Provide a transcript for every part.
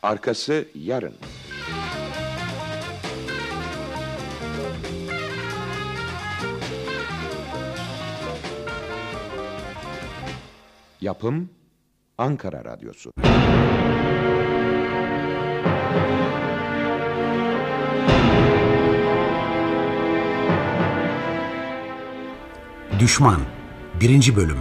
Arkası yarın. Yapım Ankara Radyosu. Düşman 1. Bölüm.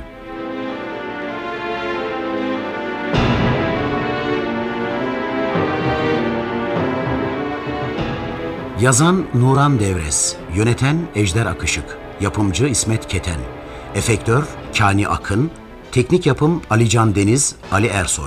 Yazan Nuran Devres, yöneten Ejder Akışık, yapımcı İsmet Keten, efektör Kani Akın, teknik yapım Alican Deniz, Ali Ersoy.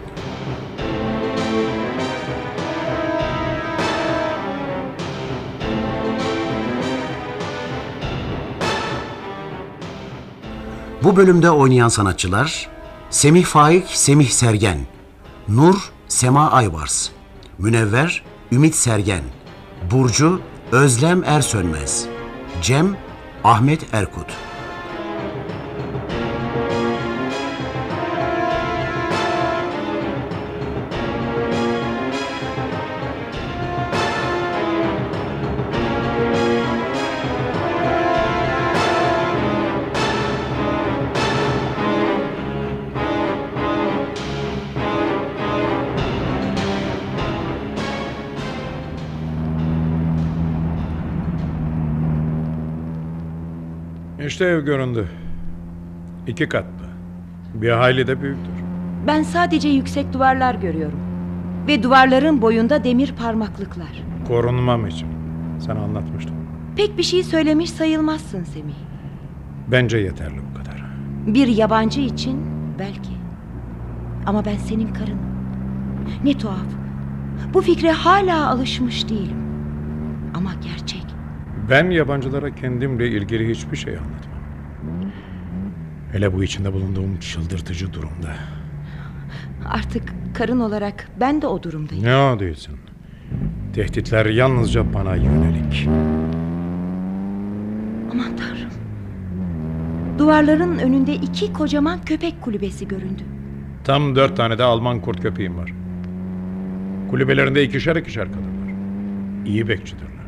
Bu bölümde oynayan sanatçılar: Semih Faik, Semih Sergen, Nur, Sema Aybars, Münevver, Ümit Sergen, Burcu, Özlem Ersönmez, Cem, Ahmet Erkut. İşte ev göründü. 2 katlı. Bir hayli de büyüktür. Ben sadece yüksek duvarlar görüyorum. Ve duvarların boyunda demir parmaklıklar. Korunmam için. Sana anlatmıştım. Pek bir şey söylemiş sayılmazsın Semih. Bence yeterli bu kadar. Bir yabancı için belki. Ama ben senin karınım. Ne tuhaf. Bu fikre hala alışmış değilim. Ama gerçek. Ben yabancılara kendimle ilgili hiçbir şey anlatmam. Hele bu içinde bulunduğum çıldırtıcı durumda. Artık karın olarak ben de o durumdayım. Ne o değilsin. Tehditler yalnızca bana yönelik. Aman Tanrım. Duvarların önünde 2 kocaman köpek kulübesi göründü. Tam 4 tane de Alman kurt köpeğim var. Kulübelerinde 2'şer kalırlar. İyi bekçidirler.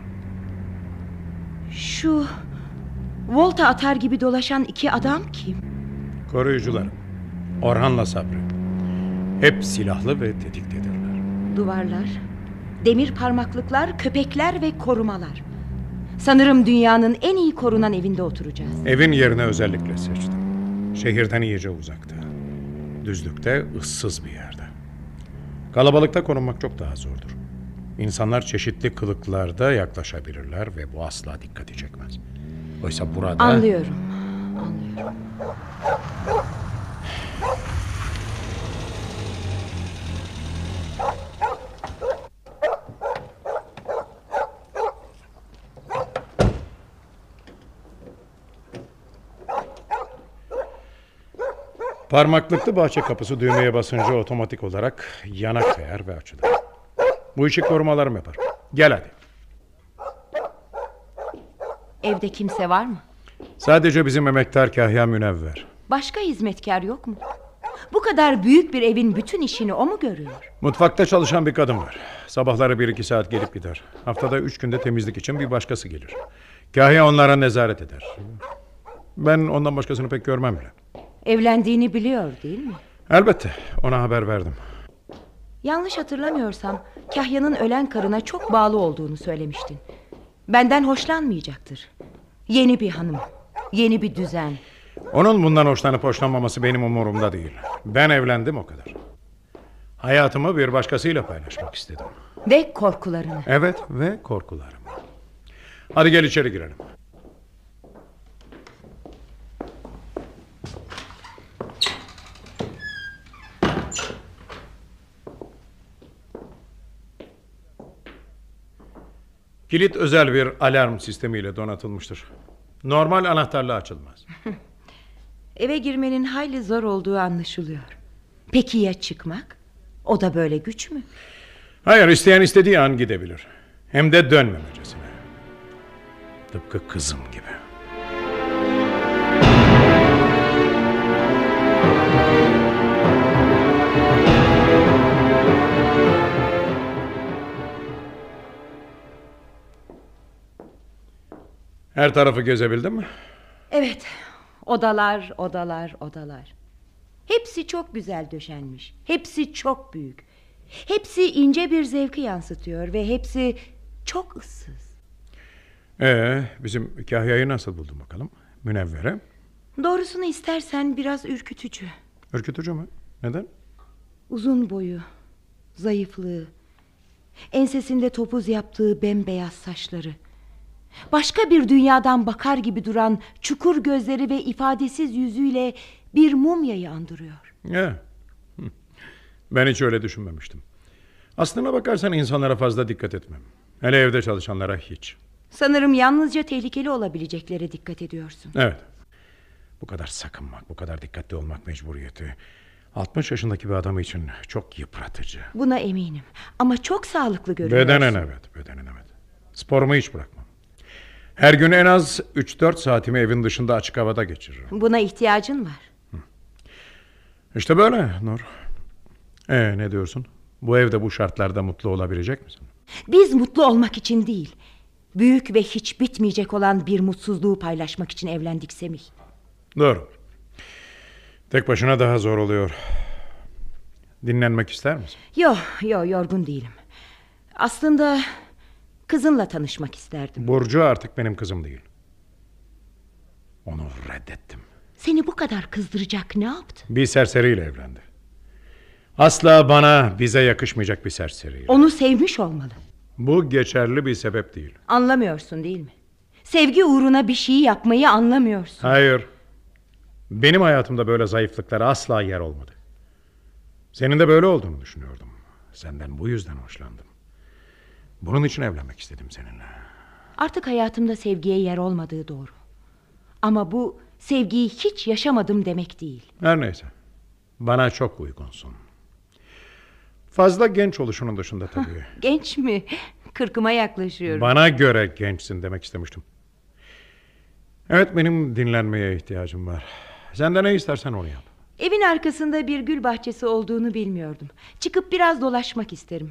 Şu volta atar gibi dolaşan 2 adam kim? Koruyucularım. Orhan'la Sabri. Hep silahlı ve tetiktedirler. Duvarlar, demir parmaklıklar, köpekler ve korumalar. Sanırım dünyanın en iyi korunan evinde oturacağız. Evin yerini özellikle seçtim. Şehirden iyice uzakta. Düzlükte, ıssız bir yerde. Kalabalıkta korunmak çok daha zordur. İnsanlar çeşitli kılıklarda yaklaşabilirler ve bu asla dikkati çekmez. Oysa burada... Anlıyorum. Parmaklıklı bahçe kapısı düğmeye basınca otomatik olarak yana kayar ve açılır. Bu işi korumalarım yapar. Gel hadi. Evde kimse var mı? Sadece bizim emektar Kahya Münevver. Başka hizmetkar yok mu? Bu kadar büyük bir evin bütün işini o mu görüyor? Mutfakta çalışan bir kadın var. Sabahları 1-2 saat gelip gider. Haftada 3 günde temizlik için bir başkası gelir. Kahya onlara nezaret eder. Ben ondan başkasını pek görmem bile. Evlendiğini biliyor değil mi? Elbette, ona haber verdim. Yanlış hatırlamıyorsam Kahya'nın ölen karına çok bağlı olduğunu söylemiştin. Benden hoşlanmayacaktır. Yeni bir hanım, yeni bir düzen. Onun bundan hoşlanıp hoşlanmaması benim umurumda değil. Ben evlendim, o kadar. Hayatımı bir başkasıyla paylaşmak istedim. Ve korkularını. Evet, ve korkularımı. Hadi gel içeri girelim. Kilit özel bir alarm sistemiyle donatılmıştır. Normal anahtarla açılmaz. Eve girmenin hayli zor olduğu anlaşılıyor. Peki ya çıkmak? O da böyle güç mü? Hayır, isteyen istediği an gidebilir. Hem de dönmemecesine. Tıpkı kızım gibi. Her tarafı gezebildin mi? Evet, odalar, odalar, odalar. Hepsi çok güzel döşenmiş. Hepsi çok büyük. Hepsi ince bir zevki yansıtıyor ve hepsi çok ıssız. Bizim Kahya'yı nasıl buldun bakalım? Münevvere. Doğrusunu istersen biraz ürkütücü. Ürkütücü mü? Neden? Uzun boyu, zayıflığı, ensesinde topuz yaptığı bembeyaz saçları, başka bir dünyadan bakar gibi duran çukur gözleri ve ifadesiz yüzüyle bir mumyayı andırıyor. Ben hiç öyle düşünmemiştim. Aslına bakarsan insanlara fazla dikkat etmem. Hele evde çalışanlara hiç. Sanırım yalnızca tehlikeli olabileceklere dikkat ediyorsun. Evet. Bu kadar sakınmak, bu kadar dikkatli olmak mecburiyeti 60 yaşındaki bir adam için çok yıpratıcı. Buna eminim ama çok sağlıklı görünüyorsun. Bedenen evet. Sporumu hiç bırakmam. Her gün en az 3-4 saatimi evin dışında açık havada geçiririm. Buna ihtiyacın var. İşte böyle Nur. Ne diyorsun? Bu evde bu şartlarda mutlu olabilecek misin? Biz mutlu olmak için değil, büyük ve hiç bitmeyecek olan bir mutsuzluğu paylaşmak için evlendik Semih. Doğru. Tek başına daha zor oluyor. Dinlenmek ister misin? Yok, yorgun değilim. Aslında kızınla tanışmak isterdim. Burcu artık benim kızım değil. Onu reddettim. Seni bu kadar kızdıracak ne yaptı? Bir serseriyle evlendi. Asla bize yakışmayacak bir serseriyle. Onu sevmiş olmalı. Bu geçerli bir sebep değil. Anlamıyorsun değil mi? Sevgi uğruna bir şeyi yapmayı anlamıyorsun. Hayır. Benim hayatımda böyle zayıflıklara asla yer olmadı. Senin de böyle olduğunu düşünüyordum. Senden bu yüzden hoşlandım. Bunun için evlenmek istedim seninle. Artık hayatımda sevgiye yer olmadığı doğru. Ama bu sevgiyi hiç yaşamadım demek değil. Her neyse. Bana çok uygunsun. Fazla genç oluşunun dışında tabii. Genç mi? 40'ıma yaklaşıyorum. Bana göre gençsin demek istemiştim. Evet, benim dinlenmeye ihtiyacım var. Sen de ne istersen onu yap. Evin arkasında bir gül bahçesi olduğunu bilmiyordum. Çıkıp biraz dolaşmak isterim.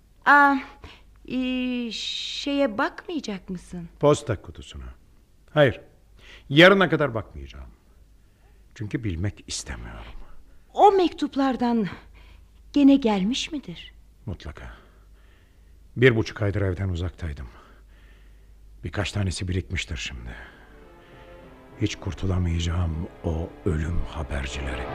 Şeye bakmayacak mısın? Posta kutusuna. Hayır. Yarına kadar bakmayacağım. Çünkü bilmek istemiyorum. O mektuplardan gene gelmiş midir? Mutlaka. 1,5 aydır evden uzaktaydım. Birkaç tanesi birikmiştir şimdi. Hiç kurtulamayacağım o ölüm habercileri.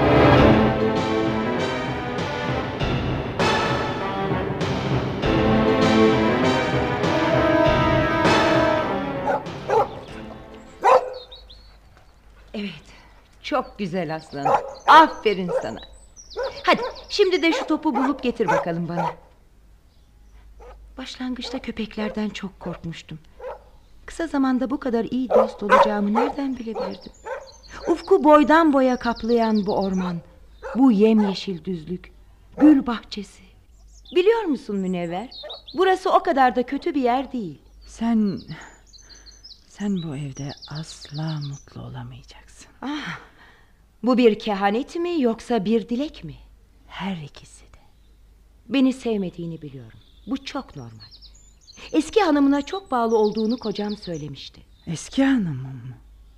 Evet, çok güzel aslanım. Aferin sana. Hadi şimdi de şu topu bulup getir bakalım bana. Başlangıçta köpeklerden çok korkmuştum. Kısa zamanda bu kadar iyi dost olacağımı nereden bilebilirdim? Ufku boydan boya kaplayan bu orman, bu yemyeşil düzlük, gül bahçesi. Biliyor musun Münevver? Burası o kadar da kötü bir yer değil. Sen bu evde asla mutlu olamayacaksın. Bu bir kehanet mi yoksa bir dilek mi? Her ikisi de. Beni sevmediğini biliyorum. Bu çok normal. Eski hanımına çok bağlı olduğunu kocam söylemişti. Eski hanımım mı?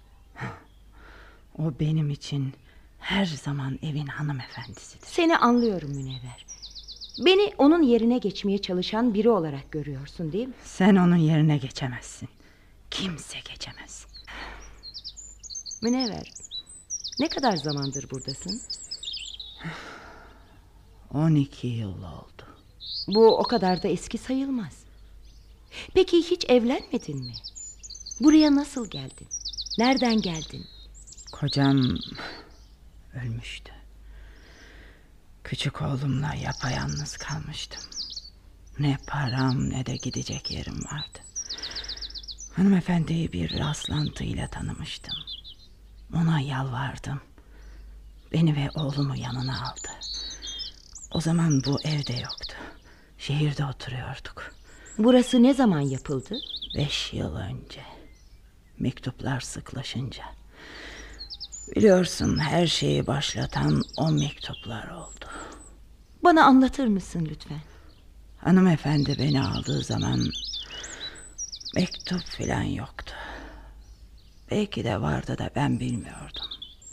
O benim için her zaman evin hanımefendisidir. Seni anlıyorum Münevver. Beni onun yerine geçmeye çalışan biri olarak görüyorsun değil mi? Sen onun yerine geçemezsin. Kimse geçemez. Münevver, ne kadar zamandır buradasın? 12 yıl oldu. Bu o kadar da eski sayılmaz. Peki hiç evlenmedin mi? Buraya nasıl geldin? Nereden geldin? Kocam ölmüştü. Küçük oğlumla yapayalnız kalmıştım. Ne param ne de gidecek yerim vardı. Hanımefendiyi bir rastlantıyla tanımıştım. Ona yalvardım. Beni ve oğlumu yanına aldı. O zaman bu evde yoktu. Şehirde oturuyorduk. Burası ne zaman yapıldı? 5 yıl önce. Mektuplar sıklaşınca. Biliyorsun, her şeyi başlatan o mektuplar oldu. Bana anlatır mısın lütfen? Hanımefendi beni aldığı zaman mektup falan yoktu. Belki de vardı da ben bilmiyordum.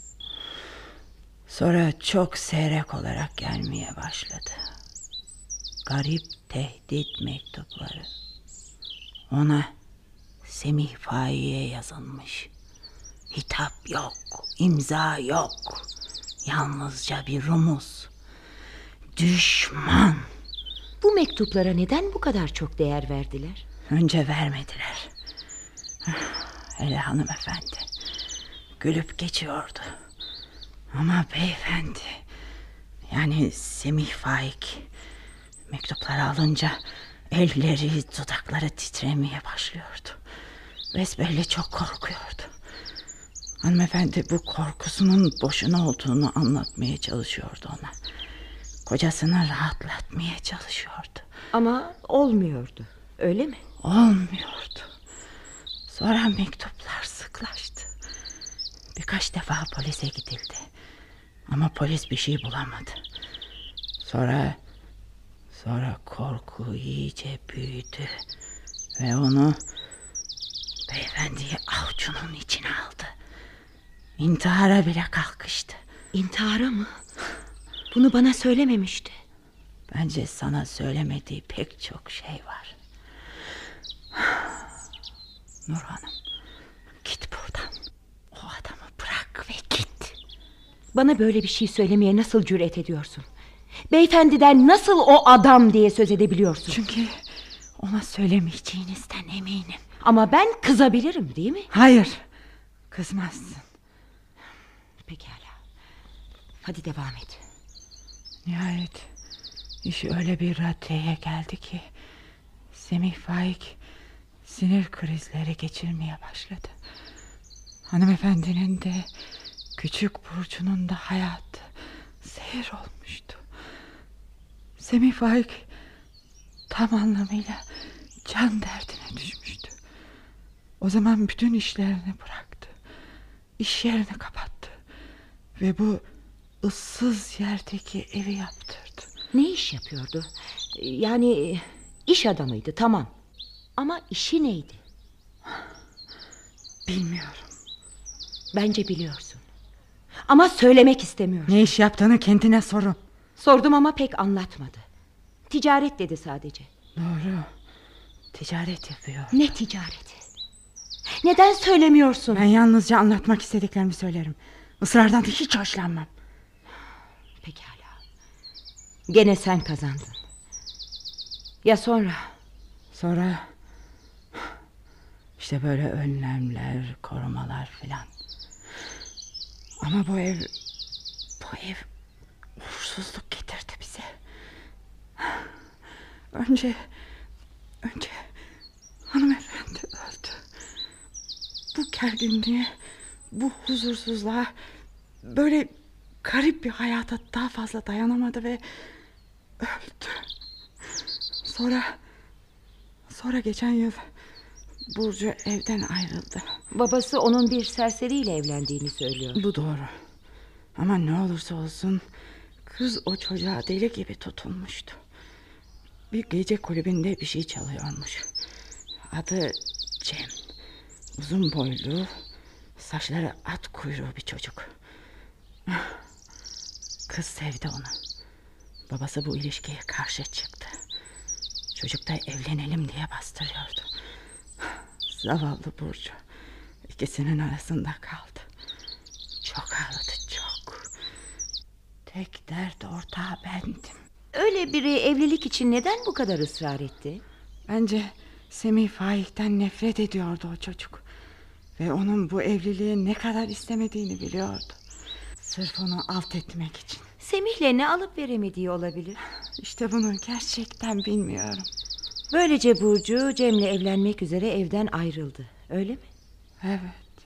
Sonra çok seyrek olarak gelmeye başladı. Garip tehdit mektupları. Ona Semih Faik'e yazılmış. Hitap yok, imza yok. Yalnızca bir rumuz. Düşman. Bu mektuplara neden bu kadar çok değer verdiler? Önce vermediler. Hele hanımefendi gülüp geçiyordu. Ama beyefendi, yani Semih Faik, mektupları alınca elleri, dudakları titremeye başlıyordu. Besbelli çok korkuyordu. Hanımefendi bu korkusunun boşuna olduğunu anlatmaya çalışıyordu ona. Kocasını rahatlatmaya çalışıyordu. Ama olmuyordu, öyle mi? Olmuyordu. Sonra mektuplar sıklaştı. Birkaç defa polise gidildi. Ama polis bir şey bulamadı. Sonra korku iyice büyüdü. Ve onu beyefendiyi avucunun içine aldı. İntihara bile kalkıştı. İntihara mı? Bunu bana söylememişti. Bence sana söylemediği pek çok şey var. Nur Hanım, git buradan. O adamı bırak ve git. Bana böyle bir şey söylemeye nasıl cüret ediyorsun? Beyefendiden nasıl o adam diye söz edebiliyorsun? Çünkü ona söylemeyeceğinizden eminim. Ama ben kızabilirim, değil mi? Hayır, kızmazsın. Pekala. Hadi devam et. Nihayet iş öyle bir raddeye geldi ki Semih Faik sinir krizleri geçirmeye başladı. Hanımefendinin de küçük Burcu'nun da hayatı seyir olmuştu. Semih Faik tam anlamıyla can derdine düşmüştü. O zaman bütün işlerini bıraktı. İş yerini kapattı. Ve bu ıssız yerdeki evi yaptırdı. Ne iş yapıyordu? Yani iş adamıydı, tamam. Ama işi neydi? Bilmiyorum. Bence biliyorsun. Ama söylemek istemiyorum. Ne iş yaptığını kendine sorun. Sordum ama pek anlatmadı. Ticaret dedi sadece. Doğru. Ticaret yapıyor. Ne ticareti? Neden söylemiyorsun? Ben yalnızca anlatmak istediklerimi söylerim. Isrardan da hiç hoşlanmam. Pekala. Gene sen kazandın. Ya sonra? Sonra işte böyle önlemler, korumalar filan. Ama bu ev uğursuzluk getirdi bize. Önce hanımefendi öldü. Bu gerginliğe, bu huzursuzluğa, böyle garip bir hayata daha fazla dayanamadı ve öldü. Sonra geçen yıl Burcu evden ayrıldı. Babası onun bir serseriyle evlendiğini söylüyor. Bu doğru. Ama ne olursa olsun kız o çocuğa deli gibi tutulmuştu. Bir gece kulübünde bir şey çalıyormuş. Adı Cem. Uzun boylu, saçları at kuyruğu bir çocuk. Kız sevdi onu. Babası bu ilişkiye karşı çıktı. Çocuk da evlenelim diye bastırıyordu. Zavallı Burcu ikisinin arasında kaldı. Çok ağladı, çok. Tek dert ortağı bendim. Öyle biri evlilik için neden bu kadar ısrar etti? Bence Semih Faik'ten nefret ediyordu o çocuk. Ve onun bu evliliği ne kadar istemediğini biliyordu. Sırf onu alt etmek için. Semih'le ne alıp veremediği olabilir? İşte bunu gerçekten bilmiyorum. Böylece Burcu Cem'le evlenmek üzere evden ayrıldı. Öyle mi? Evet.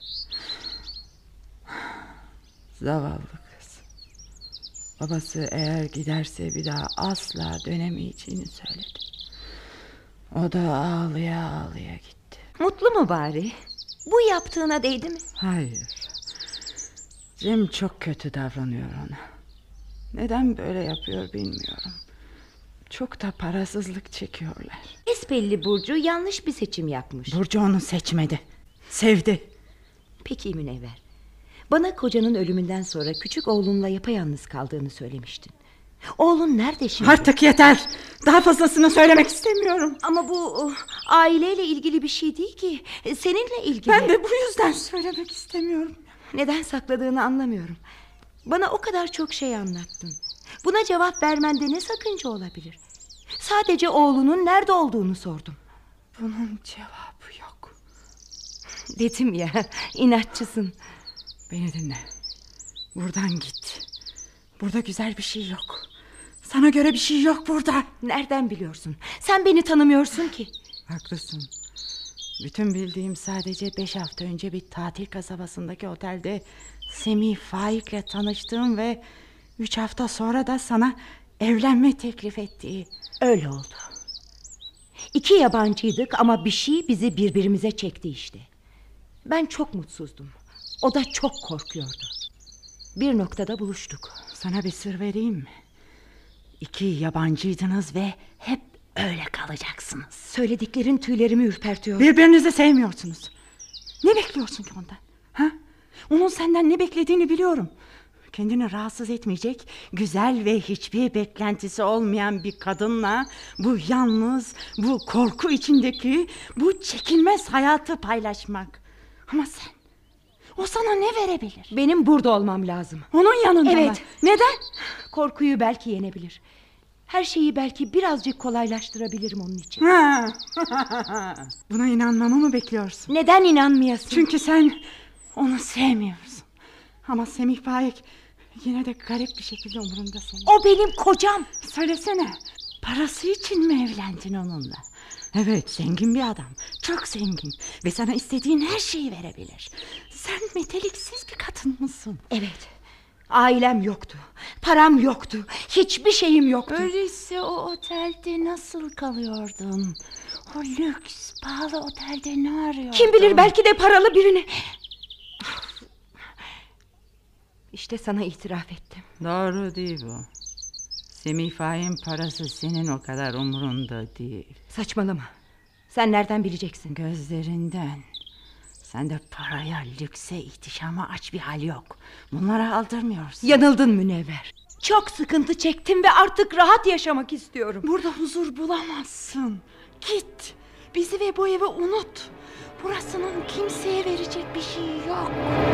Zavallı kız. Babası eğer giderse bir daha asla dönemeyeceğini söyledi. O da ağlaya ağlaya gitti. Mutlu mu bari? Bu yaptığına değdi mi? Hayır. Cem çok kötü davranıyor ona. Neden böyle yapıyor bilmiyorum. Çok da parasızlık çekiyorlar. Besbelli Burcu yanlış bir seçim yapmış. Burcu onu seçmedi. Sevdi. Peki Münevver. Bana kocanın ölümünden sonra küçük oğlunla yapayalnız kaldığını söylemiştin. Oğlun nerede şimdi? Artık yeter. Daha fazlasını söylemek istemiyorum. Ama bu aileyle ilgili bir şey değil ki. Seninle ilgili. Ben de bu yüzden söylemek istemiyorum. Neden sakladığını anlamıyorum. Bana o kadar çok şey anlattın. Buna cevap vermende ne sakınca olabilir? Sadece oğlunun nerede olduğunu sordum. Bunun cevabı yok. Dedim ya, inatçısın. Beni dinle. Buradan git. Burada güzel bir şey yok. Sana göre bir şey yok burada. Nereden biliyorsun? Sen beni tanımıyorsun ki. Haklısın. Bütün bildiğim sadece 5 hafta önce bir tatil kasabasındaki otelde Semih Faik'le tanıştığım ve 3 hafta sonra da sana evlenme teklif ettiği. Öyle oldu. 2 yabancıydık ama bir şey bizi birbirimize çekti işte. Ben çok mutsuzdum. O da çok korkuyordu. Bir noktada buluştuk. Sana bir sır vereyim mi? 2 yabancıydınız ve hep öyle kalacaksınız. Söylediklerin tüylerimi ürpertiyor. Birbirinizi sevmiyorsunuz. Ne bekliyorsun ki ondan? Ha? Onun senden ne beklediğini biliyorum. Kendini rahatsız etmeyecek, güzel ve hiçbir beklentisi olmayan bir kadınla bu yalnız, bu korku içindeki, bu çekilmez hayatı paylaşmak. Ama sen, o sana ne verebilir? Benim burada olmam lazım. Onun yanında mı? Evet. Neden? Korkuyu belki yenebilir. Her şeyi belki birazcık kolaylaştırabilirim onun için. Ha. Buna inanmamı mı bekliyorsun? Neden inanmayasın? Çünkü sen onu sevmiyorsun. Ama Semih Faik yine de garip bir şekilde umurunda senin. O benim kocam. Söylesene, parası için mi evlendin onunla? Evet, zengin bir adam, çok zengin ve sana istediğin her şeyi verebilir. Sen meteliksiz bir kadın mısın? Evet. Ailem yoktu. Param yoktu. Hiçbir şeyim yoktu. Öyleyse o otelde nasıl kalıyordun? O lüks, pahalı otelde ne arıyordun? Kim bilir, belki de paralı birini. İşte sana itiraf ettim. Doğru değil bu. Semih Faik'in parası senin o kadar umurunda değil. Saçmalama. Sen nereden bileceksin? Gözlerinden. Sende paraya, lükse, ihtişama aç bir hal yok. Bunlara aldırmıyorsun. Yanıldın Münevver. Çok sıkıntı çektim ve artık rahat yaşamak istiyorum. Burada huzur bulamazsın. Git. Bizi ve bu evi unut. Burasının kimseye verecek bir şey yok.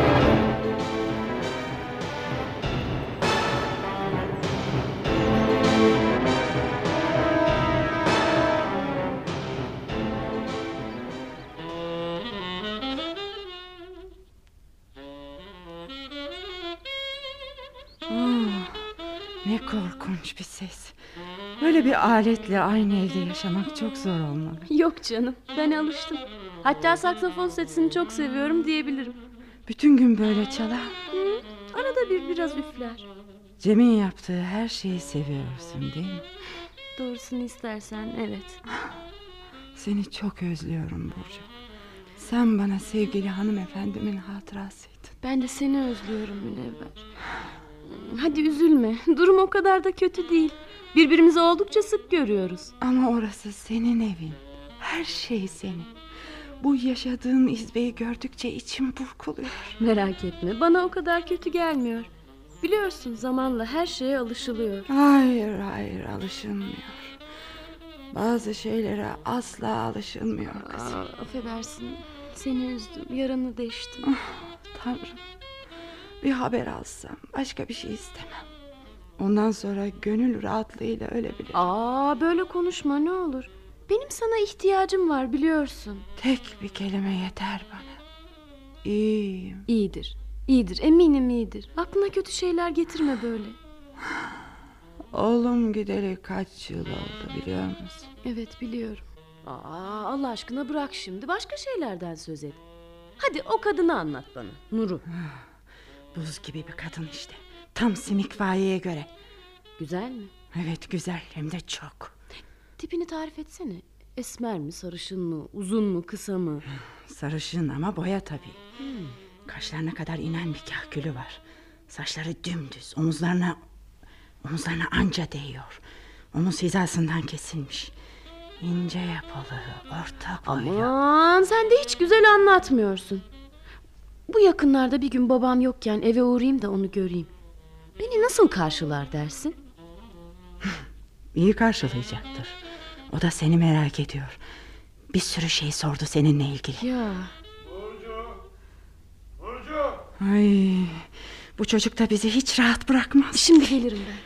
Ne korkunç bir ses. Böyle bir aletle aynı evde yaşamak çok zor olmalı. Yok canım, ben alıştım. Hatta saksafon sesini çok seviyorum diyebilirim. Bütün gün böyle çalar. Arada bir biraz üfler. Cem'in yaptığı her şeyi seviyorsun değil mi? Doğrusunu istersen evet. Seni çok özlüyorum Burcu. Sen bana sevgili hanımefendimin hatırasıydın. Ben de seni özlüyorum Münevver. Hadi üzülme, durum o kadar da kötü değil. Birbirimizi oldukça sık görüyoruz. Ama orası senin evin. Her şey senin. Bu yaşadığın izbeyi gördükçe içim burkuluyor. Merak etme, bana o kadar kötü gelmiyor. Biliyorsun, zamanla her şeye alışılıyor. Hayır alışılmıyor. Bazı şeylere asla alışılmıyor kızım. Affedersin, seni üzdüm, yaranı deştim. Tanrım, bir haber alsam, başka bir şey istemem. Ondan sonra gönül rahatlığıyla ölebilirim. Böyle konuşma ne olur. Benim sana ihtiyacım var, biliyorsun. Tek bir kelime yeter bana. İyiyim. İyidir, eminim iyidir. Aklına kötü şeyler getirme böyle. Oğlum gideli kaç yıl oldu biliyor musun? Evet, biliyorum. Allah aşkına bırak şimdi, başka şeylerden söz et. Hadi o kadını anlat bana, Nur'u. Buz gibi bir kadın işte. Tam Semih Faik'e göre. Güzel mi? Evet, güzel, hem de çok. Tipini tarif etsene. Esmer mi, sarışın mı, uzun mu, kısa mı? Sarışın ama boya tabii. Kaşlarına kadar inen bir kahkülü var. Saçları dümdüz, omuzlarına anca değiyor. Omuz hizasından kesilmiş. İnce yapılı, orta boylu. Aman, sen de hiç güzel anlatmıyorsun. Bu yakınlarda bir gün babam yokken eve uğrayayım da onu göreyim. Beni nasıl karşılar dersin? İyi karşılayacaktır. O da seni merak ediyor. Bir sürü şey sordu seninle ilgili. Ya. Burcu! Ay, bu çocuk da bizi hiç rahat bırakmaz. Şimdi gelirim ben.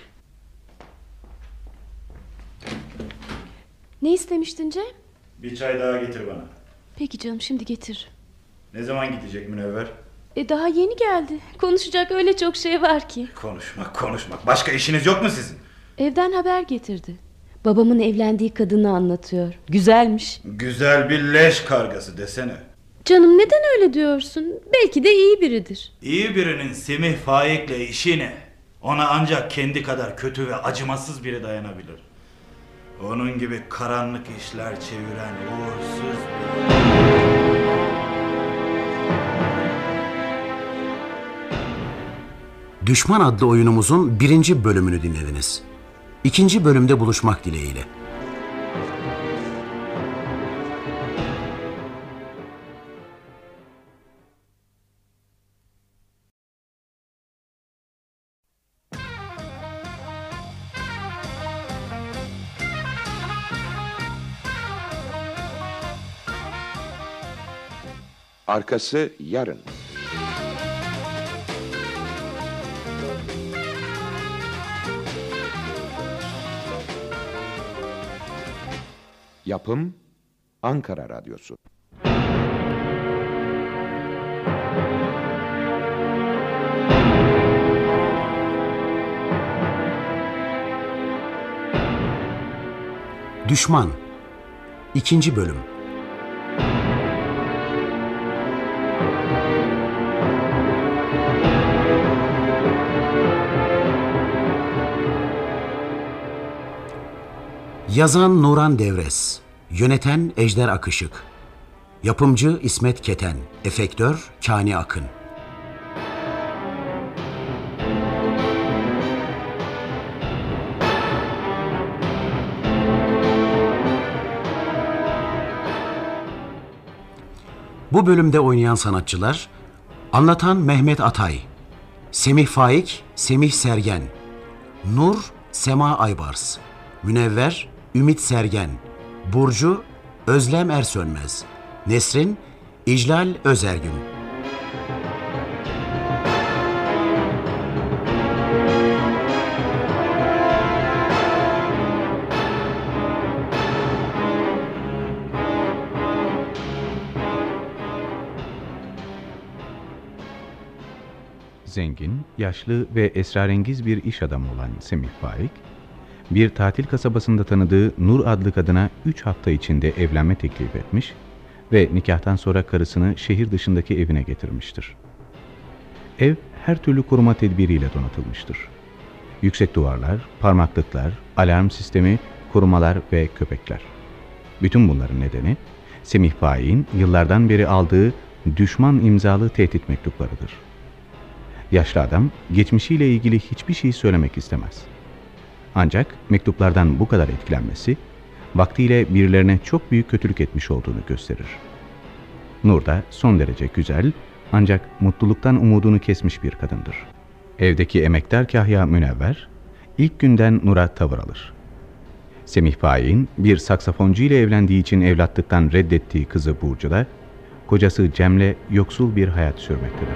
Ne istemiştin Cem? Bir çay daha getir bana. Peki canım, şimdi getir. Ne zaman gidecek Münevver? Daha yeni geldi. Konuşacak öyle çok şey var ki. Konuşmak. Başka işiniz yok mu sizin? Evden haber getirdi. Babamın evlendiği kadını anlatıyor. Güzelmiş. Güzel bir leş kargası desene. Canım, neden öyle diyorsun? Belki de iyi biridir. İyi birinin Semih Faik'le işi ne? Ona ancak kendi kadar kötü ve acımasız biri dayanabilir. Onun gibi karanlık işler çeviren uğursuz bir... Düşman adlı oyunumuzun 1. bölümünü dinlediniz. 2. bölümde buluşmak dileğiyle. Arkası yarın. Yapım Ankara Radyosu. Düşman 2. bölüm. Yazan Nuran Devres, yöneten Ejder Akışık, yapımcı İsmet Keten, efektör Kani Akın. Bu bölümde oynayan sanatçılar: anlatan Mehmet Atay, Semih Faik, Semih Sergen, Nur, Sema Aybars, Münevver, Ümit Sergen, Burcu, Özlem Ersönmez, Nesrin, İclal Özergün. Zengin, yaşlı ve esrarengiz bir iş adamı olan Semih Faik, bir tatil kasabasında tanıdığı Nur adlı kadına 3 hafta içinde evlenme teklif etmiş ve nikahtan sonra karısını şehir dışındaki evine getirmiştir. Ev her türlü koruma tedbiriyle donatılmıştır. Yüksek duvarlar, parmaklıklar, alarm sistemi, korumalar ve köpekler. Bütün bunların nedeni Semih Faik'in yıllardan beri aldığı düşman imzalı tehdit mektuplarıdır. Yaşlı adam geçmişiyle ilgili hiçbir şey söylemek istemez. Ancak mektuplardan bu kadar etkilenmesi, vaktiyle birilerine çok büyük kötülük etmiş olduğunu gösterir. Nur da son derece güzel, ancak mutluluktan umudunu kesmiş bir kadındır. Evdeki emektar kahya Münevver, ilk günden Nur'a tavır alır. Semih Faik'in bir saksafoncu ile evlendiği için evlatlıktan reddettiği kızı Burcu da, kocası Cem'le yoksul bir hayat sürmektedir.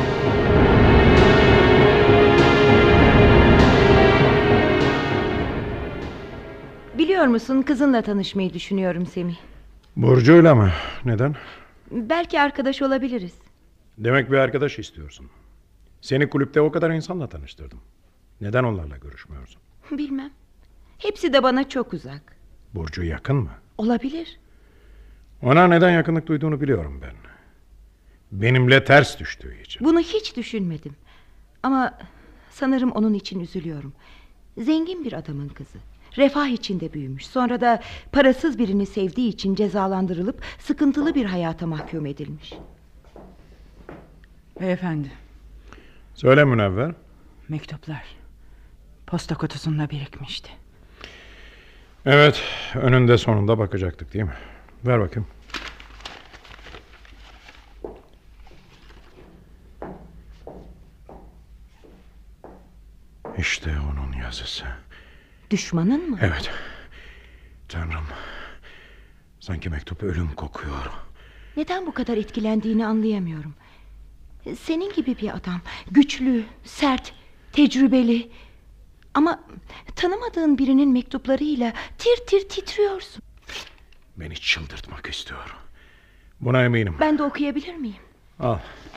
Biliyor musun, kızınla tanışmayı düşünüyorum Semih. Burcu'yla mı? Neden? Belki arkadaş olabiliriz. Demek bir arkadaş istiyorsun. Seni kulüpte o kadar insanla tanıştırdım. Neden onlarla görüşmüyorsun? Bilmem. Hepsi de bana çok uzak. Burcu yakın mı? Olabilir. Ona neden yakınlık duyduğunu biliyorum ben. Benimle ters düştüğü için. Bunu hiç düşünmedim. Ama sanırım onun için üzülüyorum. Zengin bir adamın kızı. Refah içinde büyümüş. Sonra da parasız birini sevdiği için cezalandırılıp sıkıntılı bir hayata mahkum edilmiş. Beyefendi, Söyle Münevver. mektuplar posta kutusunda birikmişti. Evet, önünde sonunda bakacaktık değil mi? Ver bakayım. İşte onun yazısı. Düşmanın mı? Evet. Tanrım. Sanki mektup ölüm kokuyor. Neden bu kadar etkilendiğini anlayamıyorum. Senin gibi bir adam. Güçlü, sert, tecrübeli. Ama tanımadığın birinin mektuplarıyla tir tir titriyorsun. Beni çıldırtmak istiyor. Buna eminim. Ben de okuyabilir miyim? Al.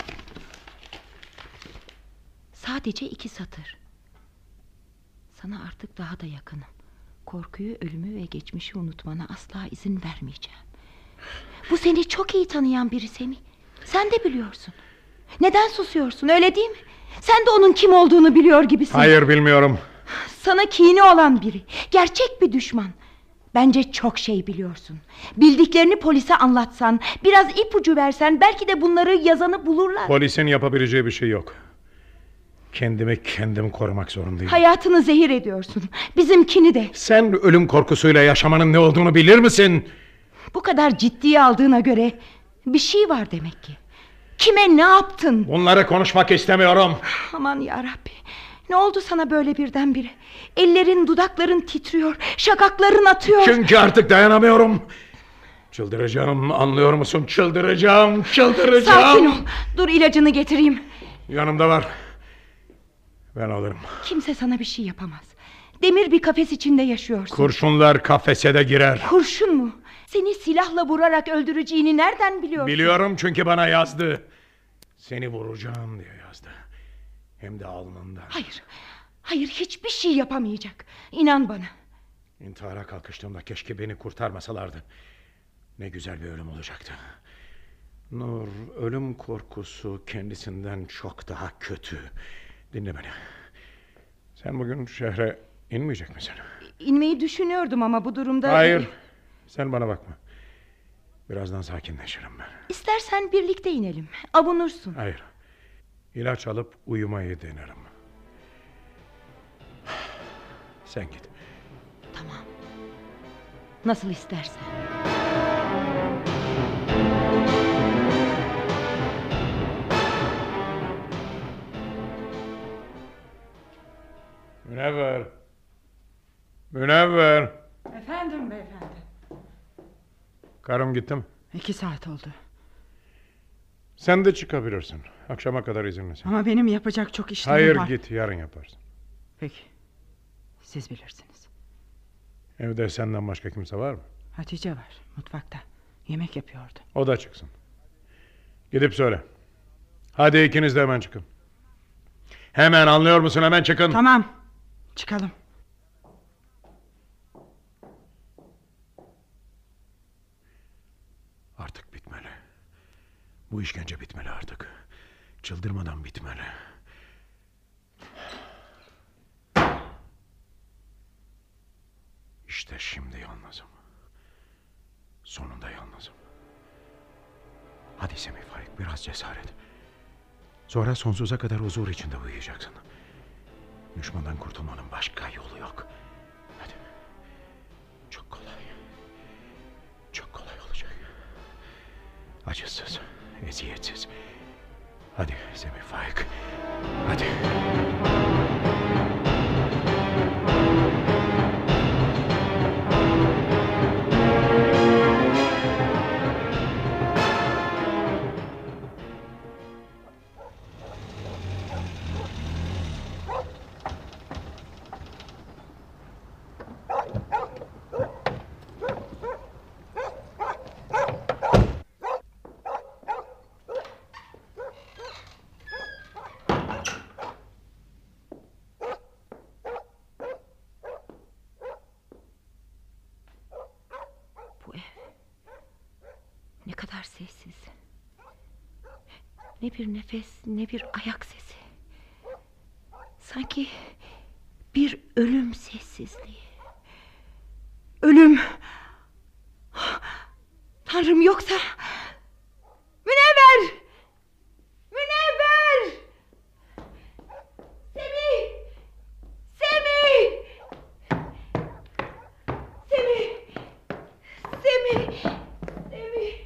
Sadece 2 satır. Sana artık daha da yakınım. Korkuyu, ölümü ve geçmişi unutmana asla izin vermeyeceğim. Bu seni çok iyi tanıyan biri Semih. Sen de biliyorsun. Neden susuyorsun, öyle değil mi? Sen de onun kim olduğunu biliyor gibisin. Hayır, bilmiyorum. Sana kini olan biri. Gerçek bir düşman. Bence çok şey biliyorsun. Bildiklerini polise anlatsan, biraz ipucu versen, belki de bunları yazanı bulurlar. Polisin yapabileceği bir şey yok. Kendimi kendim korumak zorundayım. Hayatını zehir ediyorsun. Bizimkini de. Sen ölüm korkusuyla yaşamanın ne olduğunu bilir misin? Bu kadar ciddiye aldığına göre bir şey var demek ki. Kime ne yaptın? Bunları konuşmak istemiyorum. Aman yarabbi. Ne oldu sana böyle birdenbire? Ellerin, dudakların titriyor, şakakların atıyor. Çünkü artık dayanamıyorum. Çıldıracağım, anlıyor musun? Çıldıracağım. Sakin ol. Dur, ilacını getireyim. Yanımda var. Ben alırım. Kimse sana bir şey yapamaz. Demir bir kafes içinde yaşıyorsun. Kurşunlar kafese de girer. Kurşun mu? Seni silahla vurarak öldüreceğini nereden biliyorsun? Biliyorum, çünkü bana yazdı. Seni vuracağım diye yazdı. Hem de alnından. Hayır, hiçbir şey yapamayacak. İnan bana. İntihara kalkıştığımda keşke beni kurtarmasalardı. Ne güzel bir ölüm olacaktı. Nur, ölüm korkusu kendisinden çok daha kötü. Dinle beni. Sen bugün şehre inmeyecek misin? İnmeyi düşünüyordum ama bu durumda... Hayır, sen bana bakma. Birazdan sakinleşirim ben. İstersen birlikte inelim. Avunursun. Hayır. İlaç alıp uyumayı denerim. Sen git. Tamam. Nasıl istersen. Münevver. Münevver. Efendim beyefendi. Karım gitti mi? 2 saat oldu. Sen de çıkabilirsin. Akşama kadar izinlisin. Ama benim yapacak çok işlerim Hayır, var. git, yarın yaparsın. Peki. Siz bilirsiniz. Evde senden başka kimse var mı? Hatice var mutfakta. Yemek yapıyordu. O da çıksın. Gidip söyle. Hadi ikiniz de hemen çıkın. Hemen, anlıyor musun? Hemen çıkın. Tamam. Çıkalım. Artık bitmeli. Bu işkence bitmeli artık. Çıldırmadan bitmeli. İşte şimdi yalnızım. Sonunda yalnızım. Hadi Semih Faik, biraz cesaret. Sonra sonsuza kadar huzur içinde uyuyacaksın. Düşmandan kurtulmanın başka yolu yok. Hadi. Çok kolay. Çok kolay olacak. Acısız, eziyetsiz. Hadi Semih Faik. Hadi. Ne kadar sessiz. Ne bir nefes, ne bir ayak sesi. Sanki bir ölüm sessizliği. Ölüm. Tanrım, yoksa... Münevver! Münevver! Semih! Semih! Semih! Semih! Semih!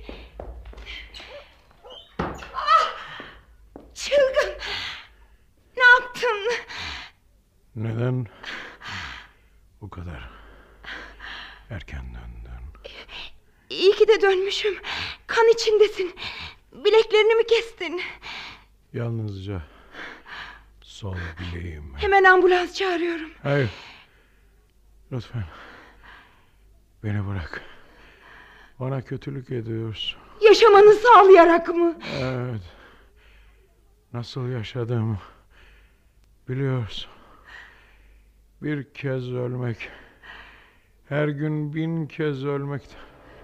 Ah! Çılgın! Ne yaptın? Neden bu kadar erken döndün? İyi ki de dönmüşüm. Kan içindesin. Bileklerini mi kestin? Yalnızca sol bileğim. Hemen ambulans çağırıyorum. Hayır. Lütfen. Beni bırak. Bana kötülük ediyorsun. Yaşamanı sağlayarak mı? Evet. Nasıl yaşadığımı biliyorsun. Bir kez ölmek, her gün 1000 kez ölmekten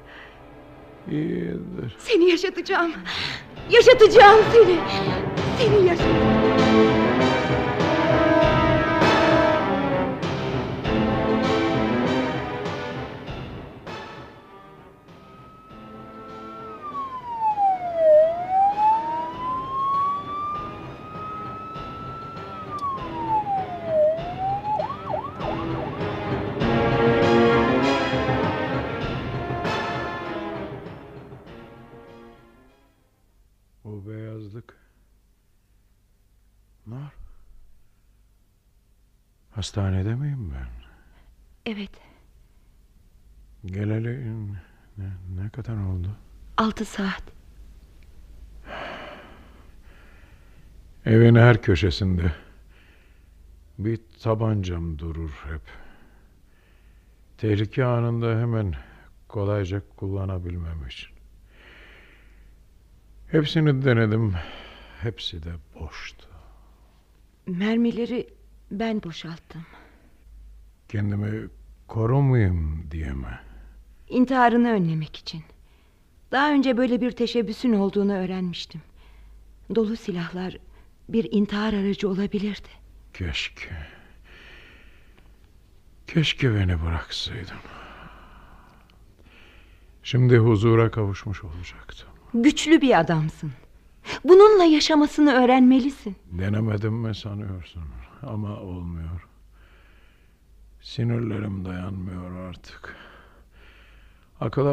iyidir. Seni yaşatacağım. Yaşatacağım seni. Seni yaşatacağım. O beyazlık. Nar. Hastanede miyim ben? Evet. Geleli ne kadar oldu? 6 saat. Evin her köşesinde bir tabancam durur hep. Tehlike anında hemen kolayca kullanabilmem için. Hepsini denedim. Hepsi de boştu. Mermileri ben boşalttım. Kendimi korumayayım diye mi? İntiharını önlemek için. Daha önce böyle bir teşebbüsün olduğunu öğrenmiştim. Dolu silahlar bir intihar aracı olabilirdi. Keşke. Keşke beni bıraksaydın. Şimdi huzura kavuşmuş olacaktım. Güçlü bir adamsın. Bununla yaşamasını öğrenmelisin. Denemedim mi sanıyorsun? Ama olmuyor. Sinirlerim dayanmıyor artık. Akıl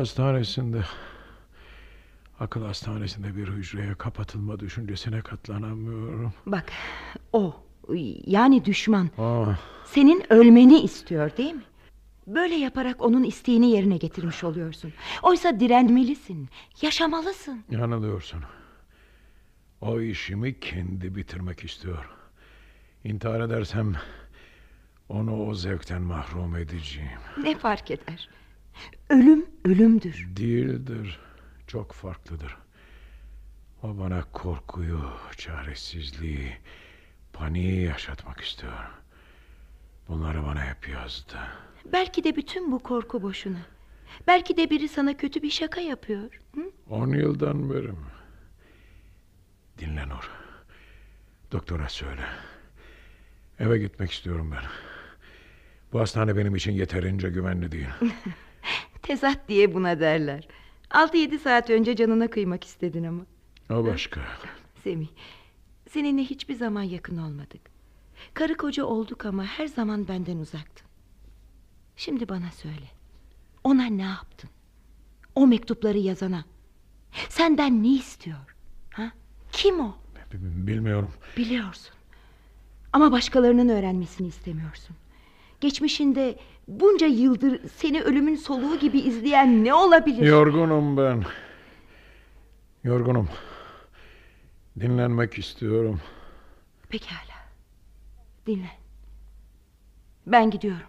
hastanesinde bir hücreye kapatılma düşüncesine katlanamıyorum. Bak, o yani düşman Ah, senin ölmeni istiyor, değil mi? Böyle yaparak onun isteğini yerine getirmiş oluyorsun. Oysa direnmelisin, yaşamalısın. yanılıyorsun. O işimi kendi bitirmek istiyor. İntihar edersem onu o zevkten mahrum edeceğim. Ne fark eder? Ölüm ölümdür. Değildir. Çok farklıdır. O bana korkuyu, çaresizliği, paniği yaşatmak istiyor. Bunları bana hep yazdı. Belki de bütün bu korku boşuna. Belki de biri sana kötü bir şaka yapıyor. Hı? 10 yıldan beri mi? Dinle Nur. Doktora söyle. Eve gitmek istiyorum ben. Bu hastane benim için yeterince güvenli değil. Tezat diye buna derler. 6-7 saat önce canına kıymak istedin ama. O başka. Semih, seninle hiçbir zaman yakın olmadık. Karı koca olduk ama her zaman benden uzaktın. Şimdi bana söyle. Ona ne yaptın? O mektupları yazana. Senden ne istiyor? Ha? Kim o? Bilmiyorum. Biliyorsun. Ama başkalarının öğrenmesini istemiyorsun. Geçmişinde bunca yıldır seni ölümün soluğu gibi izleyen ne olabilir? Yorgunum ben. Yorgunum. Dinlenmek istiyorum. Pekala. Dinle. Ben gidiyorum.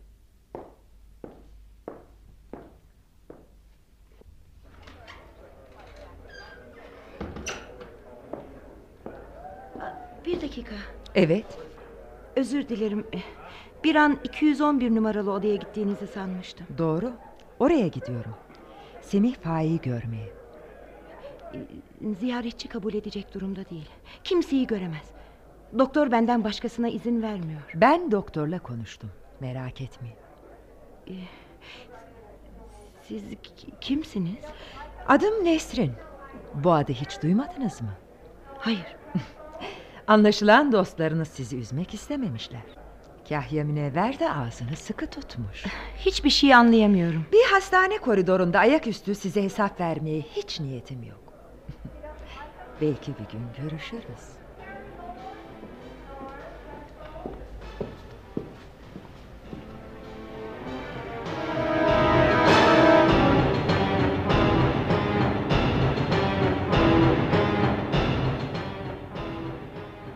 Bir dakika. Evet. Özür dilerim. Bir an 211 numaralı odaya gittiğinizi sanmıştım. Doğru. Oraya gidiyorum. Semih Faik'i görmeye. Ziyaretçi kabul edecek durumda değil. Kimseyi göremez. Doktor benden başkasına izin vermiyor. Ben doktorla konuştum. Merak etmeyin. Siz kimsiniz? Adım Nesrin. Bu adı hiç duymadınız mı? Hayır. Anlaşılan dostlarınız sizi üzmek istememişler. Kahya Münevver de ağzını sıkı tutmuş. Hiçbir şey anlayamıyorum. Bir hastane koridorunda ayaküstü size hesap vermeye hiç niyetim yok. Belki bir gün görüşürüz.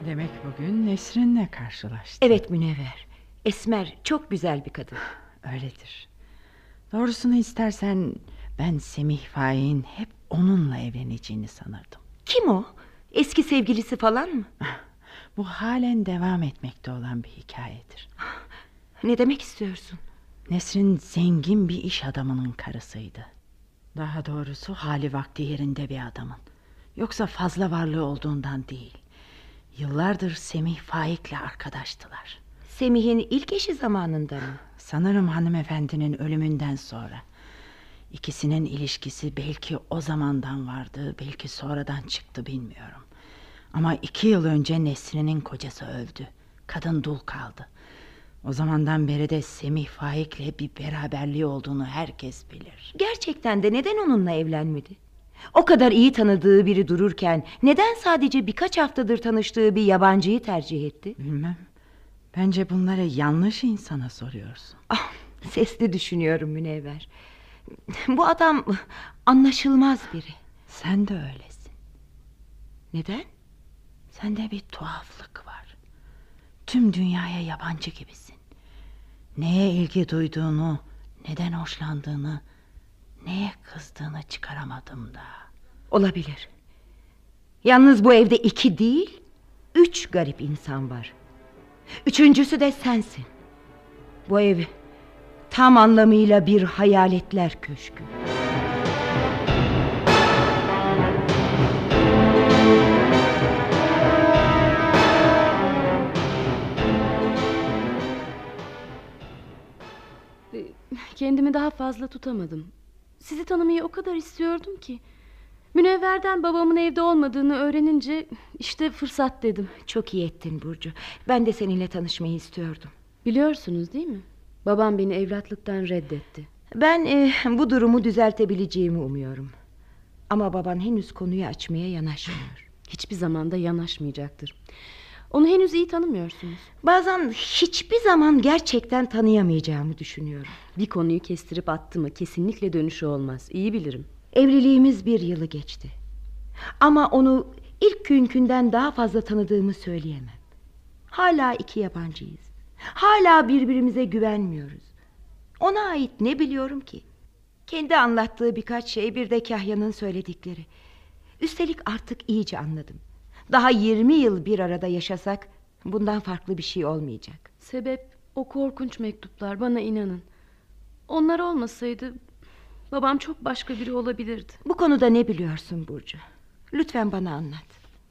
Demek bugün Nesrin'le karşılaştın. Evet Münevver. Esmer çok güzel bir kadın. Öyledir. Doğrusunu istersen ben Semih Faik'in hep onunla evleneceğini sanırdım. Kim o? Eski sevgilisi falan mı? Bu halen devam etmekte olan bir hikayedir. Ne demek istiyorsun? Nesrin zengin bir iş adamının karısıydı. Daha doğrusu hali vakti yerinde bir adamın. Yoksa fazla varlığı olduğundan değil. Yıllardır Semih Faik'le arkadaştılar. Semih'in ilk eşi zamanında mı? Sanırım hanımefendinin ölümünden sonra. İkisinin ilişkisi belki o zamandan vardı, belki sonradan çıktı bilmiyorum. Ama 2 yıl önce Nesrin'in kocası öldü. Kadın dul kaldı. O zamandan beri de Semih Faik'le bir beraberliği olduğunu herkes bilir. Gerçekten de neden onunla evlenmedi? O kadar iyi tanıdığı biri dururken neden sadece birkaç haftadır tanıştığı bir yabancıyı tercih etti? Bilmem. Bence bunları yanlış insana soruyorsun. Sesli düşünüyorum Münevver. Bu adam anlaşılmaz biri. Sen de öylesin. Neden? Sende bir tuhaflık var. Tüm dünyaya yabancı gibisin. Neye ilgi duyduğunu, neden hoşlandığını, neye kızdığını çıkaramadım da. Olabilir. Yalnız bu evde 2 değil, 3 garip insan var. 3.'sü de sensin. Bu ev tam anlamıyla bir hayaletler köşkü. Kendimi daha fazla tutamadım. Sizi tanımayı o kadar istiyordum ki. Münevver'den babamın evde olmadığını öğrenince işte fırsat dedim. Çok iyi ettin Burcu. Ben de seninle tanışmayı istiyordum. Biliyorsunuz değil mi? Babam beni evlatlıktan reddetti. Ben bu durumu düzeltebileceğimi umuyorum. Ama baban henüz konuyu açmaya yanaşmıyor. Hiçbir zaman da yanaşmayacaktır. Onu henüz iyi tanımıyorsunuz. Bazen hiçbir zaman gerçekten tanıyamayacağımı düşünüyorum. Bir konuyu kestirip attı mı kesinlikle dönüşü olmaz. İyi bilirim. Evliliğimiz 1 yılı geçti. Ama onu ilk günkünden daha fazla tanıdığımı söyleyemem. Hala 2 yabancıyız. Hala birbirimize güvenmiyoruz. Ona ait ne biliyorum ki? Kendi anlattığı birkaç şey, bir de Kahya'nın söyledikleri. Üstelik artık iyice anladım. Daha 20 yıl bir arada yaşasak bundan farklı bir şey olmayacak. Sebep o korkunç mektuplar, bana inanın. Onlar olmasaydı babam çok başka biri olabilirdi. Bu konuda ne biliyorsun Burcu? Lütfen bana anlat.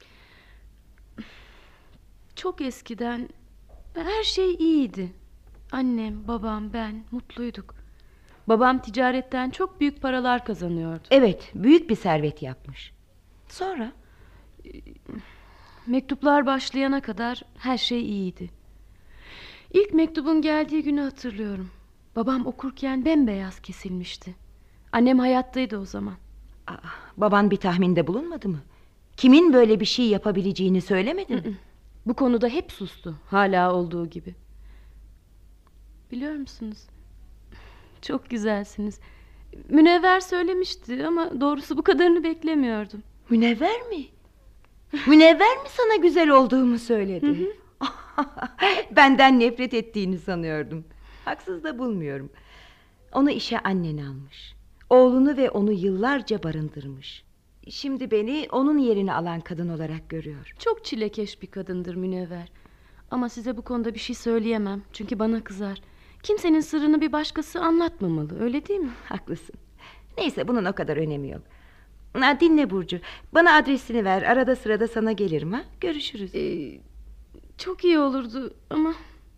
Çok eskiden her şey iyiydi. Annem, babam, ben mutluyduk. Babam ticaretten çok büyük paralar kazanıyordu. Evet, büyük bir servet yapmış. Sonra? Mektuplar başlayana kadar her şey iyiydi. İlk mektubun geldiği günü hatırlıyorum. Babam okurken bembeyaz kesilmişti. Annem hayattaydı o zaman. Baban bir tahminde bulunmadı mı? Kimin böyle bir şey yapabileceğini söylemedi mi? Bu konuda hep sustu. Hala olduğu gibi. Biliyor musunuz? Çok güzelsiniz. Münevver söylemişti ama doğrusu bu kadarını beklemiyordum. Münevver mi? Münevver mi sana güzel olduğumu söyledi? Benden nefret ettiğini sanıyordum. Haksız da bulmuyorum. Onu işe annen almış. Oğlunu ve onu yıllarca barındırmış. Şimdi beni onun yerini alan kadın olarak görüyor. Çok çilekeş bir kadındır Münevver. Ama size bu konuda bir şey söyleyemem. Çünkü bana kızar. Kimsenin sırrını bir başkası anlatmamalı, öyle değil mi? Haklısın. Neyse, bunun o kadar önemi yok. Dinle Burcu. Bana adresini ver. Arada sırada sana gelirim, ha? Görüşürüz. Çok iyi olurdu ama...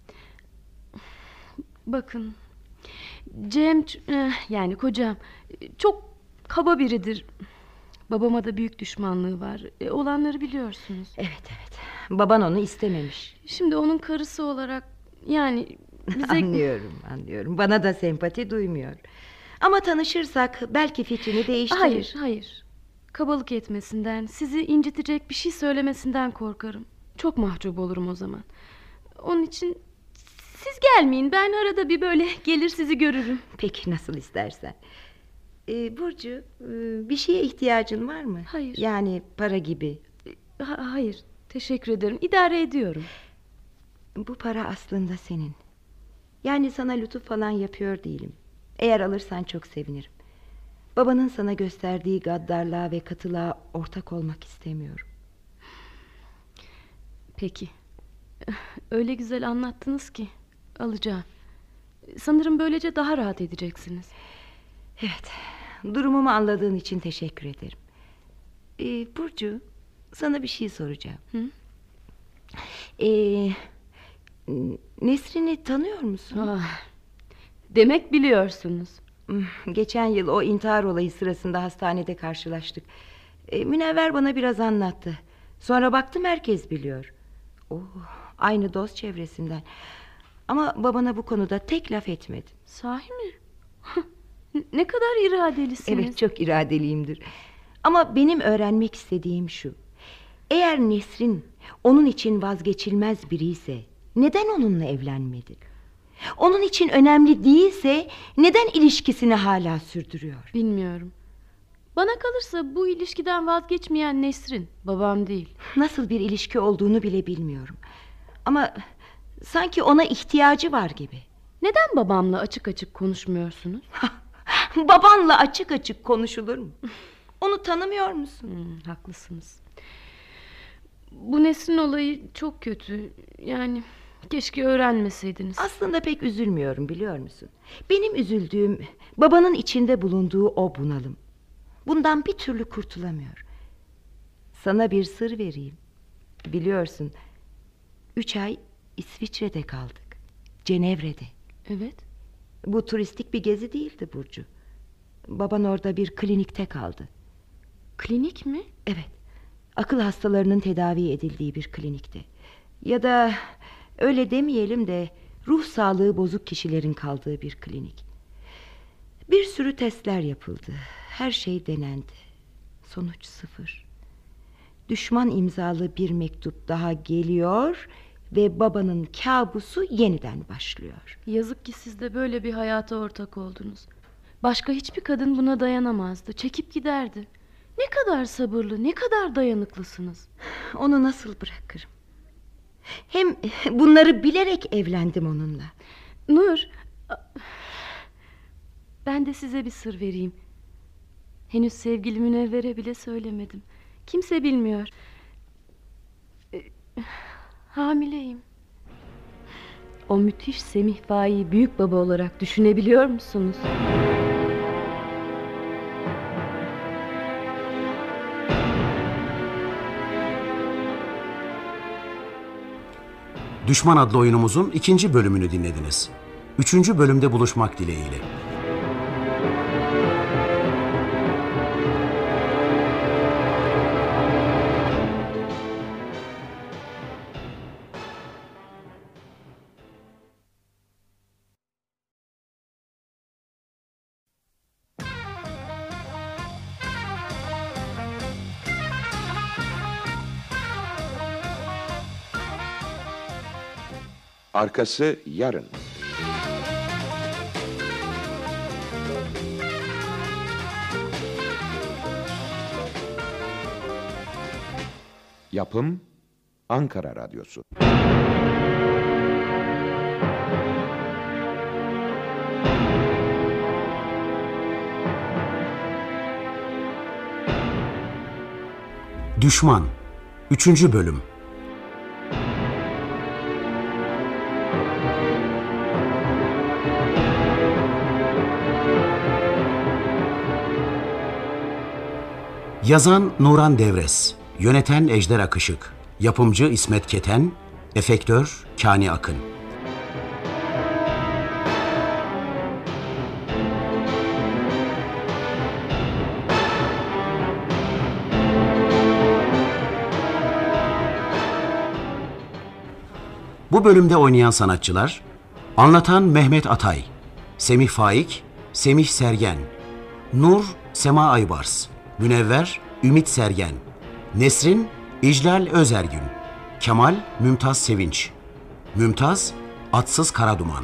Bakın... Cem, yani kocam çok kaba biridir. Babama da büyük düşmanlığı var. Olanları biliyorsunuz. Evet. Baban onu istememiş. Şimdi onun karısı olarak yani bize... Anlıyorum. Bana da sempati duymuyor. Ama tanışırsak belki fikrini değiştirir. Hayır. Kabalık etmesinden, sizi incitecek bir şey söylemesinden korkarım. Çok mahcup olurum o zaman. Onun için siz gelmeyin. Ben arada bir böyle gelir sizi görürüm. Peki, nasıl istersen. Burcu, bir şeye ihtiyacın var mı? Hayır. Yani para gibi. Hayır. Teşekkür ederim. İdare ediyorum. Bu para aslında senin. Yani sana lütuf falan yapıyor değilim. Eğer alırsan çok sevinirim. Babanın sana gösterdiği gaddarlığa ve katılığa ortak olmak istemiyorum. Peki. Öyle güzel anlattınız ki alacağım. Sanırım böylece daha rahat edeceksiniz. Evet. Durumumu anladığın için teşekkür ederim. Burcu, sana bir şey soracağım. Hı? Nesrin'i tanıyor musun? Demek biliyorsunuz. Geçen yıl o intihar olayı sırasında hastanede karşılaştık. Münevver bana biraz anlattı. Sonra baktım herkes biliyor. Aynı dost çevresinden. Ama babana bu konuda tek laf etmedi. Sahi mi? Ne kadar iradelisiniz. Evet, çok iradeliyimdir. Ama benim öğrenmek istediğim şu: eğer Nesrin onun için vazgeçilmez biri ise neden onunla evlenmedi? Onun için önemli değilse neden ilişkisini hala sürdürüyor? Bilmiyorum. Bana kalırsa bu ilişkiden vazgeçmeyen Nesrin, babam değil. Nasıl bir ilişki olduğunu bile bilmiyorum. Ama sanki ona ihtiyacı var gibi. Neden babamla açık açık konuşmuyorsunuz? Babanla açık açık konuşulur mu? Onu tanımıyor musun? Haklısınız. Bu Nesrin olayı çok kötü. Yani keşke öğrenmeseydiniz. Aslında pek üzülmüyorum, biliyor musun? Benim üzüldüğüm babanın içinde bulunduğu o bunalım. Bundan bir türlü kurtulamıyor. Sana bir sır vereyim. Biliyorsun, 3 ay İsviçre'de kaldık. Cenevre'de. Evet. Bu turistik bir gezi değildi Burcu. Baban orada bir klinikte kaldı. Klinik mi? Evet. Akıl hastalarının tedavi edildiği bir klinikte. Ya da öyle demeyelim de ruh sağlığı bozuk kişilerin kaldığı bir klinik. Bir sürü testler yapıldı. Her şey denendi. Sonuç 0. Düşman imzalı bir mektup daha geliyor ve babanın kabusu yeniden başlıyor. Yazık ki siz de böyle bir hayata ortak oldunuz. Başka hiçbir kadın buna dayanamazdı. Çekip giderdi. Ne kadar sabırlı, ne kadar dayanıklısınız. Onu nasıl bırakırım? Hem bunları bilerek evlendim onunla. Nur, ben de size bir sır vereyim. Henüz sevgili Münevver'e bile söylemedim. Kimse bilmiyor. Hamileyim. O müthiş Semih Faik'i büyük baba olarak düşünebiliyor musunuz? Düşman adlı oyunumuzun 2. bölümünü dinlediniz. 3. bölümde buluşmak dileğiyle. Arkası yarın. Yapım Ankara Radyosu. Düşman 3. bölüm. Yazan Nuran Devres, yöneten Ejder Akışık, yapımcı İsmet Keten, efektör Kani Akın. Bu bölümde oynayan sanatçılar: anlatan Mehmet Atay, Semih Faik, Semih Sergen, Nur Sema Aybars, Münevver Ümit Sergen, Nesrin İclal Özergün, Kemal Mümtaz Sevinç, Mümtaz Atsız Karaduman.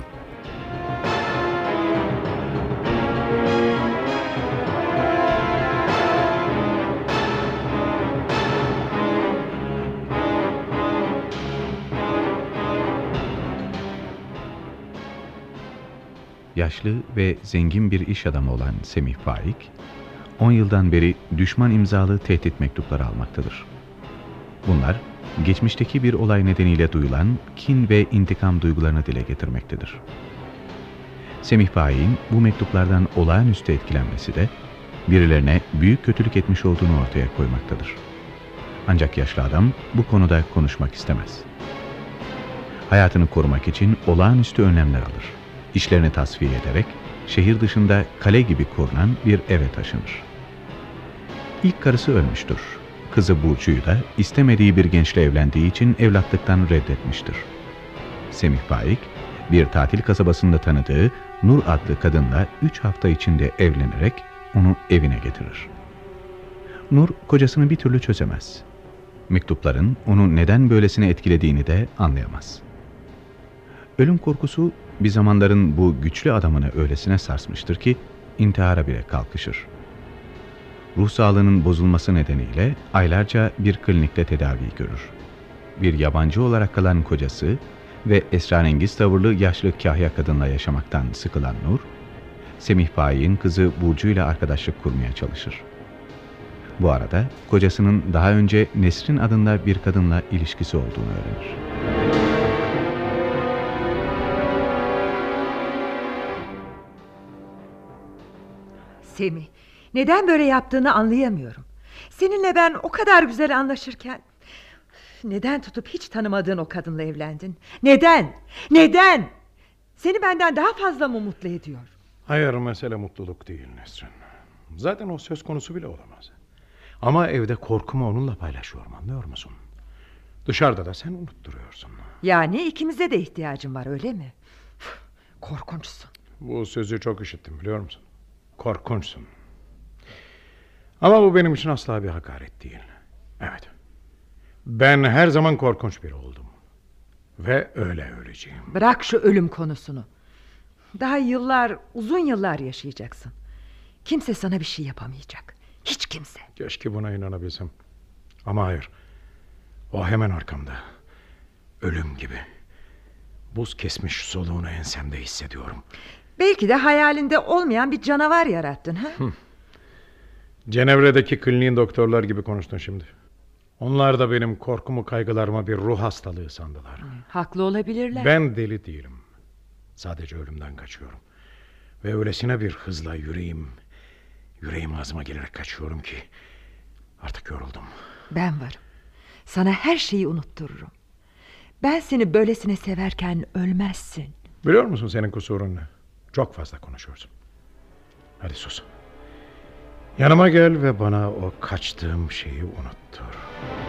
yaşlı ve zengin bir iş adamı olan Semih Faik, 10 yıldan beri düşman imzalı tehdit mektupları almaktadır. Bunlar, geçmişteki bir olay nedeniyle duyulan kin ve intikam duygularını dile getirmektedir. Semih Faik'in bu mektuplardan olağanüstü etkilenmesi de, birilerine büyük kötülük etmiş olduğunu ortaya koymaktadır. Ancak yaşlı adam bu konuda konuşmak istemez. Hayatını korumak için olağanüstü önlemler alır. İşlerini tasfiye ederek şehir dışında kale gibi korunan bir eve taşınır. İlk karısı ölmüştür. Kızı Burcu'yu da istemediği bir gençle evlendiği için evlatlıktan reddetmiştir. Semih Faik, bir tatil kasabasında tanıdığı Nur adlı kadınla 3 hafta içinde evlenerek onu evine getirir. Nur kocasını bir türlü çözemez. Mektupların onu neden böylesine etkilediğini de anlayamaz. Ölüm korkusu bir zamanların bu güçlü adamını öylesine sarsmıştır ki intihara bile kalkışır. Ruh sağlığının bozulması nedeniyle aylarca bir klinikte tedavi görür. Bir yabancı olarak kalan kocası ve esrarengiz tavırlı yaşlı kahya kadınla yaşamaktan sıkılan Nur, Semih Faik'in kızı Burcu ile arkadaşlık kurmaya çalışır. Bu arada kocasının daha önce Nesrin adında bir kadınla ilişkisi olduğunu öğrenir. Semih, neden böyle yaptığını anlayamıyorum. Seninle ben o kadar güzel anlaşırken neden tutup hiç tanımadığın o kadınla evlendin? Neden? Neden? Seni benden daha fazla mı mutlu ediyor? Hayır, mesele mutluluk değil Nesrin. Zaten o söz konusu bile olamaz. Ama evde korkumu onunla paylaşıyorum, anlıyor musun? Dışarıda da sen unutturuyorsun. Yani ikimize de ihtiyacım var, öyle mi? Korkunçsun. Bu sözü çok işittim, biliyor musun? Korkunçsun. Ama bu benim için asla bir hakaret değil. Evet. Ben her zaman korkunç biri oldum. Ve öyle öleceğim. Bırak şu ölüm konusunu. Daha yıllar, uzun yıllar yaşayacaksın. Kimse sana bir şey yapamayacak. Hiç kimse. Keşke buna inanabilsem. Ama hayır. O hemen arkamda. Ölüm gibi. Buz kesmiş soluğunu ensemde hissediyorum. Belki de hayalinde olmayan bir canavar yarattın, ha? Cenevre'deki kliniğin doktorlar gibi konuştun şimdi. Onlar da benim korkumu, kaygılarıma bir ruh hastalığı sandılar. Haklı olabilirler. Ben deli değilim. Sadece ölümden kaçıyorum. Ve öylesine bir hızla yüreğim ağzıma gelerek kaçıyorum ki artık yoruldum. Ben varım. Sana her şeyi unuttururum. Ben seni böylesine severken ölmezsin. Biliyor musun senin kusurun ne? Çok fazla konuşuyorsun. Hadi sus. Yanıma gel ve bana o kaçtığım şeyi unuttur.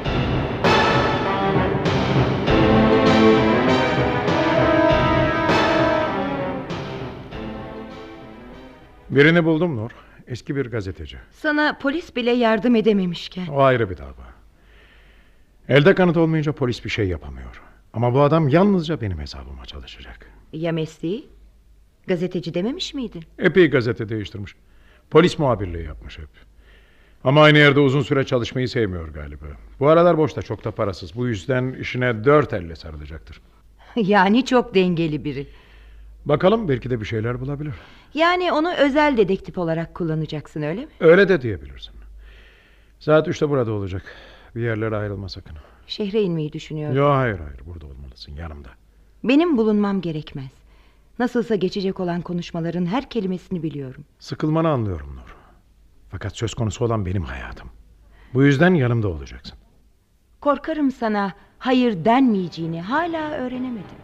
Birini buldum Nur. Eski bir gazeteci. Sana polis bile yardım edememişken. O ayrı bir dava. Elde kanıt olmayınca polis bir şey yapamıyor. Ama bu adam yalnızca benim hesabıma çalışacak. Ya mesleği? Gazeteci dememiş miydin? Epey gazete değiştirmiş. Polis muhabirliği yapmış hep. Ama aynı yerde uzun süre çalışmayı sevmiyor galiba. Bu aralar boşta, çok da parasız. Bu yüzden işine 4 elle sarılacaktır. Yani çok dengeli biri. Bakalım, belki de bir şeyler bulabilir. Yani onu özel dedektif olarak kullanacaksın, öyle mi? Öyle de diyebilirsin. Saat 3'te burada olacak. Bir yerlere ayrılma sakın. Şehre inmeyi düşünüyorum. Yok, hayır, burada olmalısın, yanımda. Benim bulunmam gerekmez. Nasılsa geçecek olan konuşmaların her kelimesini biliyorum. Sıkılmanı anlıyorum Nur. Fakat söz konusu olan benim hayatım. Bu yüzden yanımda olacaksın. Korkarım sana hayır denmeyeceğini hala öğrenemedim.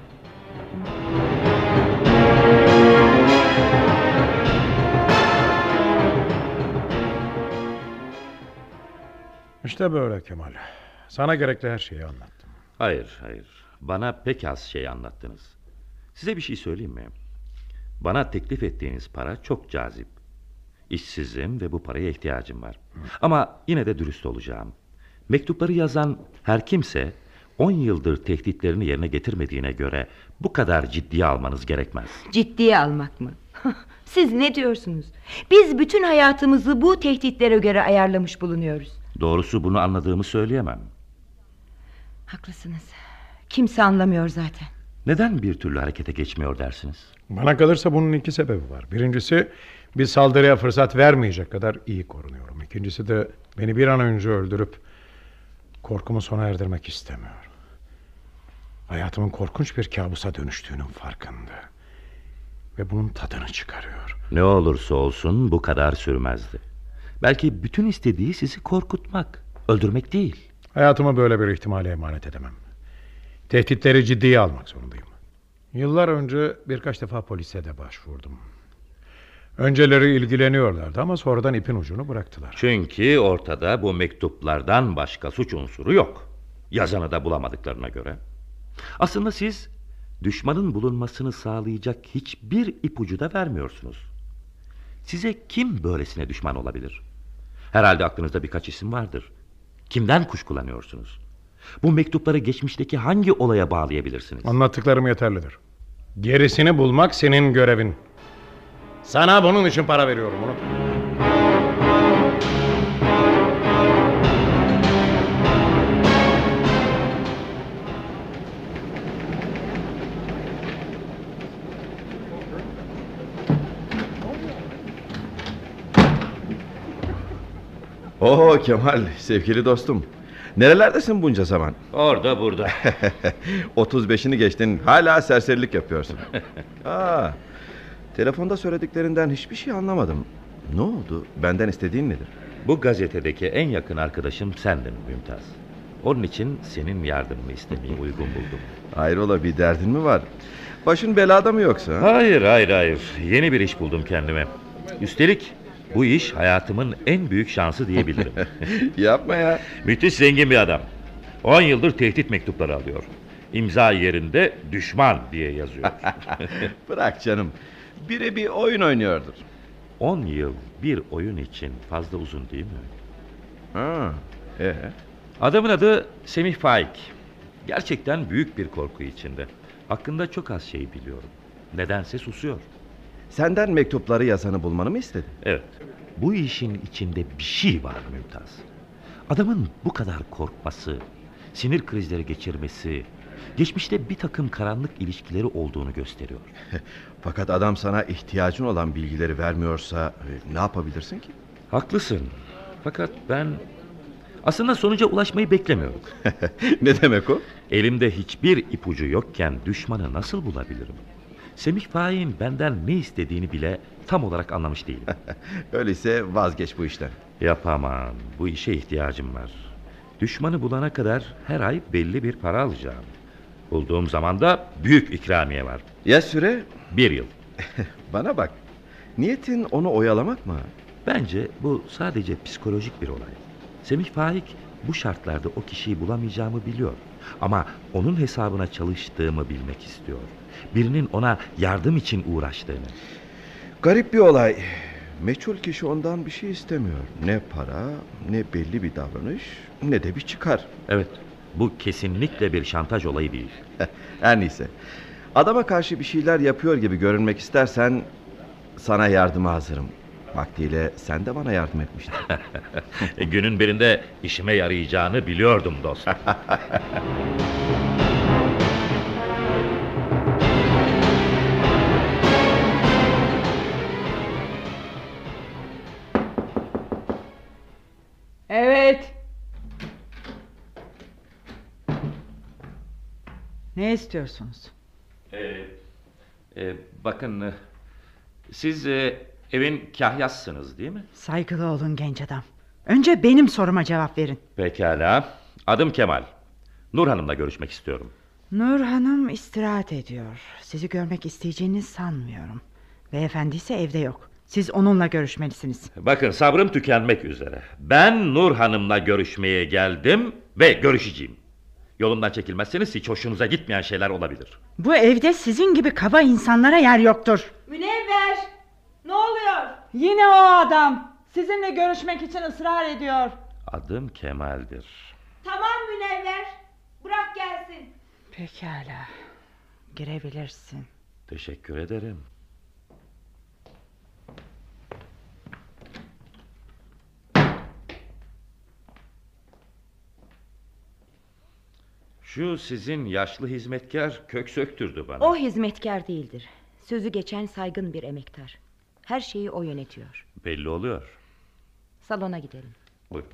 İşte böyle Kemal. Sana gerekli her şeyi anlattım. Hayır. Bana pek az şey anlattınız. Size bir şey söyleyeyim mi? Bana teklif ettiğiniz para çok cazip. İşsizim ve bu paraya ihtiyacım var. Ama yine de dürüst olacağım. Mektupları yazan her kimse 10 yıldır tehditlerini yerine getirmediğine göre bu kadar ciddiye almanız gerekmez. Ciddiye almak mı? Siz ne diyorsunuz? Biz bütün hayatımızı bu tehditlere göre ayarlamış bulunuyoruz. Doğrusu bunu anladığımı söyleyemem. Haklısınız. Kimse anlamıyor zaten. Neden bir türlü harekete geçmiyor dersiniz? Bana kalırsa bunun iki sebebi var. Birincisi, bir saldırıya fırsat vermeyecek kadar iyi korunuyorum. İkincisi de beni bir an önce öldürüp korkumu sona erdirmek istemiyor. Hayatımın korkunç bir kabusa dönüştüğünün farkında. Ve bunun tadını çıkarıyor. Ne olursa olsun bu kadar sürmezdi. Belki bütün istediği sizi korkutmak, öldürmek değil. Hayatımı böyle bir ihtimale emanet edemem. Tehditleri ciddiye almak zorundayım. Yıllar önce birkaç defa polise de başvurdum. Önceleri ilgileniyorlardı ama sonradan ipin ucunu bıraktılar. Çünkü ortada bu mektuplardan başka suç unsuru yok. Yazanı da bulamadıklarına göre. Aslında siz düşmanın bulunmasını sağlayacak hiçbir ipucu da vermiyorsunuz. Size kim böylesine düşman olabilir? Herhalde aklınızda birkaç isim vardır. Kimden kuşkulanıyorsunuz? Bu mektupları geçmişteki hangi olaya bağlayabilirsiniz? Anlattıklarım yeterlidir. Gerisini bulmak senin görevin. Sana bunun için para veriyorum, unutma. Oo Kemal, sevgili dostum. Nerelerdesin bunca zaman? Orada burada. 35'ini geçtin, hala serserilik yapıyorsun. Telefonda söylediklerinden hiçbir şey anlamadım. Ne oldu? Benden istediğin nedir? Bu gazetedeki en yakın arkadaşım sendin Mümtaz. Onun için senin yardımını istemeyi uygun buldum. Hayrola, bir derdin mi var? Başın belada mı yoksa? Hayır. Yeni bir iş buldum kendime. Üstelik bu iş hayatımın en büyük şansı diyebilirim. Yapma ya. Müthiş zengin bir adam. 10 yıldır tehdit mektupları alıyor. İmza yerinde düşman diye yazıyor. Bırak canım. Biri bir oyun oynuyordur. 10 yıl bir oyun için fazla uzun değil mi? Adamın adı Semih Faik. Gerçekten büyük bir korku içinde. Hakkında çok az şey biliyorum. Nedense susuyor. Senden mektupları yazanı bulmanı mı istedi? Evet. Bu işin içinde bir şey var Mümtaz. Adamın bu kadar korkması, sinir krizleri geçirmesi, geçmişte bir takım karanlık ilişkileri olduğunu gösteriyor. Fakat adam sana ihtiyacın olan bilgileri vermiyorsa ne yapabilirsin ki? Haklısın. Fakat ben aslında sonuca ulaşmayı beklemiyorum. Ne demek o? Elimde hiçbir ipucu yokken düşmanı nasıl bulabilirim? Semih Faik'in benden ne istediğini bile tam olarak anlamış değilim. Öyleyse vazgeç bu işten. Yapamam. Bu işe ihtiyacım var. Düşmanı bulana kadar her ay belli bir para alacağım. Bulduğum zaman da büyük ikramiye var. Ya süre? 1 yıl. Bana bak. Niyetin onu oyalamak mı? Bence bu sadece psikolojik bir olay. Semih Faik bu şartlarda o kişiyi bulamayacağımı biliyor. Ama onun hesabına çalıştığımı bilmek istiyor. Birinin ona yardım için uğraştığını. Garip bir olay. Meçhul kişi ondan bir şey istemiyor. Ne para, ne belli bir davranış, ne de bir çıkar. Evet, bu kesinlikle bir şantaj olayı değil. Her neyse. Adama karşı bir şeyler yapıyor gibi görünmek istersen sana yardıma hazırım. Vaktiyle sen de bana yardım etmiştin. Günün birinde işime yarayacağını biliyordum dostum. Evet. Ne istiyorsunuz? Bakın, siz evin kahyasısınız değil mi? Saygılı olun genç adam. Önce benim soruma cevap verin. Pekala. Adım Kemal. Nur Hanım'la görüşmek istiyorum. Nur Hanım istirahat ediyor. Sizi görmek isteyeceğini sanmıyorum. Beyefendi ise evde yok. Siz onunla görüşmelisiniz. Bakın, sabrım tükenmek üzere. Ben Nur Hanım'la görüşmeye geldim ve görüşeceğim. Yolumdan çekilmezseniz hiç hoşunuza gitmeyen şeyler olabilir. Bu evde sizin gibi kaba insanlara yer yoktur. Münevver! Ne oluyor? Yine o adam. Sizinle görüşmek için ısrar ediyor. Adım Kemal'dir. Tamam Münevver. Bırak gelsin. Pekala. Girebilirsin. Teşekkür ederim. Şu sizin yaşlı hizmetkar kök söktürdü bana. O hizmetkar değildir. Sözü geçen saygın bir emektar. Her şeyi o yönetiyor. Belli oluyor. Salona gidelim. Buyurun.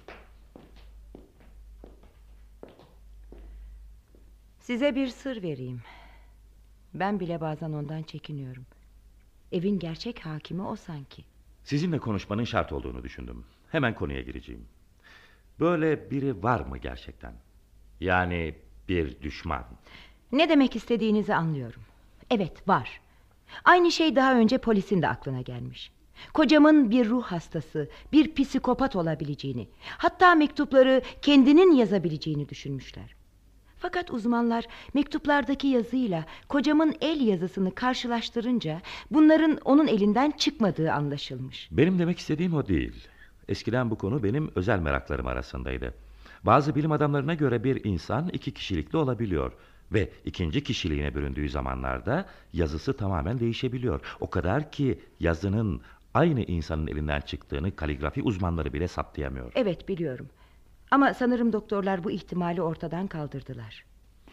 Size bir sır vereyim. Ben bile bazen ondan çekiniyorum. Evin gerçek hakimi o sanki. Sizinle konuşmanın şart olduğunu düşündüm. Hemen konuya gireceğim. Böyle biri var mı gerçekten? Yani bir düşman. Ne demek istediğinizi anlıyorum. Evet, var. Aynı şey daha önce polisin de aklına gelmiş. Kocamın bir ruh hastası, bir psikopat olabileceğini, hatta mektupları kendinin yazabileceğini düşünmüşler. Fakat uzmanlar mektuplardaki yazıyla kocamın el yazısını karşılaştırınca bunların onun elinden çıkmadığı anlaşılmış. Benim demek istediğim o değil. Eskiden bu konu benim özel meraklarım arasındaydı. Bazı bilim adamlarına göre bir insan 2 kişilikli olabiliyor ve ikinci kişiliğine büründüğü zamanlarda yazısı tamamen değişebiliyor. O kadar ki yazının aynı insanın elinden çıktığını kaligrafi uzmanları bile saptayamıyor. Evet, biliyorum. Ama sanırım doktorlar bu ihtimali ortadan kaldırdılar.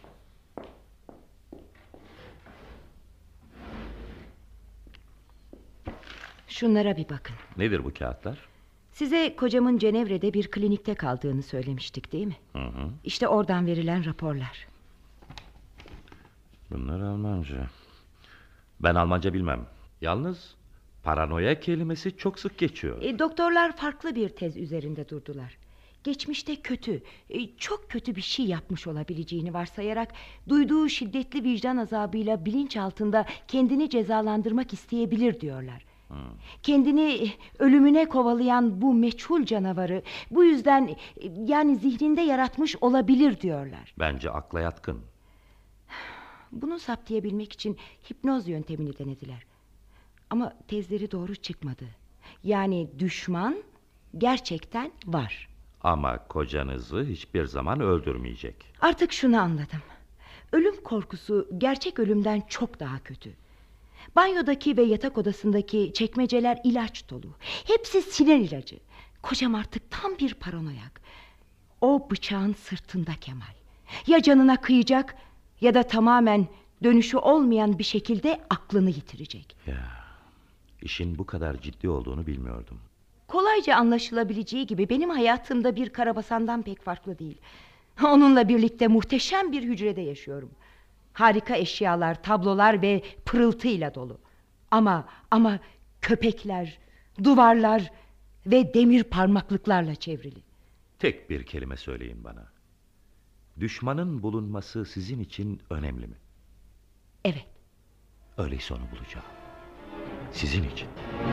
Şunlara bir bakın. Nedir bu kağıtlar? Size kocamın Cenevre'de bir klinikte kaldığını söylemiştik, değil mi? Hı. İşte oradan verilen raporlar. Bunlar Almanca. Ben Almanca bilmem. Yalnız paranoya kelimesi çok sık geçiyor. Doktorlar farklı bir tez üzerinde durdular. Geçmişte kötü, çok kötü bir şey yapmış olabileceğini varsayarak duyduğu şiddetli vicdan azabıyla bilinç altında kendini cezalandırmak isteyebilir diyorlar. Kendini ölümüne kovalayan bu meçhul canavarı bu yüzden yani zihninde yaratmış olabilir diyorlar. Bence akla yatkın. Bunu saptayabilmek için hipnoz yöntemini denediler. Ama tezleri doğru çıkmadı. Yani düşman gerçekten var. Ama kocanızı hiçbir zaman öldürmeyecek. Artık şunu anladım. Ölüm korkusu gerçek ölümden çok daha kötü. Banyodaki ve yatak odasındaki çekmeceler ilaç dolu. Hepsi sinir ilacı. Kocam artık tam bir paranoyak. O bıçağın sırtında Kemal. Ya canına kıyacak ya da tamamen dönüşü olmayan bir şekilde aklını yitirecek. Ya, işin bu kadar ciddi olduğunu bilmiyordum. Kolayca anlaşılabileceği gibi benim hayatımda bir karabasandan pek farklı değil. Onunla birlikte muhteşem bir hücrede yaşıyorum. Harika eşyalar, tablolar ve pırıltıyla dolu. Ama köpekler, duvarlar ve demir parmaklıklarla çevrili. Tek bir kelime söyleyin bana. Düşmanın bulunması sizin için önemli mi? Evet. Öyleyse onu bulacağım. Sizin için.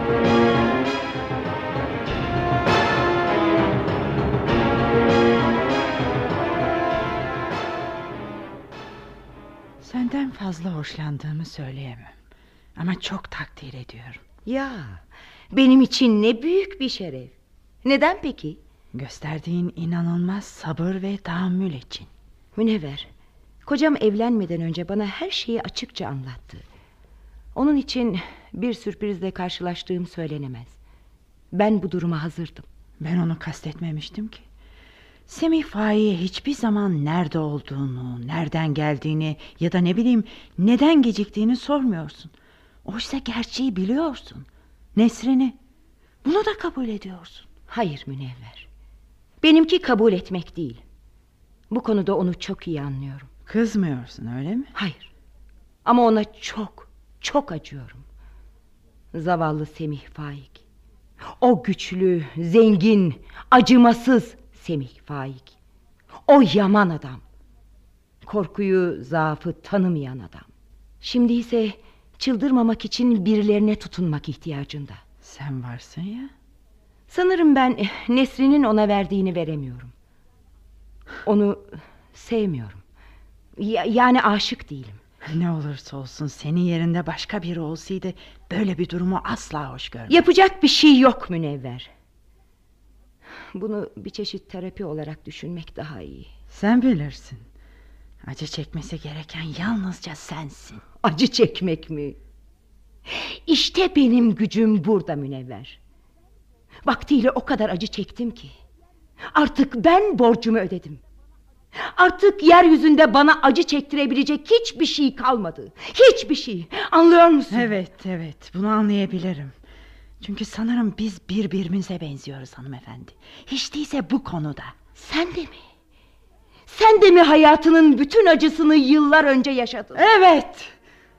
Senden fazla hoşlandığımı söyleyemem. Ama çok takdir ediyorum. Ya, benim için ne büyük bir şeref. Neden peki? Gösterdiğin inanılmaz sabır ve tahammül için. Münevver, kocam evlenmeden önce bana her şeyi açıkça anlattı. Onun için bir sürprizle karşılaştığım söylenemez. Ben bu duruma hazırdım. Ben onu kastetmemiştim ki. Semih Faik'e hiçbir zaman nerede olduğunu, nereden geldiğini ya da ne bileyim neden geciktiğini sormuyorsun. Oysa gerçeği biliyorsun. Nesrin'i. Bunu da kabul ediyorsun. Hayır Münevver. Benimki kabul etmek değil. Bu konuda onu çok iyi anlıyorum. Kızmıyorsun öyle mi? Hayır. Ama ona çok acıyorum. Zavallı Semih Faik. O güçlü, zengin, acımasız Semih Faik. O yaman adam. Korkuyu, zaafı tanımayan adam. Şimdi ise çıldırmamak için birilerine tutunmak ihtiyacında. Sen varsın ya. Sanırım ben Nesrin'in ona verdiğini veremiyorum. Onu sevmiyorum. Yani aşık değilim. Ne olursa olsun senin yerinde başka biri olsaydı böyle bir durumu asla hoş görmem. Yapacak bir şey yok Münevver. Bunu bir çeşit terapi olarak düşünmek daha iyi. Sen bilirsin. Acı çekmesi gereken yalnızca sensin. Acı çekmek mi? İşte benim gücüm burada Münevver. Vaktiyle o kadar acı çektim ki artık ben borcumu ödedim. Artık yeryüzünde bana acı çektirebilecek hiçbir şey kalmadı. Hiçbir şey. Anlıyor musun? Evet, bunu anlayabilirim. Çünkü sanırım biz birbirimize benziyoruz hanımefendi. Hiç değilse bu konuda. Sen de mi? Sen de mi hayatının bütün acısını yıllar önce yaşadın? Evet.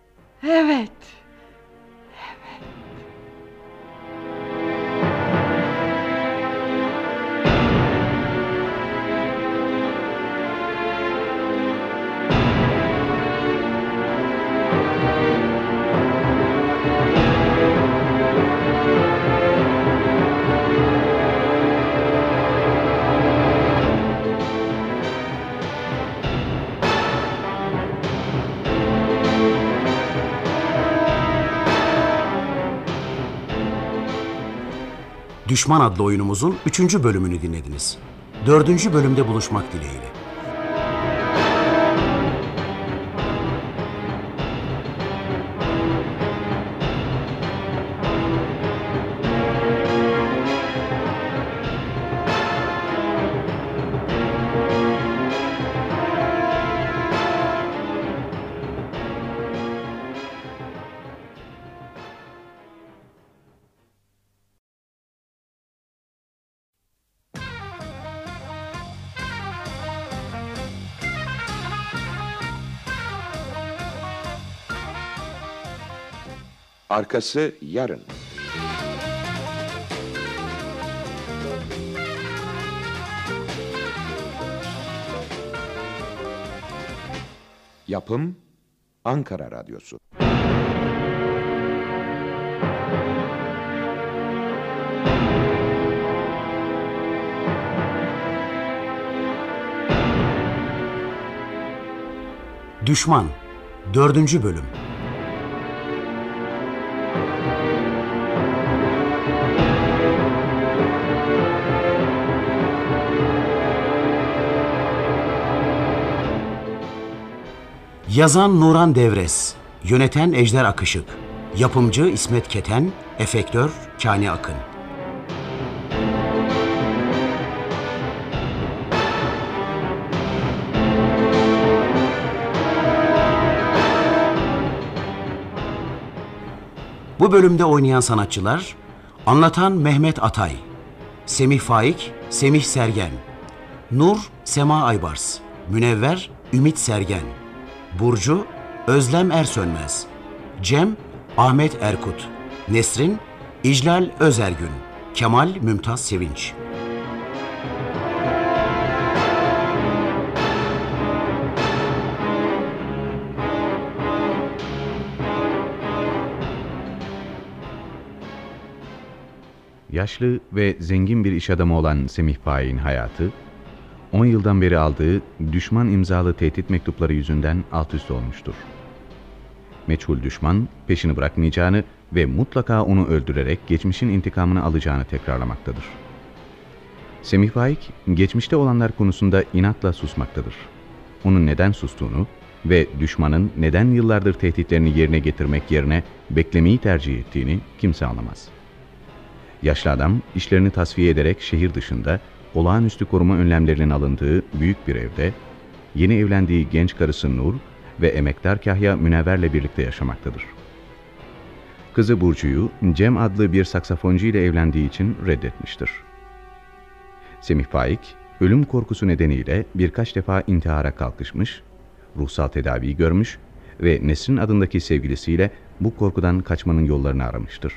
Düşman adlı oyunumuzun 3. bölümünü dinlediniz. 4. bölümde buluşmak dileğiyle. Arkası yarın. Yapım Ankara Radyosu. Düşman 4. bölüm. Yazan Nuran Devres, yöneten Ejder Akışık, yapımcı İsmet Keten, efektör Kani Akın. Bu bölümde oynayan sanatçılar: anlatan Mehmet Atay, Semih Faik, Semih Sergen, Nur, Sema Aybars, Münevver, Ümit Sergen, Burcu, Özlem Ersönmez, Cem, Ahmet Erkut, Nesrin, İclal Özergün, Kemal Mümtaz Sevinç. Yaşlı ve zengin bir iş adamı olan Semih Faik'in hayatı, 10 yıldan beri aldığı düşman imzalı tehdit mektupları yüzünden alt üst olmuştur. Meçhul düşman peşini bırakmayacağını ve mutlaka onu öldürerek geçmişin intikamını alacağını tekrarlamaktadır. Semih Faik, geçmişte olanlar konusunda inatla susmaktadır. Onun neden sustuğunu ve düşmanın neden yıllardır tehditlerini yerine getirmek yerine beklemeyi tercih ettiğini kimse anlamaz. Yaşlı adam işlerini tasfiye ederek şehir dışında olağanüstü koruma önlemlerinin alındığı büyük bir evde yeni evlendiği genç karısı Nur ve emektar kahya Münevver'le birlikte yaşamaktadır. Kızı Burcu'yu Cem adlı bir saksafoncu ile evlendiği için reddetmiştir. Semih Faik, ölüm korkusu nedeniyle birkaç defa intihara kalkışmış, ruhsal tedavi görmüş ve Nesrin adındaki sevgilisiyle bu korkudan kaçmanın yollarını aramıştır.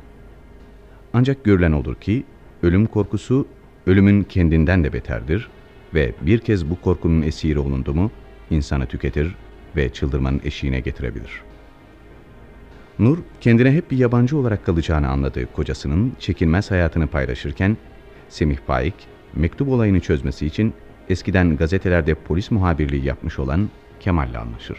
Ancak görülen olur ki ölüm korkusu ölümün kendinden de beterdir ve bir kez bu korkunun esiri olundu mu insanı tüketir ve çıldırmanın eşiğine getirebilir. Nur kendine hep bir yabancı olarak kalacağını anladığı kocasının çekilmez hayatını paylaşırken Semih Faik mektup olayını çözmesi için eskiden gazetelerde polis muhabirliği yapmış olan Kemal'le anlaşır.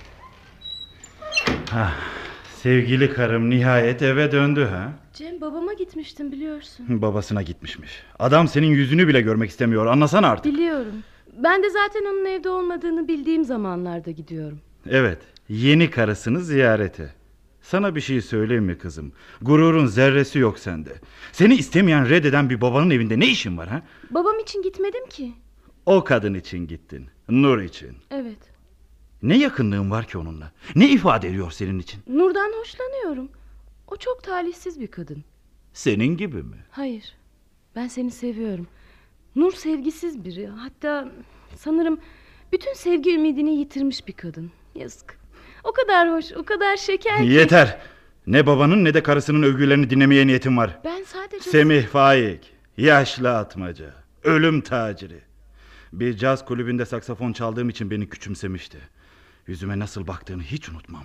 Sevgili karım nihayet eve döndü ha? Cem babama gitmiştim biliyorsun. Babasına gitmişmiş. Adam senin yüzünü bile görmek istemiyor, anlasana artık. Biliyorum. Ben de zaten onun evde olmadığını bildiğim zamanlarda gidiyorum. Evet, yeni karısını ziyarete. Sana bir şey söyleyeyim mi kızım? Gururun zerresi yok sende. Seni istemeyen, reddeden bir babanın evinde ne işin var ha? Babam için gitmedim ki. O kadın için gittin, Nur için. Evet. Ne yakınlığın var ki onunla? Ne ifade ediyor senin için? Nur'dan hoşlanıyorum. O çok talihsiz bir kadın. Senin gibi mi? Hayır. Ben seni seviyorum. Nur sevgisiz biri. Hatta sanırım bütün sevgi ümidini yitirmiş bir kadın. Yazık. O kadar hoş, o kadar şeker ki. Yeter. Ne babanın ne de karısının övgülerini dinlemeye niyetim var. Ben sadece... Semih Faik, yaşlı atmaca, ölüm taciri. Bir caz kulübünde saksafon çaldığım için beni küçümsemişti. Yüzüme nasıl baktığını hiç unutmam.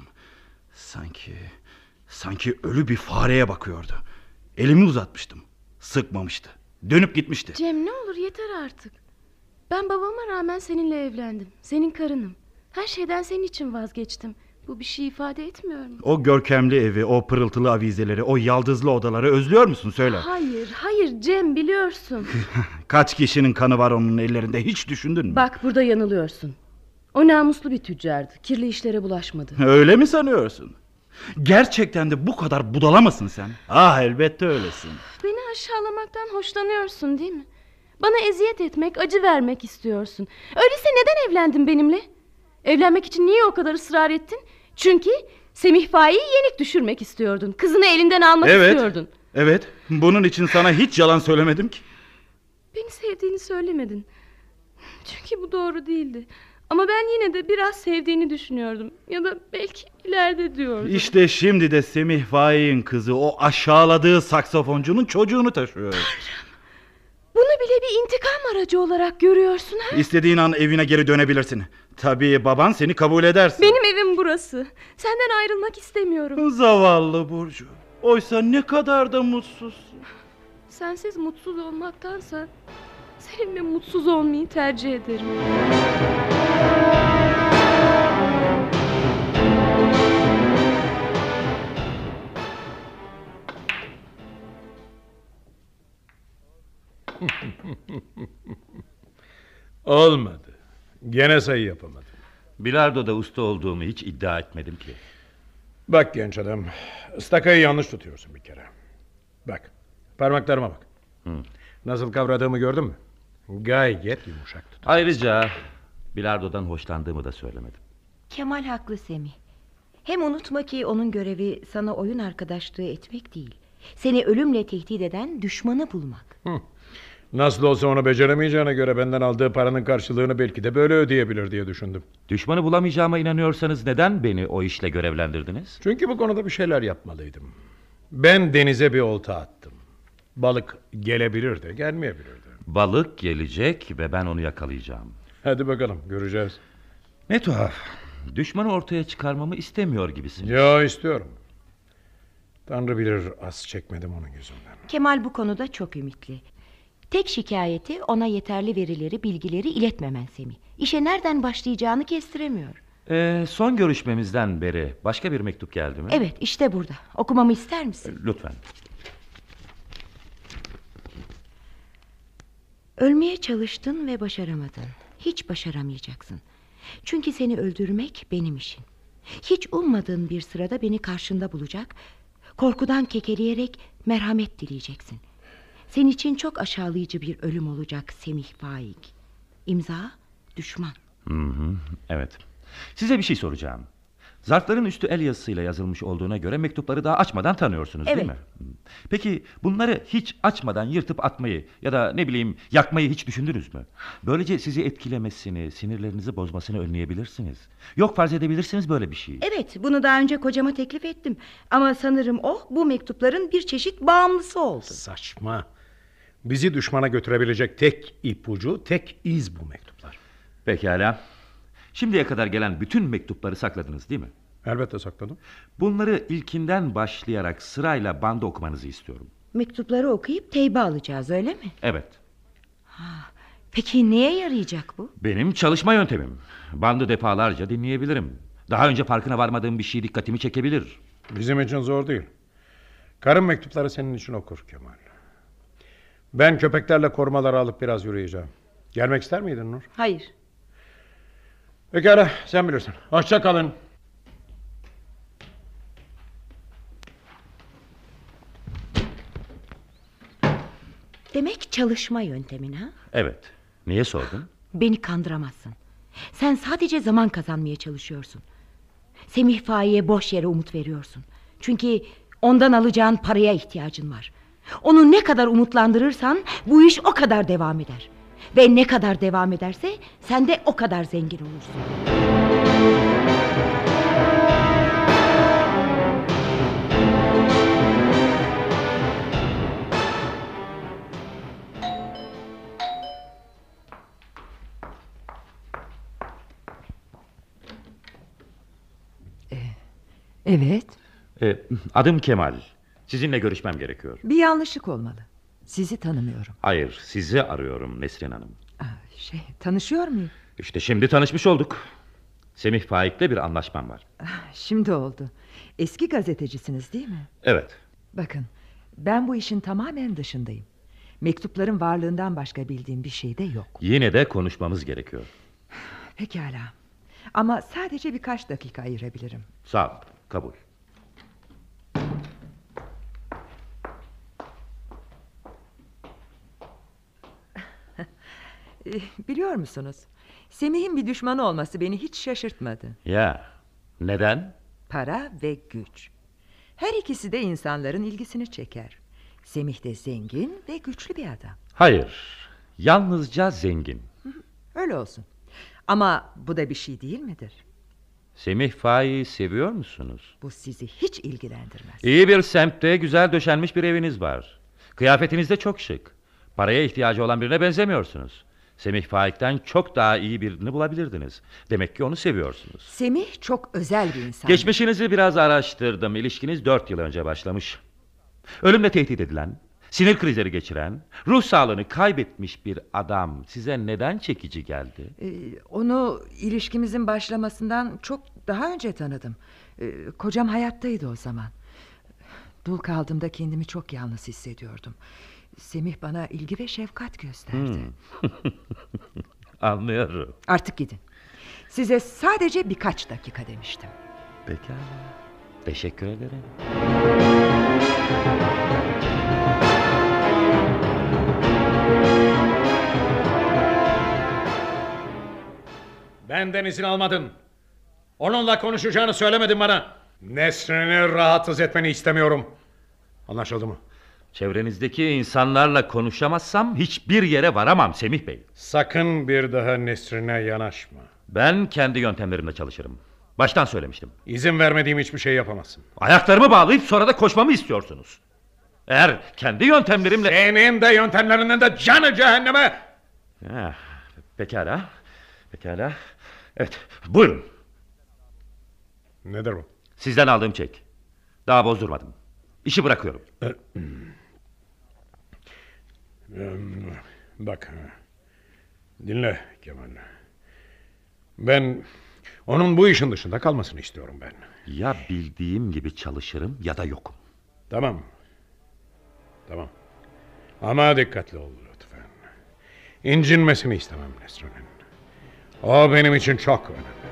Sanki ölü bir fareye bakıyordu. Elimi uzatmıştım. Sıkmamıştı. Dönüp gitmişti. Cem, ne olur yeter artık. Ben babama rağmen seninle evlendim. Senin karınım. Her şeyden senin için vazgeçtim. Bu bir şey ifade etmiyor mu? O görkemli evi, o pırıltılı avizeleri, o yaldızlı odaları özlüyor musun, söyle. Hayır Cem, biliyorsun. Kaç kişinin kanı var onun ellerinde, hiç düşündün mü? Bak, burada yanılıyorsun. O namuslu bir tüccardı. Kirli işlere bulaşmadı. Öyle mi sanıyorsun? Gerçekten de bu kadar budala mısın sen? Ah, elbette öylesin. Beni aşağılamaktan hoşlanıyorsun değil mi? Bana eziyet etmek, acı vermek istiyorsun. Öyleyse neden evlendin benimle? Evlenmek için niye o kadar ısrar ettin? Çünkü Semih Faik'i yenik düşürmek istiyordun. Kızını elinden almak istiyordun. Evet, bunun için sana hiç yalan söylemedim ki. Beni sevdiğini söylemedin. Çünkü bu doğru değildi. Ama ben yine de biraz sevdiğini düşünüyordum. Ya da belki ileride diyordum. İşte şimdi de Semih Faik'in kızı o aşağıladığı saksafoncunun çocuğunu taşıyor. Bunu bile bir intikam aracı olarak görüyorsun ha? İstediğin an evine geri dönebilirsin. Tabii baban seni kabul edersin. Benim evim burası. Senden ayrılmak istemiyorum. Zavallı Burcu. Oysa ne kadar da mutsuzsun. Sensiz mutsuz olmaktansa seninle mutsuz olmayı tercih ederim. Olmadı. Gene sayı yapamadım. Bilardo'da usta olduğumu hiç iddia etmedim ki. Bak genç adam, ıstakayı yanlış tutuyorsun bir kere. Bak, parmaklarıma bak. Nasıl kavradığımı gördün mü? Gayet yumuşak tut. Ayrıca bilardodan hoşlandığımı da söylemedim. Kemal haklı Semih. Hem unutma ki onun görevi sana oyun arkadaşlığı etmek değil. Seni ölümle tehdit eden düşmanı bulmak. Nasıl olsa onu beceremeyeceğine göre benden aldığı paranın karşılığını belki de böyle ödeyebilir diye düşündüm. Düşmanı bulamayacağıma inanıyorsanız neden beni o işle görevlendirdiniz? Çünkü bu konuda bir şeyler yapmalıydım. Ben denize bir olta attım. Balık gelebilir de gelmeyebilir de. Balık gelecek ve ben onu yakalayacağım. Hadi bakalım, göreceğiz. Ne tuhaf. Düşmanı ortaya çıkarmamı istemiyor gibisiniz. Ya istiyorum. Tanrı bilir az çekmedim onun yüzünden. Kemal bu konuda çok ümitli. Tek şikayeti ona yeterli verileri, bilgileri iletmemen Semih. İşe nereden başlayacağını kestiremiyor. Son görüşmemizden beri başka bir mektup geldi mi? Evet, işte burada. Okumamı ister misin? Lütfen. Ölmeye çalıştın ve başaramadın. Hiç başaramayacaksın. Çünkü seni öldürmek benim işim. Hiç ummadığın bir sırada beni karşında bulacak, korkudan kekeleyerek merhamet dileyeceksin. Senin için çok aşağılayıcı bir ölüm olacak Semih Faik. İmza düşman. Evet. Size bir şey soracağım. Zarfların üstü el yazısıyla yazılmış olduğuna göre mektupları daha açmadan tanıyorsunuz, evet, değil mi? Peki bunları hiç açmadan yırtıp atmayı ya da ne bileyim yakmayı hiç düşündünüz mü? Böylece sizi etkilemesini, sinirlerinizi bozmasını önleyebilirsiniz. Yok, farz edebilirsiniz böyle bir şeyi. Evet, bunu daha önce kocama teklif ettim. Ama sanırım o bu mektupların bir çeşit bağımlısı oldu. Saçma. Bizi düşmana götürebilecek tek ipucu, tek iz bu mektuplar. Pekala. Şimdiye kadar gelen bütün mektupları sakladınız değil mi? Elbette sakladım. Bunları ilkinden başlayarak sırayla banda okumanızı istiyorum. Mektupları okuyup teybe alacağız, öyle mi? Evet. Peki neye yarayacak bu? Benim çalışma yöntemim. Bandı defalarca dinleyebilirim. Daha önce farkına varmadığım bir şey dikkatimi çekebilir. Bizim için zor değil. Karım mektupları senin için okur Kemal. Ben köpeklerle korumaları alıp biraz yürüyeceğim. Gelmek ister miydin Nur? Hayır. Pekala, sen bilirsin. Hoşça kalın. Demek çalışma yöntemin ha? Evet. Niye sordun? Beni kandıramazsın. Sen sadece zaman kazanmaya çalışıyorsun. Semih Faik'e boş yere umut veriyorsun. Çünkü ondan alacağın paraya ihtiyacın var. Onu ne kadar umutlandırırsan bu iş o kadar devam eder. Ve ne kadar devam ederse sen de o kadar zengin olursun. Evet. Adım Kemal. Sizinle görüşmem gerekiyor. Bir yanlışlık olmalı. Sizi tanımıyorum. Hayır, sizi arıyorum Nesrin Hanım. Tanışıyor muyum? İşte şimdi tanışmış olduk. Semih Faik'le bir anlaşmam var. Şimdi oldu. Eski gazetecisiniz değil mi? Evet. Bakın, ben bu işin tamamen dışındayım. Mektupların varlığından başka bildiğim bir şey de yok. Yine de konuşmamız gerekiyor. Pekala. Ama sadece birkaç dakika ayırabilirim. Sağ ol, kabul. Biliyor musunuz? Semih'in bir düşmanı olması beni hiç şaşırtmadı. Ya, neden? Para ve güç. Her ikisi de insanların ilgisini çeker. Semih de zengin ve güçlü bir adam. Hayır, yalnızca zengin. Öyle olsun. Ama bu da bir şey değil midir? Semih Faik'i seviyor musunuz? Bu sizi hiç ilgilendirmez. İyi bir semtte güzel döşenmiş bir eviniz var. Kıyafetiniz de çok şık. Paraya ihtiyacı olan birine benzemiyorsunuz. Semih Faik'ten çok daha iyi birini bulabilirdiniz. Demek ki onu seviyorsunuz. Semih çok özel bir insan. Geçmişinizi biraz araştırdım. İlişkiniz 4 yıl önce başlamış. Ölümle tehdit edilen, sinir krizleri geçiren, ruh sağlığını kaybetmiş bir adam size neden çekici geldi? Onu ilişkimizin başlamasından çok daha önce tanıdım. Kocam hayattaydı o zaman. Dul kaldığımda kendimi çok yalnız hissediyordum. Semih bana ilgi ve şefkat gösterdi. Anlıyorum. Artık gidin. Size sadece birkaç dakika demiştim. Pekala. Teşekkür ederim. Benden izin almadın. Onunla konuşacağını söylemedin bana. Nesrin'i rahatsız etmeni istemiyorum. Anlaşıldı mı? Çevrenizdeki insanlarla konuşamazsam hiçbir yere varamam Semih Bey. Sakın bir daha Nesrin'e yanaşma. Ben kendi yöntemlerimle çalışırım. Baştan söylemiştim. İzin vermediğim hiçbir şey yapamazsın. Ayaklarımı bağlayıp sonra da koşmamı istiyorsunuz. Eğer kendi yöntemlerimle... Senin de yöntemlerinin de canı cehenneme! Pekala. Pekala. Evet, buyurun. Nedir bu? Sizden aldığım çek. Daha bozdurmadım. İşi bırakıyorum. Bak. Dinle Kemal. Ben onun bu işin dışında kalmasını istiyorum ben. Ya bildiğim gibi çalışırım ya da yokum. Tamam. Tamam. Ama dikkatli ol lütfen. İncinmesini istemem Nesrin'in. O benim için çok önemli.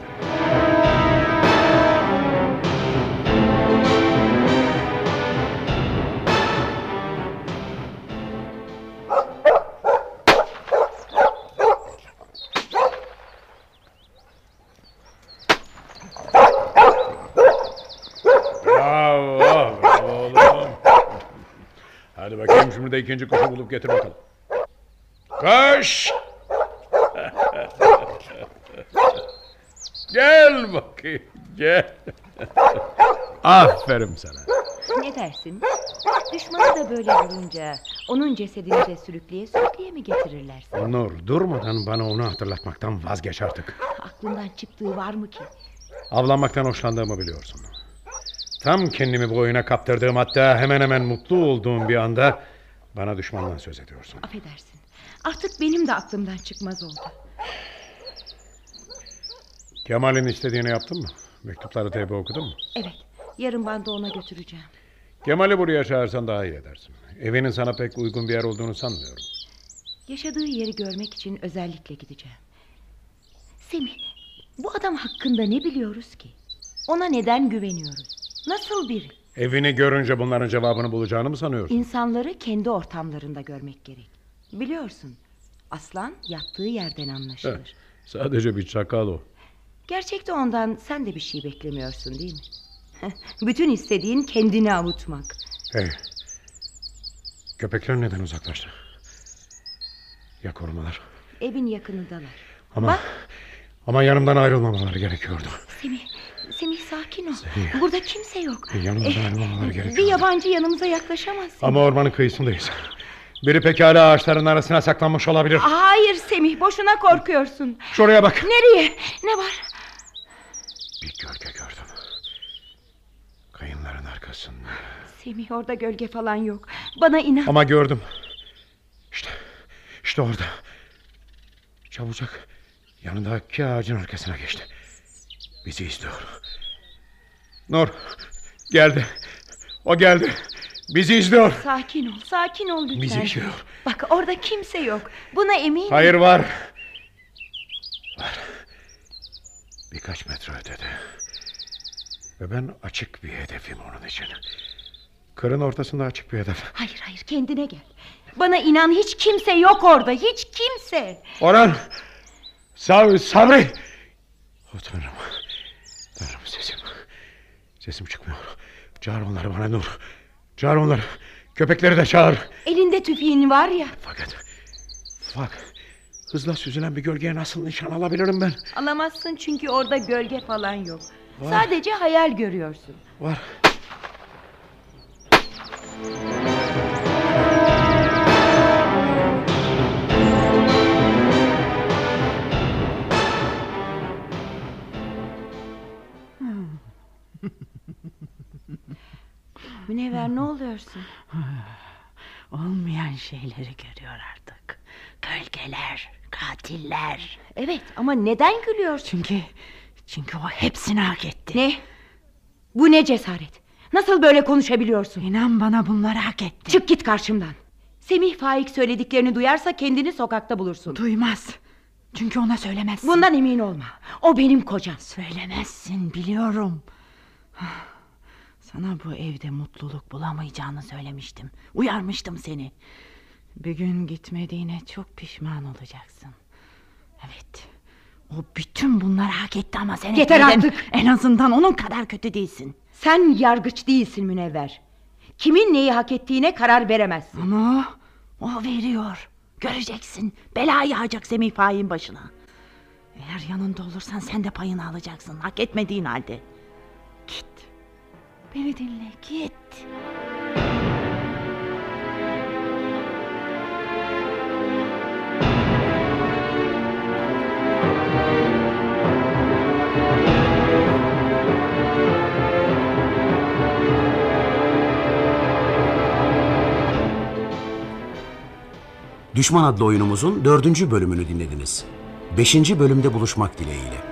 Bravo oğlum. Hadi bakayım şimdi de ikinci kuşu bulup getir bakalım. Koş! Gel bakayım, gel. Aferin sana. Ne dersin? Düşmanı da böyle vurunca onun cesedini de sürükleye sürükleye mi getirirler sana? Nur, durmadan bana onu hatırlatmaktan vazgeç artık. Aklından çıktığı var mı ki? Avlanmaktan hoşlandığımı biliyorsun. Tam kendimi bu oyuna kaptırdığım, hatta hemen hemen mutlu olduğum bir anda bana düşmandan söz ediyorsun. Affedersin. Artık benim de aklımdan çıkmaz oldu. Kemal'in istediğini yaptın mı? Mektupları teybe okudun mu? Evet. Yarın bandı ona götüreceğim. Kemal'i buraya çağırsan daha iyi edersin. Evinin sana pek uygun bir yer olduğunu sanmıyorum. Yaşadığı yeri görmek için özellikle gideceğim. Semih, bu adam hakkında ne biliyoruz ki? Ona neden güveniyoruz? Nasıl biri? Evini görünce bunların cevabını bulacağını mı sanıyorsun? İnsanları kendi ortamlarında görmek gerek. Biliyorsun, aslan yattığı yerden anlaşılır. Sadece bir çakal o. Gerçekte ondan sen de bir şey beklemiyorsun değil mi? Bütün istediğin kendini avutmak. Hey, köpekler neden uzaklaştı? Ya korumalar? Evin yakınındalar. Ama yanımdan ayrılmamaları gerekiyordu. Semih sakin ol. Burada kimse yok. Yanımdan ayrılmamaları gerekiyordu. Bir yabancı yanımıza yaklaşamaz. Ama ormanın kıyısındayız. Biri pekala ağaçların arasına saklanmış olabilir. Hayır Semih, boşuna korkuyorsun. Şuraya bak. Nereye? Ne var? Bir gölge gördüm. Kayınların arkasında. Semih, orada gölge falan yok. Bana inan. Ama gördüm. İşte orada. Çabucak yanındaki ağacın arkasına geçti. Bizi izliyor. Nur geldi. O geldi. Bizi izliyor. Sakin ol lütfen. Bizi izliyor. Bak orada kimse yok. Buna eminim. Hayır var. Birkaç metre ötede. Ve ben açık bir hedefim onun için. Kırın ortasında açık bir hedef. Hayır kendine gel. Bana inan, hiç kimse yok orada. Hiç kimse. Orhan. Sabri. Oh Tanrım. Tanrım, sesim çıkmıyor. Çağır onları bana Nur. Çağır onları. Köpekleri de çağır. Elinde tüfeğin var ya. Fakat hızla süzülen bir gölgeye nasıl nişan alabilirim ben? Alamazsın çünkü orada gölge falan yok. Var. Sadece hayal görüyorsun. Var. Münevver, ne oluyorsun? Olmayan şeyleri görüyor artık. Gölgeler, katiller. Evet, ama neden gülüyorsun? Çünkü o hepsini hak etti. Ne? Bu ne cesaret? Nasıl böyle konuşabiliyorsun? İnan bana, bunları hak etti. Çık git karşımdan. Semih Faik söylediklerini duyarsa kendini sokakta bulursun. Duymaz. Çünkü ona söylemezsin. Bundan emin olma. O benim kocam. Söylemezsin, biliyorum. Sana bu evde mutluluk bulamayacağını söylemiştim. Uyarmıştım seni. Bir gün gitmediğine çok pişman olacaksın. Evet. O bütün bunları hak etti ama sen yeter etmedin. artık. En azından onun kadar kötü değilsin. Sen yargıç değilsin Münevver. Kimin neyi hak ettiğine karar veremezsin. Ama o veriyor. Göreceksin. Bela yağacak Semih Faik'in başına. Eğer yanında olursan sen de payını alacaksın. Hak etmediğin halde. Git. Beni dinle, git. Düşman adlı oyunumuzun 4. bölümünü dinlediniz. 5. bölümde buluşmak dileğiyle.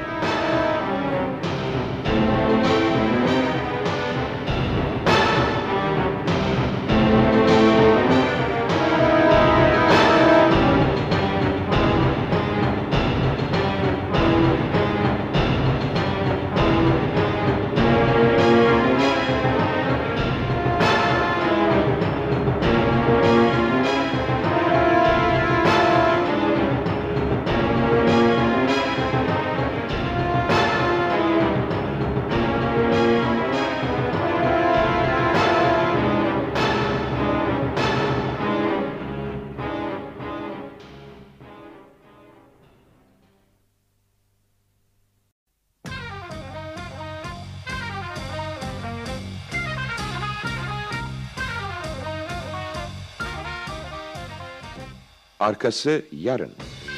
Arkası yarın.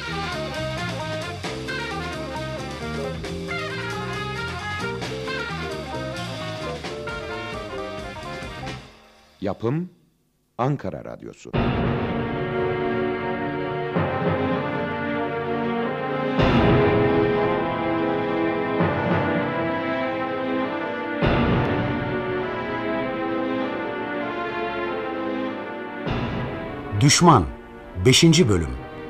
Yapım Ankara Radyosu. Düşman 5. Bölüm.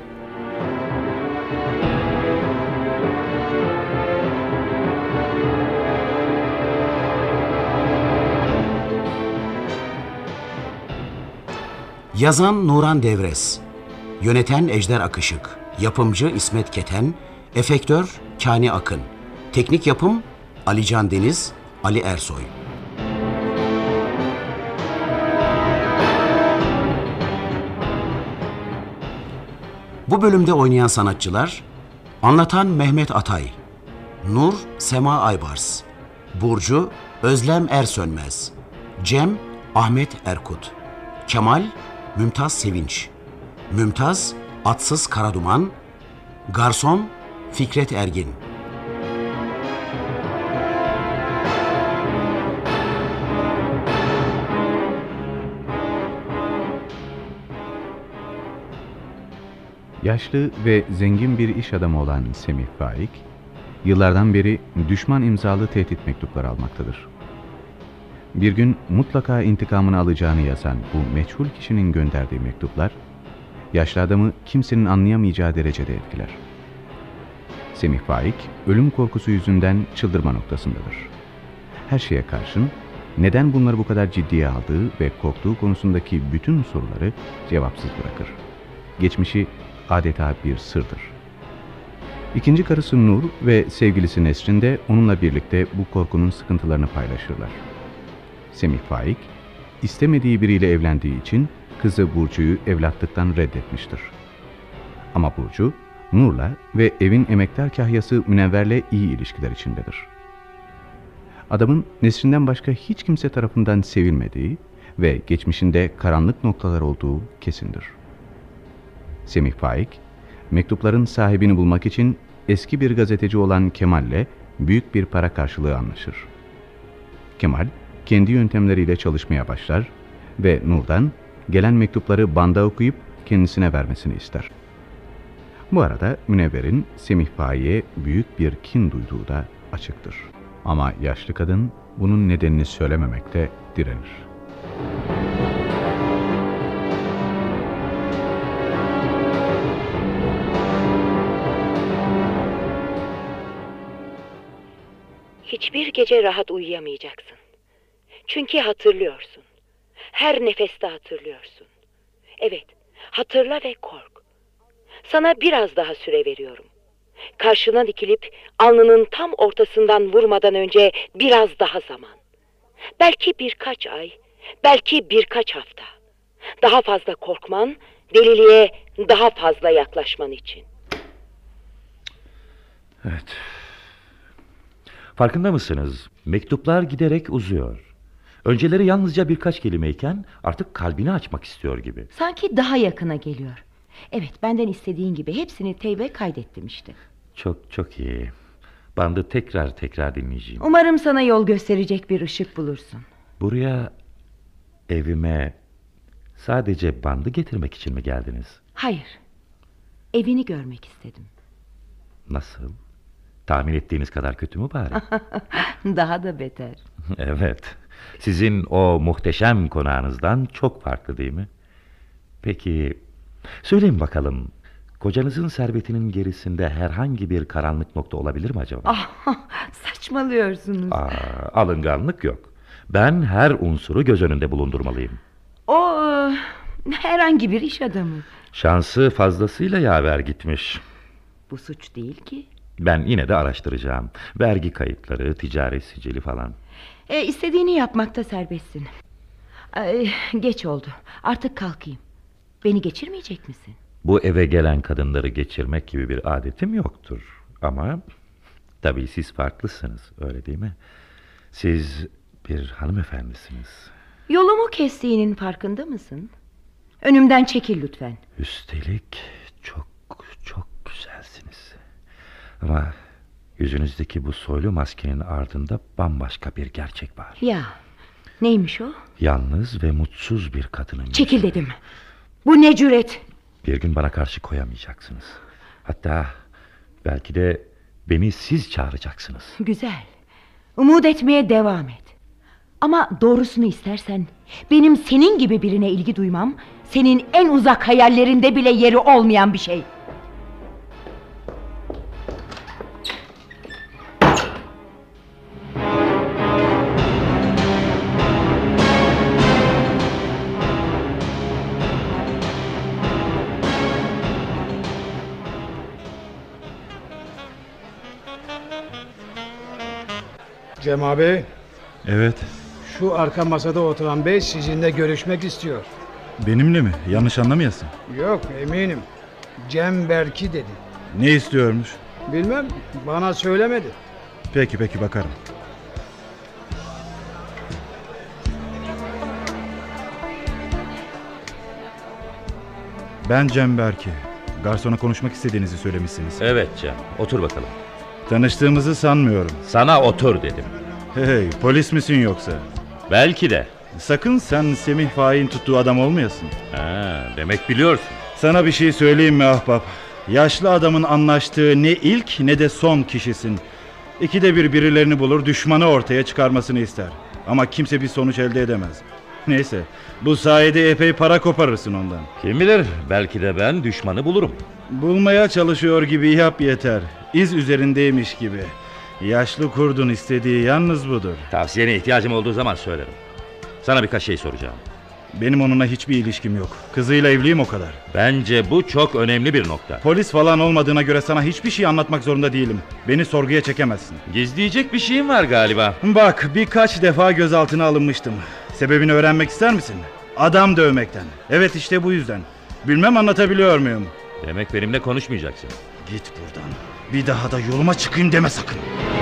Yazan Nuran Devres, yöneten Ejder Akışık, yapımcı İsmet Keten, efektör Kani Akın, teknik yapım Alican Deniz, Ali Ersoy. Bu bölümde oynayan sanatçılar: anlatan Mehmet Atay, Nur Sema Aybars, Burcu Özlem Ersönmez, Cem Ahmet Erkut, Kemal Mümtaz Sevinç, Mümtaz Atsız Karaduman, Garson Fikret Ergin. Yaşlı ve zengin bir iş adamı olan Semih Faik, yıllardan beri düşman imzalı tehdit mektupları almaktadır. Bir gün mutlaka intikamını alacağını yazan bu meçhul kişinin gönderdiği mektuplar, yaşlı adamı kimsenin anlayamayacağı derecede etkiler. Semih Faik, ölüm korkusu yüzünden çıldırma noktasındadır. Her şeye karşın, neden bunları bu kadar ciddiye aldığı ve korktuğu konusundaki bütün soruları cevapsız bırakır. Geçmişi adeta bir sırdır. İkinci karısı Nur ve sevgilisi Nesrin de onunla birlikte bu korkunun sıkıntılarını paylaşırlar. Semih Faik, istemediği biriyle evlendiği için kızı Burcu'yu evlatlıktan reddetmiştir. Ama Burcu, Nur'la ve evin emektar kahyası Münevver'le iyi ilişkiler içindedir. Adamın Nesrin'den başka hiç kimse tarafından sevilmediği ve geçmişinde karanlık noktalar olduğu kesindir. Semih Faik, mektupların sahibini bulmak için eski bir gazeteci olan Kemal'le büyük bir para karşılığı anlaşır. Kemal, kendi yöntemleriyle çalışmaya başlar ve Nur'dan gelen mektupları banda okuyup kendisine vermesini ister. Bu arada Münevver'in Semih Faik'e büyük bir kin duyduğu da açıktır. Ama yaşlı kadın bunun nedenini söylememekte direnir. Hiçbir gece rahat uyuyamayacaksın. Çünkü hatırlıyorsun. Her nefeste hatırlıyorsun. Evet, hatırla ve kork. Sana biraz daha süre veriyorum. Karşına dikilip alnının tam ortasından vurmadan önce biraz daha zaman. Belki birkaç ay, belki birkaç hafta. Daha fazla korkman, deliliğe daha fazla yaklaşman için. Evet. Farkında mısınız? Mektuplar giderek uzuyor. Önceleri yalnızca birkaç kelimeyken artık kalbini açmak istiyor gibi. Sanki daha yakına geliyor. Evet, benden istediğin gibi hepsini teybe kaydettim işte. Çok iyi. Bandı tekrar dinleyeceğim. Umarım sana yol gösterecek bir ışık bulursun. Buraya, evime sadece bandı getirmek için mi geldiniz? Hayır. Evini görmek istedim. Nasıl? Tahmin ettiğiniz kadar kötü mü bari? Daha da beter. Evet. Sizin o muhteşem konağınızdan çok farklı değil mi? Peki, söyleyin bakalım, kocanızın servetinin gerisinde herhangi bir karanlık nokta olabilir mi acaba? Saçmalıyorsunuz. Alınganlık yok. Ben her unsuru göz önünde bulundurmalıyım. O herhangi bir iş adamı. Şansı fazlasıyla yaver gitmiş. Bu suç değil ki. Ben yine de araştıracağım. Vergi kayıtları, ticari sicili falan. İstediğini yapmakta serbestsin. Geç oldu. Artık kalkayım. Beni geçirmeyecek misin? Bu eve gelen kadınları geçirmek gibi bir adetim yoktur. Ama tabii siz farklısınız, öyle değil mi? Siz bir hanımefendisiniz. Yolumu kestiğinin farkında mısın? Önümden çekil lütfen. Üstelik çok güzelsiniz. Ama yüzünüzdeki bu soylu maskenin ardında bambaşka bir gerçek var. Ya, neymiş o? Yalnız ve mutsuz bir kadının... Çekil dedim. Bu ne cüret? Bir gün bana karşı koyamayacaksınız. Hatta belki de beni siz çağıracaksınız. Güzel. Umut etmeye devam et. Ama doğrusunu istersen benim senin gibi birine ilgi duymam senin en uzak hayallerinde bile yeri olmayan bir şey. Cem abi, Evet. şu arka masada oturan bey sizinle görüşmek istiyor. Benimle mi? Yanlış anlamayasın. Yok, eminim. Cem Berki dedi. Ne istiyormuş? Bilmem, bana söylemedi. Peki bakarım. Ben Cem Berki. Garsona konuşmak istediğinizi söylemişsiniz. Evet Cem, otur bakalım. Tanıştığımızı sanmıyorum. Sana otur dedim. Hey, polis misin yoksa? Belki de. Sakın sen Semih Faik'in tuttuğu adam olmayasın. Demek biliyorsun. Sana bir şey söyleyeyim mi ahbap? Yaşlı adamın anlaştığı ne ilk ne de son kişisin. İkide bir birilerini bulur, düşmanı ortaya çıkarmasını ister. Ama kimse bir sonuç elde edemez. Neyse, bu sayede epey para koparırsın ondan. Kim bilir, belki de ben düşmanı bulurum. Bulmaya çalışıyor gibi yap yeter. İz üzerindeymiş gibi. Yaşlı kurdun istediği yalnız budur. Tavsiyene ihtiyacım olduğu zaman söylerim. Sana birkaç şey soracağım. Benim onunla hiçbir ilişkim yok. Kızıyla evliyim, o kadar. Bence bu çok önemli bir nokta. Polis falan olmadığına göre sana hiçbir şey anlatmak zorunda değilim. Beni sorguya çekemezsin. Gizleyecek bir şeyim var galiba. Bak, birkaç defa gözaltına alınmıştım. Sebebini öğrenmek ister misin? Adam dövmekten. Evet, işte bu yüzden. Bilmem anlatabiliyor muyum? Demek benimle konuşmayacaksın. Git buradan. Bir daha da yoluma çıkayım deme sakın.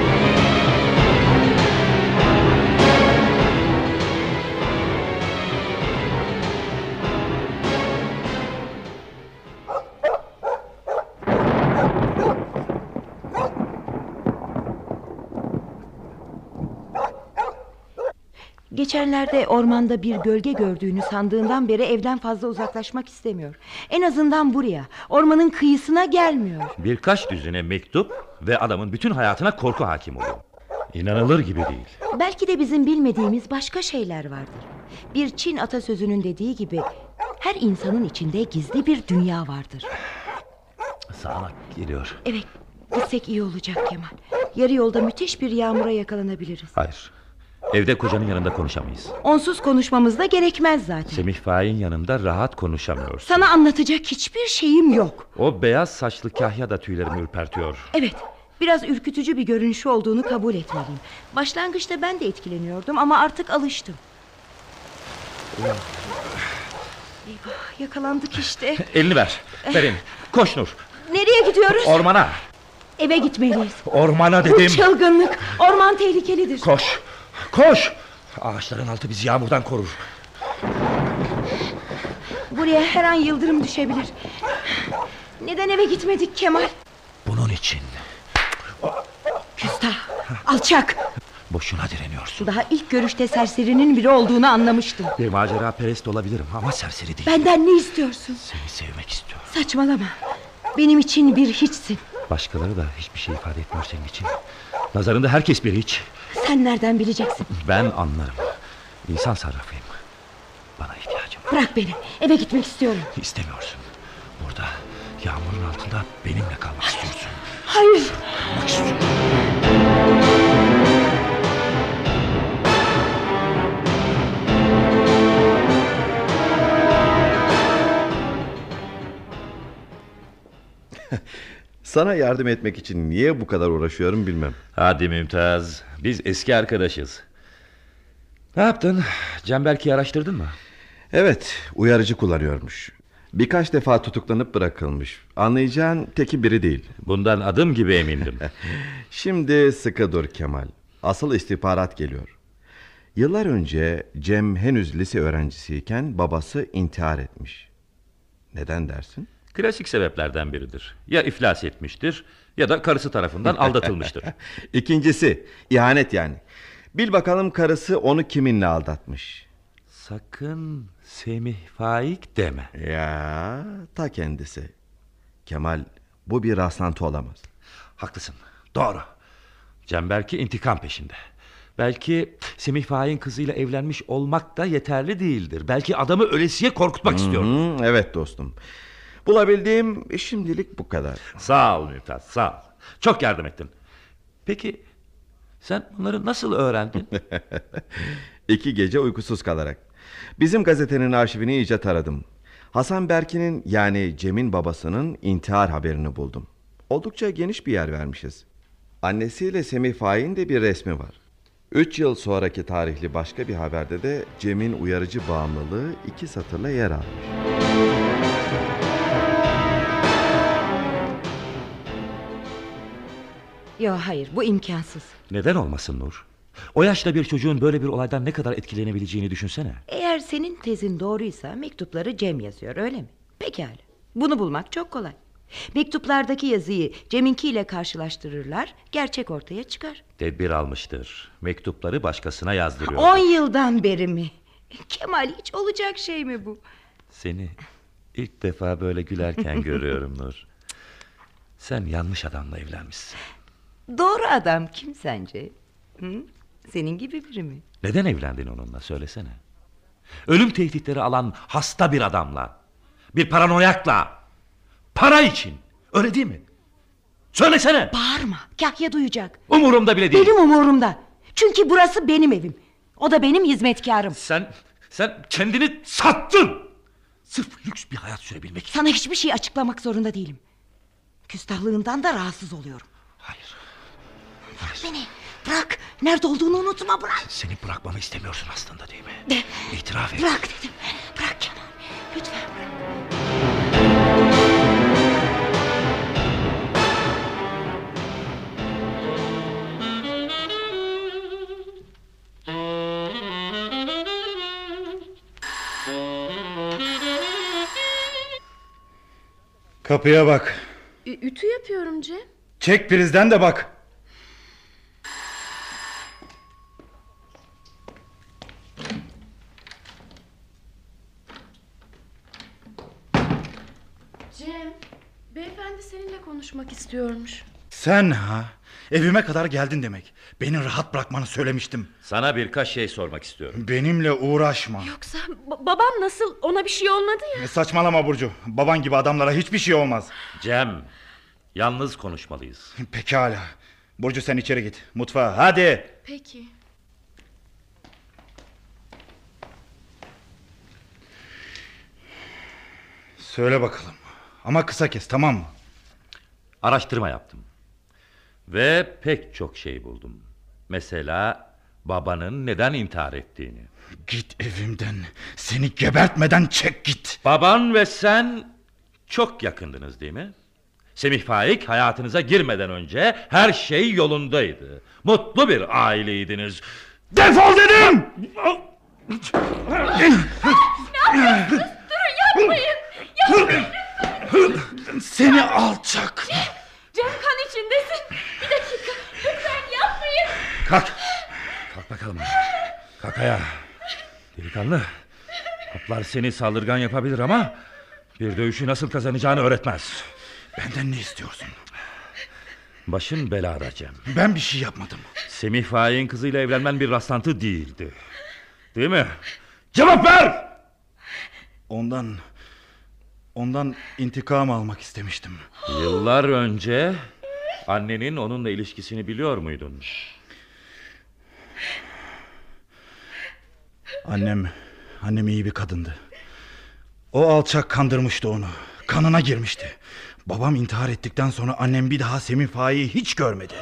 Geçenlerde ormanda bir gölge gördüğünü sandığından beri evden fazla uzaklaşmak istemiyor. En azından buraya, ormanın kıyısına gelmiyor. Birkaç düzine mektup ve adamın bütün hayatına korku hakim oluyor. İnanılır gibi değil. Belki de bizim bilmediğimiz başka şeyler vardır. Bir Çin atasözünün dediği gibi her insanın içinde gizli bir dünya vardır. Sağanak geliyor. Evet, gitsek iyi olacak Kemal. Yarı yolda müthiş bir yağmura yakalanabiliriz. Hayır. Evde kocanın yanında konuşamayız. Onsuz konuşmamız da gerekmez zaten. Semih Faik'in yanında rahat konuşamıyorsun. Sana anlatacak hiçbir şeyim yok. O beyaz saçlı kahya da tüylerimi ürpertiyor. Evet, biraz ürkütücü bir görünüşü olduğunu kabul etmeliyim. Başlangıçta ben de etkileniyordum ama artık alıştım. Eyvah, yakalandık işte. Elini ver. Ver elini. Koş Nur. Nereye gidiyoruz? Ormana. Eve gitmeliyiz. Ormana Bu dedim. çılgınlık. Orman tehlikelidir. Koş. Koş. Ağaçların altı bizi yağmurdan korur. Buraya her an yıldırım düşebilir. Neden eve gitmedik Kemal? Bunun için. Küstah, alçak. Boşuna direniyorsun. Daha ilk görüşte serserinin biri olduğunu anlamıştım. Bir macera perest olabilirim ama serseri değil. Benden ne istiyorsun? Seni sevmek istiyorum. Saçmalama. Benim için bir hiçsin. Başkaları da hiçbir şey ifade etmiyor senin için. Nazarında herkes bir hiç. Sen nereden bileceksin? Ben anlarım. İnsan sarrafıyım. Bana ihtiyacım var. Bırak beni. Eve gitmek istiyorum. İstemiyorsun. Burada yağmurun altında benimle kalmak istiyorsun. Hayır. Kalmak istiyorum. Sana yardım etmek için niye bu kadar uğraşıyorum bilmem. Hadi Mümtaz. Biz eski arkadaşız. Ne yaptın? Cem Berki'yi araştırdın mı? Evet, uyarıcı kullanıyormuş. Birkaç defa tutuklanıp bırakılmış. Anlayacağın teki biri değil. Bundan adım gibi emindim. Şimdi sıkı dur Kemal. Asıl istihbarat geliyor. Yıllar önce Cem henüz lise öğrencisiyken babası intihar etmiş. Neden dersin? Klasik sebeplerden biridir. Ya iflas etmiştir ya da karısı tarafından aldatılmıştır. İkincisi ihanet yani. Bil bakalım karısı onu kiminle aldatmış? Sakın Semih Faik deme. Ya ta kendisi. Kemal, bu bir rastlantı olamaz. Haklısın, doğru. Cem Berki intikam peşinde. Belki Semih Faik'in kızıyla evlenmiş olmak da yeterli değildir. Belki adamı ölesiye korkutmak istiyordur. Evet dostum. Bulabildiğim şimdilik bu kadar. Sağ ol Mümtaz, sağ ol. Çok yardım ettin. Peki sen bunları nasıl öğrendin? 2 gece uykusuz kalarak. Bizim gazetenin arşivini iyice taradım. Hasan Berkin'in, yani Cem'in babasının intihar haberini buldum. Oldukça geniş bir yer vermişiz. Annesiyle Semih Faik'in de bir resmi var. 3 yıl sonraki tarihli başka bir haberde de Cem'in uyarıcı bağımlılığı 2 satırla yer almış. Yok, hayır, bu imkansız. Neden olmasın Nur? O yaşta bir çocuğun böyle bir olaydan ne kadar etkilenebileceğini düşünsene. Eğer senin tezin doğruysa mektupları Cem yazıyor, öyle mi? Pekala. Bunu bulmak çok kolay. Mektuplardaki yazıyı Cem'inkiyle karşılaştırırlar, gerçek ortaya çıkar. Tedbir almıştır. Mektupları başkasına yazdırıyor. 10 yıldan beri mi? Kemal, hiç olacak şey mi bu? Seni ilk defa böyle gülerken görüyorum Nur. Sen yanlış adamla evlenmişsin. Doğru adam kim sence? Hı? Senin gibi biri mi? Neden evlendin onunla, söylesene. Ölüm tehditleri alan hasta bir adamla, bir paranoyakla, para için, öyle değil mi? Söylesene. Bağırma, Kahya duyacak. Umurumda bile değil. Benim umurumda. Çünkü burası benim evim. O da benim hizmetkarım. Sen kendini sattın. Sırf lüks bir hayat sürebilmek için. Sana hiçbir şey açıklamak zorunda değilim. Küstahlığından da rahatsız oluyorum. Hayır. Bırak beni. Bırak. Nerede olduğunu unutma, bırak. Seni bırakmamı istemiyorsun aslında, değil mi? İtiraf et. Bırak dedim. Bırak Kemal. Lütfen bırak. Kapıya bak. Ütü yapıyorum Cem. Çek prizden de bak. Cem, beyefendi seninle konuşmak istiyormuş. Sen ha? Evime kadar geldin demek. Beni rahat bırakmanı söylemiştim. Sana birkaç şey sormak istiyorum. Benimle uğraşma. Yoksa babam nasıl, ona bir şey olmadı ya? Saçmalama Burcu. Baban gibi adamlara hiçbir şey olmaz. Cem, yalnız konuşmalıyız. Pekala. Burcu sen içeri git. Mutfağa hadi. Peki. Söyle bakalım. Ama kısa kes, tamam mı? Araştırma yaptım. Ve pek çok şey buldum. Mesela babanın neden intihar ettiğini. Git evimden. Seni gebertmeden çek git. Baban ve sen çok yakındınız, değil mi? Semih Faik hayatınıza girmeden önce her şey yolundaydı. Mutlu bir aileydiniz. Defol dedim! Ne yapıyorsunuz? Durun, yapmayın! Yapmayın! Seni alçak! Cem, kan içindesin. Bir dakika, lütfen yapmayın. Kalk! Kalk bakalım. Kalk ayağa. Delikanlı. Haplar seni saldırgan yapabilir ama bir dövüşü nasıl kazanacağını öğretmez. Benden ne istiyorsun? Başın belada Cem. Ben bir şey yapmadım. Semih Faik'in kızıyla evlenmen bir rastlantı değildi. Değil mi? Cevap ver! Ondan intikam almak istemiştim. Yıllar önce annenin onunla ilişkisini biliyor muydun? Annem iyi bir kadındı. O alçak kandırmıştı onu. Kanına girmişti. Babam intihar ettikten sonra annem bir daha Semih Faik'i hiç görmedi.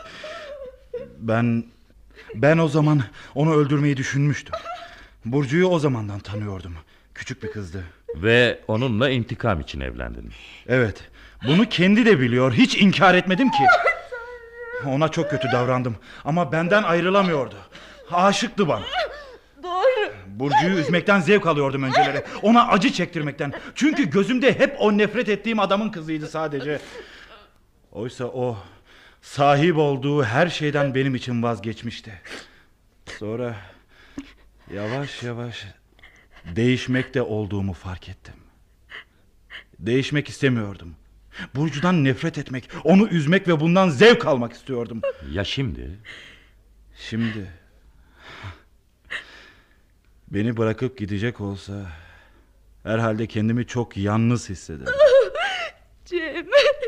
Ben o zaman onu öldürmeyi düşünmüştüm. Burcu'yu o zamandan tanıyordum. Küçük bir kızdı. Ve onunla intikam için evlendin. Evet. Bunu kendi de biliyor. Hiç inkar etmedim ki. Ona çok kötü davrandım. Ama benden ayrılamıyordu. Aşıktı bana. Doğru. Burcu'yu üzmekten zevk alıyordum önceleri. Ona acı çektirmekten. Çünkü gözümde hep o nefret ettiğim adamın kızıydı sadece. Oysa o sahip olduğu her şeyden benim için vazgeçmişti. Sonra yavaş yavaş değişmekte olduğumu fark ettim. Değişmek istemiyordum. Burcu'dan nefret etmek, onu üzmek ve bundan zevk almak istiyordum. Ya şimdi? Beni bırakıp gidecek olsa herhalde kendimi çok yalnız hissederim. Cem.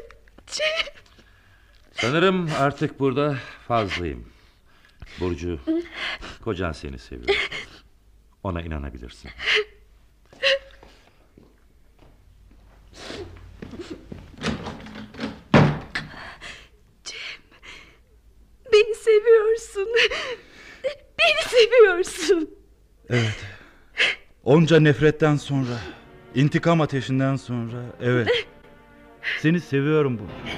Sanırım artık burada fazlayım. Burcu, kocan seni seviyor. Ona inanabilirsin. Cem, beni seviyorsun. Beni seviyorsun. Evet. Onca nefretten sonra, intikam ateşinden sonra, evet. Seni seviyorum Burcu.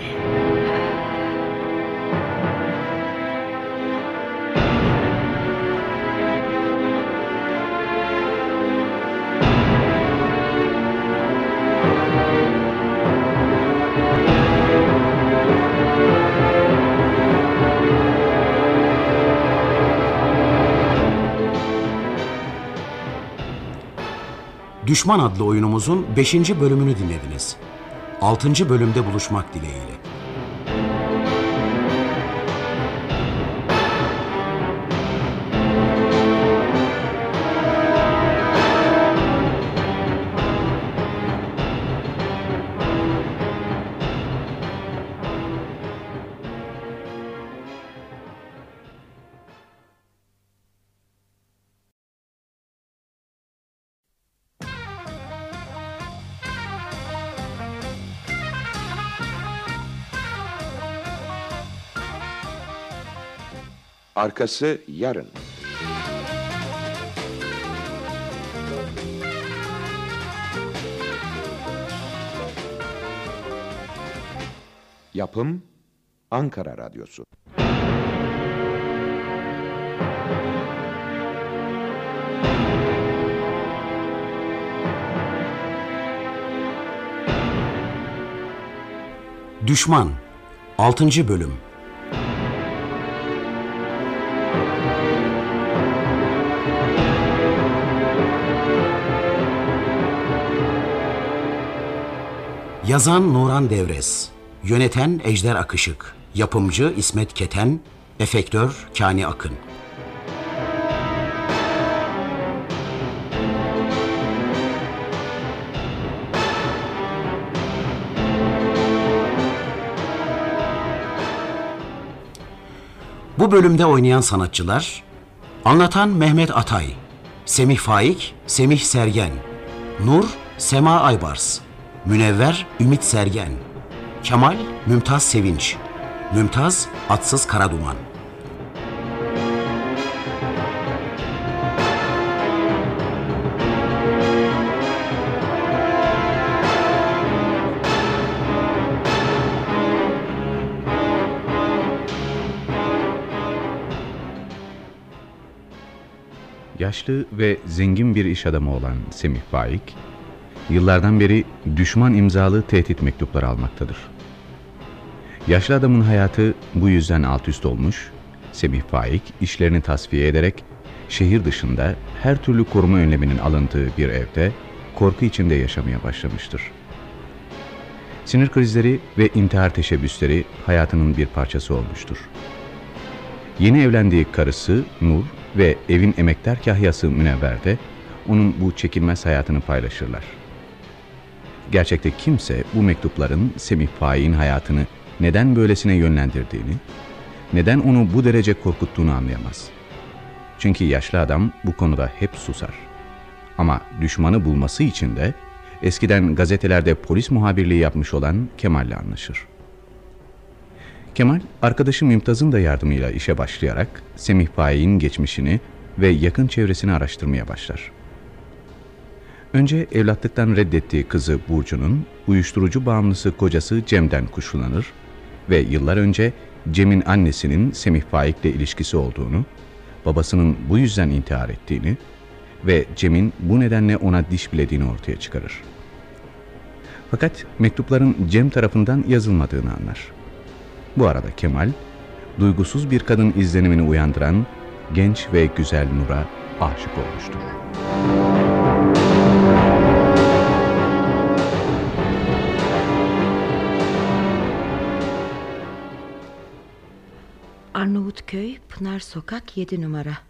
Düşman adlı oyunumuzun 5. bölümünü dinlediniz. 6. bölümde buluşmak dileğiyle. Arkası yarın. Yapım Ankara Radyosu. Düşman 6. bölüm. Yazan Nuran Devres, yöneten Ejder Akışık, yapımcı İsmet Keten, efektör Kani Akın. Bu bölümde oynayan sanatçılar: anlatan Mehmet Atay, Semih Faik, Semih Sergen, Nur, Sema Aybars, Münevver, Ümit Sergen, Kemal, Mümtaz Sevinç, Mümtaz, Atsız Karaduman. Yaşlı ve zengin bir iş adamı olan Semih Faik, yıllardan beri düşman imzalı tehdit mektupları almaktadır. Yaşlı adamın hayatı bu yüzden alt üst olmuş, Semih Faik işlerini tasfiye ederek şehir dışında her türlü koruma önleminin alındığı bir evde korku içinde yaşamaya başlamıştır. Sinir krizleri ve intihar teşebbüsleri hayatının bir parçası olmuştur. Yeni evlendiği karısı Nur ve evin emektar kahyası Münevver de onun bu çekilmez hayatını paylaşırlar. Gerçekte kimse bu mektupların Semih Faik'in hayatını neden böylesine yönlendirdiğini, neden onu bu derece korkuttuğunu anlayamaz. Çünkü yaşlı adam bu konuda hep susar. Ama düşmanı bulması için de eskiden gazetelerde polis muhabirliği yapmış olan Kemal'le anlaşır. Kemal, arkadaşı Mümtaz'ın da yardımıyla işe başlayarak Semih Faik'in geçmişini ve yakın çevresini araştırmaya başlar. Önce evlatlıktan reddettiği kızı Burcu'nun uyuşturucu bağımlısı kocası Cem'den kuşkulanır ve yıllar önce Cem'in annesinin Semih Faik'le ilişkisi olduğunu, babasının bu yüzden intihar ettiğini ve Cem'in bu nedenle ona diş bilediğini ortaya çıkarır. Fakat mektupların Cem tarafından yazılmadığını anlar. Bu arada Kemal, duygusuz bir kadın izlenimini uyandıran genç ve güzel Nur'a aşık olmuştur. Arnavutköy, Pınar Sokak 7 numara.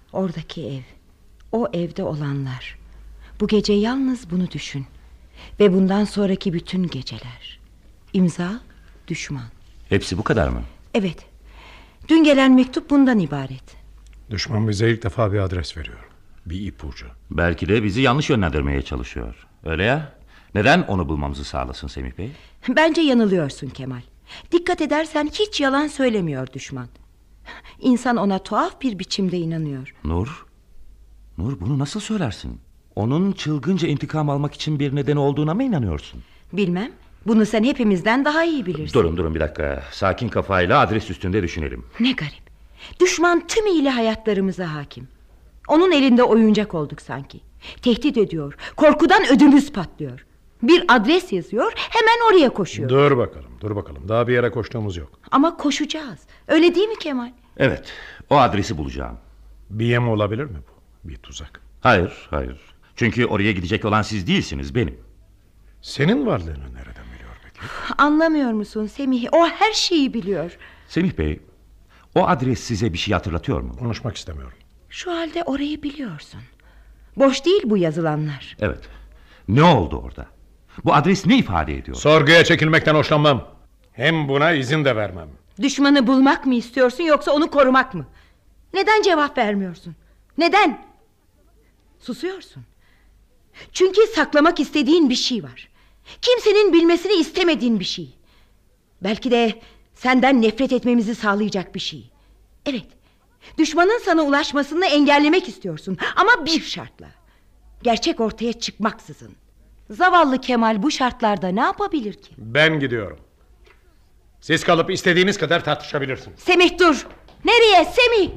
Oradaki ev, o evde olanlar. Bu gece yalnız bunu düşün. Ve bundan sonraki bütün geceler. İmza, düşman. Hepsi bu kadar mı? Evet. Dün gelen mektup bundan ibaret. Düşman bize ilk defa bir adres veriyor. Bir ipucu. Belki de bizi yanlış yönlendirmeye çalışıyor. Öyle ya. Neden onu bulmamızı sağlasın Semih Bey? Bence yanılıyorsun Kemal. Dikkat edersen hiç yalan söylemiyor düşman. İnsan ona tuhaf bir biçimde inanıyor. Nur bunu nasıl söylersin? Onun çılgınca intikam almak için bir nedeni olduğuna mı inanıyorsun? Bilmem. Bunu sen hepimizden daha iyi bilirsin. Durun bir dakika. Sakin kafayla adres üstünde düşünelim. Ne garip. Düşman tümüyle hayatlarımıza hakim. Onun elinde oyuncak olduk sanki. Tehdit ediyor. Korkudan ödümüz patlıyor. Bir adres yazıyor, hemen oraya koşuyor. Dur bakalım. Daha bir yere koştuğumuz yok. Ama koşacağız. Öyle değil mi Kemal? Evet. O adresi bulacağım. Bir yem olabilir mi bu? Bir tuzak. Hayır. Çünkü oraya gidecek olan siz değilsiniz, benim. Senin varlığını nereden biliyor peki? Anlamıyor musun Semih? O her şeyi biliyor. Semih Bey, o adres size bir şey hatırlatıyor mu? Konuşmak istemiyorum. Şu halde orayı biliyorsun. Boş değil bu yazılanlar. Evet. Ne oldu orada? Bu adres ne ifade ediyor? Sorguya çekilmekten hoşlanmam. Hem buna izin de vermem. Düşmanı bulmak mı istiyorsun yoksa onu korumak mı? Neden cevap vermiyorsun? Neden? Susuyorsun. Çünkü saklamak istediğin bir şey var. Kimsenin bilmesini istemediğin bir şey. Belki de senden nefret etmemizi sağlayacak bir şey. Evet. Düşmanın sana ulaşmasını engellemek istiyorsun. Ama bir şartla. Gerçek ortaya çıkmaksızın. Zavallı Kemal bu şartlarda ne yapabilir ki? Ben gidiyorum. Siz kalıp istediğiniz kadar tartışabilirsiniz. Semih dur. Nereye Semih?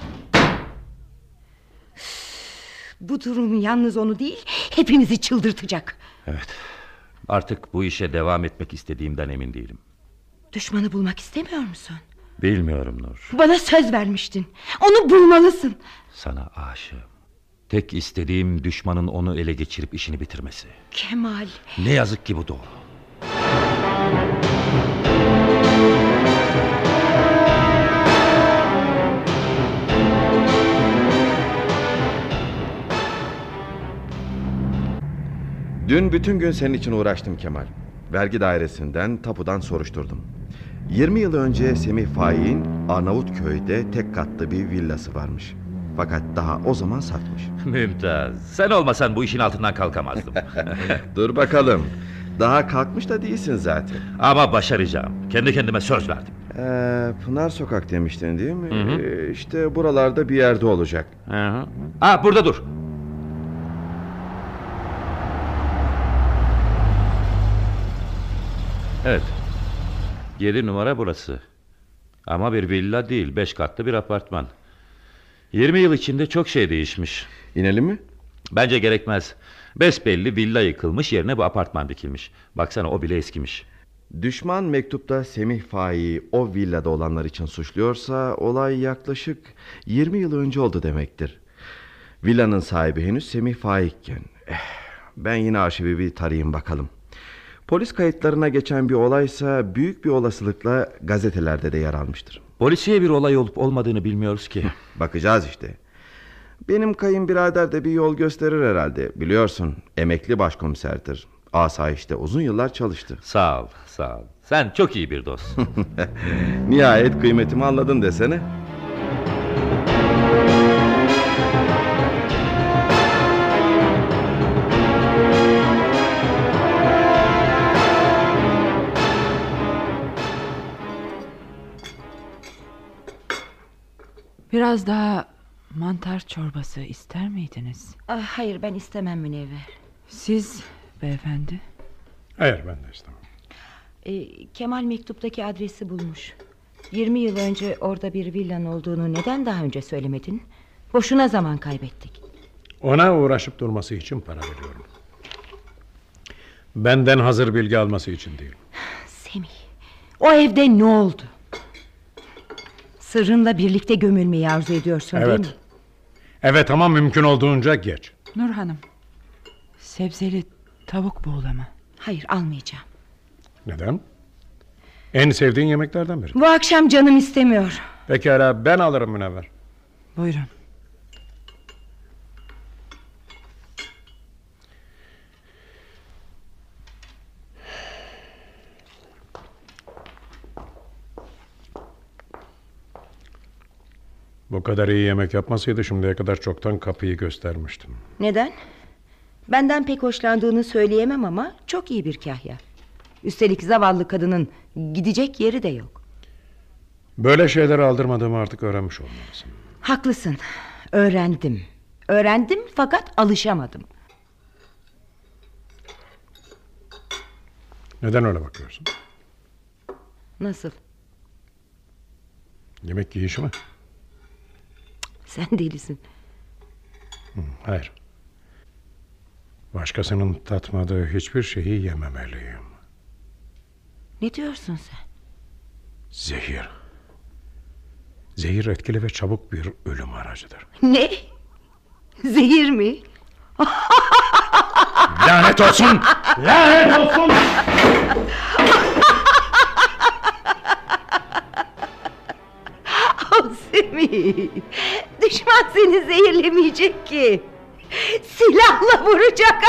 Bu durum yalnız onu değil, hepimizi çıldırtacak. Evet. Artık bu işe devam etmek istediğimden emin değilim. Düşmanı bulmak istemiyor musun? Bilmiyorum Nur. Bana söz vermiştin. Onu bulmalısın. Sana aşığım. Tek istediğim düşmanın onu ele geçirip işini bitirmesi. Kemal. Ne yazık ki bu doğru. Dün bütün gün senin için uğraştım Kemal. Vergi dairesinden, tapudan soruşturdum. 20 yıl önce Semih Faik'in Arnavutköy'de tek katlı bir villası varmış. Fakat daha o zaman satmış. Mümtaz. Sen olmasan bu işin altından kalkamazdım. Dur bakalım. Daha kalkmış da değilsin zaten. Ama başaracağım. Kendi kendime söz verdim. Pınar Sokak demiştin değil mi? İşte buralarda bir yerde olacak. Burada dur. Evet. 7 numara burası. Ama bir villa değil, 5 katlı bir apartman. 20 yıl içinde çok şey değişmiş. İnelim mi? Bence gerekmez. Besbelli villa yıkılmış, yerine bu apartman dikilmiş. Baksana, o bile eskimiş. Düşman mektupta Semih Faik'i o villada olanlar için suçluyorsa olay yaklaşık 20 yıl önce oldu demektir. Villanın sahibi henüz Semih Faik'ken. Ben yine arşivi bir tarayayım bakalım. Polis kayıtlarına geçen bir olaysa büyük bir olasılıkla gazetelerde de yer almıştır. Polisiye bir olay olup olmadığını bilmiyoruz ki. Bakacağız işte. Benim kayınbirader de bir yol gösterir herhalde. Biliyorsun, emekli başkomiserdir. Asayiş'te uzun yıllar çalıştı. Sağ ol. Sen çok iyi bir dostsun. Nihayet kıymetimi anladın desene. Biraz daha mantar çorbası ister miydiniz? Hayır, ben istemem Münevver. Siz beyefendi? Hayır, ben de istemem. Kemal mektuptaki adresi bulmuş. 20 yıl önce orada bir villanın olduğunu neden daha önce söylemedin? Boşuna zaman kaybettik. Ona uğraşıp durması için para veriyorum. Benden hazır bilgi alması için değil. Semih, o evde ne oldu? Sırrınla birlikte gömülmeyi arzu ediyorsun değil mi? Evet, ama mümkün olduğunca geç. Nur Hanım, sebzeli tavuk buğulama. Hayır, almayacağım. Neden? En sevdiğin yemeklerden biri. Bu akşam canım istemiyor. Pekala, ben alırım Münevver. Buyurun. Bu kadar iyi yemek yapmasaydı şimdiye kadar çoktan kapıyı göstermiştim. Neden? Benden pek hoşlandığını söyleyemem ama çok iyi bir kahya. Üstelik zavallı kadının gidecek yeri de yok. Böyle şeyleri aldırmadığımı artık öğrenmiş olmalısın. Haklısın. Öğrendim. Öğrendim fakat alışamadım. Neden öyle bakıyorsun? Nasıl? Yemek yiyişi mi? Sen delisin. Hayır. Başkasının tatmadığı hiçbir şeyi yememeliyim. Ne diyorsun sen? Zehir. Zehir etkili ve çabuk bir ölüm aracıdır. Ne? Zehir mi? Lanet olsun! Lanet olsun! Semih, düşman seni zehirlemeyecek ki. Silahla vuracak.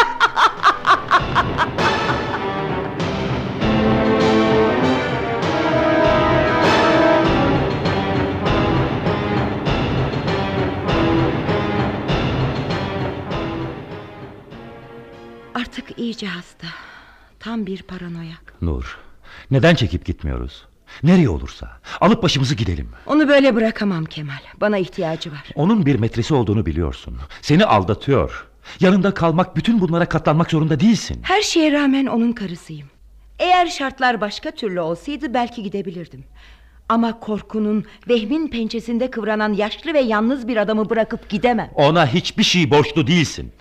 Artık iyice hasta. Tam bir paranoyak. Nur, neden çekip gitmiyoruz? Nereye olursa alıp başımızı gidelim. Onu böyle bırakamam Kemal. Bana ihtiyacı var. Onun bir metresi olduğunu biliyorsun. Seni aldatıyor. Yanında kalmak, bütün bunlara katlanmak zorunda değilsin. Her şeye rağmen onun karısıyım. Eğer şartlar başka türlü olsaydı belki gidebilirdim. Ama korkunun, vehmin pençesinde kıvranan yaşlı ve yalnız bir adamı bırakıp gidemem. Ona hiçbir şey borçlu değilsin.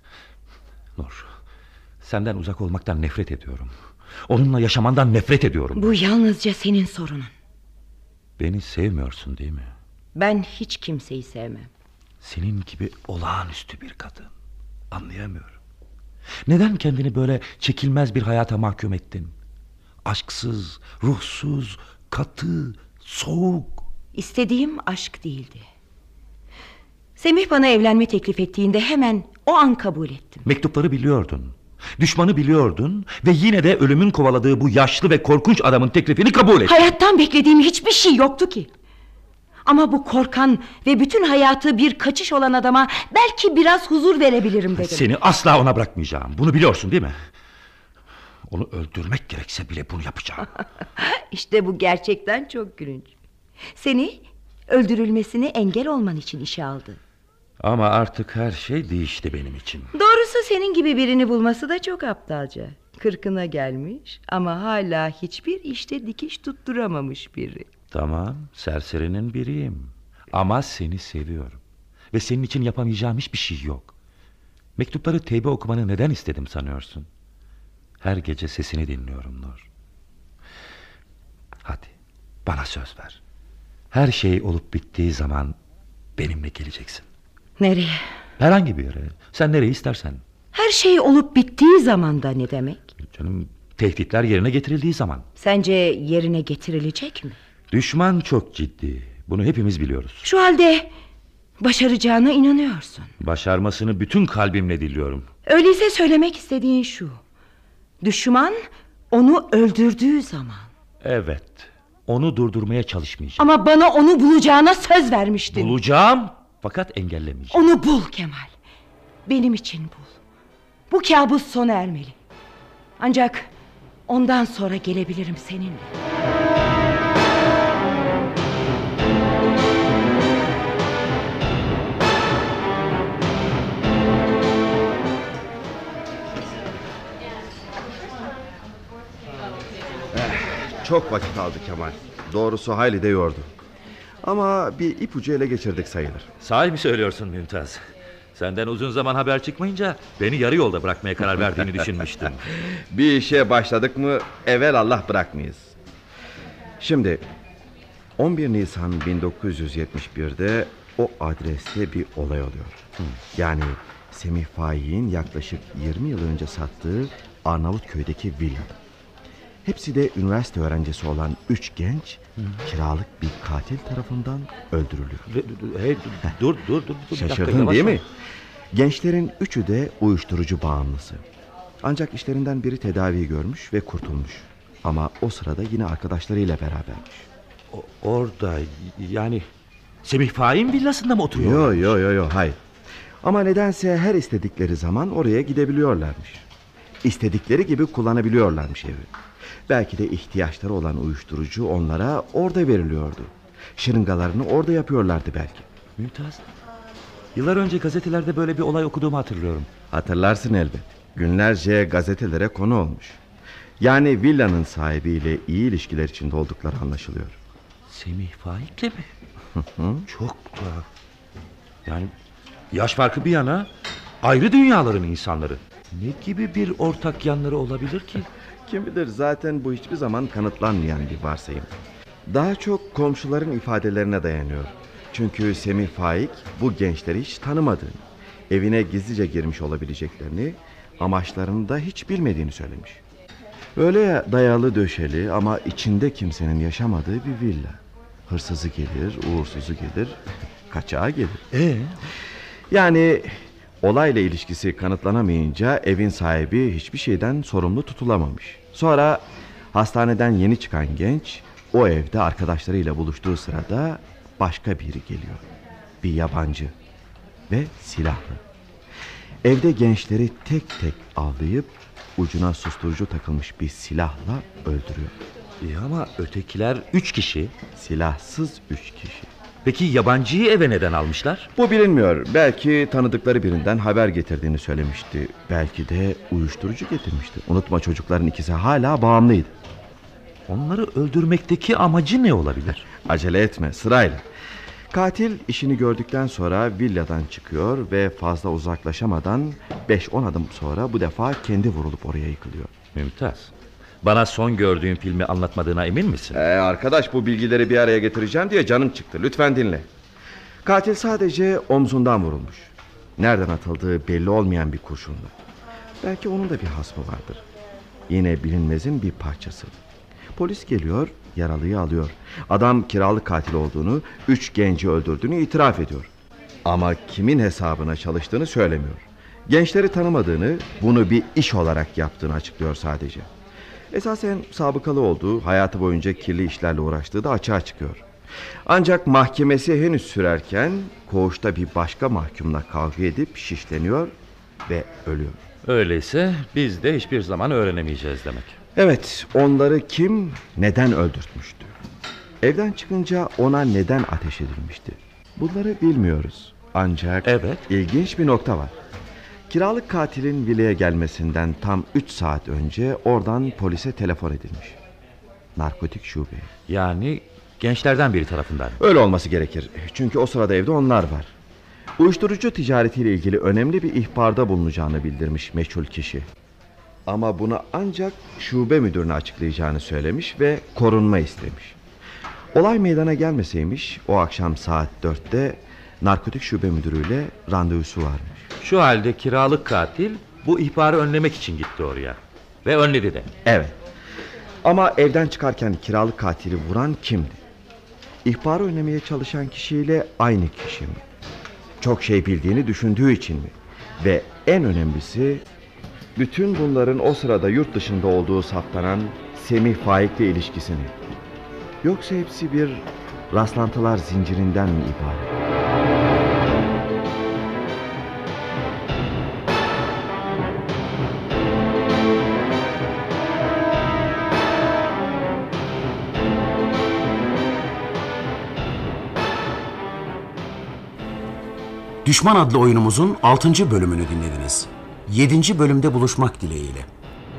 Nur, senden uzak olmaktan nefret ediyorum. Onunla yaşamandan nefret ediyorum. Bu yalnızca senin sorunun. Beni sevmiyorsun değil mi? Ben hiç kimseyi sevmem. Senin gibi olağanüstü bir kadın. Anlayamıyorum. Neden kendini böyle çekilmez bir hayata mahkum ettin? Aşksız, ruhsuz, katı, soğuk. İstediğim aşk değildi. Semih bana evlenme teklif ettiğinde hemen o an kabul ettim. Mektupları biliyordun. Düşmanı biliyordun ve yine de ölümün kovaladığı bu yaşlı ve korkunç adamın teklifini kabul ettin. Hayattan beklediğim hiçbir şey yoktu ki. Ama bu korkan ve bütün hayatı bir kaçış olan adama belki biraz huzur verebilirim dedim. Seni asla ona bırakmayacağım. Bunu biliyorsun değil mi? Onu öldürmek gerekse bile bunu yapacağım. İşte bu gerçekten çok gülünç. Seni öldürülmesine engel olman için işe aldı. Ama artık her şey değişti benim için. Doğrusu senin gibi birini bulması da çok aptalca. 40'ına gelmiş ama hala hiçbir işte dikiş tutturamamış biri. Tamam, serserinin biriyim. Ama seni seviyorum. Ve senin için yapamayacağım hiçbir şey yok. Mektupları teybe okumanı neden istedim sanıyorsun? Her gece sesini dinliyorum Nur. Hadi, bana söz ver. Her şey olup bittiği zaman benimle geleceksin. Nereye? Herhangi bir yere. Sen nereye istersen. Her şey olup bittiği zaman da ne demek? Canım, tehditler yerine getirildiği zaman. Sence yerine getirilecek mi? Düşman çok ciddi. Bunu hepimiz biliyoruz. Şu halde başaracağına inanıyorsun. Başarmasını bütün kalbimle diliyorum. Öyleyse söylemek istediğin şu: düşman onu öldürdüğü zaman. Evet. Onu durdurmaya çalışmayacağım. Ama bana onu bulacağına söz vermiştin. Bulacağım fakat engellemeyeceğim. Onu bul Kemal. Benim için bul. Bu kabus sona ermeli. Ancak ondan sonra gelebilirim seninle. Çok vakit aldı Kemal. Doğrusu hayli de yordu. Ama bir ipucu ele geçirdik sayılır. Sahi mi söylüyorsun Mümtaz? Senden uzun zaman haber çıkmayınca beni yarı yolda bırakmaya karar verdiğini düşünmüştüm. Bir işe başladık mı evvel Allah bırakmayız. Şimdi 11 Nisan 1971'de o adreste bir olay oluyor. Yani Semih Faik'in yaklaşık 20 yıl önce sattığı Arnavutköy'deki villa. Hepsi de üniversite öğrencisi olan 3 genç kiralık bir katil tarafından öldürülüyor. Hey, dur. Şaşırdın değil mi? Gençlerin üçü de uyuşturucu bağımlısı. Ancak işlerinden biri tedavi görmüş ve kurtulmuş. Ama o sırada yine arkadaşlarıyla berabermiş. Orada yani Semih Faik'in villasında mı oturuyor? Yo, hayır. Ama nedense her istedikleri zaman oraya gidebiliyorlarmış. İstedikleri gibi kullanabiliyorlarmış evi. Belki de ihtiyaçları olan uyuşturucu onlara orada veriliyordu. Şırıngalarını orada yapıyorlardı belki. Mümtaz, yıllar önce gazetelerde böyle bir olay okuduğumu hatırlıyorum. Hatırlarsın elbet. Günlerce gazetelere konu olmuş. Yani villanın sahibiyle iyi ilişkiler içinde oldukları anlaşılıyor. Semih Faik'le mi? Çok tuhaf. Yani yaş farkı bir yana ayrı dünyaların insanları. Ne gibi bir ortak yanları olabilir ki? Kim bilir, zaten bu hiçbir zaman kanıtlanmayan bir varsayım. Daha çok komşuların ifadelerine dayanıyor. Çünkü Semih Faik bu gençleri hiç tanımadığını, evine gizlice girmiş olabileceklerini, amaçlarını da hiç bilmediğini söylemiş. Öyle dayalı döşeli ama içinde kimsenin yaşamadığı bir villa. Hırsızı gelir, uğursuzu gelir, kaçağı gelir. Yani olayla ilişkisi kanıtlanamayınca evin sahibi hiçbir şeyden sorumlu tutulamamış. Sonra hastaneden yeni çıkan genç o evde arkadaşlarıyla buluştuğu sırada başka biri geliyor. Bir yabancı ve silahlı. Evde gençleri tek tek avlayıp ucuna susturucu takılmış bir silahla öldürüyor. Ama ötekiler 3 kişi. Silahsız 3 kişi. Peki yabancıyı eve neden almışlar? Bu bilinmiyor. Belki tanıdıkları birinden haber getirdiğini söylemişti. Belki de uyuşturucu getirmişti. Unutma, çocukların ikisi hala bağımlıydı. Onları öldürmekteki amacı ne olabilir? Acele etme, sırayla. Katil işini gördükten sonra villadan çıkıyor ve fazla uzaklaşamadan 5-10 adım sonra bu defa kendi vurulup oraya yıkılıyor. Mümtaz, bana son gördüğün filmi anlatmadığına emin misin? Arkadaş, bu bilgileri bir araya getireceğim diye canım çıktı. Lütfen dinle. Katil sadece omzundan vurulmuş. Nereden atıldığı belli olmayan bir kurşunla. Belki onun da bir hasmı vardır. Yine bilinmezin bir parçası. Polis geliyor, yaralıyı alıyor. Adam kiralık katil olduğunu, 3 genci öldürdüğünü itiraf ediyor. Ama kimin hesabına çalıştığını söylemiyor. Gençleri tanımadığını, bunu bir iş olarak yaptığını açıklıyor sadece. Esasen sabıkalı olduğu, hayatı boyunca kirli işlerle uğraştığı da açığa çıkıyor. Ancak mahkemesi henüz sürerken koğuşta bir başka mahkumla kavga edip şişleniyor ve ölüyor. Öyleyse biz de hiçbir zaman öğrenemeyeceğiz demek. Evet, onları kim, neden öldürtmüştü? Evden çıkınca ona neden ateş edilmişti? Bunları bilmiyoruz. Ancak ilginç bir nokta var. Kiralık katilin villaya gelmesinden tam 3 saat önce oradan polise telefon edilmiş. Narkotik şube. Yani gençlerden biri tarafından. Öyle olması gerekir. Çünkü o sırada evde onlar var. Uyuşturucu ticaretiyle ilgili önemli bir ihbarda bulunacağını bildirmiş meçhul kişi. Ama bunu ancak şube müdürüne açıklayacağını söylemiş ve korunma istemiş. Olay meydana gelmeseymiş o akşam saat 4'te narkotik şube müdürüyle randevusu varmış. Şu halde kiralık katil bu ihbarı önlemek için gitti oraya. Ve önledi de. Evet. Ama evden çıkarken kiralık katili vuran kimdi? İhbarı önlemeye çalışan kişiyle aynı kişi mi? Çok şey bildiğini düşündüğü için mi? Ve en önemlisi, bütün bunların o sırada yurt dışında olduğu saptanan Semih Faik'le ilişkisini. Yoksa hepsi bir rastlantılar zincirinden mi ibaret? Düşman adlı oyunumuzun 6. bölümünü dinlediniz. 7. bölümde buluşmak dileğiyle.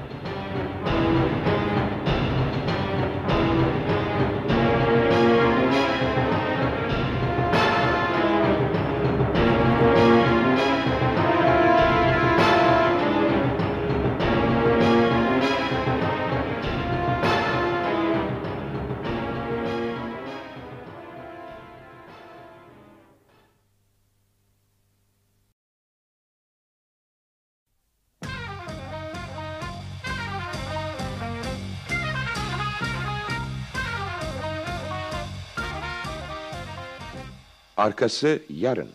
Arkası yarın.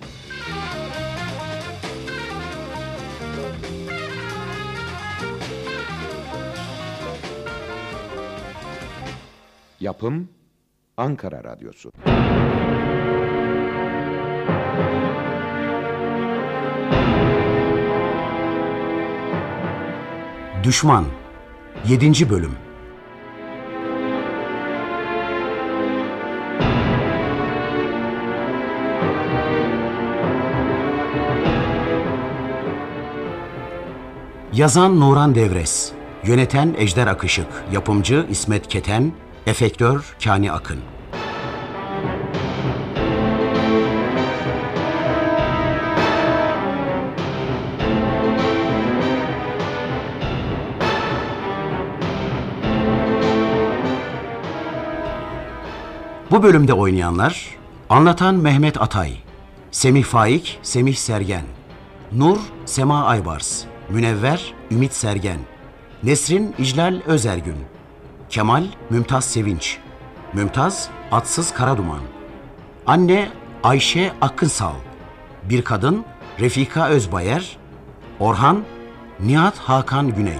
Yapım Ankara Radyosu. Düşman 7. Bölüm. Yazan Nuran Devres, yöneten Ejder Akışık, yapımcı İsmet Keten, efektör Kani Akın. Bu bölümde oynayanlar: anlatan Mehmet Atay, Semih Faik, Semih Sergen, Nur, Sema Aybars, Münevver, Ümit Sergen, Nesrin, İclal Özergün, Kemal, Mümtaz Sevinç, Mümtaz, Atsız Karaduman, Anne, Ayşe Akınsal, bir kadın, Refika Özbayer, Orhan, Nihat Hakan Güney.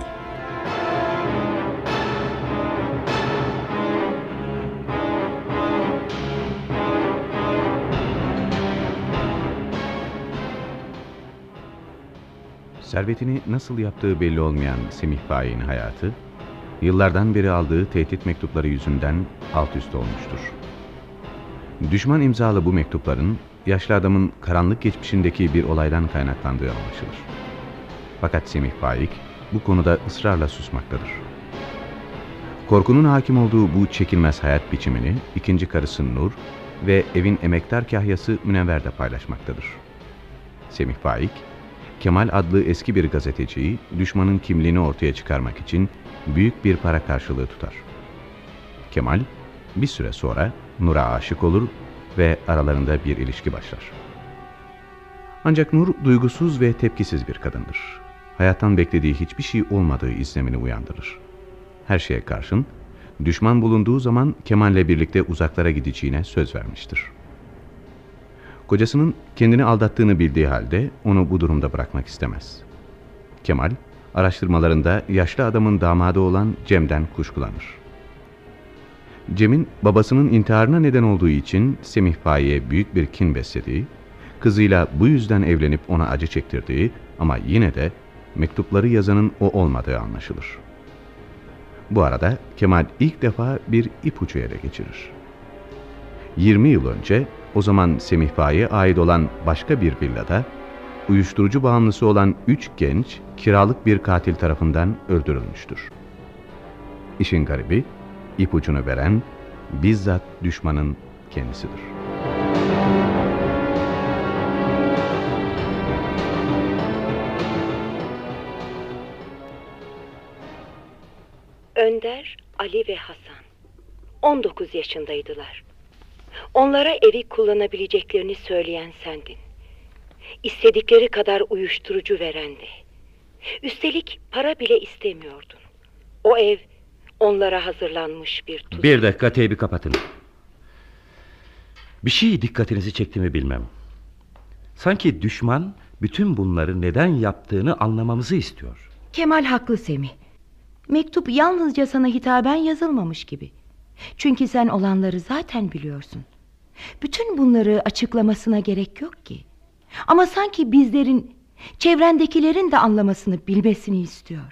Servetini nasıl yaptığı belli olmayan Semih Faik'in hayatı, yıllardan beri aldığı tehdit mektupları yüzünden alt üst olmuştur. Düşman imzalı bu mektupların, yaşlı adamın karanlık geçmişindeki bir olaydan kaynaklandığı anlaşılır. Fakat Semih Faik bu konuda ısrarla susmaktadır. Korkunun hakim olduğu bu çekilmez hayat biçimini ikinci karısı Nur ve evin emektar kahyası Münevver de paylaşmaktadır. Semih Faik, Kemal adlı eski bir gazeteciyi düşmanın kimliğini ortaya çıkarmak için büyük bir para karşılığı tutar. Kemal bir süre sonra Nur'a aşık olur ve aralarında bir ilişki başlar. Ancak Nur duygusuz ve tepkisiz bir kadındır. Hayattan beklediği hiçbir şey olmadığı izlenimini uyandırır. Her şeye karşın düşman bulunduğu zaman Kemal'le birlikte uzaklara gideceğine söz vermiştir. Kocasının kendini aldattığını bildiği halde onu bu durumda bırakmak istemez. Kemal, araştırmalarında yaşlı adamın damadı olan Cem'den kuşkulanır. Cem'in babasının intiharına neden olduğu için Semih Faik'e büyük bir kin beslediği, kızıyla bu yüzden evlenip ona acı çektirdiği ama yine de mektupları yazanın o olmadığı anlaşılır. Bu arada Kemal ilk defa bir ipucu ele geçirir. 20 yıl önce o zaman Semih Faik'e ait olan başka bir villada uyuşturucu bağımlısı olan 3 genç kiralık bir katil tarafından öldürülmüştür. İşin garibi, ipucunu veren bizzat düşmanın kendisidir. Önder, Ali ve Hasan 19 yaşındaydılar. Onlara evi kullanabileceklerini söyleyen sendin. İstedikleri kadar uyuşturucu verendi. Üstelik para bile istemiyordun. O ev onlara hazırlanmış bir tuzak. Bir dakika, teybi kapatın. Bir şey dikkatinizi çekti mi bilmem. Sanki düşman bütün bunları neden yaptığını anlamamızı istiyor. Kemal haklı Semih. Mektup yalnızca sana hitaben yazılmamış gibi. Çünkü sen olanları zaten biliyorsun. Bütün bunları açıklamasına gerek yok ki. Ama sanki bizlerin, çevrendekilerin de anlamasını, bilmesini istiyor.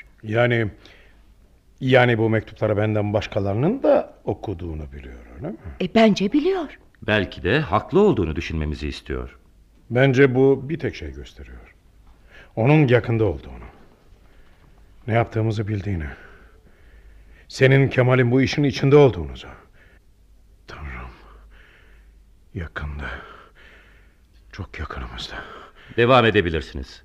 Yani bu mektupları benden başkalarının da okuduğunu biliyor, öyle mi? Bence biliyor. Belki de haklı olduğunu düşünmemizi istiyor. Bence bu bir tek şey gösteriyor: onun yakında olduğunu, ne yaptığımızı bildiğini, senin Kemal'in bu işin içinde olduğunuzu. Tanrım, yakında, çok yakınımızda. Devam edebilirsiniz.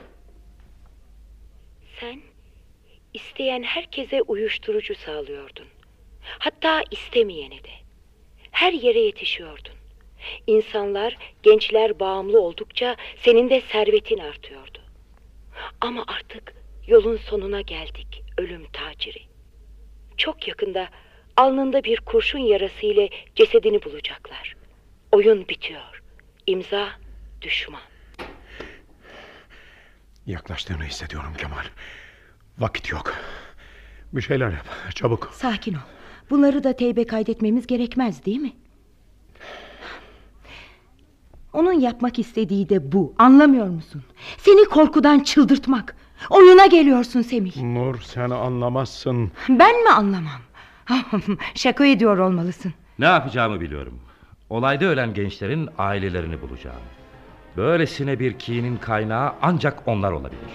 Sen isteyen herkese uyuşturucu sağlıyordun. Hatta istemeyene de. Her yere yetişiyordun. İnsanlar, gençler bağımlı oldukça senin de servetin artıyordu. Ama artık yolun sonuna geldik, ölüm taciri. Çok yakında alnında bir kurşun yarası ile cesedini bulacaklar. Oyun bitiyor. İmza düşman. Yaklaştığını hissediyorum Kemal. Vakit yok. Bir şeyler yap, çabuk. Sakin ol. Bunları da teybe kaydetmemiz gerekmez, değil mi? Onun yapmak istediği de bu. Anlamıyor musun? Seni korkudan çıldırtmak. Oyuna geliyorsun Semih. Nur, sen anlamazsın. Ben mi anlamam? Şaka ediyor olmalısın. Ne yapacağımı biliyorum. Olayda ölen gençlerin ailelerini bulacağım. Böylesine bir kinin kaynağı ancak onlar olabilir.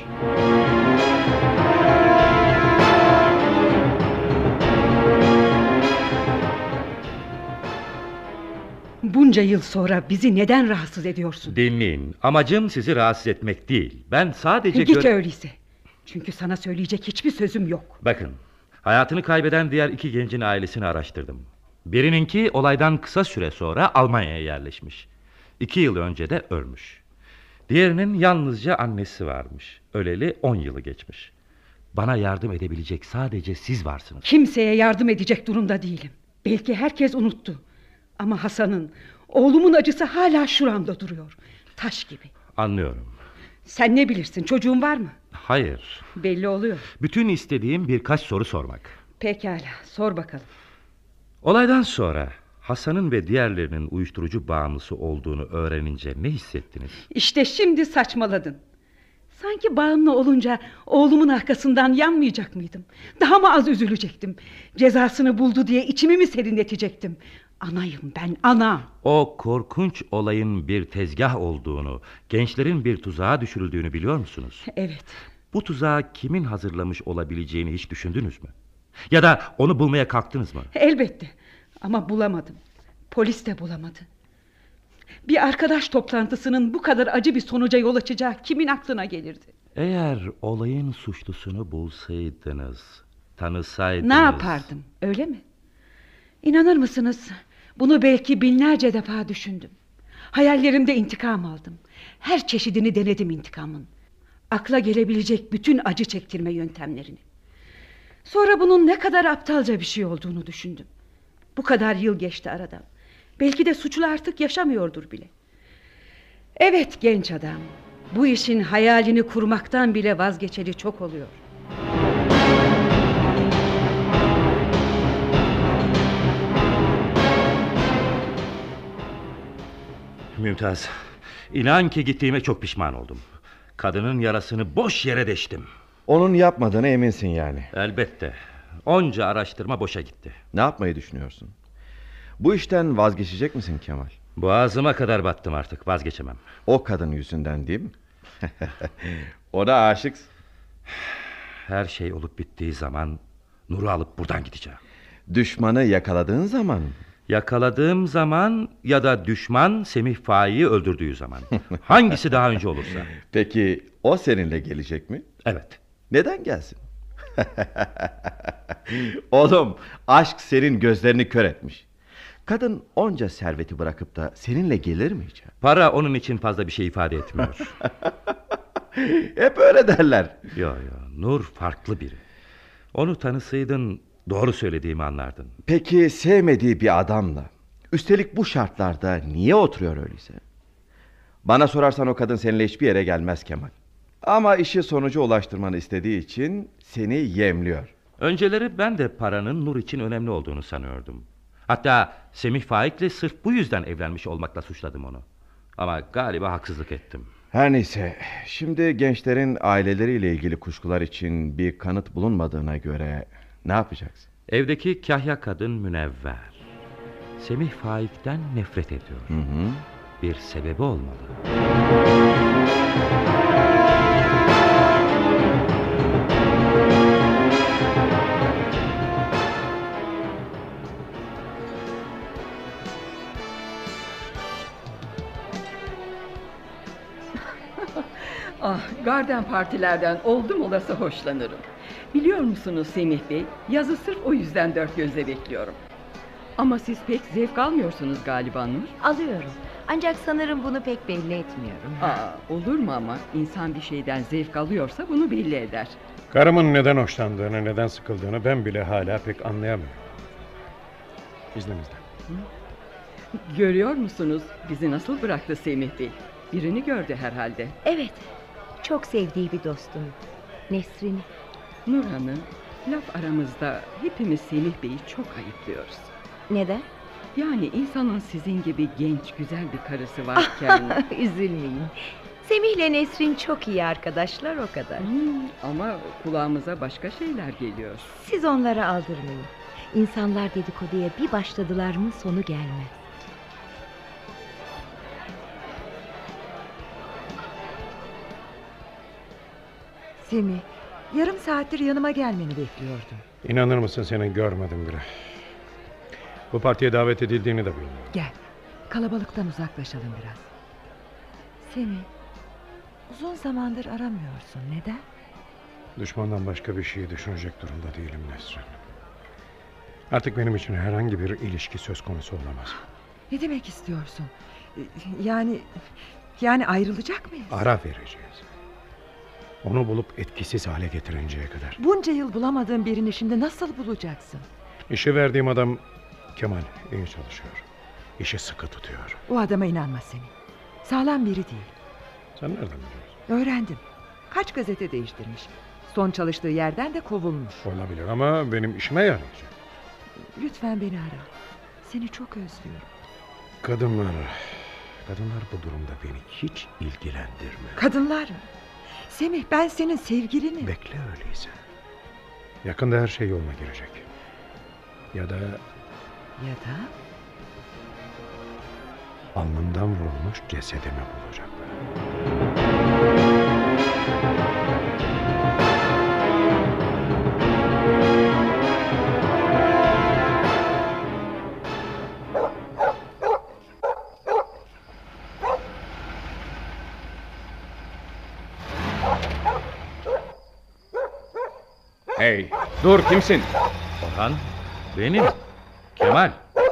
Bunca yıl sonra bizi neden rahatsız ediyorsun? Dinleyin. Amacım sizi rahatsız etmek değil. Ben sadece... Git öyleyse. Çünkü sana söyleyecek hiçbir sözüm yok. Bakın, hayatını kaybeden diğer 2 gencin ailesini araştırdım. Birininki olaydan kısa süre sonra Almanya'ya yerleşmiş. 2 yıl önce de ölmüş. Diğerinin yalnızca annesi varmış. Öleli 10 yılı geçmiş. Bana yardım edebilecek sadece siz varsınız. Kimseye yardım edecek durumda değilim. Belki herkes unuttu. Ama Hasan'ın, oğlumun acısı hala şuramda duruyor. Taş gibi. Anlıyorum. Sen ne bilirsin, çocuğun var mı? Hayır. Belli oluyor. Bütün istediğim birkaç soru sormak. Pekala, sor bakalım. Olaydan sonra Hasan'ın ve diğerlerinin uyuşturucu bağımlısı olduğunu öğrenince ne hissettiniz? İşte şimdi saçmaladın. Sanki bağımlı olunca oğlumun arkasından yanmayacak mıydım? Daha mı az üzülecektim? Cezasını buldu diye içimi mi serinletecektim? Anayım ben, ana. O korkunç olayın bir tezgah olduğunu, gençlerin bir tuzağa düşürüldüğünü biliyor musunuz? Evet. Bu tuzağı kimin hazırlamış olabileceğini hiç düşündünüz mü? Ya da onu bulmaya kalktınız mı? Elbette. Ama bulamadım. Polis de bulamadı. Bir arkadaş toplantısının bu kadar acı bir sonuca yol açacağı kimin aklına gelirdi? Eğer olayın suçlusunu bulsaydınız, tanısaydınız... Ne yapardım, öyle mi? İnanır mısınız? Bunu belki binlerce defa düşündüm. Hayallerimde intikam aldım. Her çeşidini denedim intikamın. Akla gelebilecek bütün acı çektirme yöntemlerini. Sonra bunun ne kadar aptalca bir şey olduğunu düşündüm. Bu kadar yıl geçti aradan. Belki de suçlu artık yaşamıyordur bile. Evet genç adam, bu işin hayalini kurmaktan bile vazgeçeli çok oluyor. Mümtaz, inan ki gittiğime çok pişman oldum. Kadının yarasını boş yere deştim. Onun yapmadığına eminsin yani. Elbette. Onca araştırma boşa gitti. Ne yapmayı düşünüyorsun? Bu işten vazgeçecek misin Kemal? Boğazıma kadar battım artık, vazgeçemem. O kadın yüzünden değil mi? Ona aşıksın. Her şey olup bittiği zaman Nur'u alıp buradan gideceğim. Düşmanı yakaladığın zaman? Yakaladığım zaman ya da düşman Semih Faik'i öldürdüğü zaman. Hangisi daha önce olursa. Peki o seninle gelecek mi? Evet. Neden gelsin? Oğlum, aşk senin gözlerini kör etmiş. Kadın onca serveti bırakıp da seninle gelir mi hiç? Para onun için fazla bir şey ifade etmiyor. Hep öyle derler. Yo, Nur farklı biri. Onu tanısaydın doğru söylediğimi anlardın. Peki sevmediği bir adamla, üstelik bu şartlarda niye oturuyor öyleyse? Bana sorarsan o kadın seninle hiçbir yere gelmez Kemal. Ama işi sonuca ulaştırmanı istediği için seni yemliyor. Önceleri ben de paranın Nur için önemli olduğunu sanıyordum. Hatta Semih Faik'le sırf bu yüzden evlenmiş olmakla suçladım onu. Ama galiba haksızlık ettim. Her neyse, şimdi gençlerin aileleriyle ilgili kuşkular için bir kanıt bulunmadığına göre ne yapacaksın? Evdeki kahya kadın Münevver. Semih Faik'ten nefret ediyor. Bir sebebi olmalı. Garden partilerden oldum olası hoşlanırım. Biliyor musunuz Semih Bey, yazı sırf o yüzden dört gözle bekliyorum. Ama siz pek zevk almıyorsunuz galiba Nur. Alıyorum. Ancak sanırım bunu pek belli etmiyorum. Olur mu ama? İnsan bir şeyden zevk alıyorsa bunu belli eder. Karımın neden hoşlandığını, neden sıkıldığını ben bile hala pek anlayamıyorum. İzninizle. Görüyor musunuz? Bizi nasıl bıraktı Semih Bey? Birini gördü herhalde. Evet. Çok sevdiği bir dostum. Nesrin'i. Nur Hanım, laf aramızda hepimiz Semih Bey'i çok ayıplıyoruz. Neden? Yani insanın sizin gibi genç, güzel bir karısı varken... Üzülmeyin. Semih'le Nesrin çok iyi arkadaşlar, o kadar. Ama kulağımıza başka şeyler geliyor. Siz onlara aldırmayın. İnsanlar dedikoduya bir başladılar mı sonu gelmez. Semih, yarım saattir yanıma gelmeni bekliyordum. İnanır mısın, seni görmedim bile. Bu partiye davet edildiğini de bilmiyorum. Gel, kalabalıktan uzaklaşalım biraz. Semih, uzun zamandır aramıyorsun. Neden? Düşmandan başka bir şeyi düşünecek durumda değilim Nesrin. Artık benim için herhangi bir ilişki söz konusu olamaz. Ne demek istiyorsun? Yani ayrılacak mıyız? Ara vereceğiz. Onu bulup etkisiz hale getirinceye kadar. Bunca yıl bulamadığın birini şimdi nasıl bulacaksın? İşe verdiğim adam Kemal iyi çalışıyor. İşi sıkı tutuyor. O adama inanma Semih. Sağlam biri değil. Sen nereden biliyorsun? Öğrendim. Kaç gazete değiştirmiş. Son çalıştığı yerden de kovulmuş. Olabilir ama benim işime yarayacak. Lütfen beni ara. Seni çok özlüyorum. Kadınlar bu durumda beni hiç ilgilendirmiyor. Kadınlar mı? Semih, ben senin sevgilinim. Bekle öyleyse. Yakında her şey yoluna girecek. Ya da alnımdan vurulmuş cesedimi bulacaklar. Hey, dur, kimsin? Orhan, benim. Kemal.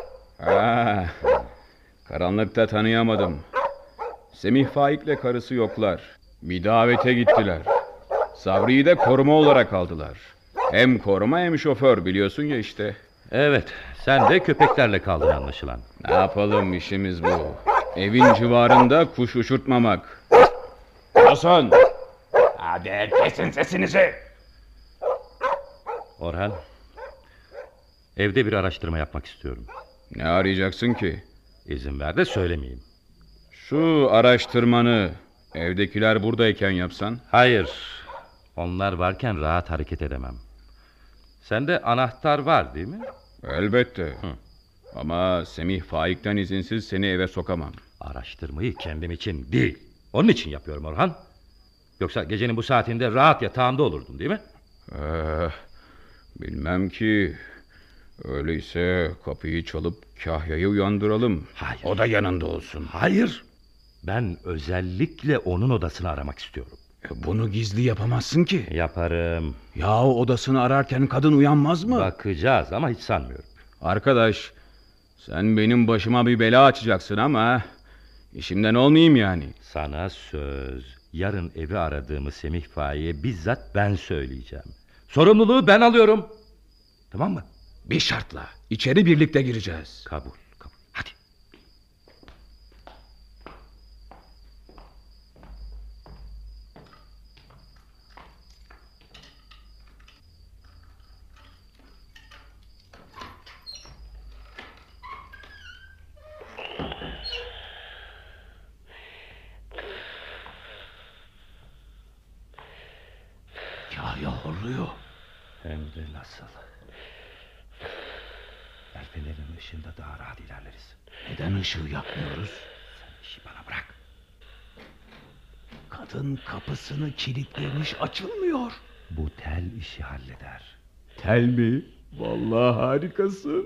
Karanlıkta tanıyamadım. Semih Faik'le karısı yoklar. Bir davete gittiler. Sabri'yi de koruma olarak aldılar. Hem koruma hem şoför, biliyorsun ya işte. Evet, sen de köpeklerle kaldın anlaşılan. Ne yapalım, işimiz bu. Evin civarında kuş uçurtmamak. Hasan! Hadi kesin sesinizi. Orhan, evde bir araştırma yapmak istiyorum. Ne arayacaksın ki? İzin ver de söylemeyeyim. Şu araştırmanı evdekiler buradayken yapsan? Hayır, onlar varken rahat hareket edemem. Sende anahtar var değil mi? Elbette. Ama Semih Faik'ten izinsiz seni eve sokamam. Araştırmayı kendim için değil, onun için yapıyorum Orhan. Yoksa gecenin bu saatinde rahat yatağımda olurdun değil mi? Bilmem ki. Öyleyse kapıyı çalıp Kahya'yı uyandıralım. Hayır. O da yanında olsun. Hayır. Ben özellikle onun odasını aramak istiyorum. Bunu gizli yapamazsın ki. Yaparım. Yahu odasını ararken kadın uyanmaz mı? Bakacağız ama hiç sanmıyorum. Arkadaş, sen benim başıma bir bela açacaksın ama işimden olmayayım yani. Sana söz. Yarın evi aradığımı Semih Faik'e bizzat ben söyleyeceğim. Sorumluluğu ben alıyorum. Tamam mı? Bir şartla. İçeri birlikte gireceğiz. Kabul. Hadi. Kahya horluyor. Hem de nasıl? Fenerin ışığında daha rahat ilerleriz. Neden ışığı yakmıyoruz? Sen işi bana bırak. Kadın kapısını kilitlemiş, açılmıyor. Bu tel işi halleder. Tel mi? Vallahi harikasın.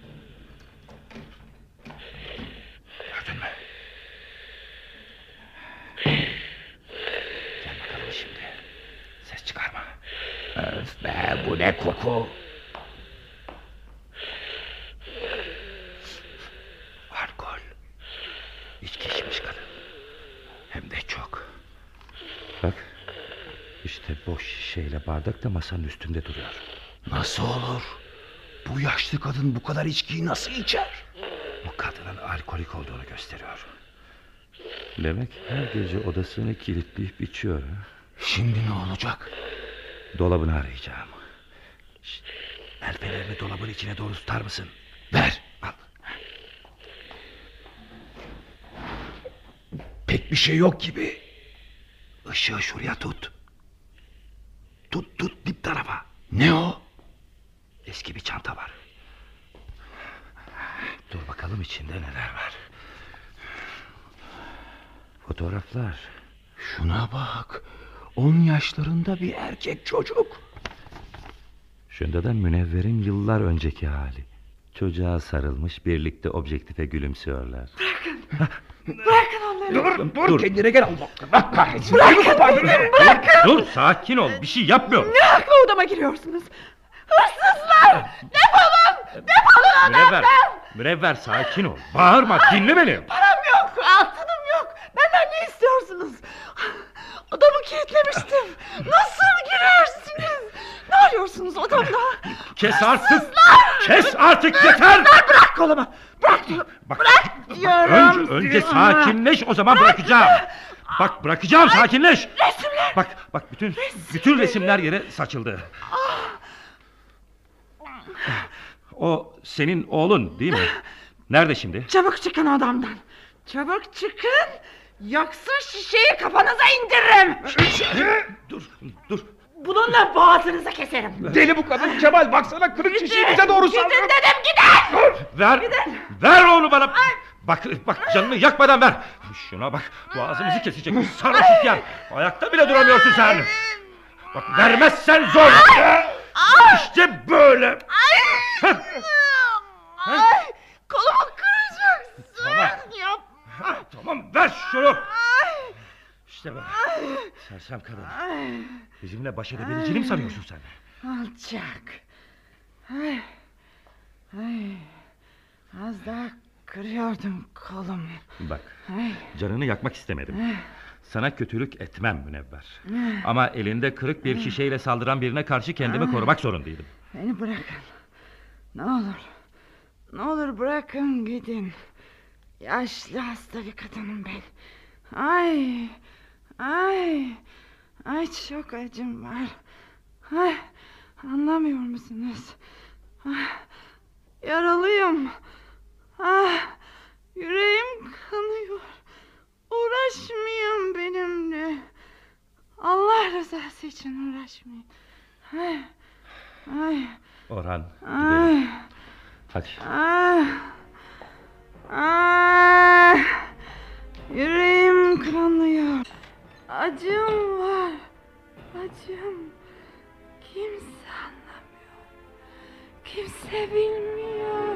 Gördün mü? Gel bakalım şimdi. Ses çıkarma. Öf be, bu ne koku? Alkol. İçki içmiş kadın. Hem de çok. Bak. İşte boş şişeyle bardak da masanın üstünde duruyor. Nasıl olur? Bu yaşlı kadın bu kadar içkiyi nasıl içer? Bu kadının alkolik olduğunu gösteriyor. Demek her gece odasını kilitleyip içiyor. Şimdi ne olacak? Dolabını arayacağım. Şişt, el fenerini dolabın içine doğru tutar mısın? Ver. Al. Pek bir şey yok gibi. Işığı şuraya tut. Tut dip tarafa. Ne o? Eski bir çanta var. Dur bakalım içinde neler var. Fotoğraflar. Şuna bak. 10 yaşlarında bir erkek çocuk. Şunda da Münevver'in yıllar önceki hali. Çocuğa sarılmış, birlikte objektife gülümsüyorlar. Bırakın onları. Dur kendine gel Allah kahretsin. Dur sakin ol, bir şey yapmıyorum. Ne hakla odama giriyorsunuz? Hırsızlar! Defolun! Münevver sakin ol. Bağırma, dinle beni. Param yok, altınım yok. Benden ne istiyorsunuz? Odamı kilitlemiştim. Nasıl girersiniz? Ne arıyorsunuz odamda? Kes artık yeter. Bırak kolumu. Bırak diyorum. Bırak diyorum. Önce sakinleş, o zaman bırakacağım. Bak bırakacağım, sakinleş. Resimler. Bak bütün resimler yere saçıldı. O senin oğlun değil mi? Nerede şimdi? Çabuk çıkın odamdan. Çabuk çıkın. Yoksa şişeyi kafanıza indiririm. Dur. Bununla boğazınızı keserim. Deli bu kadın Kemal, baksana kırık şişeyi bize doğru sallıyor. Gidin dedim, gidin. Ver onu bana. Bak canını yakmadan ver. Şuna bak, boğazımızı kesecek. Sarhoş ihtiyar. Ayakta bile duramıyorsun sen. Bak vermezsen zor. İşte böyle. Kolumu kıracaksın. Tamam ver şunu. İşte böyle. Sersem kadın. Bizimle baş edebileceğini mi sanıyorsun sen? Alçak. Az daha kırıyordum kolumu. Bak, canını yakmak istemedim. Sana kötülük etmem Münevver. Ama elinde kırık bir şişeyle saldıran birine karşı kendimi korumak zorundaydım. Beni bırakın. Ne olur bırakın gidin. Yaşlı hasta bir kadınım ben. Ay çok acım var. Anlamıyor musunuz? Yaralıyım. Yüreğim kanıyor. Uğraşmayın benimle. Allah rızası için uğraşmayın. Orhan gidelim. Hadi. Yüreğim kanıyor. Acım var. Acım. Kimse anlamıyor. Kimse bilmiyor.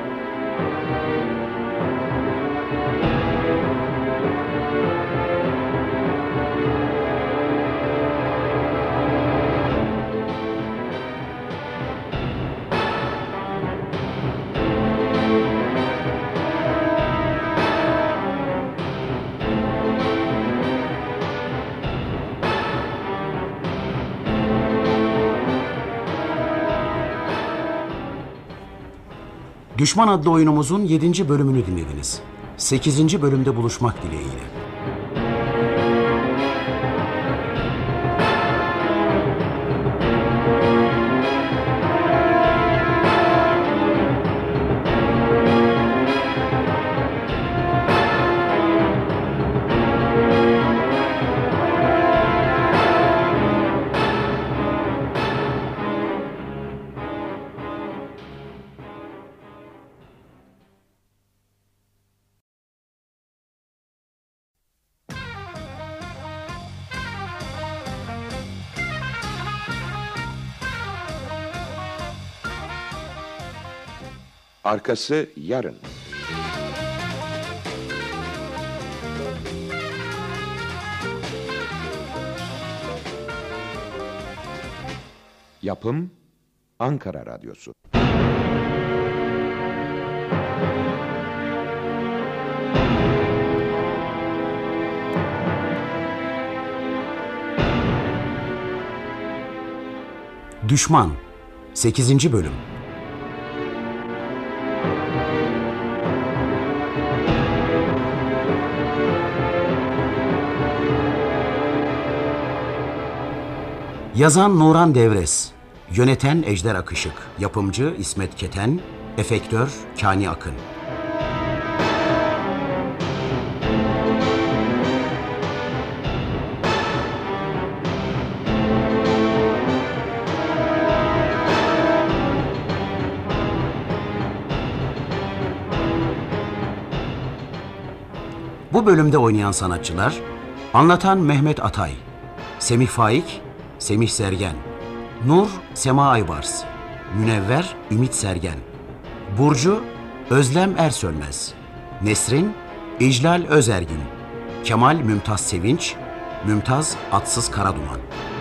Düşman adlı oyunumuzun 7. bölümünü dinlediniz. 8. bölümde buluşmak dileğiyle. Arkası yarın. Yapım Ankara Radyosu. Düşman 8. bölüm. Yazan Nuran Devres, yöneten Ejder Akışık, yapımcı İsmet Keten, efektör Kani Akın. Bu bölümde oynayan sanatçılar: anlatan Mehmet Atay, Semih Faik, Semih Sergen, Nur, Sema Aybars, Münevver, Ümit Sergen, Burcu, Özlem Ersölmez, Nesrin, İclal Özergin, Kemal Mümtaz Sevinç, Mümtaz Atsız Karaduman.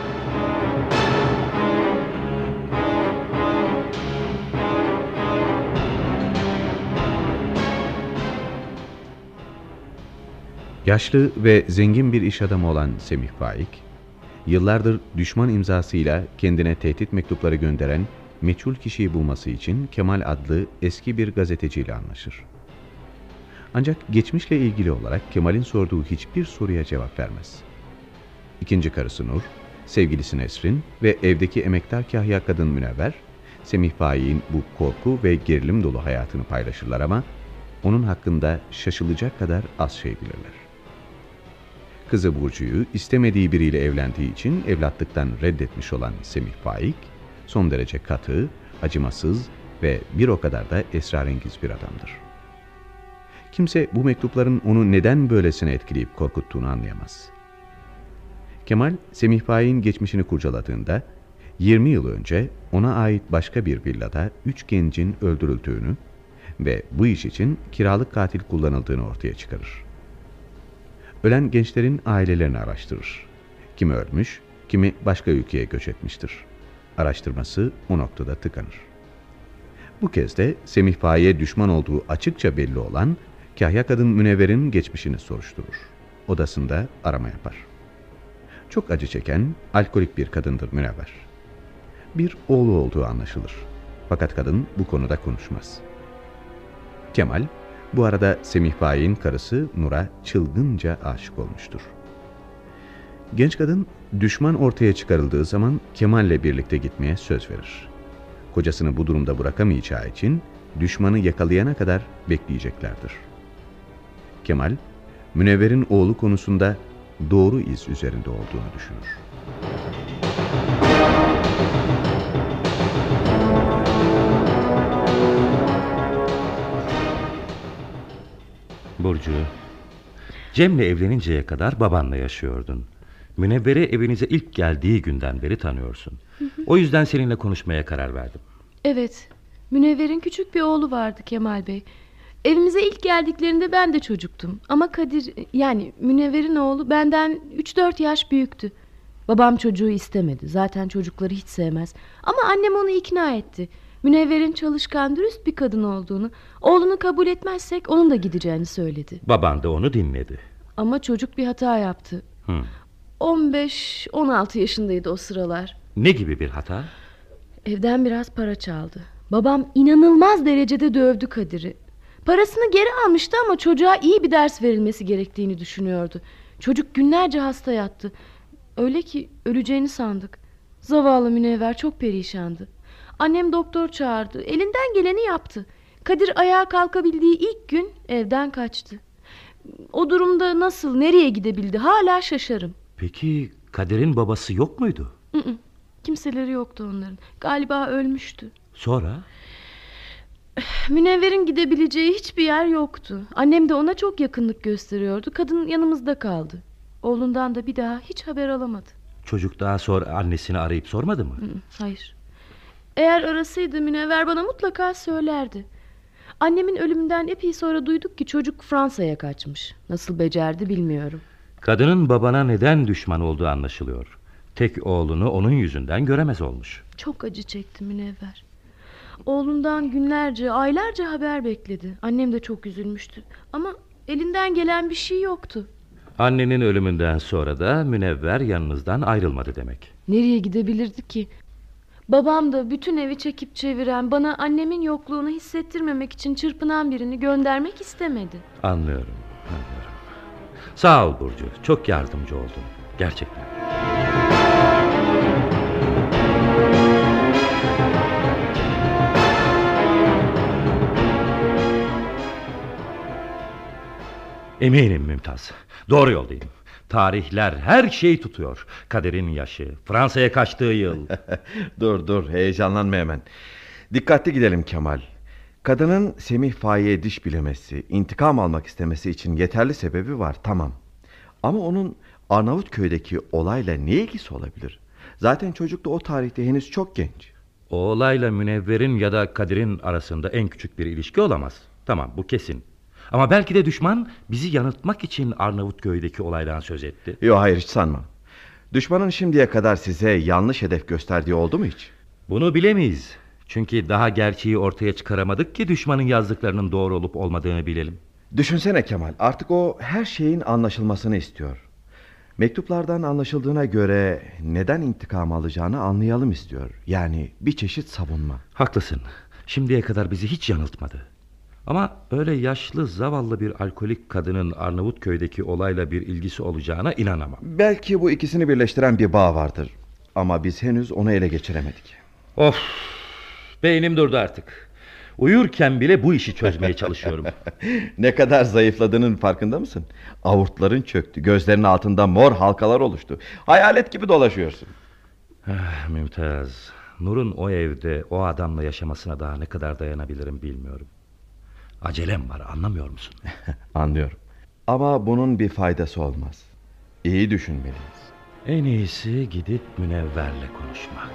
Yaşlı ve zengin bir iş adamı olan Semih Faik, yıllardır düşman imzasıyla kendine tehdit mektupları gönderen meçhul kişiyi bulması için Kemal adlı eski bir gazeteciyle anlaşır. Ancak geçmişle ilgili olarak Kemal'in sorduğu hiçbir soruya cevap vermez. İkinci karısı Nur, sevgilisi Nesrin ve evdeki emektar kahya kadın Münevver, Semih Faik'in bu korku ve gerilim dolu hayatını paylaşırlar ama onun hakkında şaşılacak kadar az şey bilirler. Kızı Burcu'yu istemediği biriyle evlendiği için evlatlıktan reddetmiş olan Semih Faik, son derece katı, acımasız ve bir o kadar da esrarengiz bir adamdır. Kimse bu mektupların onu neden böylesine etkileyip korkuttuğunu anlayamaz. Kemal, Semih Faik'in geçmişini kurcaladığında, 20 yıl önce ona ait başka bir villada 3 gencin öldürüldüğünü ve bu iş için kiralık katil kullanıldığını ortaya çıkarır. Ölen gençlerin ailelerini araştırır. Kimi ölmüş, kimi başka ülkeye göç etmiştir. Araştırması o noktada tıkanır. Bu kez de Semih Faik'e düşman olduğu açıkça belli olan kahya kadın Münevver'in geçmişini soruşturur. Odasında arama yapar. Çok acı çeken, alkolik bir kadındır Münevver. Bir oğlu olduğu anlaşılır. Fakat kadın bu konuda konuşmaz. Kemal, bu arada Semih Faik'in karısı Nur'a çılgınca aşık olmuştur. Genç kadın, düşman ortaya çıkarıldığı zaman Kemal'le birlikte gitmeye söz verir. Kocasını bu durumda bırakamayacağı için düşmanı yakalayana kadar bekleyeceklerdir. Kemal, Münevver'in oğlu konusunda doğru iz üzerinde olduğunu düşünür. Burcu, Cem'le evleninceye kadar babanla yaşıyordun. Münevver'i evinize ilk geldiği günden beri tanıyorsun. O yüzden seninle konuşmaya karar verdim. Evet, Münevver'in küçük bir oğlu vardı Kemal Bey. Evimize ilk geldiklerinde ben de çocuktum. Ama Kadir, yani Münevver'in oğlu benden 3-4 yaş büyüktü. Babam çocuğu istemedi. Zaten çocukları hiç sevmez. Ama annem onu ikna etti. Münevver'in çalışkan, dürüst bir kadın olduğunu, oğlunu kabul etmezsek onun da gideceğini söyledi. Baban da onu dinledi. Ama çocuk bir hata yaptı. 15-16 yaşındaydı o sıralar. Ne gibi bir hata? Evden biraz para çaldı. Babam inanılmaz derecede dövdü Kadir'i. Parasını geri almıştı ama çocuğa iyi bir ders verilmesi gerektiğini düşünüyordu. Çocuk günlerce hasta yattı. Öyle ki öleceğini sandık. Zavallı Münevver çok perişandı. Annem doktor çağırdı. Elinden geleni yaptı. Kadir ayağa kalkabildiği ilk gün evden kaçtı. O durumda nasıl, nereye gidebildi hala şaşarım. Peki Kadir'in babası yok muydu? Kimseleri yoktu onların. Galiba ölmüştü. Sonra? Münevver'in gidebileceği hiçbir yer yoktu. Annem de ona çok yakınlık gösteriyordu. Kadın yanımızda kaldı. Oğlundan da bir daha hiç haber alamadı. Çocuk daha sonra annesini arayıp sormadı mı? Hayır. Eğer arasaydı Münevver bana mutlaka söylerdi. Annemin ölümünden epey sonra duyduk ki çocuk Fransa'ya kaçmış. Nasıl becerdi bilmiyorum. Kadının babana neden düşman olduğu anlaşılıyor. Tek oğlunu onun yüzünden göremez olmuş. Çok acı çekti Münevver. Oğlundan günlerce, aylarca haber bekledi. Annem de çok üzülmüştü. Ama elinden gelen bir şey yoktu. Annenin ölümünden sonra da Münevver yanınızdan ayrılmadı demek. Nereye gidebilirdi ki? Babam da bütün evi çekip çeviren, bana annemin yokluğunu hissettirmemek için çırpınan birini göndermek istemedi. Anlıyorum. Sağ ol Burcu. Çok yardımcı oldun. Gerçekten. Eminim Mümtaz. Doğru yoldayım. Tarihler her şeyi tutuyor. Kadir'in yaşı, Fransa'ya kaçtığı yıl. Dur heyecanlanma hemen. Dikkatli gidelim Kemal. Kadının Semih Faik'e diş bilemesi, intikam almak istemesi için yeterli sebebi var, tamam. Ama onun Arnavutköy'deki olayla ne ilgisi olabilir? Zaten çocuk da o tarihte henüz çok genç. O olayla Münevver'in ya da Kadir'in arasında en küçük bir ilişki olamaz. Tamam, bu kesin. Ama belki de düşman bizi yanıltmak için Arnavutköy'deki olaydan söz etti. Yok, hayır, hiç sanmam. Düşmanın şimdiye kadar size yanlış hedef gösterdiği oldu mu hiç? Bunu bilemeyiz. Çünkü daha gerçeği ortaya çıkaramadık ki düşmanın yazdıklarının doğru olup olmadığını bilelim. Düşünsene Kemal, artık o her şeyin anlaşılmasını istiyor. Mektuplardan anlaşıldığına göre neden intikam alacağını anlayalım istiyor. Yani bir çeşit savunma. Haklısın. Şimdiye kadar bizi hiç yanıltmadı. Ama öyle yaşlı, zavallı bir alkolik kadının Arnavutköy'deki olayla bir ilgisi olacağına inanamam. Belki bu ikisini birleştiren bir bağ vardır. Ama biz henüz onu ele geçiremedik. Of! Beynim durdu artık. Uyurken bile bu işi çözmeye çalışıyorum. Ne kadar zayıfladığının farkında mısın? Avurtların çöktü, gözlerinin altında mor halkalar oluştu. Hayalet gibi dolaşıyorsun. Mümtaz, Nur'un o evde o adamla yaşamasına daha ne kadar dayanabilirim bilmiyorum. Acelem var, anlamıyor musun? Anlıyorum. Ama bunun bir faydası olmaz. İyi düşünmeliyiz. En iyisi gidip Münevver'le konuşmak.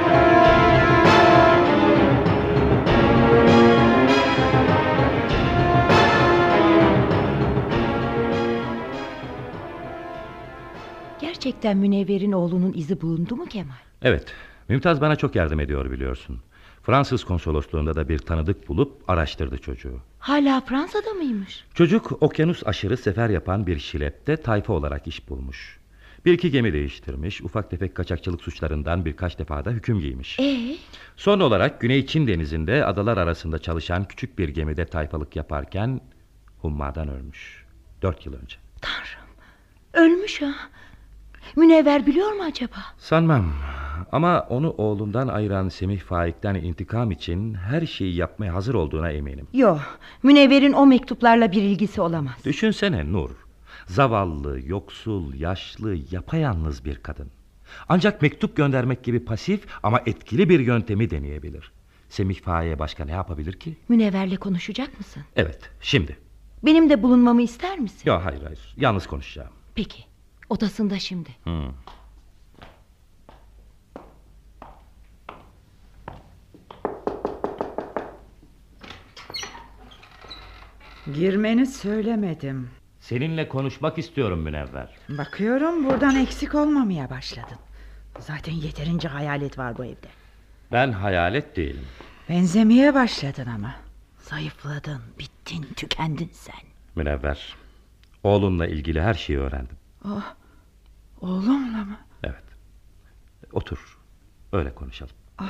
Gerçekten Münevver'in oğlunun izi bulundu mu Kemal? Evet, Mümtaz bana çok yardım ediyor biliyorsun. Fransız konsolosluğunda da bir tanıdık bulup araştırdı çocuğu. Hala Fransa'da mıymış? Çocuk okyanus aşırı sefer yapan bir şilepte tayfa olarak iş bulmuş. Bir iki gemi değiştirmiş, ufak tefek kaçakçılık suçlarından birkaç defa da hüküm giymiş. Son olarak Güney Çin denizinde adalar arasında çalışan küçük bir gemide tayfalık yaparken hummadan ölmüş. 4 yıl önce. Tanrım, ölmüş ha. Münevver biliyor mu acaba? Sanmam. Ama onu oğlundan ayıran Semih Faik'ten intikam için her şeyi yapmaya hazır olduğuna eminim. Yok, Münevver'in o mektuplarla bir ilgisi olamaz. Düşünsene Nur. Zavallı, yoksul, yaşlı, yapayalnız bir kadın. Ancak mektup göndermek gibi pasif ama etkili bir yöntemi deneyebilir. Semih Faik'e başka ne yapabilir ki? Münevver'le konuşacak mısın? Evet, şimdi. Benim de bulunmamı ister misin? Yok, hayır. Yalnız konuşacağım. Peki, odasında şimdi. Girmeni söylemedim. Seninle konuşmak istiyorum Münevver. Bakıyorum buradan eksik olmamaya başladın. Zaten yeterince hayalet var bu evde. Ben hayalet değilim. Benzemeye başladın ama. Zayıfladın, bittin, tükendin sen. Münevver, oğlunla ilgili her şeyi öğrendim. Oh, oğlumla mı? Evet. Otur, öyle konuşalım.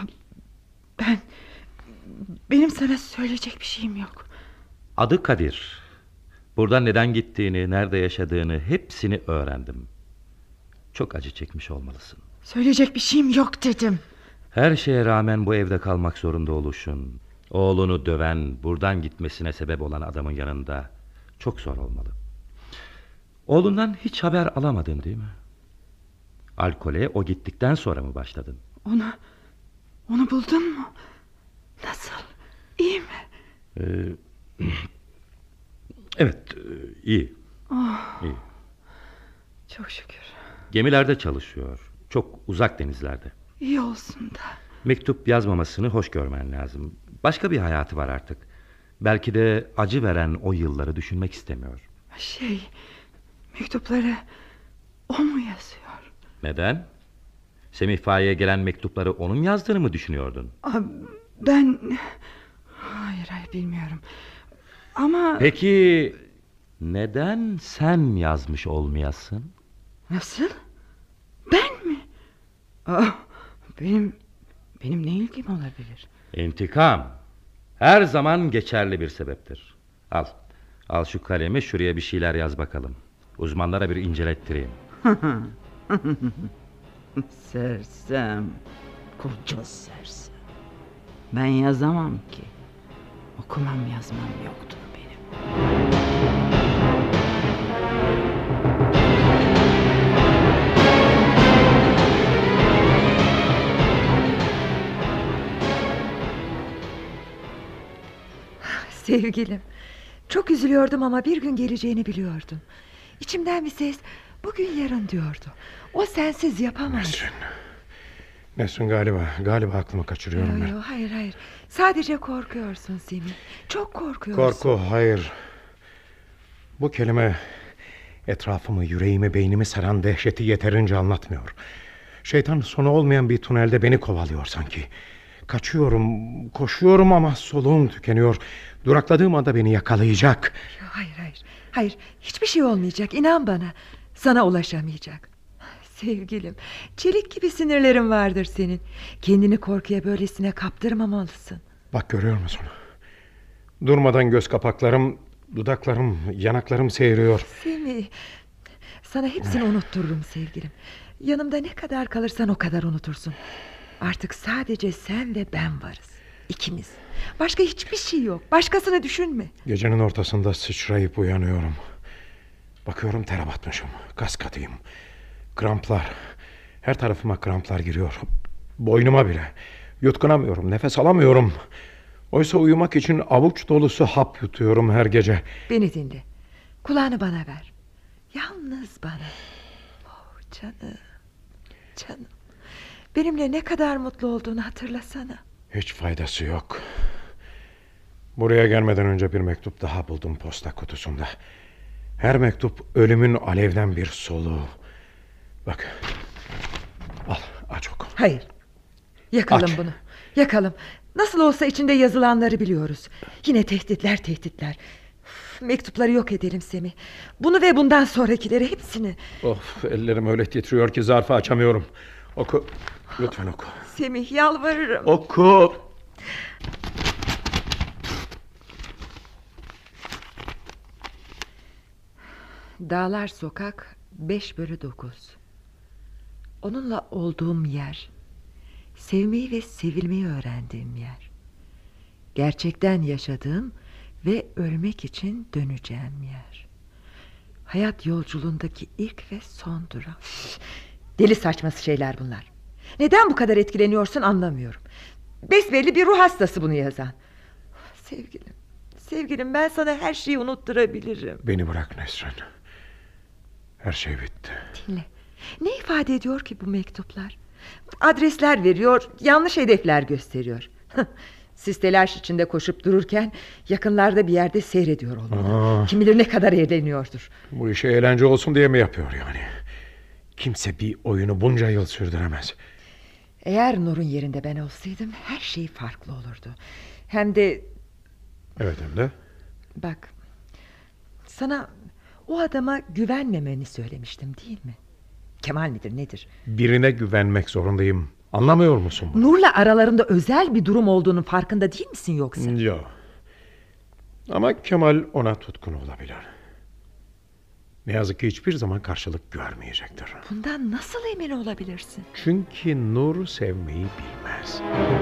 Benim sana söyleyecek bir şeyim yok. Adı Kadir. Buradan neden gittiğini, nerede yaşadığını hepsini öğrendim. Çok acı çekmiş olmalısın. Söyleyecek bir şeyim yok dedim. Her şeye rağmen bu evde kalmak zorunda oluşun, oğlunu döven, buradan gitmesine sebep olan adamın yanında çok zor olmalı. Oğlundan hiç haber alamadın değil mi? Alkole o gittikten sonra mı başladın? Onu buldun mu? Nasıl? İyi mi? Evet, iyi. İyi. Çok şükür. Gemilerde çalışıyor. Çok uzak denizlerde. İyi olsun da. Mektup yazmamasını hoş görmen lazım. Başka bir hayatı var artık. Belki de acı veren o yılları düşünmek istemiyor. Mektupları o mu yazıyor? Neden? Semih Faik'e gelen mektupları onun yazdığını mı düşünüyordun? Ben... Hayır bilmiyorum. Ama... Peki neden sen yazmış olmayasın? Nasıl? Ben mi? Benim ne ilgim olabilir? İntikam her zaman geçerli bir sebeptir. Al şu kalemi, şuraya bir şeyler yaz bakalım. Uzmanlara bir incelettireyim. Sersem, koca sersem. Ben yazamam ki. Okumam yazmam yoktur benim. Sevgilim, çok üzülüyordum ama bir gün geleceğini biliyordum. İçimden bir ses bugün yarın diyordu. O sensiz yapamaz. Nesrin galiba aklımı kaçırıyorum ben. Hayır. Sadece korkuyorsun Semih. Çok korkuyorsun. Korku, hayır. Bu kelime etrafımı, yüreğimi, beynimi saran dehşeti yeterince anlatmıyor. Şeytan sonu olmayan bir tünelde beni kovalıyor sanki. Kaçıyorum, koşuyorum ama soluğum tükeniyor. Durakladığım anda beni yakalayacak. Hayır, hiçbir şey olmayacak, inan bana. Sana ulaşamayacak. Sevgilim, çelik gibi sinirlerin vardır senin. Kendini korkuya böylesine kaptırmamalısın. Bak, görüyor musun? Durmadan göz kapaklarım, dudaklarım, yanaklarım seyiriyor. Semih, sana hepsini unuttururum sevgilim. Yanımda ne kadar kalırsan o kadar unutursun. Artık sadece sen ve ben varız. İkimiz. Başka hiçbir şey yok. Başkasını düşünme. Gecenin ortasında sıçrayıp uyanıyorum. Bakıyorum ter batmışım. Kas katıyım. Kramplar. Her tarafıma kramplar giriyor. Boynuma bile. Yutkunamıyorum. Nefes alamıyorum. Oysa uyumak için avuç dolusu hap yutuyorum her gece. Beni dinle. Kulağını bana ver. Yalnız bana. Oh canım. Benimle ne kadar mutlu olduğunu hatırlasana. Hiç faydası yok. Buraya gelmeden önce bir mektup daha buldum posta kutusunda. Her mektup ölümün alevden bir soluğu. Bak. Al, aç oku. Hayır. Yakalım Aç. bunu. Yakalım. Nasıl olsa içinde yazılanları biliyoruz. Yine tehditler. Mektupları yok edelim Semih. Bunu ve bundan sonrakileri hepsini. Of, ellerim öyle titriyor ki zarfı açamıyorum. Oku. Lütfen oku. Semih, yalvarırım. Oku. Dağlar Sokak 5/9. Onunla olduğum yer. Sevmeyi ve sevilmeyi öğrendiğim yer. Gerçekten yaşadığım ve ölmek için döneceğim yer. Hayat yolculuğundaki ilk ve son durak. Deli saçması şeyler bunlar. Neden bu kadar etkileniyorsun anlamıyorum. Besbelli bir ruh hastası bunu yazan. Sevgilim, ben sana her şeyi unutturabilirim. Beni bırak Nesrin. Her şey bitti. Dinle. Ne ifade ediyor ki bu mektuplar? Adresler veriyor, yanlış hedefler gösteriyor. Siz telaş içinde koşup dururken yakınlarda bir yerde seyrediyor olmalı. Kim bilir ne kadar eğleniyordur. Bu işe eğlence olsun diye mi yapıyor yani? Kimse bir oyunu bunca yıl sürdüremez. Eğer Nur'un yerinde ben olsaydım her şey farklı olurdu. Hem de... Evet, hem de? Bak, sana o adama güvenmemeni söylemiştim değil mi? Kemal midir nedir? Birine güvenmek zorundayım. Anlamıyor musun bunu? Nur'la aralarında özel bir durum olduğunun farkında değil misin yoksa? Yok. Ama Kemal ona tutkun olabilir. Ne yazık ki hiçbir zaman karşılık görmeyecektir. Bundan nasıl emin olabilirsin? Çünkü Nur sevmeyi bilmez.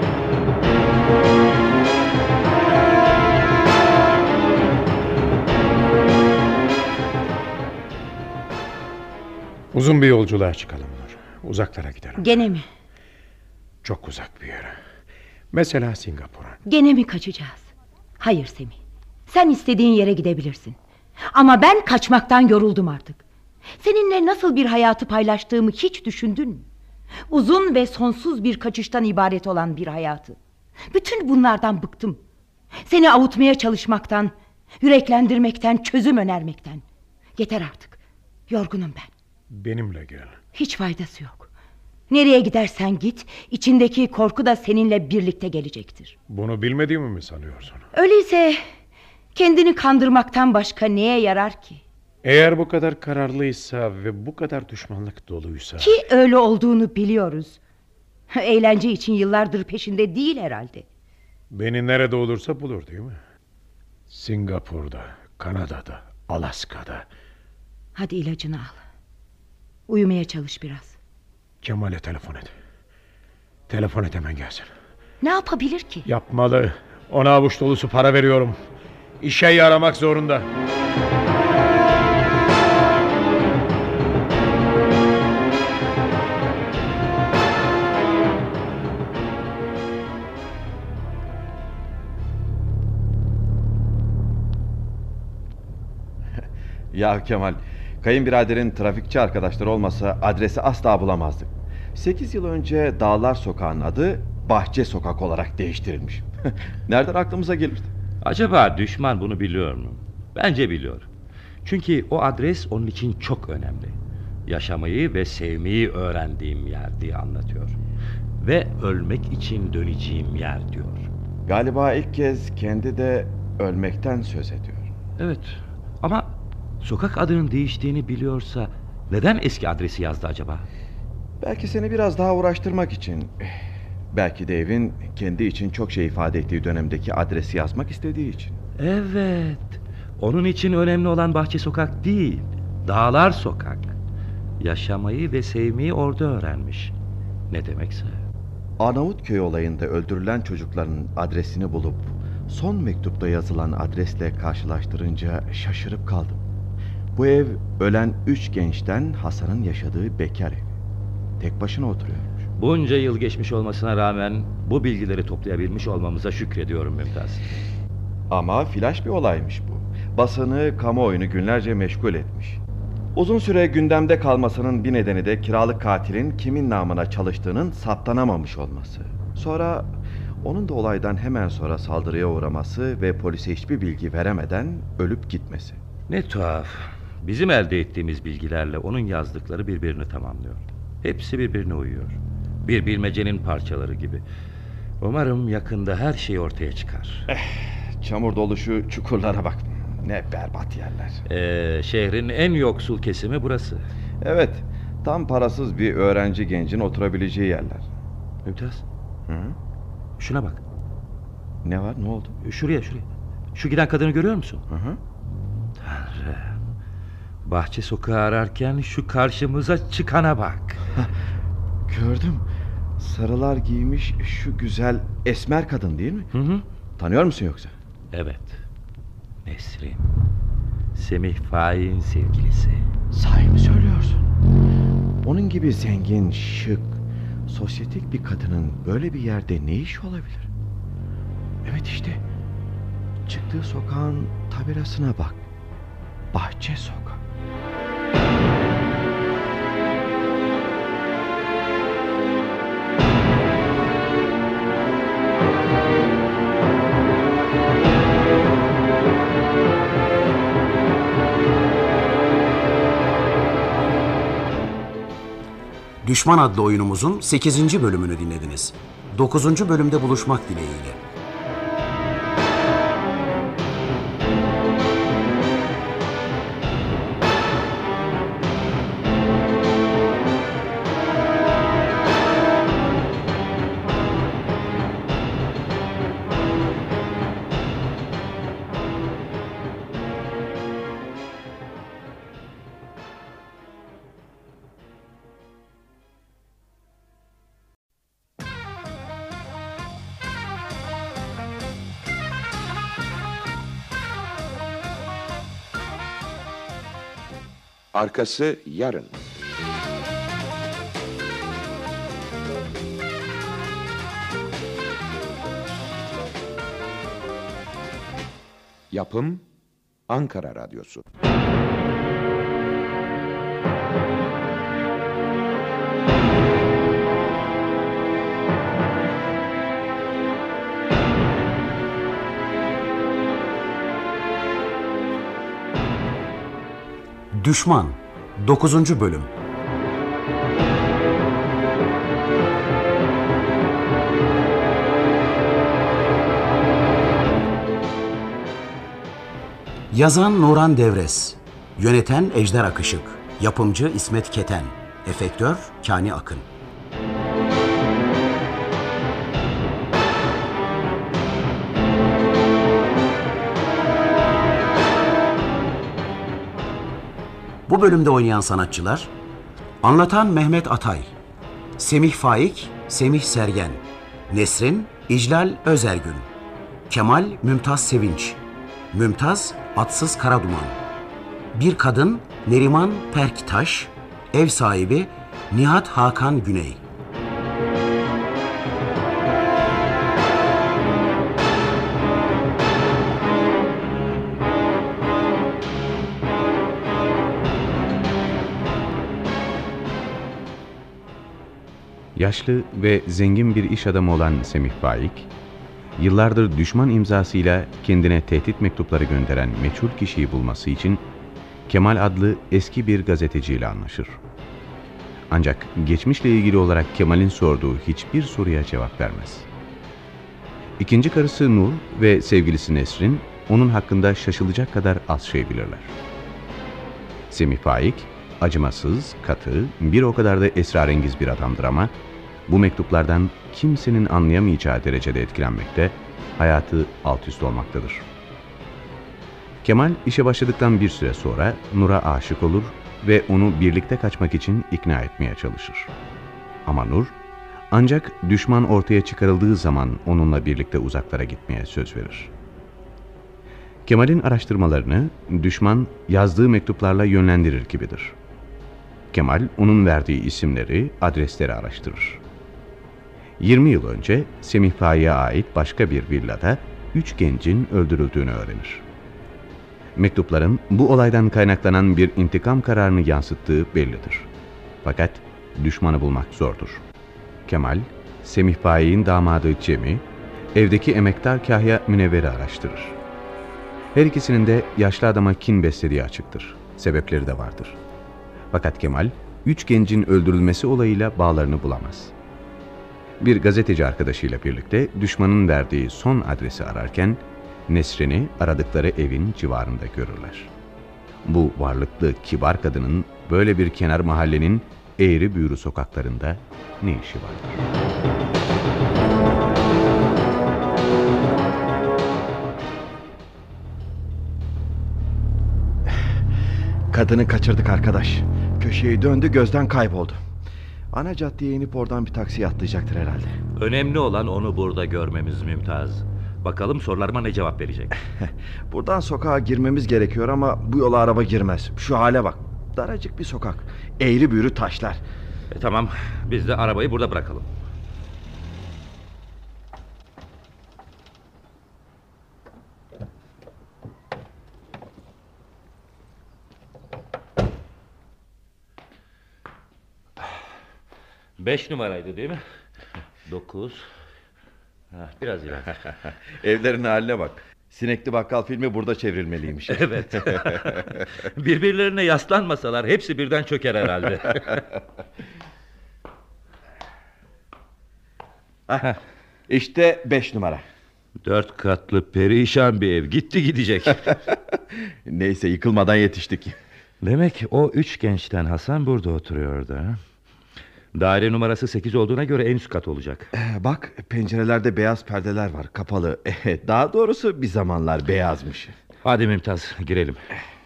Uzun bir yolculuğa çıkalım Nur. Uzaklara gidelim. Gene mi? Çok uzak bir yere. Mesela Singapur'a. Gene mi kaçacağız? Hayır Semih. Sen istediğin yere gidebilirsin. Ama ben kaçmaktan yoruldum artık. Seninle nasıl bir hayatı paylaştığımı hiç düşündün mü? Uzun ve sonsuz bir kaçıştan ibaret olan bir hayatı. Bütün bunlardan bıktım. Seni avutmaya çalışmaktan, yüreklendirmekten, çözüm önermekten. Yeter artık. Yorgunum ben. Benimle gel. Hiç faydası yok. Nereye gidersen git, içindeki korku da seninle birlikte gelecektir. Bunu bilmediğimi mi sanıyorsun? Öyleyse kendini kandırmaktan başka neye yarar ki? Eğer bu kadar kararlıysa ve bu kadar düşmanlık doluysa... Ki öyle olduğunu biliyoruz. Eğlence için yıllardır peşinde değil herhalde. Beni nerede olursa bulur değil mi? Singapur'da, Kanada'da, Alaska'da. Hadi ilacını al. Uyumaya çalış biraz. Kemal'e telefon et. Telefon et, hemen gelsin. Ne yapabilir ki? Yapmalı. Ona avuç dolusu para veriyorum. İşe yaramak zorunda. Ya Kemal, kayınbiraderin trafikçi arkadaşları olmasa adresi asla bulamazdık. 8 yıl önce Dağlar Sokağı'nın adı Bahçe Sokak olarak değiştirilmiş. Nereden aklımıza gelirdi? Acaba düşman bunu biliyor mu? Bence biliyor. Çünkü o adres onun için çok önemli. Yaşamayı ve sevmeyi öğrendiğim yer diye anlatıyor. Ve ölmek için döneceğim yer diyor. Galiba ilk kez kendi de ölmekten söz ediyor. Evet, ama sokak adının değiştiğini biliyorsa neden eski adresi yazdı acaba? Belki seni biraz daha uğraştırmak için. Belki de evin kendi için çok şey ifade ettiği dönemdeki adresi yazmak istediği için. Evet, onun için önemli olan Bahçe Sokak değil, Dağlar Sokak. Yaşamayı ve sevmeyi orada öğrenmiş. Ne demekse. Arnavutköy olayında öldürülen çocukların adresini bulup son mektupta yazılan adresle karşılaştırınca şaşırıp kaldım. Bu ev ölen 3 gençten Hasan'ın yaşadığı bekar evi. Tek başına oturuyormuş. Bunca yıl geçmiş olmasına rağmen bu bilgileri toplayabilmiş olmamıza şükrediyorum Mümtaz. Ama flash bir olaymış bu. Basını, kamuoyunu günlerce meşgul etmiş. Uzun süre gündemde kalmasının bir nedeni de kiralık katilin kimin namına çalıştığının saptanamamış olması. Sonra onun da olaydan hemen sonra saldırıya uğraması ve polise hiçbir bilgi veremeden ölüp gitmesi. Ne tuhaf. Bizim elde ettiğimiz bilgilerle onun yazdıkları birbirini tamamlıyor. Hepsi birbirine uyuyor. Bir bilmecenin parçaları gibi. Umarım yakında her şey ortaya çıkar. Çamur dolu şu çukurlara bak. Ne berbat yerler. Şehrin en yoksul kesimi burası. Evet, tam parasız bir öğrenci gencin oturabileceği yerler. Mümtaz. Hı? Şuna bak. Ne var, ne oldu? Şuraya. Şu giden kadını görüyor musun? Hı. Tanrım. Bahçe Sokağı ararken şu karşımıza çıkana bak. Gördüm. Sarılar giymiş şu güzel esmer kadın değil mi? Hı. Tanıyor musun yoksa? Evet. Nesrin. Semih Faik'in sevgilisi. Sahi mi söylüyorsun? Onun gibi zengin, şık, sosyetik bir kadının böyle bir yerde ne iş olabilir? Evet işte. Çıktığı sokağın tabirasına bak. Bahçe Sokak. Düşman adlı oyunumuzun 8. bölümünü dinlediniz. 9. bölümde buluşmak dileğiyle. Arkası yarın. Yapım Ankara Radyosu. Düşman 9. bölüm. Yazan Nuran Devres, yöneten Ejder Akışık, yapımcı İsmet Keten, efektör Kani Akın. Bu bölümde oynayan sanatçılar: anlatan Mehmet Atay, Semih Faik, Semih Sergen, Nesrin, İclal Özergün, Kemal, Mümtaz Sevinç, Mümtaz, Atsız Karaduman, bir kadın, Neriman Perktaş, ev sahibi, Nihat Hakan Güney. Yaşlı ve zengin bir iş adamı olan Semih Faik, yıllardır düşman imzasıyla kendine tehdit mektupları gönderen meçhul kişiyi bulması için Kemal adlı eski bir gazeteciyle anlaşır. Ancak geçmişle ilgili olarak Kemal'in sorduğu hiçbir soruya cevap vermez. İkinci karısı Nur ve sevgilisi Nesrin onun hakkında şaşılacak kadar az şey bilirler. Semih Faik, acımasız, katı, bir o kadar da esrarengiz bir adamdır ama bu mektuplardan kimsenin anlayamayacağı derecede etkilenmekte, hayatı alt üst olmaktadır. Kemal işe başladıktan bir süre sonra Nur'a aşık olur ve onu birlikte kaçmak için ikna etmeye çalışır. Ama Nur, ancak düşman ortaya çıkarıldığı zaman onunla birlikte uzaklara gitmeye söz verir. Kemal'in araştırmalarını düşman yazdığı mektuplarla yönlendirir gibidir. Kemal onun verdiği isimleri, adresleri araştırır. 20 yıl önce Semih Faik'e ait başka bir villada 3 gencin öldürüldüğünü öğrenir. Mektupların bu olaydan kaynaklanan bir intikam kararını yansıttığı bellidir. Fakat düşmanı bulmak zordur. Kemal, Semih Faik'in damadı Cem'i, evdeki emektar Kahya Münevver'i araştırır. Her ikisinin de yaşlı adama kin beslediği açıktır. Sebepleri de vardır. Fakat Kemal, 3 gencin öldürülmesi olayıyla bağlarını bulamaz. Bir gazeteci arkadaşıyla birlikte düşmanın verdiği son adresi ararken, Nesrin'i aradıkları evin civarında görürler. Bu varlıklı, kibar kadının böyle bir kenar mahallenin eğri büğrü sokaklarında ne işi vardır? Kadını kaçırdık arkadaş. Köşeyi döndü, gözden kayboldu. Ana caddeye inip oradan bir taksiye atlayacaktır herhalde. Önemli olan onu burada görmemiz Mümtaz. Bakalım sorularıma ne cevap verecek. Buradan sokağa girmemiz gerekiyor ama bu yola araba girmez. Şu hale bak. Daracık bir sokak. Eğri büğrü taşlar. Tamam, biz de arabayı burada bırakalım. Beş numaraydı değil mi? 9. Biraz ileride. Evlerin haline bak. Sinekli Bakkal filmi burada çevrilmeliymiş. Evet. Birbirlerine yaslanmasalar hepsi birden çöker herhalde. İşte 5 numara. 4 katlı perişan bir ev. Gitti gidecek. Neyse, yıkılmadan yetiştik. Demek o 3 gençten Hasan burada oturuyordu. Daire numarası 8 olduğuna göre en üst kat olacak. Bak, pencerelerde beyaz perdeler var, kapalı. Daha doğrusu bir zamanlar beyazmış. Hadi Mümtaz, girelim.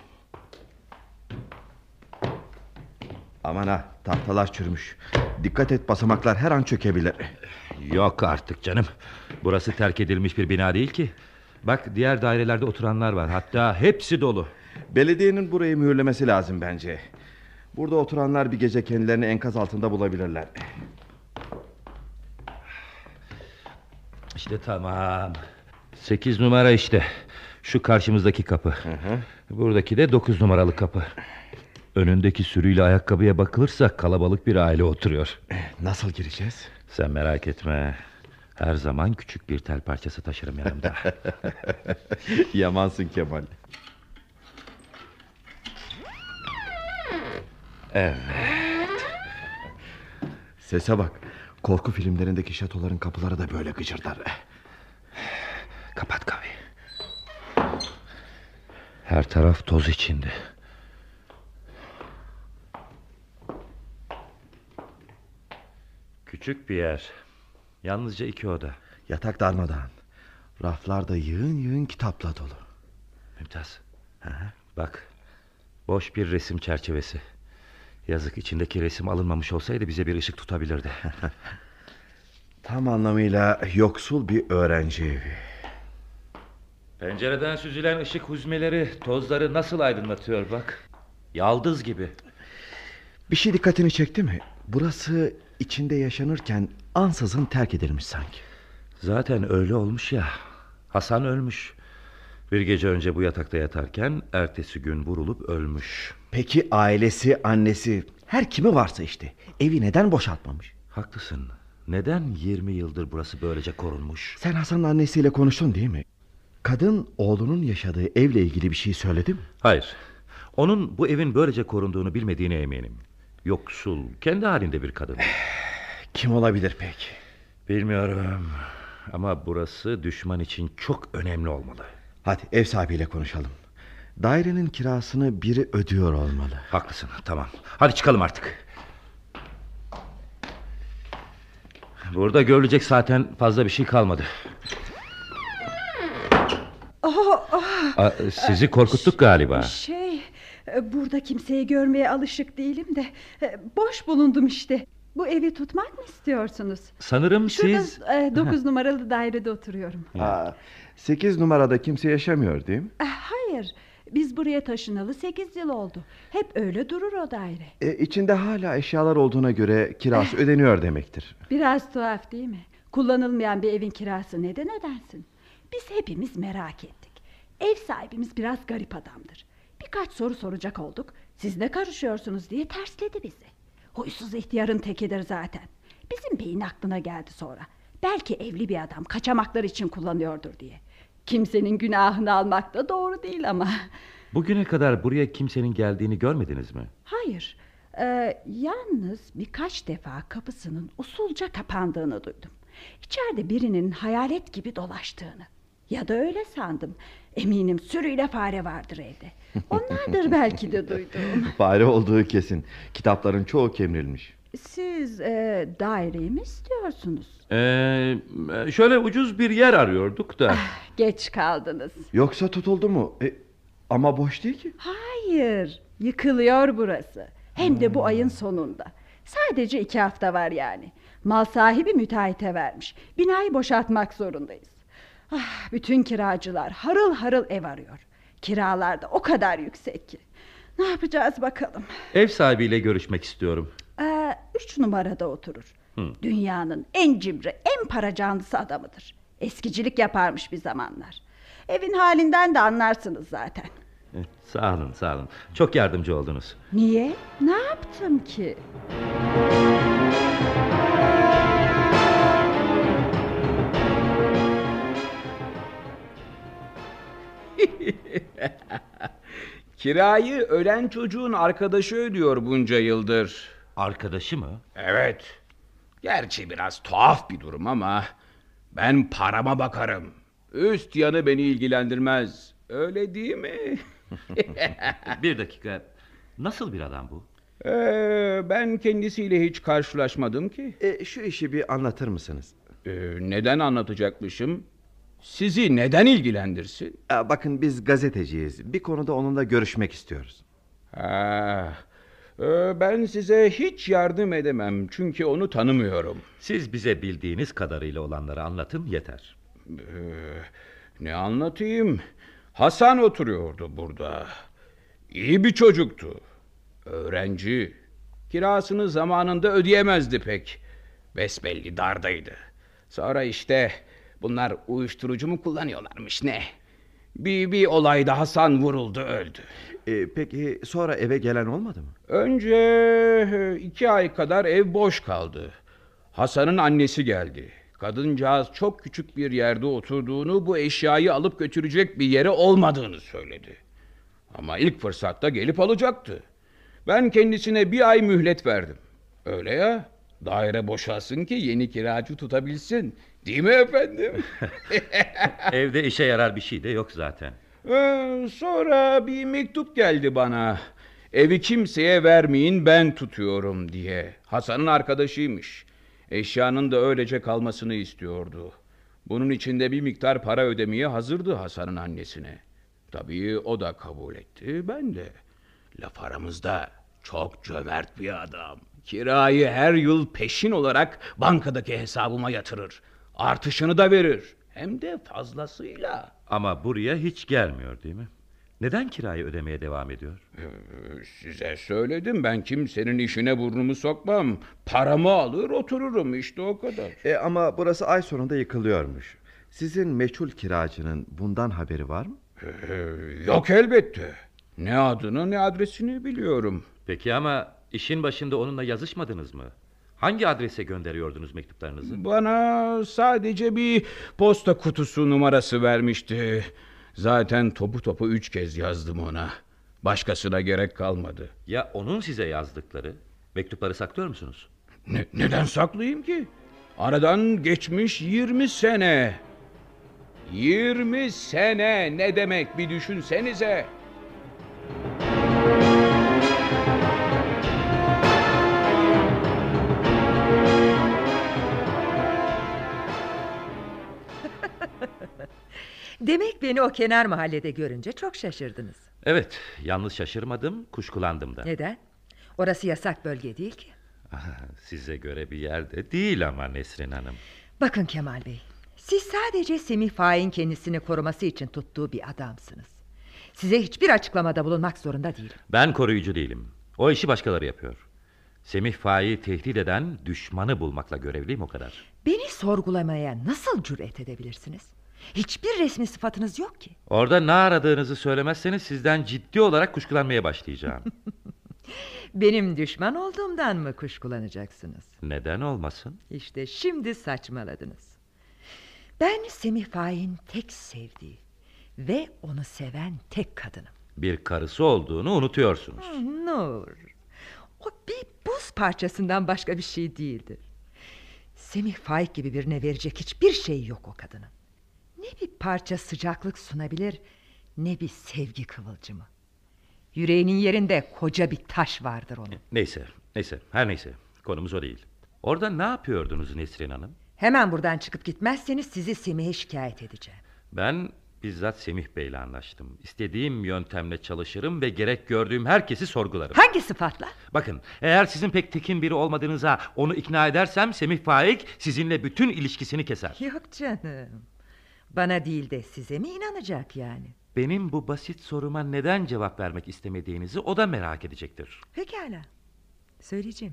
Aman ha, tahtalar çürümüş. Dikkat et, basamaklar her an çökebilir. Yok artık canım. Burası terk edilmiş bir bina değil ki. Bak, diğer dairelerde oturanlar var. Hatta hepsi dolu. Belediyenin burayı mühürlemesi lazım bence. Burada oturanlar bir gece kendilerini enkaz altında bulabilirler. İşte tamam. 8 numara işte. Şu karşımızdaki kapı. Buradaki de 9 numaralı kapı. Önündeki sürüyle ayakkabıya bakılırsa kalabalık bir aile oturuyor. Nasıl gireceğiz? Sen merak etme. Her zaman küçük bir tel parçası taşırım yanımda. Yamansın Kemal. Evet. Sese bak. Korku filmlerindeki şatoların kapıları da böyle gıcırdar. Kapat kapıyı. Her taraf toz içinde. Küçük bir yer. Yalnızca 2 oda. Yatak darmadağın. Raflarda yığın yığın kitapla dolu. Mümtaz. Bak. Boş bir resim çerçevesi. Yazık, içindeki resim alınmamış olsaydı bize bir ışık tutabilirdi. Tam anlamıyla yoksul bir öğrenci evi. Pencereden süzülen ışık huzmeleri tozları nasıl aydınlatıyor bak. Yaldız gibi. Bir şey dikkatini çekti mi? Burası içinde yaşanırken ansızın terk edilmiş sanki. Zaten öyle olmuş ya. Hasan ölmüş. Bir gece önce bu yatakta yatarken ertesi gün vurulup ölmüş. Peki ailesi, annesi, her kimi varsa işte evi neden boşaltmamış? Haklısın. Neden 20 yıldır burası böylece korunmuş? Sen Hasan'ın annesiyle konuştun değil mi? Kadın oğlunun yaşadığı evle ilgili bir şey söyledi mi? Hayır. Onun bu evin böylece korunduğunu bilmediğine eminim. Yoksul, kendi halinde bir kadın. Kim olabilir peki? Bilmiyorum. Ama burası düşman için çok önemli olmalı. Hadi ev sahibiyle konuşalım. Dairenin kirasını biri ödüyor olmalı. Haklısın, tamam. Hadi çıkalım artık. Burada görülecek zaten fazla bir şey kalmadı. Sizi korkuttuk galiba. Burada kimseyi görmeye alışık değilim de boş bulundum işte. Bu evi tutmak mı istiyorsunuz? Sanırım Şurada, siz... 9 numaralı dairede oturuyorum. 8 numarada kimse yaşamıyor değil mi? Hayır, biz buraya taşınalı 8 yıl oldu. Hep öyle durur o daire. İçinde hala eşyalar olduğuna göre kirası ödeniyor demektir. Biraz tuhaf değil mi? Kullanılmayan bir evin kirası neden ödensin? Biz hepimiz merak ettik. Ev sahibimiz biraz garip adamdır. Birkaç soru soracak olduk. Siz ne karışıyorsunuz diye tersledi bizi. Huysuz ihtiyarın tekidir zaten. Bizim beyin aklına geldi sonra. Belki evli bir adam kaçamaklar için kullanıyordur diye. Kimsenin günahını almak da doğru değil ama. Bugüne kadar buraya kimsenin geldiğini görmediniz mi? Hayır. Yalnız birkaç defa kapısının usulca kapandığını duydum. İçeride birinin hayalet gibi dolaştığını. Ya da öyle sandım. Eminim sürüyle fare vardır evde. Onlardır belki de duyduğum. Fare olduğu kesin. Kitapların çoğu kemirilmiş. Siz daireyi mi istiyorsunuz? Şöyle ucuz bir yer arıyorduk da. Geç kaldınız. Yoksa tutuldu mu? Ama boş değil ki. Hayır, yıkılıyor burası. Hem de bu ayın sonunda. Sadece 2 hafta var yani. Mal sahibi müteahhite vermiş. Binayı boşaltmak zorundayız. Bütün kiracılar harıl harıl ev arıyor. Kiralar da o kadar yüksek ki. Ne yapacağız bakalım. Ev sahibiyle görüşmek istiyorum. 3 numarada oturur. Dünyanın en cimri, en para canlısı adamıdır. Eskicilik yaparmış bir zamanlar. Evin halinden de anlarsınız zaten. Sağ olun, sağ olun. Çok yardımcı oldunuz. Niye? Ne yaptım ki? Kirayı ölen çocuğun arkadaşı ödüyor bunca yıldır. Arkadaşı mı? Evet. Gerçi biraz tuhaf bir durum ama ben parama bakarım. Üst yanı beni ilgilendirmez. Öyle değil mi? Bir dakika. Nasıl bir adam bu? Ben kendisiyle hiç karşılaşmadım ki. Şu işi bir anlatır mısınız? Neden anlatacakmışım? Sizi neden ilgilendirsin? Bakın biz gazeteciyiz. Bir konuda onunla görüşmek istiyoruz. Ben size hiç yardım edemem. Çünkü onu tanımıyorum. Siz bize bildiğiniz kadarıyla olanları anlatın yeter. Ne anlatayım? Hasan oturuyordu burada. İyi bir çocuktu. Öğrenci. Kirasını zamanında ödeyemezdi pek. Besbelli dardaydı. Sonra işte bunlar uyuşturucu mu kullanıyorlarmış ne? Bir olayda Hasan vuruldu öldü. Peki sonra eve gelen olmadı mı? Önce 2 ay kadar ev boş kaldı. Hasan'ın annesi geldi. Kadıncağız çok küçük bir yerde oturduğunu, bu eşyayı alıp götürecek bir yere olmadığını söyledi. Ama ilk fırsatta gelip alacaktı. Ben kendisine 1 ay mühlet verdim. Öyle ya, daire boşalsın ki yeni kiracı tutabilsin. Değil mi efendim? Evde işe yarar bir şey de yok zaten. Sonra bir mektup geldi bana. Evi kimseye vermeyin, ben tutuyorum diye. Hasan'ın arkadaşıymış. Eşyanın da öylece kalmasını istiyordu. Bunun için de bir miktar para ödemeye hazırdı Hasan'ın annesine. Tabii o da kabul etti, ben de. Laf aramızda çok cömert bir adam. Kirayı her yıl peşin olarak bankadaki hesabıma yatırır. Artışını da verir. Hem de fazlasıyla. Ama buraya hiç gelmiyor değil mi? Neden kirayı ödemeye devam ediyor? Size söyledim, ben kimsenin işine burnumu sokmam. Paramı alır otururum, işte o kadar. Ama burası ay sonunda yıkılıyormuş. Sizin meçhul kiracının bundan haberi var mı? Yok elbette. Ne adını ne adresini biliyorum. Peki ama işin başında onunla yazışmadınız mı? Hangi adrese gönderiyordunuz mektuplarınızı? Bana sadece bir posta kutusu numarası vermişti. Zaten topu 3 kez yazdım ona. Başkasına gerek kalmadı. Ya onun size yazdıkları? Mektupları saklıyor musunuz? Neden saklayayım ki? Aradan geçmiş 20 sene. 20 sene ne demek bir düşünsenize. Demek beni o kenar mahallede görünce çok şaşırdınız. Evet, yalnız şaşırmadım, kuşkulandım da. Neden? Orası yasak bölge değil ki. Size göre bir yerde değil ama Nesrin Hanım. Bakın Kemal Bey, siz sadece Semih Faik'in kendisini koruması için tuttuğu bir adamsınız. Size hiçbir açıklamada bulunmak zorunda değilim. Ben koruyucu değilim. O işi başkaları yapıyor. Semih Faik'i tehdit eden düşmanı bulmakla görevliyim, o kadar. Beni sorgulamaya nasıl cüret edebilirsiniz? Hiçbir resmi sıfatınız yok ki. Orada ne aradığınızı söylemezseniz sizden ciddi olarak kuşkulanmaya başlayacağım. Benim düşman olduğumdan mı kuşkulanacaksınız? Neden olmasın? İşte şimdi saçmaladınız. Ben Semih Faik'in tek sevdiği ve onu seven tek kadınım. Bir karısı olduğunu unutuyorsunuz. Nur, o bir buz parçasından başka bir şey değildir. Semih Faik gibi birine verecek hiçbir şey yok o kadının. Ne bir parça sıcaklık sunabilir, ne bir sevgi kıvılcımı. Yüreğinin yerinde koca bir taş vardır onun. Neyse, her neyse. Konumuz o değil. Orada ne yapıyordunuz Nesrin Hanım? Hemen buradan çıkıp gitmezseniz sizi Semih'e şikayet edeceğim. Ben bizzat Semih Bey'le anlaştım. İstediğim yöntemle çalışırım ve gerek gördüğüm herkesi sorgularım. Hangi sıfatla? Bakın, eğer sizin pek tekin biri olmadığınıza onu ikna edersem Semih Faik sizinle bütün ilişkisini keser. Yok canım. Bana değil de size mi inanacak yani? Benim bu basit soruma neden cevap vermek istemediğinizi o da merak edecektir. Pekala. Söyleyeceğim.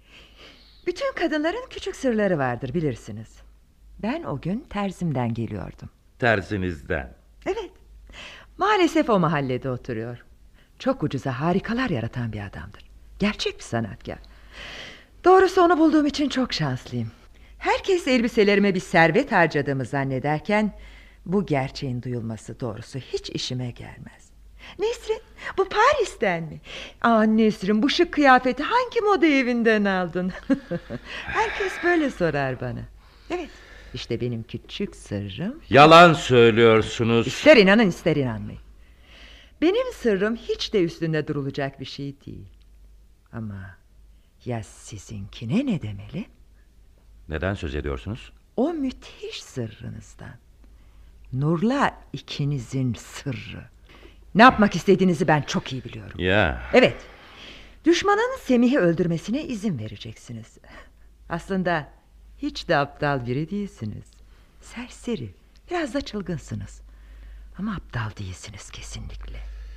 Bütün kadınların küçük sırları vardır, bilirsiniz. Ben o gün terzimden geliyordum. Terzinizden? Evet. Maalesef o mahallede oturuyor. Çok ucuza harikalar yaratan bir adamdır. Gerçek bir sanatkar. Doğrusu onu bulduğum için çok şanslıyım. Herkes elbiselerime bir servet harcadığımı zannederken bu gerçeğin duyulması doğrusu hiç işime gelmez. Nesrin, bu Paris'ten mi? Nesrin, bu şık kıyafeti hangi moda evinden aldın? Herkes böyle sorar bana. Evet, işte benim küçük sırrım. Yalan söylüyorsunuz. İster inanın ister inanmayın. Benim sırrım hiç de üstünde durulacak bir şey değil. Ama ya sizinkine ne demeli? Neden söz ediyorsunuz? O müthiş sırrınızdan. Nur'la ikinizin sırrı. Ne yapmak istediğinizi ben çok iyi biliyorum. Ya. Evet. Düşmanın Semih'i öldürmesine izin vereceksiniz. Aslında hiç de aptal biri değilsiniz. Serseri, biraz da çılgınsınız. Ama aptal değilsiniz kesinlikle.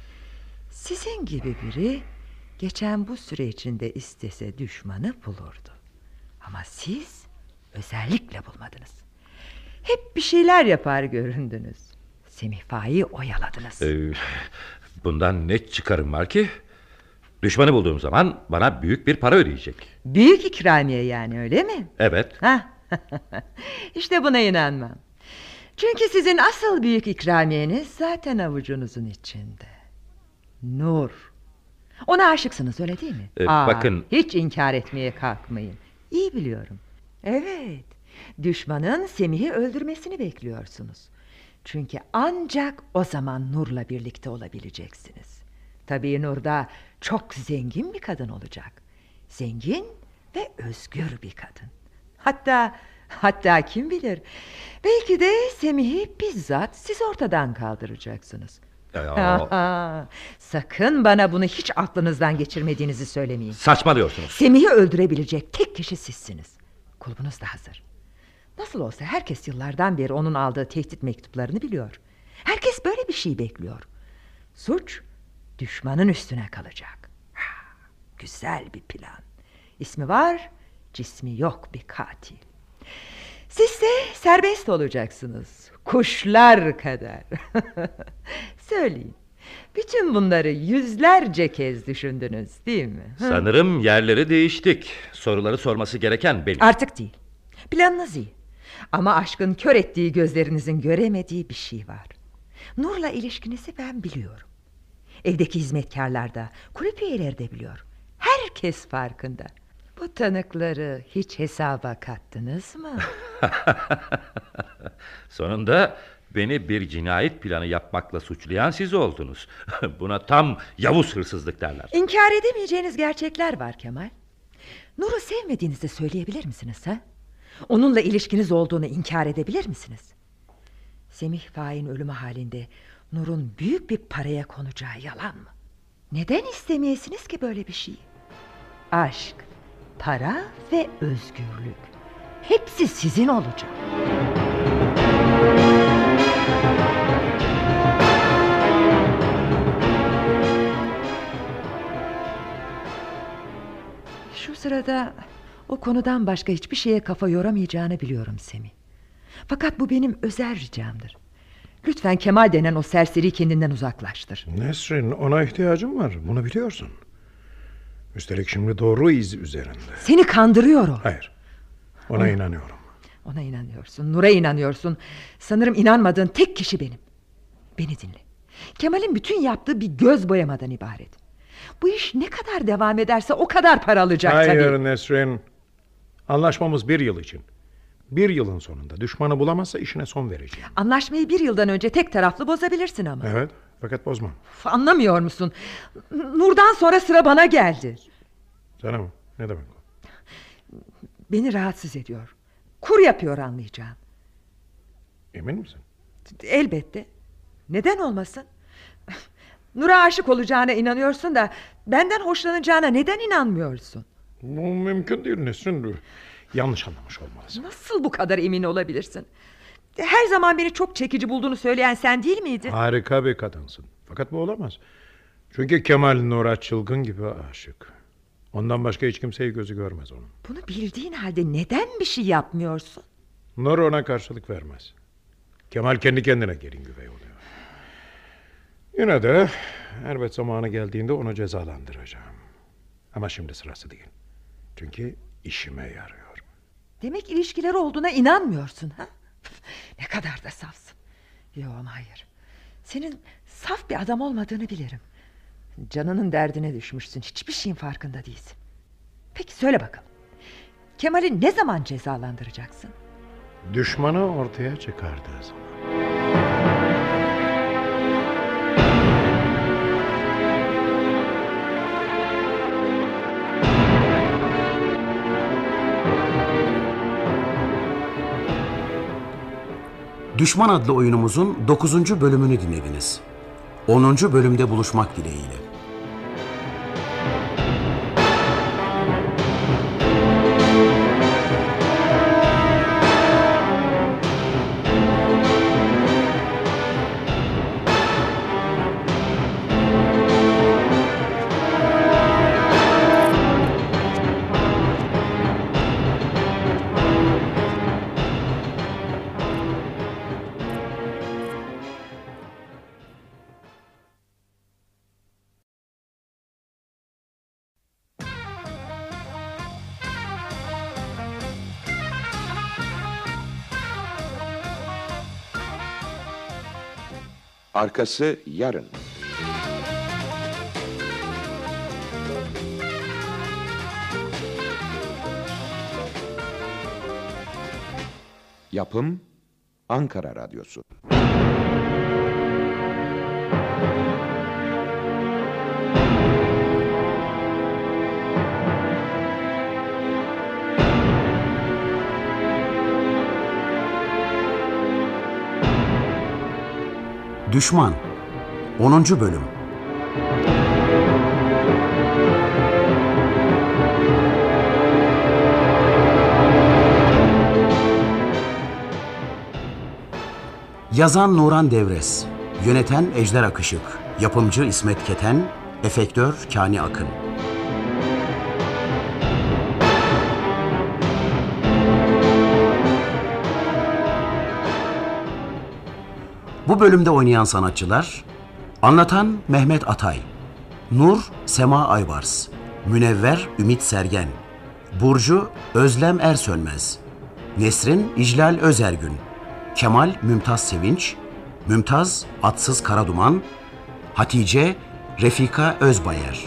Sizin gibi biri geçen bu süre içinde istese düşmanı bulurdu. Ama siz özellikle bulmadınız. Hep bir şeyler yapar göründünüz. Semih Faik'i oyaladınız. Bundan ne çıkarım var ki? Düşmanı bulduğum zaman bana büyük bir para ödeyecek. Büyük ikramiye yani, öyle mi? Evet. İşte buna inanmam. Çünkü sizin asıl büyük ikramiyeniz zaten avucunuzun içinde. Nur. Ona aşıksınız, öyle değil mi? Bakın. Hiç inkar etmeye kalkmayın. İyi biliyorum. Evet. Düşmanın Semih'i öldürmesini bekliyorsunuz. Çünkü ancak o zaman Nur'la birlikte olabileceksiniz. Tabii Nur da çok zengin bir kadın olacak. Zengin ve özgür bir kadın. Hatta kim bilir, belki de Semih'i bizzat siz ortadan kaldıracaksınız. Sakın bana bunu hiç aklınızdan geçirmediğinizi söylemeyin. Saçmalıyorsunuz. Semih'i öldürebilecek tek kişi sizsiniz. Kulübünüz de hazır. Nasıl olsa herkes yıllardan beri onun aldığı tehdit mektuplarını biliyor. Herkes böyle bir şey bekliyor. Suç düşmanın üstüne kalacak. Güzel bir plan. İsmi var, cismi yok bir katil. Siz de serbest olacaksınız. Kuşlar kadar. Söyleyin. Bütün bunları yüzlerce kez düşündünüz, değil mi? Sanırım yerleri değiştik. Soruları sorması gereken benim. Artık değil. Planınız iyi. Ama aşkın kör ettiği gözlerinizin göremediği bir şey var. Nur'la ilişkinizi ben biliyorum. Evdeki hizmetkarlar da, kulüp üyeleri de biliyor. Herkes farkında. Bu tanıkları hiç hesaba kattınız mı? Sonunda beni bir cinayet planı yapmakla suçlayan siz oldunuz. Buna tam Yavuz hırsızlık derler. İnkar edemeyeceğiniz gerçekler var Kemal. Nur'u sevmediğinizi söyleyebilir misiniz ha? Onunla ilişkiniz olduğunu inkar edebilir misiniz? Semih Faik'in ölümü halinde Nur'un büyük bir paraya konacağı yalan mı? Neden istemeyesiniz ki böyle bir şeyi? Aşk, para ve özgürlük. Hepsi sizin olacak. Şu sırada o konudan başka hiçbir şeye kafa yoramayacağını biliyorum Semih. Fakat bu benim özel ricamdır. Lütfen Kemal denen o serseri kendinden uzaklaştır. Nesrin, ona ihtiyacım var. Bunu biliyorsun. Üstelik şimdi doğru iz üzerinde. Seni kandırıyor o. Hayır. Ona inanıyorum. Ona inanıyorsun, Nur'a inanıyorsun. Sanırım inanmadığın tek kişi benim. Beni dinle. Kemal'in bütün yaptığı bir göz boyamadan ibaret. Bu iş ne kadar devam ederse o kadar para alacak tabii. Hayır Nesrin. Anlaşmamız 1 yıl için. 1 yılın sonunda düşmanı bulamazsa işine son vereceğim. Anlaşmayı 1 yıldan önce tek taraflı bozabilirsin ama. Evet, fakat bozmam. Anlamıyor musun? Nur'dan sonra sıra bana geldi. Sana mı? Ne demek o? Beni rahatsız ediyor. Kur yapıyor anlayacağım. Emin misin? Elbette. Neden olmasın? Nur'a aşık olacağına inanıyorsun da benden hoşlanacağına neden inanmıyorsun? Bu mümkün değil Nesrin. Yanlış anlamış olmalısın. Nasıl bu kadar emin olabilirsin? Her zaman beni çok çekici bulduğunu söyleyen sen değil miydin? Harika bir kadınsın. Fakat bu olamaz. Çünkü Kemal Nur'a çılgın gibi aşık. Ondan başka hiç kimseyi gözü görmez onun. Bunu bildiğin halde neden bir şey yapmıyorsun? Nur ona karşılık vermez. Kemal kendi kendine gelin güvey oluyor. Yine de elbet zamanı geldiğinde onu cezalandıracağım. Ama şimdi sırası değil. Çünkü işime yarıyor. Demek ilişkileri olduğuna inanmıyorsun ha? Ne kadar da safsın. Yok ama hayır. Senin saf bir adam olmadığını bilirim. Canının derdine düşmüşsün. Hiçbir şeyin farkında değilsin. Peki söyle bakalım. Kemal'i ne zaman cezalandıracaksın? Düşmanı ortaya çıkardığı zaman. Düşman adlı oyunumuzun 9. bölümünü dinlediniz. 10. bölümde buluşmak dileğiyle. Arkası yarın. Yapım Ankara Radyosu. Düşman 10. bölüm. Yazan Nuran Devres, yöneten Ejder Akışık, yapımcı İsmet Keten, efektör Kani Akın. Bu bölümde oynayan sanatçılar: Anlatan Mehmet Atay. Nur Sema Aybars. Münevver Ümit Sergen. Burcu Özlem Ersönmez. Nesrin İclal Özergün. Kemal Mümtaz Sevinç. Mümtaz Atsız Karaduman. Hatice Refika Özbayer.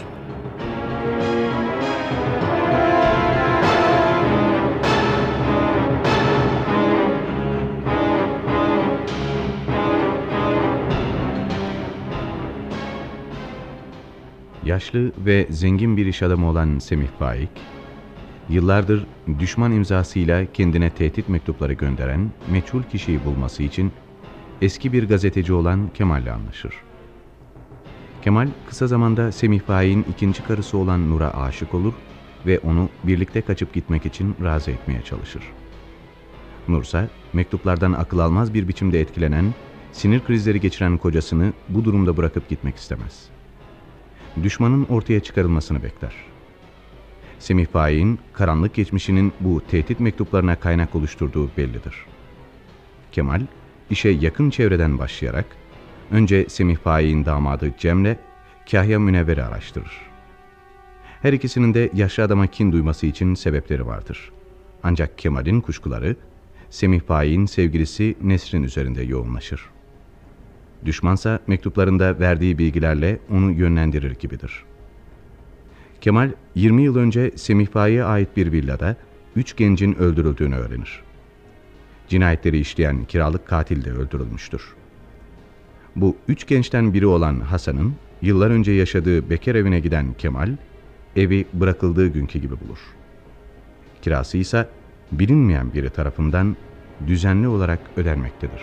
Yaşlı ve zengin bir iş adamı olan Semih Faik, yıllardır düşman imzasıyla kendine tehdit mektupları gönderen meçhul kişiyi bulması için eski bir gazeteci olan Kemal'le anlaşır. Kemal kısa zamanda Semih Faik'in ikinci karısı olan Nur'a aşık olur ve onu birlikte kaçıp gitmek için razı etmeye çalışır. Nur ise mektuplardan akıl almaz bir biçimde etkilenen, sinir krizleri geçiren kocasını bu durumda bırakıp gitmek istemez. Düşmanın ortaya çıkarılmasını bekler. Semih Faik'in karanlık geçmişinin bu tehdit mektuplarına kaynak oluşturduğu bellidir. Kemal, işe yakın çevreden başlayarak önce Semih Faik'in damadı Cem'le Kahya Münevver'i araştırır. Her ikisinin de yaşlı adama kin duyması için sebepleri vardır. Ancak Kemal'in kuşkuları Semih Faik'in sevgilisi Nesrin üzerinde yoğunlaşır. Düşmansa mektuplarında verdiği bilgilerle onu yönlendirir gibidir. Kemal 20 yıl önce Semih Faik'e ait bir villada 3 gencin öldürüldüğünü öğrenir. Cinayetleri işleyen kiralık katil de öldürülmüştür. Bu 3 gençten biri olan Hasan'ın yıllar önce yaşadığı bekar evine giden Kemal, evi bırakıldığı günkü gibi bulur. Kirası ise bilinmeyen biri tarafından düzenli olarak ödenmektedir.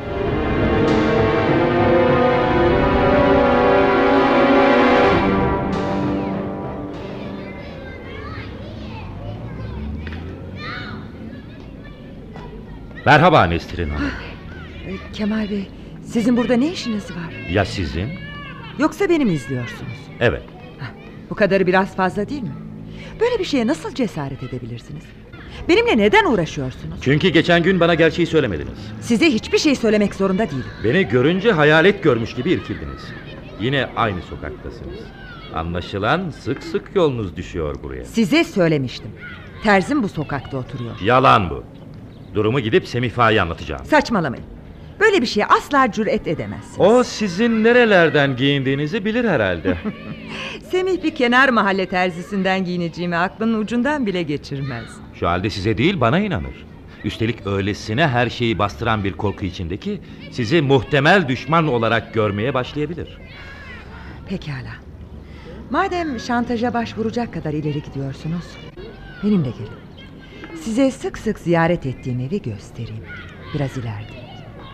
Merhaba Nesrin Hanım. Kemal Bey, sizin burada ne işiniz var? Ya sizin? Yoksa beni mi izliyorsunuz? Evet. Bu kadarı biraz fazla değil mi? Böyle bir şeye nasıl cesaret edebilirsiniz? Benimle neden uğraşıyorsunuz? Çünkü geçen gün bana gerçeği söylemediniz. Size hiçbir şey söylemek zorunda değilim. Beni görünce hayalet görmüş gibi irkildiniz. Yine aynı sokaktasınız. Anlaşılan sık sık yolunuz düşüyor buraya. Size söylemiştim. Terzim bu sokakta oturuyor. Yalan bu. Durumu gidip Semih Faik'e anlatacağım. Saçmalamayın. Böyle bir şeye asla cüret edemezsiniz. O sizin nerelerden giyindiğinizi bilir herhalde. Semih bir kenar mahalle terzisinden giyineceğimi aklının ucundan bile geçirmez. Şu halde size değil bana inanır. Üstelik öylesine her şeyi bastıran bir korku içindeki sizi muhtemel düşman olarak görmeye başlayabilir. Pekala. Madem şantaja başvuracak kadar ileri gidiyorsunuz, benimle gelin. Size sık sık ziyaret ettiğim evi göstereyim. Biraz ileride.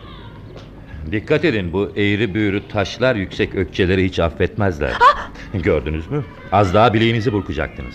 Dikkat edin, bu eğri büğrü taşlar yüksek ökçeleri hiç affetmezler. Gördünüz mü? Az daha bileğinizi burkacaktınız.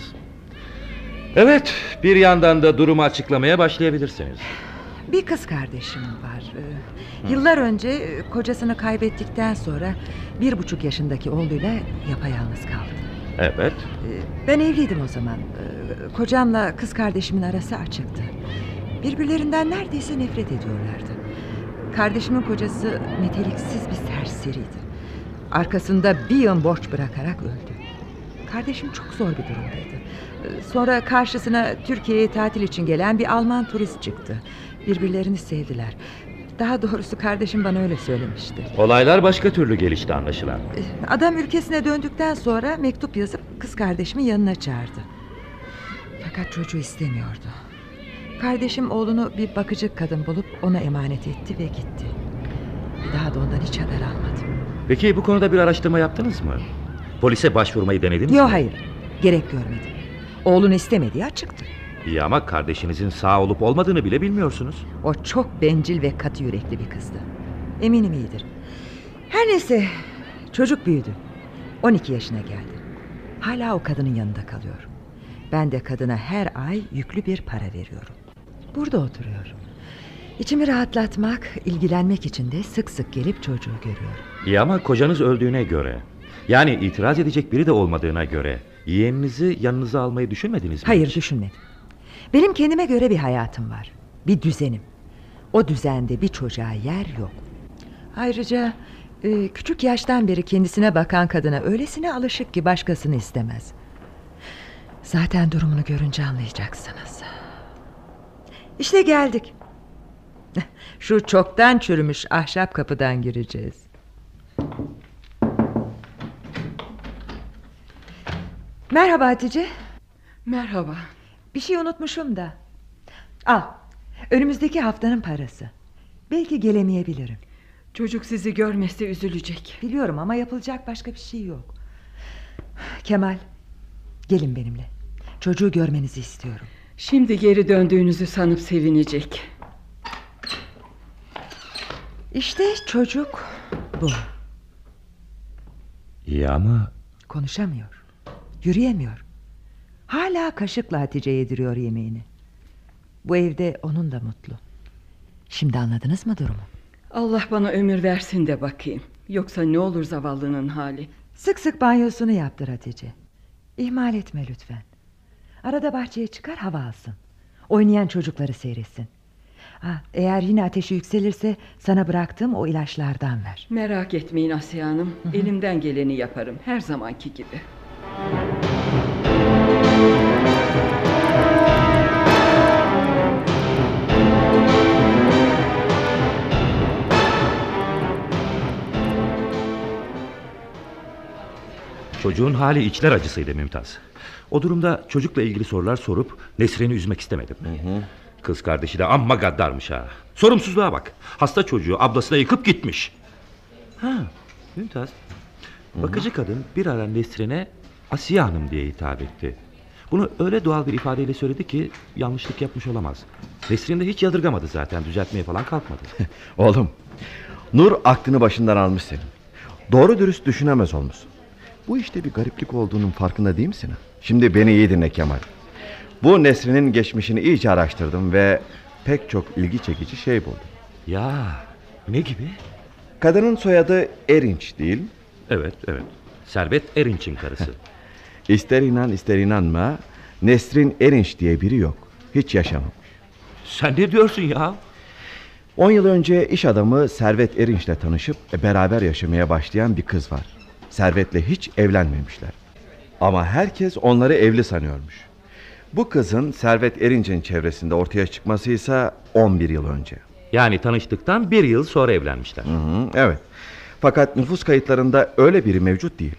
Evet, bir yandan da durumu açıklamaya başlayabilirsiniz. Bir kız kardeşim var. Yıllar önce kocasını kaybettikten sonra 1,5 yaşındaki oğluyla yapayalnız kaldı. Evet. Ben evliydim o zaman. Kocamla kız kardeşimin arası açıktı. Birbirlerinden neredeyse nefret ediyorlardı. Kardeşimin kocası meteliksiz bir serseriydi. Arkasında bir yığın borç bırakarak öldü. Kardeşim çok zor bir durumdaydı. Sonra karşısına Türkiye'ye tatil için gelen bir Alman turist çıktı. Birbirlerini sevdiler. Daha doğrusu kardeşim bana öyle söylemişti. Olaylar başka türlü gelişti anlaşılan. Adam ülkesine döndükten sonra mektup yazıp kız kardeşimin yanına çağırdı. Fakat çocuğu istemiyordu. Kardeşim oğlunu bir bakıcı kadın bulup ona emanet etti ve gitti. Bir daha da ondan hiç haber almadım. Peki bu konuda bir araştırma yaptınız mı? Polise başvurmayı denediniz mi? Yok, hayır. Gerek görmedim. Oğlunu istemediği açıktı. İyi ama kardeşinizin sağ olup olmadığını bile bilmiyorsunuz. O çok bencil ve katı yürekli bir kızdı. Eminim iyidir. Her neyse, çocuk büyüdü. 12 yaşına geldi. Hala o kadının yanında kalıyor. Ben de kadına her ay yüklü bir para veriyorum. Burada oturuyor. İçimi rahatlatmak, ilgilenmek için de sık sık gelip çocuğu görüyorum. İyi ama kocanız öldüğüne göre, yani itiraz edecek biri de olmadığına göre yeğeninizi yanınıza almayı düşünmediniz mi? Hayır, hiç? düşünmedim. Benim kendime göre bir hayatım var. Bir düzenim. O düzende bir çocuğa yer yok. Ayrıca Küçük yaştan beri kendisine bakan kadına öylesine alışık ki başkasını istemez. Zaten durumunu görünce anlayacaksınız. İşte geldik. Şu çoktan çürümüş ahşap kapıdan gireceğiz. Merhaba Hatice. Merhaba. Bir şey unutmuşum da. Al. Önümüzdeki haftanın parası. Belki gelemeyebilirim. Çocuk sizi görmese üzülecek. Biliyorum ama yapılacak başka bir şey yok. Kemal, gelin benimle. Çocuğu görmenizi istiyorum. Şimdi geri döndüğünüzü sanıp sevinecek. İşte çocuk bu. İyi ama... Konuşamıyor. Yürüyemiyor. Hala kaşıkla Hatice yediriyor yemeğini. Bu evde onun da mutlu. Şimdi anladınız mı durumu? Allah bana ömür versin de bakayım. Yoksa ne olur zavallının hali. Sık sık banyosunu yaptır Hatice. İhmal etme lütfen. Arada bahçeye çıkar, hava alsın. Oynayan çocukları seyretsin. Eğer yine ateşi yükselirse sana bıraktığım o ilaçlardan ver. Merak etmeyin Asiye Hanım. Elimden geleni yaparım. Her zamanki gibi. Çocuğun hali içler acısıydı Mümtaz. O durumda çocukla ilgili sorular sorup Nesrin'i üzmek istemedim. Kız kardeşi de amma gaddarmış ha. Sorumsuzluğa bak. Hasta çocuğu ablasına yıkıp gitmiş. Mümtaz, bakıcı kadın bir ara Nesrin'e Asiye Hanım diye hitap etti. Bunu öyle doğal bir ifadeyle söyledi ki yanlışlık yapmış olamaz. Nesrin de hiç yadırgamadı zaten, düzeltmeye falan kalkmadı. Oğlum, Nur aklını başından almış senin. Doğru dürüst düşünemez olmuşsun. Bu işte bir gariplik olduğunun farkında değil misin? Şimdi beni iyi dinle Kemal. Bu Nesrin'in geçmişini iyice araştırdım ve pek çok ilgi çekici şey buldum. Ya, ne gibi? Kadının soyadı Erinç değil? Evet. Servet Erinç'in karısı. İster inan ister inanma, Nesrin Erinç diye biri yok. Hiç yaşamamış. Sen ne diyorsun ya? 10 yıl önce iş adamı Servet Erinç'le tanışıp beraber yaşamaya başlayan bir kız var. Servet'le hiç evlenmemişler. Ama herkes onları evli sanıyormuş. Bu kızın Servet Erinç'in çevresinde ortaya çıkması ise 11 yıl önce. Yani tanıştıktan 1 yıl sonra evlenmişler. Evet. Fakat nüfus kayıtlarında öyle biri mevcut değil.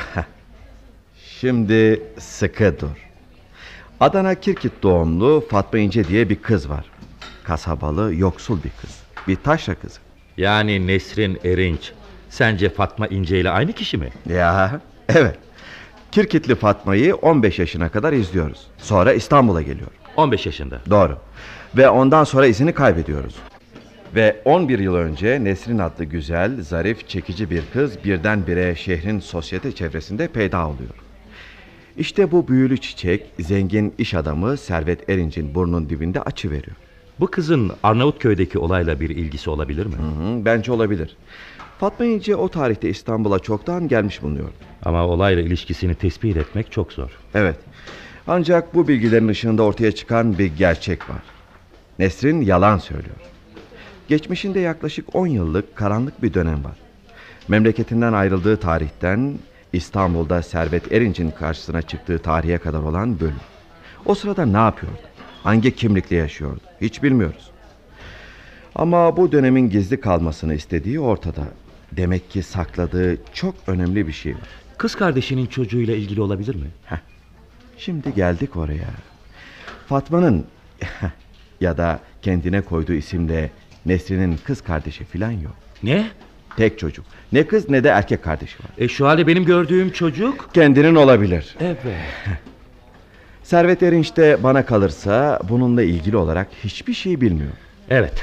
Şimdi sıkı dur. Adana Kirkit doğumlu Fatma İnce diye bir kız var. Kasabalı, yoksul bir kız. Bir taşra kızı. Yani Nesrin Erinç sence Fatma İnce ile aynı kişi mi? Ya evet. Kirkitli Fatma'yı 15 yaşına kadar izliyoruz. Sonra İstanbul'a geliyor. 15 yaşında. Doğru. Ve ondan sonra izini kaybediyoruz. Ve 11 yıl önce Nesrin adlı güzel, zarif, çekici bir kız birdenbire şehrin sosyete çevresinde peyda oluyor. İşte bu büyülü çiçek zengin iş adamı Servet Erinç'in burnunun dibinde açıveriyor. Bu kızın Arnavutköy'deki olayla bir ilgisi olabilir mi? Bence olabilir. Fatma İnce o tarihte İstanbul'a çoktan gelmiş bulunuyor. Ama olayla ilişkisini tespit etmek çok zor. Evet. Ancak bu bilgilerin ışığında ortaya çıkan bir gerçek var. Nesrin yalan söylüyor. Geçmişinde yaklaşık 10 yıllık karanlık bir dönem var. Memleketinden ayrıldığı tarihten İstanbul'da Servet Erinç'in karşısına çıktığı tarihe kadar olan bölüm. O sırada ne yapıyordu? Hangi kimlikle yaşıyordu? Hiç bilmiyoruz. Ama bu dönemin gizli kalmasını istediği ortada. Demek ki sakladığı çok önemli bir şey var. Kız kardeşinin çocuğuyla ilgili olabilir mi? Şimdi geldik oraya. Fatma'nın ya da kendine koyduğu isimle Nesrin'in kız kardeşi falan yok. Ne? Tek çocuk. Ne kız ne de erkek kardeşi var. Şu halde benim gördüğüm çocuk... Kendinin olabilir. Evet. Servet Erinç de bana kalırsa bununla ilgili olarak hiçbir şey bilmiyor. Evet.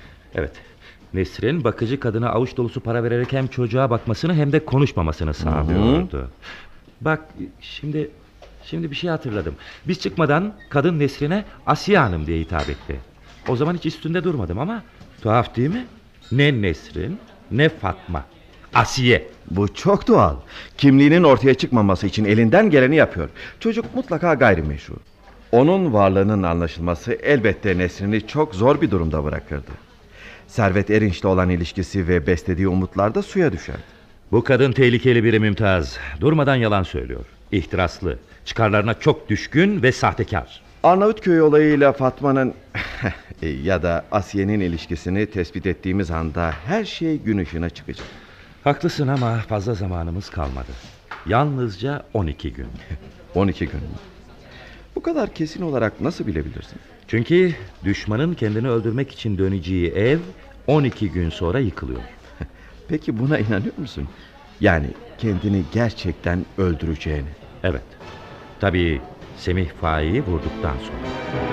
Nesrin bakıcı kadına avuç dolusu para vererek hem çocuğa bakmasını hem de konuşmamasını sağlıyordu. Bak şimdi bir şey hatırladım. Biz çıkmadan kadın Nesrin'e Asiye Hanım diye hitap etti. O zaman hiç üstünde durmadım ama tuhaf değil mi? Ne Nesrin ne Fatma. Asiye. Bu çok doğal. Kimliğinin ortaya çıkmaması için elinden geleni yapıyor. Çocuk mutlaka gayrimeşru. Onun varlığının anlaşılması elbette Nesrin'i çok zor bir durumda bırakırdı. Servet Erinç'le olan ilişkisi ve beslediği umutlar da suya düşerdi. Bu kadın tehlikeli biri Mümtaz. Durmadan yalan söylüyor. İhtiraslı, çıkarlarına çok düşkün ve sahtekar. Arnavutköy olayıyla Fatma'nın ya da Asiye'nin ilişkisini tespit ettiğimiz anda her şey gün ışığına çıkacak. Haklısın ama fazla zamanımız kalmadı. Yalnızca 12 gün. 12 gün mü? Bu kadar kesin olarak nasıl bilebilirsin? Çünkü düşmanın kendini öldürmek için döneceği ev 12 gün sonra yıkılıyor. Peki buna inanıyor musun? Yani kendini gerçekten öldüreceğini. Evet. Tabii Semih Faik'i vurduktan sonra.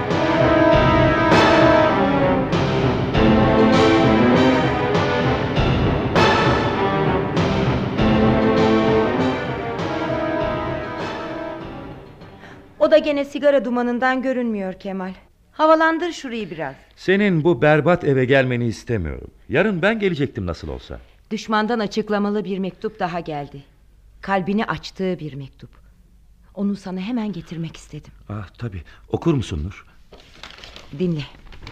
O da gene sigara dumanından görünmüyor Kemal. Havalandır şurayı biraz. Senin bu berbat eve gelmeni istemiyorum. Yarın ben gelecektim nasıl olsa. Düşmandan açıklamalı bir mektup daha geldi. Kalbini açtığı bir mektup. Onu sana hemen getirmek istedim. Ah tabii. Okur musun Nur? Dinle.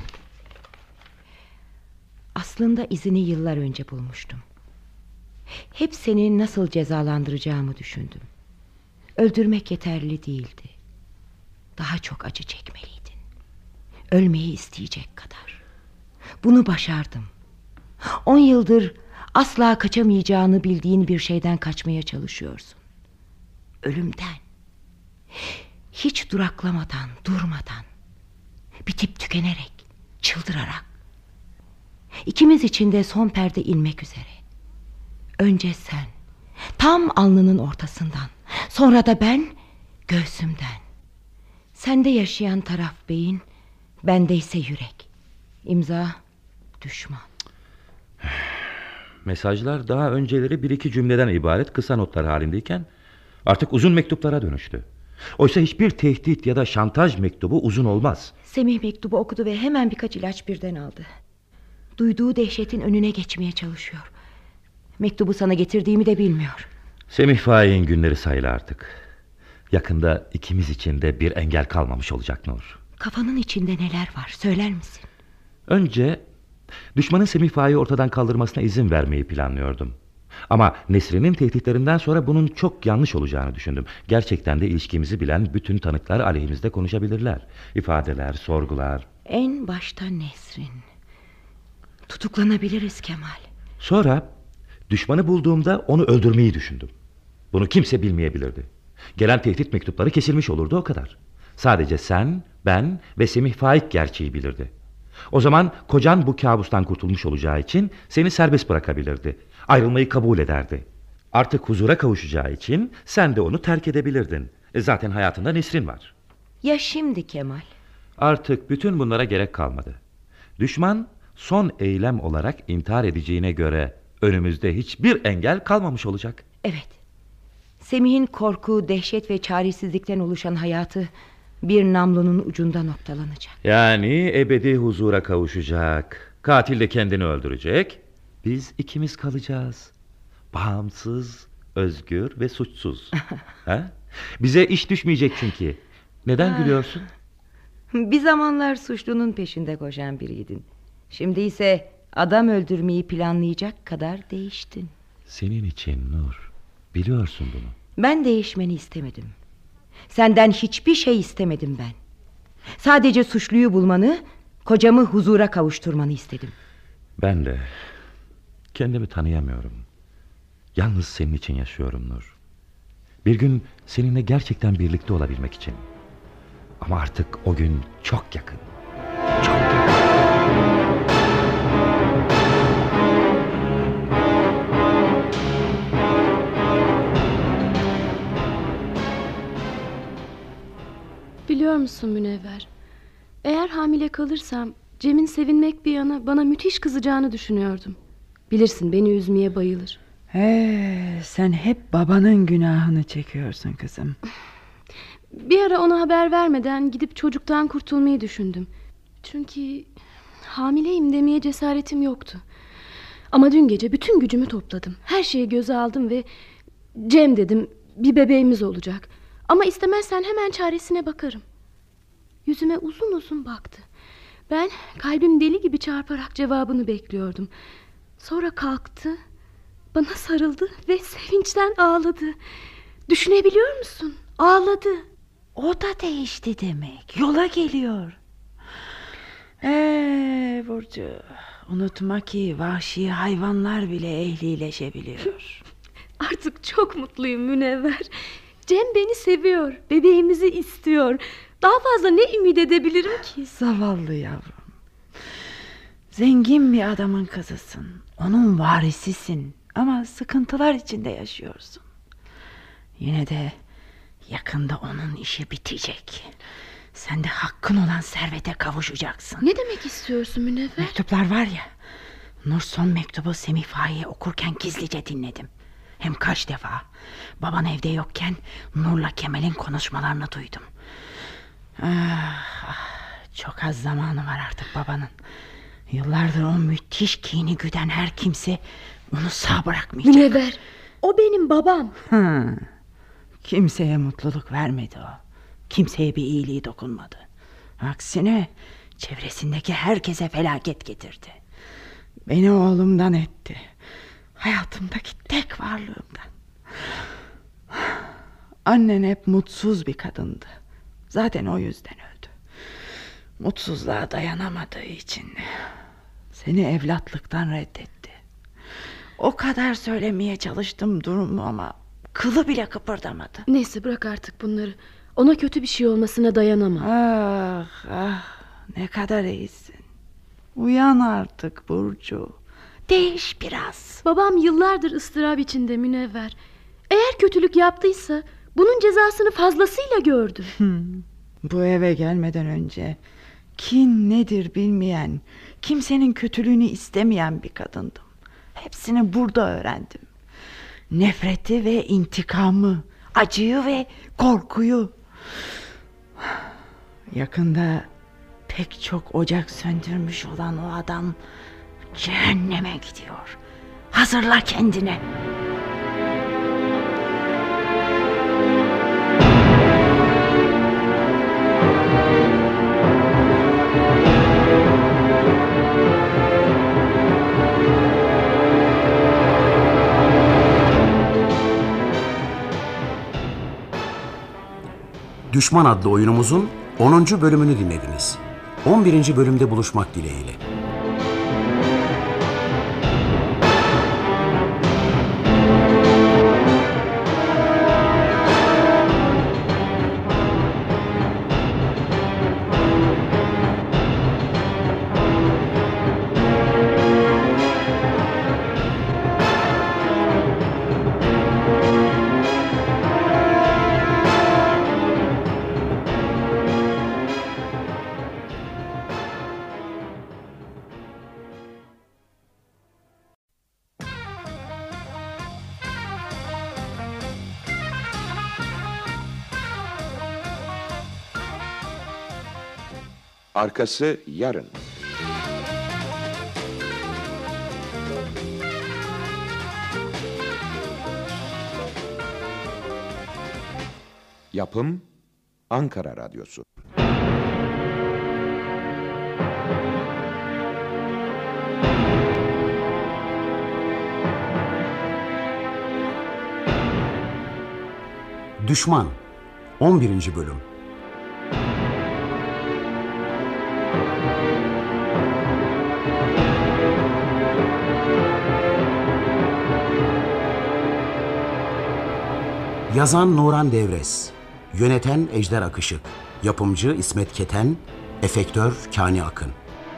Aslında izini yıllar önce bulmuştum. Hep seni nasıl cezalandıracağımı düşündüm. Öldürmek yeterli değildi. Daha çok acı çekmeliydin. Ölmeyi isteyecek kadar. Bunu başardım. 10 yıldır asla kaçamayacağını bildiğin bir şeyden kaçmaya çalışıyorsun. Ölümden. Hiç duraklamadan, durmadan. Bitip tükenerek, çıldırarak. İkimiz için de son perde inmek üzere. Önce sen, tam alnının ortasından. Sonra da ben, göğsümden. Sende yaşayan taraf beyin, bende ise yürek. İmza düşman. Mesajlar daha önceleri bir iki cümleden ibaret kısa notlar halindeyken artık uzun mektuplara dönüştü. Oysa hiçbir tehdit ya da şantaj mektubu uzun olmaz. Semih mektubu okudu ve hemen birkaç ilaç birden aldı. Duyduğu dehşetin önüne geçmeye çalışıyor. Mektubu sana getirdiğimi de bilmiyor. Semih Faik'in günleri sayılı artık. Yakında ikimiz için de bir engel kalmamış olacak Nur. Kafanın içinde neler var söyler misin? Önce düşmanın Semih Faik'i ortadan kaldırmasına izin vermeyi planlıyordum. Ama Nesrin'in tehditlerinden sonra bunun çok yanlış olacağını düşündüm. Gerçekten de ilişkimizi bilen bütün tanıklar aleyhimizde konuşabilirler. İfadeler, sorgular. En başta Nesrin. Tutuklanabiliriz Kemal. Sonra düşmanı bulduğumda onu öldürmeyi düşündüm. Bunu kimse bilmeyebilirdi. Gelen tehdit mektupları kesilmiş olurdu, o kadar. Sadece sen, ben ve Semih Faik gerçeği bilirdi. O zaman kocan bu kabustan kurtulmuş olacağı için seni serbest bırakabilirdi. Ayrılmayı kabul ederdi. Artık huzura kavuşacağı için sen de onu terk edebilirdin. Zaten hayatında Nesrin var. Ya şimdi Kemal? Artık bütün bunlara gerek kalmadı. Düşman son eylem olarak intihar edeceğine göre önümüzde hiçbir engel kalmamış olacak. Evet. Semih'in korku, dehşet ve çaresizlikten oluşan hayatı bir namlunun ucunda noktalanacak. Yani ebedi huzura kavuşacak. Katil de kendini öldürecek. Biz ikimiz kalacağız. Bağımsız, özgür ve suçsuz. Ha? Bize iş düşmeyecek çünkü. Neden gülüyorsun? Bir zamanlar suçlunun peşinde koşan biriydin. Şimdi ise adam öldürmeyi planlayacak kadar değiştin. Senin için Nur. Biliyorsun bunu. Ben değişmeni istemedim. Senden hiçbir şey istemedim ben. Sadece suçluyu bulmanı, kocamı huzura kavuşturmanı istedim. Ben de kendimi tanıyamıyorum. Yalnız senin için yaşıyorum Nur. Bir gün seninle gerçekten birlikte olabilmek için. Ama artık o gün çok yakın. Çok yakın. Biliyor musun Münevver? Eğer hamile kalırsam Cem'in sevinmek bir yana bana müthiş kızacağını düşünüyordum. Bilirsin beni üzmeye bayılır. Sen hep babanın günahını çekiyorsun kızım. Bir ara ona haber vermeden gidip çocuktan kurtulmayı düşündüm. Çünkü hamileyim demeye cesaretim yoktu. Ama dün gece bütün gücümü topladım. Her şeyi göze aldım ve Cem dedim, bir bebeğimiz olacak. Ama istemezsen hemen çaresine bakarım. Yüzüme uzun uzun baktı. Ben kalbim deli gibi çarparak cevabını bekliyordum. Sonra kalktı, bana sarıldı ve sevinçten ağladı. Düşünebiliyor musun? Ağladı. O da değişti demek. Yola geliyor. Burcu, unutma ki vahşi hayvanlar bile ehlileşebiliyor. Artık çok mutluyum Münevver. Cem beni seviyor, bebeğimizi istiyor. Daha fazla ne ümit edebilirim ki? Zavallı yavrum. Zengin bir adamın kızısın. Onun varisisin. Ama sıkıntılar içinde yaşıyorsun. Yine de yakında onun işi bitecek. Sen de hakkın olan servete kavuşacaksın. Ne demek istiyorsun Münevver? Mektuplar var ya. Nur son mektubu Semih Faik'e okurken gizlice dinledim. Hem kaç defa. Baban evde yokken Nur'la Kemal'in konuşmalarını duydum. Çok az zamanı var artık babanın. Yıllardır o müthiş kini güden her kimse onu sağ bırakmayacak. Münevver, o benim babam. Kimseye mutluluk vermedi o. Kimseye bir iyiliği dokunmadı. Aksine çevresindeki herkese felaket getirdi. Beni oğlumdan etti. Hayatımdaki tek varlığımdan. Annen hep mutsuz bir kadındı. Zaten o yüzden öldü. Mutsuzluğa dayanamadığı için seni evlatlıktan reddetti. O kadar söylemeye çalıştım durumu ama kılı bile kıpırdamadı. Neyse bırak artık bunları. Ona kötü bir şey olmasına dayanamam. Ne kadar iyisin. Uyan artık Burcu. Değiş biraz. Babam yıllardır ıstırap içinde Münevver. Eğer kötülük yaptıysa bunun cezasını fazlasıyla gördü. Bu eve gelmeden önce kin nedir bilmeyen, kimsenin kötülüğünü istemeyen bir kadındım. Hepsini burada öğrendim. Nefreti ve intikamı, acıyı ve korkuyu. Yakında pek çok ocak söndürmüş olan o adam cehenneme gidiyor. Hazırla kendine. Düşman adlı oyunumuzun 10. bölümünü dinlediniz. 11. bölümde buluşmak dileğiyle. Arkası yarın. Yapım Ankara Radyosu. Düşman 11. bölüm. Yazan Nuran Devres, yöneten Ejder Akışık, yapımcı İsmet Keten, efektör Kani Akın.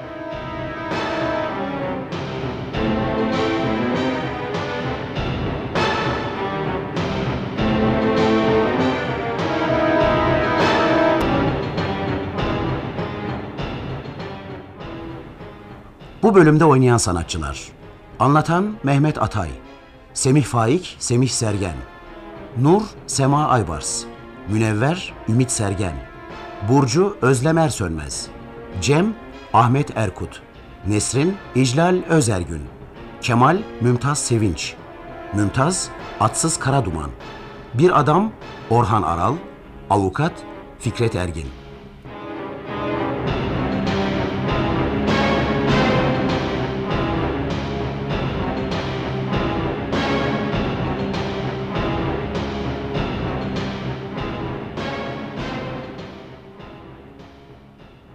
Bu bölümde oynayan sanatçılar: anlatan Mehmet Atay, Semih Faik, Semih Sergen, Nur, Sema Aybars, Münevver, Ümit Sergen, Burcu, Özlem Ersönmez, Cem, Ahmet Erkut, Nesrin, İclal Özergün, Kemal, Mümtaz Sevinç, Mümtaz, Atsız Karaduman, Bir Adam, Orhan Aral, Avukat, Fikret Ergin.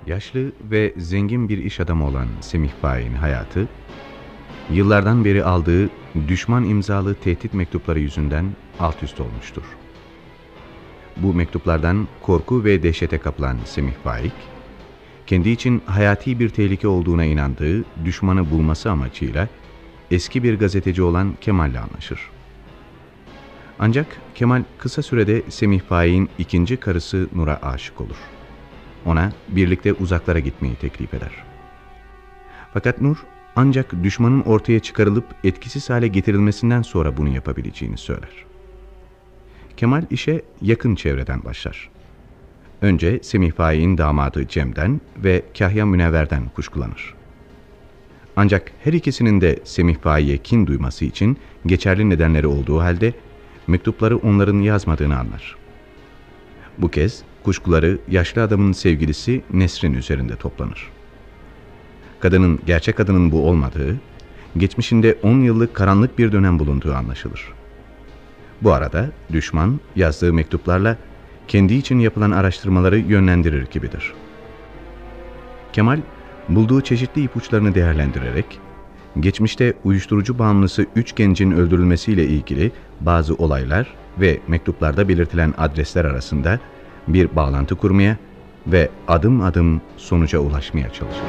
Yaşlı ve zengin bir iş adamı olan Semih Faik'in hayatı, yıllardan beri aldığı düşman imzalı tehdit mektupları yüzünden alt üst olmuştur. Bu mektuplardan korku ve dehşete kapılan Semih Faik, kendi için hayati bir tehlike olduğuna inandığı düşmanı bulması amacıyla eski bir gazeteci olan Kemal'le anlaşır. Ancak Kemal kısa sürede Semih Faik'in ikinci karısı Nur'a aşık olur. Ona birlikte uzaklara gitmeyi teklif eder. Fakat Nur ancak düşmanın ortaya çıkarılıp etkisiz hale getirilmesinden sonra bunu yapabileceğini söyler. Kemal işe yakın çevreden başlar. Önce Semih Faik'in damadı Cem'den ve Kahya Münevver'den kuşkulanır. Ancak her ikisinin de Semih Faik'e kin duyması için geçerli nedenleri olduğu halde mektupları onların yazmadığını anlar. Bu kez kuşkuları yaşlı adamın sevgilisi Nesrin üzerinde toplanır. Kadının gerçek adının bu olmadığı, geçmişinde 10 yıllık karanlık bir dönem bulunduğu anlaşılır. Bu arada düşman yazdığı mektuplarla kendi için yapılan araştırmaları yönlendirir gibidir. Kemal bulduğu çeşitli ipuçlarını değerlendirerek geçmişte uyuşturucu bağımlısı 3 gencin öldürülmesiyle ilgili bazı olaylar ve mektuplarda belirtilen adresler arasında bir bağlantı kurmaya ve adım adım sonuca ulaşmaya çalışır.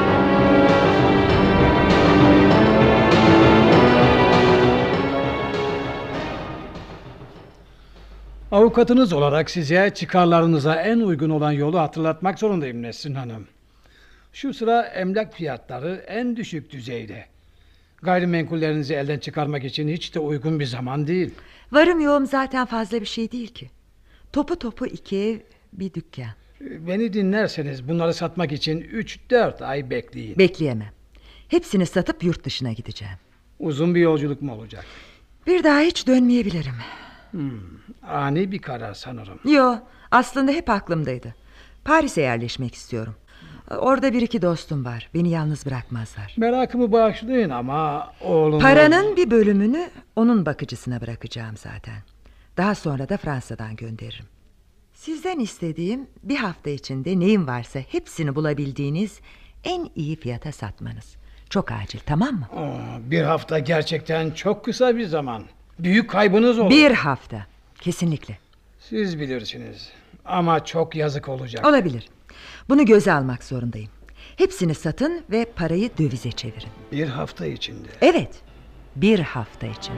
Avukatınız olarak size çıkarlarınıza en uygun olan yolu hatırlatmak zorundayım Nesrin Hanım. Şu sıra emlak fiyatları en düşük düzeyde. Gayrimenkullerinizi elden çıkarmak için hiç de uygun bir zaman değil. Varım yoğum zaten fazla bir şey değil ki. Topu topu 2 ev, bir dükkan. Beni dinlerseniz bunları satmak için 3-4 ay bekleyin. Bekleyemem. Hepsini satıp yurt dışına gideceğim. Uzun bir yolculuk mu olacak? Bir daha hiç dönmeyebilirim. Ani bir karar sanırım. Yo, aslında hep aklımdaydı. Paris'e yerleşmek istiyorum. Orada 1-2 dostum var. Beni yalnız bırakmazlar. Merakımı bağışlayın ama oğlum... Paranın bir bölümünü onun bakıcısına bırakacağım zaten. Daha sonra da Fransa'dan gönderirim. Sizden istediğim bir hafta içinde neyim varsa hepsini bulabildiğiniz en iyi fiyata satmanız. Çok acil, tamam mı? Bir hafta gerçekten çok kısa bir zaman. Büyük kaybınız olur. 1 hafta, kesinlikle. Siz bilirsiniz ama çok yazık olacak. Olabilir. Bunu göze almak zorundayım. Hepsini satın ve parayı dövize çevirin. 1 hafta içinde. Evet, 1 hafta içinde.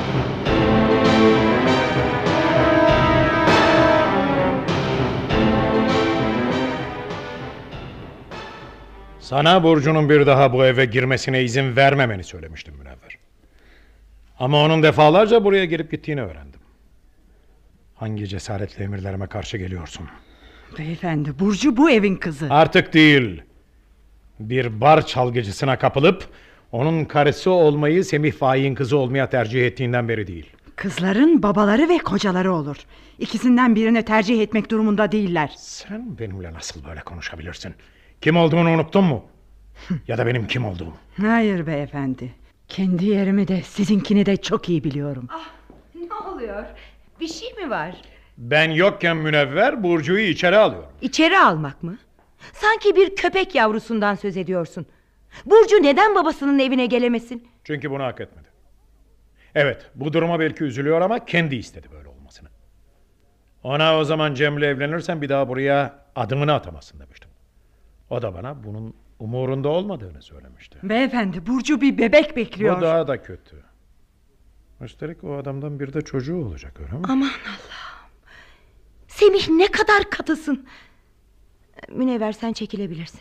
Sana Burcu'nun bir daha bu eve girmesine izin vermemeni söylemiştim Münevver. Ama onun defalarca buraya gelip gittiğini öğrendim. Hangi cesaretle emirlerime karşı geliyorsun? Beyefendi, Burcu bu evin kızı. Artık değil. Bir bar çalgıcısına kapılıp onun karısı olmayı Semih Faik'in kızı olmaya tercih ettiğinden beri değil. Kızların babaları ve kocaları olur. İkisinden birini tercih etmek durumunda değiller. Sen benimle nasıl böyle konuşabilirsin? Kim olduğunu unuttun mu? Ya da benim kim olduğum? Hayır beyefendi. Kendi yerimi de sizinkini de çok iyi biliyorum. Ne oluyor? Bir şey mi var? Ben yokken Münevver Burcu'yu içeri alıyor. İçeri almak mı? Sanki bir köpek yavrusundan söz ediyorsun. Burcu neden babasının evine gelemesin? Çünkü bunu hak etmedi. Evet, bu duruma belki üzülüyor ama kendi istedi böyle olmasını. Ona o zaman Cem'le evlenirsen bir daha buraya adımını atamazsın demiştim. O da bana bunun umurunda olmadığını söylemişti. Beyefendi, Burcu bir bebek bekliyor. Bu daha da kötü. Üstelik o adamdan bir de çocuğu olacak, öyle mi? Aman Allah'ım. Semih ne kadar katısın. Münevver, sen çekilebilirsin.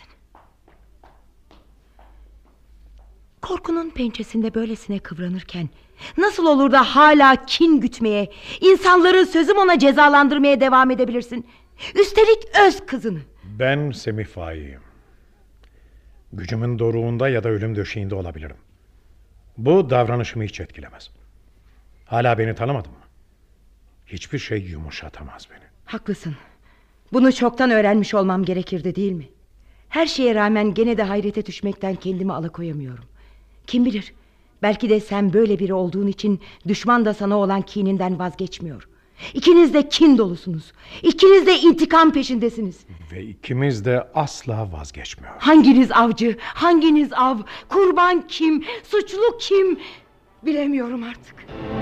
Korkunun pençesinde böylesine kıvranırken nasıl olur da hala kin gütmeye, insanları sözüm ona cezalandırmaya devam edebilirsin? Üstelik öz kızını. Ben Semih Faik'im. Gücümün doruğunda ya da ölüm döşeğinde olabilirim. Bu davranışımı hiç etkilemez. Hala beni tanımadın mı? Hiçbir şey yumuşatamaz beni. Haklısın. Bunu çoktan öğrenmiş olmam gerekirdi, değil mi? Her şeye rağmen gene de hayrete düşmekten kendimi alıkoyamıyorum. Kim bilir, belki de sen böyle biri olduğun için düşman da sana olan kininden vazgeçmiyor. İkiniz de kin dolusunuz. İkiniz de intikam peşindesiniz. Ve ikimiz de asla vazgeçmiyor. Hanginiz avcı, hanginiz av? Kurban kim, suçlu kim? Bilemiyorum artık.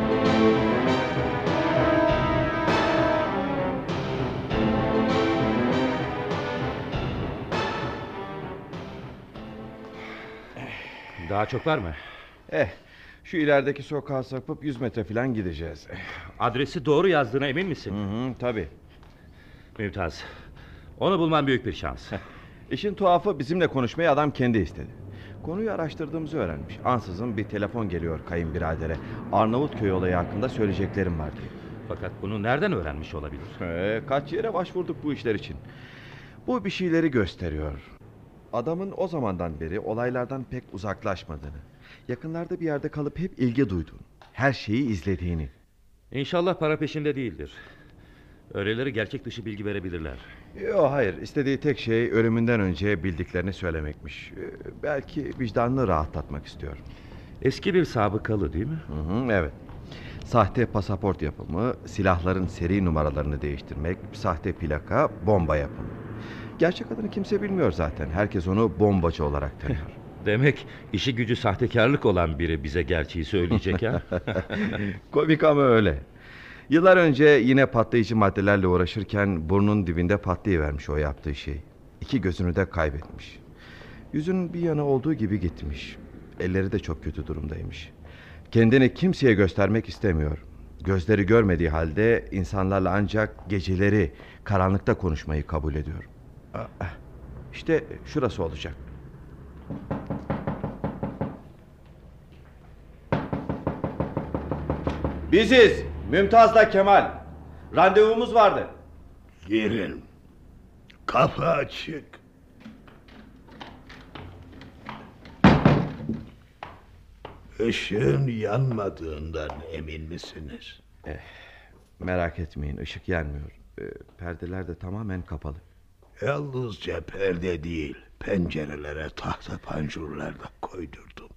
Daha çok var mı? Şu ilerideki sokağa sapıp 100 metre falan gideceğiz. Adresi doğru yazdığına emin misin? Tabii. Mümtaz. Onu bulman büyük bir şans. İşin tuhafı, bizimle konuşmayı adam kendi istedi. Konuyu araştırdığımızı öğrenmiş. Ansızın bir telefon geliyor kayınbiradere. Arnavutköy olayı hakkında söyleyeceklerim var diye. Fakat bunu nereden öğrenmiş olabilir? Kaç yere başvurduk bu işler için. Bu bir şeyleri gösteriyor. Adamın o zamandan beri olaylardan pek uzaklaşmadığını, yakınlarda bir yerde kalıp hep ilgi duyduğunu, her şeyi izlediğini. İnşallah para peşinde değildir. Öyleleri gerçek dışı bilgi verebilirler. Yok, hayır, istediği tek şey ölümünden önce bildiklerini söylemekmiş. Belki vicdanını rahatlatmak istiyor. Eski bir sabıkalı değil mi? Evet. Sahte pasaport yapımı, silahların seri numaralarını değiştirmek, sahte plaka, bomba yapımı. Gerçek adını kimse bilmiyor zaten. Herkes onu bombacı olarak tanıyor. Demek işi gücü sahtekarlık olan biri bize gerçeği söyleyecek ha? Komik ama öyle. Yıllar önce yine patlayıcı maddelerle uğraşırken burnun dibinde patlayıvermiş o yaptığı şey. 2 gözünü de kaybetmiş. Yüzünün bir yanı olduğu gibi gitmiş. Elleri de çok kötü durumdaymış. Kendini kimseye göstermek istemiyor. Gözleri görmediği halde insanlarla ancak geceleri karanlıkta konuşmayı kabul ediyor. İşte şurası olacak. Biziz. Mümtaz'la Kemal. Randevumuz vardı. Girin. Kapı açık. Işığın yanmadığından emin misiniz? Merak etmeyin, ışık yanmıyor. Perdeler de tamamen kapalı. Yalnızca perde değil, pencerelere tahta panjurlar da koydurdum.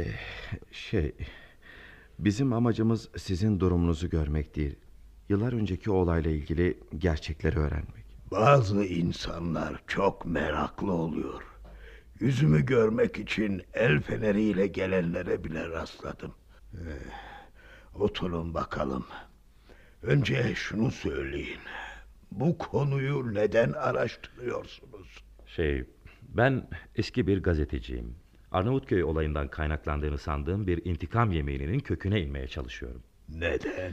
Bizim amacımız sizin durumunuzu görmek değil. Yıllar önceki olayla ilgili gerçekleri öğrenmek. Bazı insanlar çok meraklı oluyor. Yüzümü görmek için el feneriyle gelenlere bile rastladım. Oturun bakalım. Önce şunu söyleyin. Bu konuyu neden araştırıyorsunuz? Ben eski bir gazeteciyim. Arnavutköy olayından kaynaklandığını sandığım bir intikam yemeğinin köküne inmeye çalışıyorum. Neden?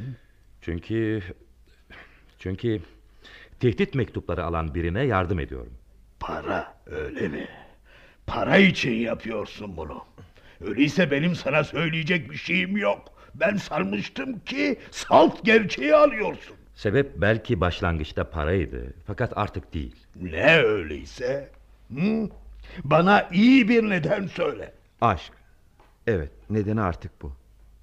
Çünkü tehdit mektupları alan birine yardım ediyorum. Para, öyle mi? Para için yapıyorsun bunu. Öyleyse benim sana söyleyecek bir şeyim yok. Ben sanmıştım ki salt gerçeği alıyorsun. Sebep belki başlangıçta paraydı, fakat artık değil. Ne öyleyse? Bana iyi bir neden söyle. Aşk. Evet, nedeni artık bu.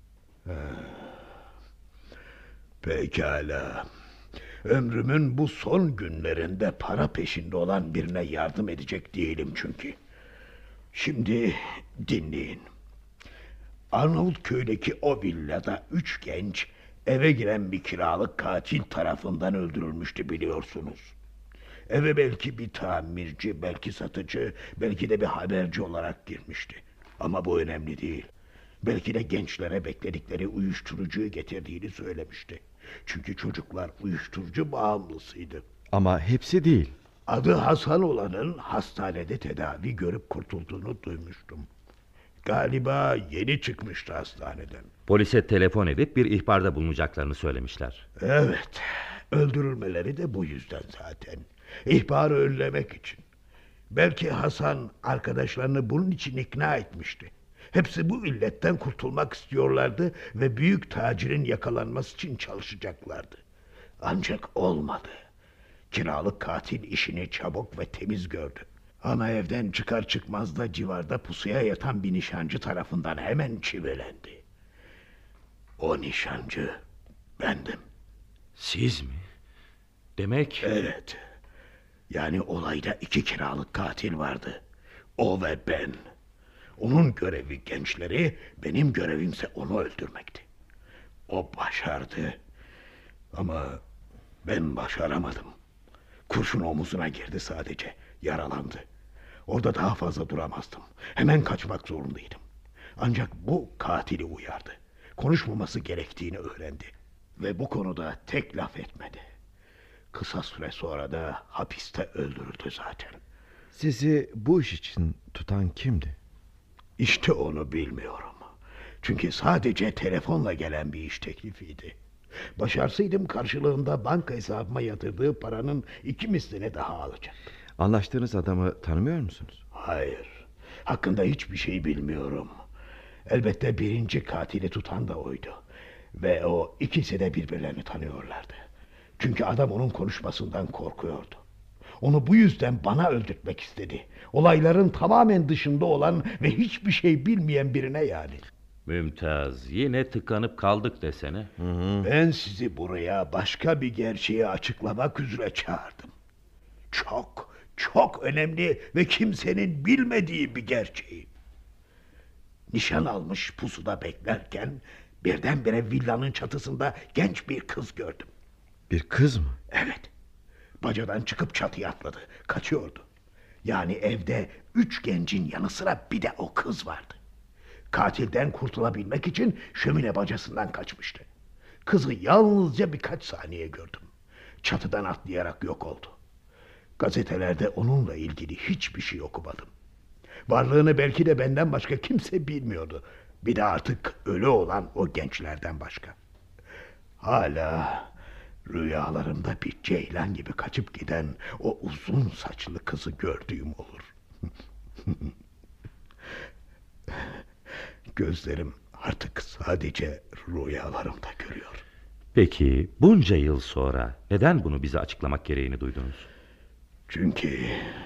Pekala. Ömrümün bu son günlerinde para peşinde olan birine yardım edecek değilim çünkü. Şimdi dinleyin. Arnavutköy'deki o villada 3 genç eve giren bir kiralık katil tarafından öldürülmüştü, biliyorsunuz. Eve belki bir tamirci, belki satıcı, belki de bir haberci olarak girmişti. Ama bu önemli değil. Belki de gençlere bekledikleri uyuşturucuyu getirdiğini söylemişti. Çünkü çocuklar uyuşturucu bağımlısıydı. Ama hepsi değil. Adı Hasan olanın hastanede tedavi görüp kurtulduğunu duymuştum. Galiba yeni çıkmıştı hastaneden. Polise telefon edip bir ihbarda bulunacaklarını söylemişler. Evet, öldürülmeleri de bu yüzden zaten. İhbarı önlemek için. Belki Hasan arkadaşlarını bunun için ikna etmişti. Hepsi bu illetten kurtulmak istiyorlardı ve büyük tacirin yakalanması için çalışacaklardı. Ancak olmadı. Kiralık katil işini çabuk ve temiz gördü. Ama evden çıkar çıkmaz da civarda pusuya yatan bir nişancı tarafından hemen çivelendi. O nişancı bendim. Siz mi? Demek... Evet. Yani olayda 2 kiralık katil vardı. O ve ben. Onun görevi gençleri, benim görevimse onu öldürmekti. O başardı. Ama ben başaramadım. Kurşun omuzuna girdi sadece. Yaralandı. Orada daha fazla duramazdım. Hemen kaçmak zorundaydım. Ancak bu katili uyardı. Konuşmaması gerektiğini öğrendi. Ve bu konuda tek laf etmedi. Kısa süre sonra da hapiste öldürüldü zaten. Sizi bu iş için tutan kimdi? İşte onu bilmiyorum. Çünkü sadece telefonla gelen bir iş teklifiydi. Başarsaydım karşılığında banka hesabıma yatırdığı paranın 2 mislini daha alacaktım. Anlaştığınız adamı tanımıyor musunuz? Hayır. Hakkında hiçbir şey bilmiyorum. Elbette birinci katili tutan da oydu. Ve o ikisi de birbirlerini tanıyorlardı. Çünkü adam onun konuşmasından korkuyordu. Onu bu yüzden bana öldürtmek istedi. Olayların tamamen dışında olan ve hiçbir şey bilmeyen birine yani. Mümtaz, yine tıkanıp kaldık desene. Ben sizi buraya başka bir gerçeği açıklamak üzere çağırdım. Çok önemli ve kimsenin bilmediği bir gerçeği. Nişan almış pusuda beklerken birdenbire villanın çatısında genç bir kız gördüm. Bir kız mı? Evet. Bacadan çıkıp çatıya atladı. Kaçıyordu. Yani evde 3 gencin yanı sıra bir de o kız vardı. Katilden kurtulabilmek için şömine bacasından kaçmıştı. Kızı yalnızca birkaç saniye gördüm. Çatıdan atlayarak yok oldu. Gazetelerde onunla ilgili hiçbir şey okumadım. Varlığını belki de benden başka kimse bilmiyordu. Bir de artık ölü olan o gençlerden başka. Hala rüyalarımda bir ceylan gibi kaçıp giden o uzun saçlı kızı gördüğüm olur. Gözlerim artık sadece rüyalarımda görüyor. Peki bunca yıl sonra neden bunu bize açıklamak gereğini duydunuz? Çünkü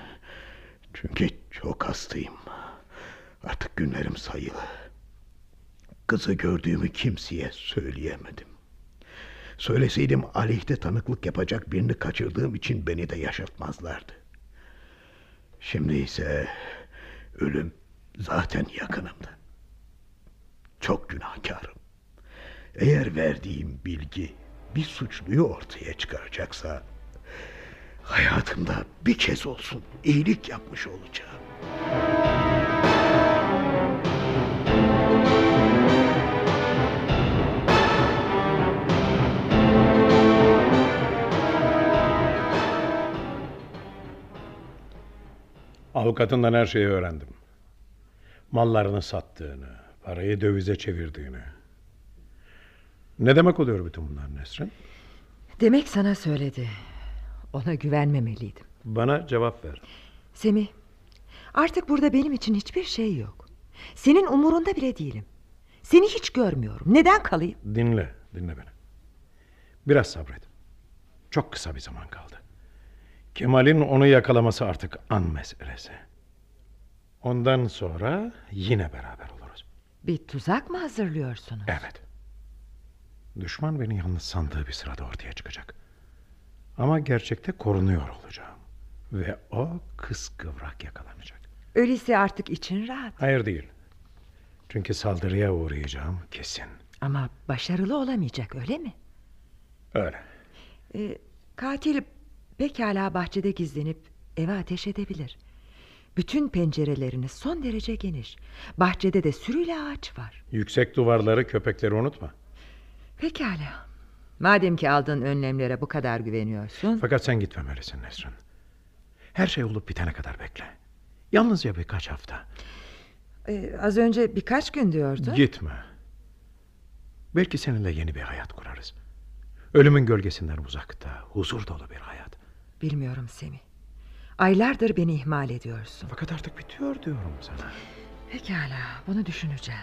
çok hastayım. Artık günlerim sayılı. Kızı gördüğümü kimseye söyleyemedim. Söyleseydim aleyhte tanıklık yapacak birini kaçırdığım için beni de yaşatmazlardı. Şimdi ise ölüm zaten yakınımda. Çok günahkarım. Eğer verdiğim bilgi bir suçluyu ortaya çıkaracaksa hayatımda bir kez olsun iyilik yapmış olacağım. Avukatından her şeyi öğrendim. Mallarını sattığını, parayı dövize çevirdiğini. Ne demek oluyor bütün bunlar Nesrin? Demek sana söyledi. Ona güvenmemeliydim. Bana cevap ver. Semih, artık burada benim için hiçbir şey yok. Senin umurunda bile değilim. Seni hiç görmüyorum. Neden kalayım? Dinle beni. Biraz sabret. Çok kısa bir zaman kaldı. Kemal'in onu yakalaması artık an meselesi. Ondan sonra yine beraber oluruz. Bir tuzak mı hazırlıyorsunuz? Evet. Düşman beni yalnız sandığı bir sırada ortaya çıkacak. Ama gerçekte korunuyor olacağım. Ve o kıskıvrak yakalanacak. Öyleyse artık için rahat. Hayır değil. Çünkü saldırıya uğrayacağım kesin. Ama başarılı olamayacak, öyle mi? Öyle. Katil pekala bahçede gizlenip eve ateş edebilir. Bütün pencereleriniz son derece geniş. Bahçede de sürüyle ağaç var. Yüksek duvarları, köpekleri unutma. Pekala. Madem ki aldığın önlemlere bu kadar güveniyorsun. Fakat sen gitmemelisin Nesrin. Her şey olup bitene kadar bekle. Yalnızca birkaç hafta. Az önce birkaç gün diyordun. Gitme. Belki seninle yeni bir hayat kurarız. Ölümün gölgesinden uzakta, huzur dolu bir hayat. Bilmiyorum Semih. Aylardır beni ihmal ediyorsun. Fakat artık bitiyor diyorum sana. Pekala, bunu düşüneceğim.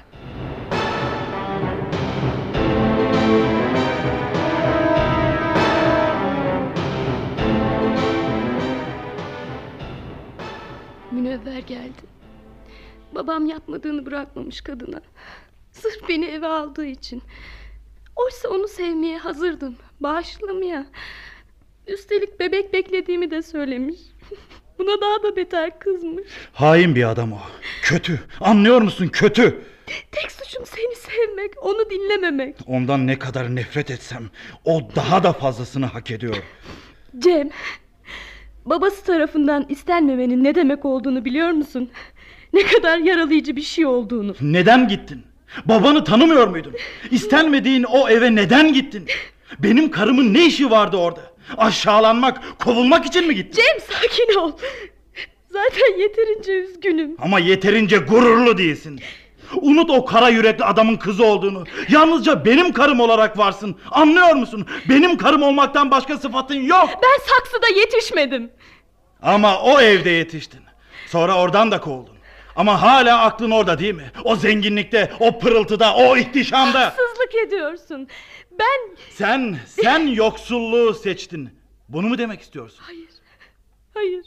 Münevver geldi. Babam yapmadığını bırakmamış kadına. Sırf beni eve aldığı için. Oysa onu sevmeye hazırdım. Bağışlamaya. Üstelik bebek beklediğimi de söylemiş. Buna daha da beter kızmış. Hain bir adam o. Kötü. Anlıyor musun? Kötü. Tek suçum seni sevmek, onu dinlememek. Ondan ne kadar nefret etsem o daha da fazlasını hak ediyor. Cem, babası tarafından istenmemenin ne demek olduğunu biliyor musun? Ne kadar yaralayıcı bir şey olduğunu. Neden gittin? Babanı tanımıyor muydun? İstenmediğin o eve neden gittin? Benim karımın ne işi vardı orada? Aşağılanmak, kovulmak için mi gittin? Cem, sakin ol. Zaten yeterince üzgünüm. Ama yeterince gururlu değilsin. Unut o kara yürekli adamın kızı olduğunu. Yalnızca benim karım olarak varsın. Anlıyor musun? Benim karım olmaktan başka sıfatın yok. Ben saksıda yetişmedim. Ama o evde yetiştin. Sonra oradan da kovuldun. Ama hala aklın orada değil mi? O zenginlikte, o pırıltıda, o ihtişamda. Haksızlık ediyorsun. Sen yoksulluğu seçtin. Bunu mu demek istiyorsun? Hayır.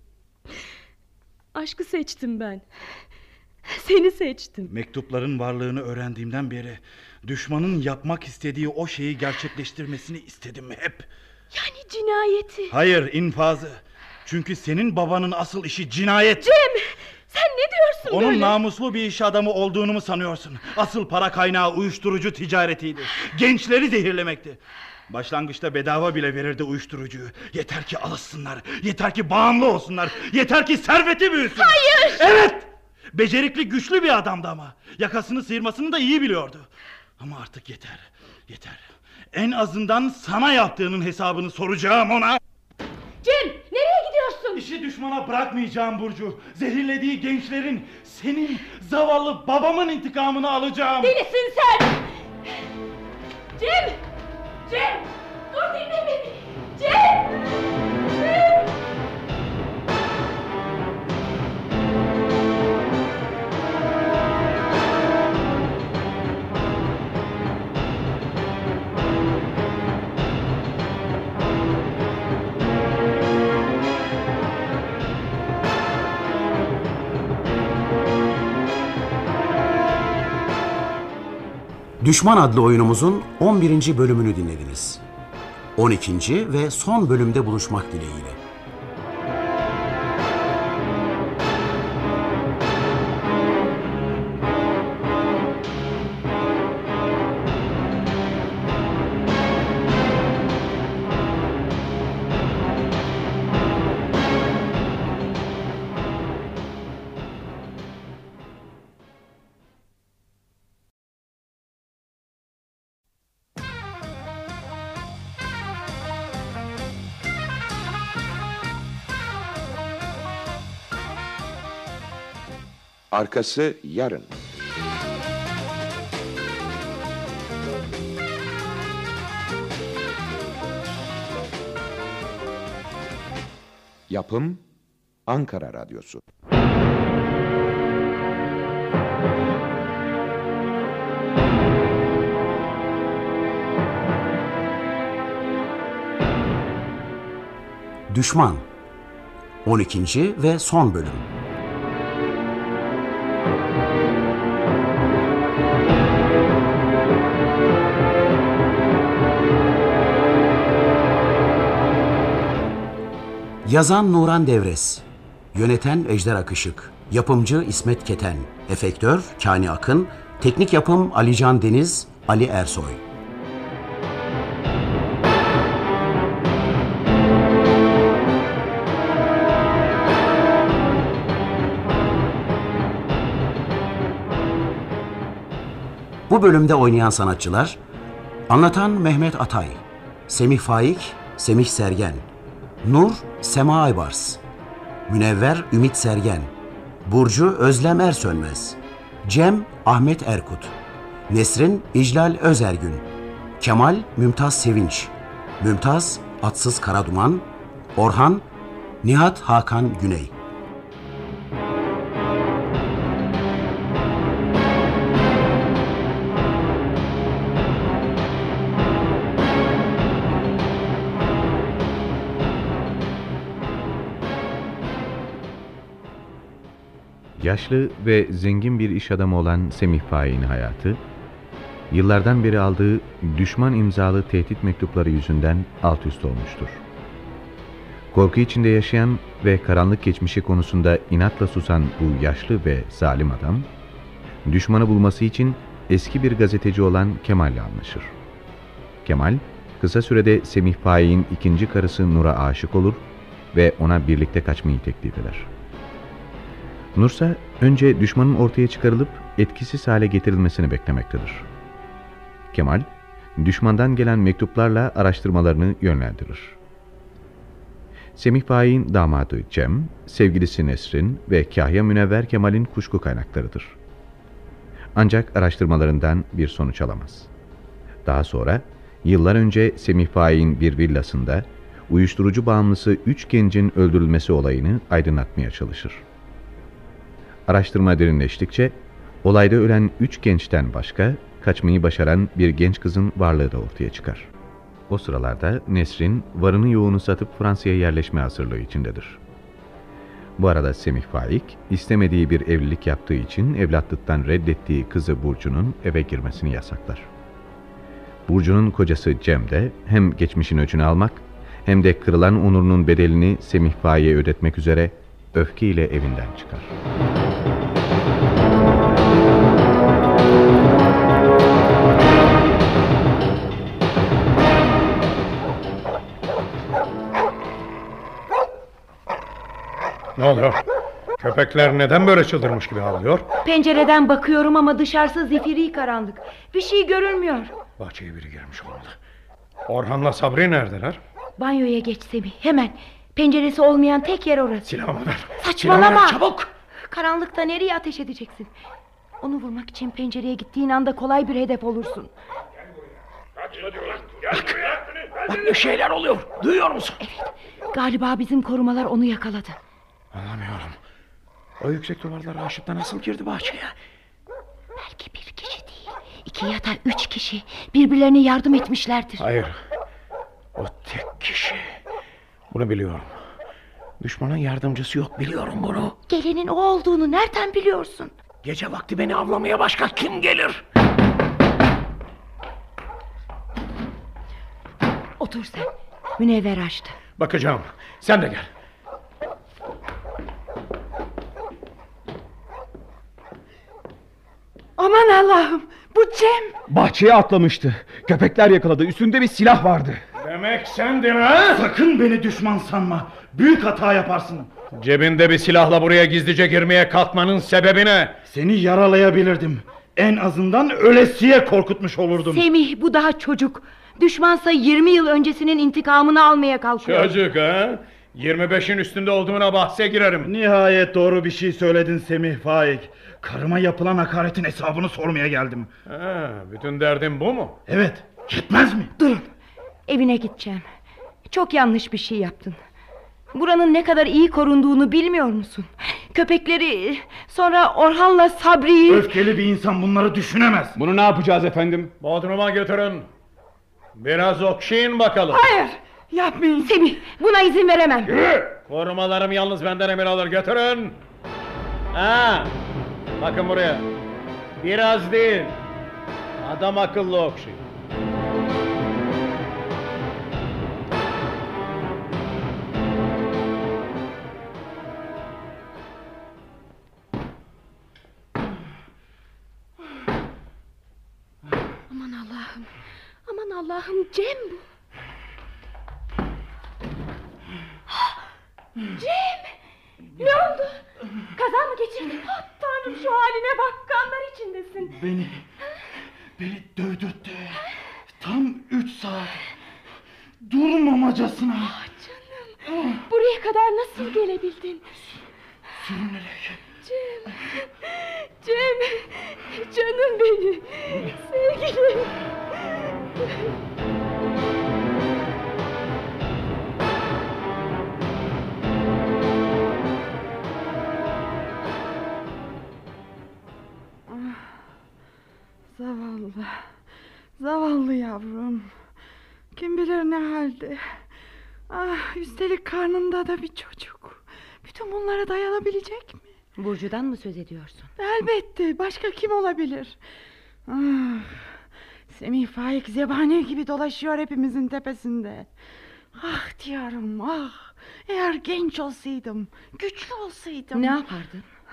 Aşkı seçtim ben. Seni seçtim. Mektupların varlığını öğrendiğimden beri düşmanın yapmak istediği o şeyi gerçekleştirmesini istedim hep. Yani cinayeti. Hayır, infazı. Çünkü senin babanın asıl işi cinayet. Cem, sen ne diyorsun Onun böyle? namuslu bir iş adamı olduğunu mu sanıyorsun? Asıl para kaynağı uyuşturucu ticaretiydi. Gençleri zehirlemekti. Başlangıçta bedava bile verirdi uyuşturucuyu. Yeter ki alışsınlar, yeter ki bağımlı olsunlar, yeter ki serveti büyüsün. Hayır! Evet! Becerikli, güçlü bir adamdı ama. Yakasını sıyırmasını da iyi biliyordu. Ama artık yeter. En azından sana yaptığının hesabını soracağım ona. Cem, nereye gidiyorsun? İşi düşmana bırakmayacağım Burcu. Zehirlediği gençlerin, senin zavallı babamın intikamını alacağım. Delisin sen! Cem! Dur, dinle beni! Cem! Düşman adlı oyunumuzun 11. bölümünü dinlediniz. 12. ve son bölümde buluşmak dileğiyle. Arkası yarın. Yapım Ankara Radyosu. Düşman 12. ve son bölüm. Yazan Nuran Devres, yöneten Ejder Akışık, yapımcı İsmet Keten, efektör Kani Akın, teknik yapım Alican Deniz, Ali Ersoy. Bu bölümde oynayan sanatçılar: anlatan Mehmet Atay, Semih Faik, Semih Sergen, Nur Sema Aybars, Münevver Ümit Sergen, Burcu Özlem Ersönmez, Cem Ahmet Erkut, Nesrin İclal Özergün, Kemal Mümtaz Sevinç, Mümtaz Atsız Karaduman, Orhan Nihat Hakan Güney. Yaşlı ve zengin bir iş adamı olan Semih Faik'in hayatı, yıllardan beri aldığı düşman imzalı tehdit mektupları yüzünden alt üst olmuştur. Korku içinde yaşayan ve karanlık geçmişi konusunda inatla susan bu yaşlı ve zalim adam, düşmanı bulması için eski bir gazeteci olan Kemal'le anlaşır. Kemal, kısa sürede Semih Faik'in ikinci karısı Nur'a aşık olur ve ona birlikte kaçmayı teklif eder. Nursa önce düşmanın ortaya çıkarılıp etkisiz hale getirilmesini beklemektedir. Kemal, düşmandan gelen mektuplarla araştırmalarını yönlendirir. Semih Faik'in damadı Cem, sevgilisi Nesrin ve Kahya Münevver Kemal'in kuşku kaynaklarıdır. Ancak araştırmalarından bir sonuç alamaz. Daha sonra yıllar önce Semih Faik'in bir villasında uyuşturucu bağımlısı 3 gencin öldürülmesi olayını aydınlatmaya çalışır. Araştırma derinleştikçe olayda ölen 3 gençten başka kaçmayı başaran bir genç kızın varlığı da ortaya çıkar. O sıralarda Nesrin varını yoğunu satıp Fransa'ya yerleşme hazırlığı içindedir. Bu arada Semih Faik istemediği bir evlilik yaptığı için evlatlıktan reddettiği kızı Burcu'nun eve girmesini yasaklar. Burcu'nun kocası Cem de hem geçmişin öcünü almak hem de kırılan onurunun bedelini Semih Faik'e ödetmek üzere öfkeyle evinden çıkar. Ne oluyor? Köpekler neden böyle çıldırmış gibi havlıyor? Pencereden bakıyorum ama dışarısı zifiri karanlık. Bir şey görünmüyor. Bahçeye biri girmiş olmalı. Orhan'la Sabri neredeler? Banyoya geç Semih, hemen. Penceresi olmayan tek yer orası. Silahımı ver. Saçmalama. Silahımı ver, çabuk. Karanlıkta nereye ateş edeceksin? Onu vurmak için pencereye gittiğin anda kolay bir hedef olursun. Bak bir şeyler oluyor. Duyuyor musun? Evet. Galiba bizim korumalar onu yakaladı. Anlamıyorum. O yüksek duvarları aşıp da nasıl girdi bahçeye? Belki bir kişi değil, 2 ya da 3 kişi birbirlerine yardım etmişlerdir. Hayır. O tek kişi. Bunu biliyorum. Düşmanın yardımcısı yok, biliyorum bunu. Gelenin o olduğunu nereden biliyorsun? Gece vakti beni avlamaya başka kim gelir? Otur sen. Münevver açtı. Bakacağım. Sen de gel. Aman Allah'ım, bu Cem. Bahçeye atlamıştı. Köpekler yakaladı. Üstünde bir silah vardı. Demek sendin ha? Sakın beni düşman sanma. Büyük hata yaparsın. Cebinde bir silahla buraya gizlice girmeye kalkmanın sebebi ne? Seni yaralayabilirdim. En azından ölesiye korkutmuş olurdum. Semih, bu daha çocuk. Düşmansa 20 yıl öncesinin intikamını almaya kalkıyor. Çocuk ha? 25'in üstünde olduğuna bahse girerim. Nihayet doğru bir şey söyledin Semih Faik. Karıma yapılan hakaretin hesabını sormaya geldim. Ha, bütün derdin bu mu? Evet, yetmez mi? Durun, evine gideceğim. Çok yanlış bir şey yaptın. Buranın ne kadar iyi korunduğunu bilmiyor musun? Köpekleri, sonra Orhan'la Sabri'yi... Öfkeli bir insan bunları düşünemez. Bunu ne yapacağız efendim? Bodrum'a götürün. Biraz okşayın bakalım. Hayır, yapmayın. Semih, buna izin veremem. Korumalarım yalnız benden emir alır, götürün. Ha, bakın buraya. Biraz değil. Adam akıllı okşayın. Aman Allah'ım. Aman Allah'ım, Cem bu. Cem! Ne oldu? Kaza mı geçirdin? Oh, Tanrım, şu haline bak, kanlar içindesin. Beni dövdürttü. Tam 3 saat. Durmamacasına. Ah canım. Buraya kadar nasıl gelebildin? Sürünerek. Cem. Cem. Canım benim. Sevgilim. Zavallı. Zavallı yavrum. Kim bilir ne halde. Ah, üstelik karnında da bir çocuk. Bütün bunlara dayanabilecek mi? Burcu'dan mı söz ediyorsun? Elbette. Başka kim olabilir? Ah, Semih Faik zebani gibi dolaşıyor hepimizin tepesinde. Ah diyorum, ah. Eğer genç olsaydım, güçlü olsaydım. Ne yapardın?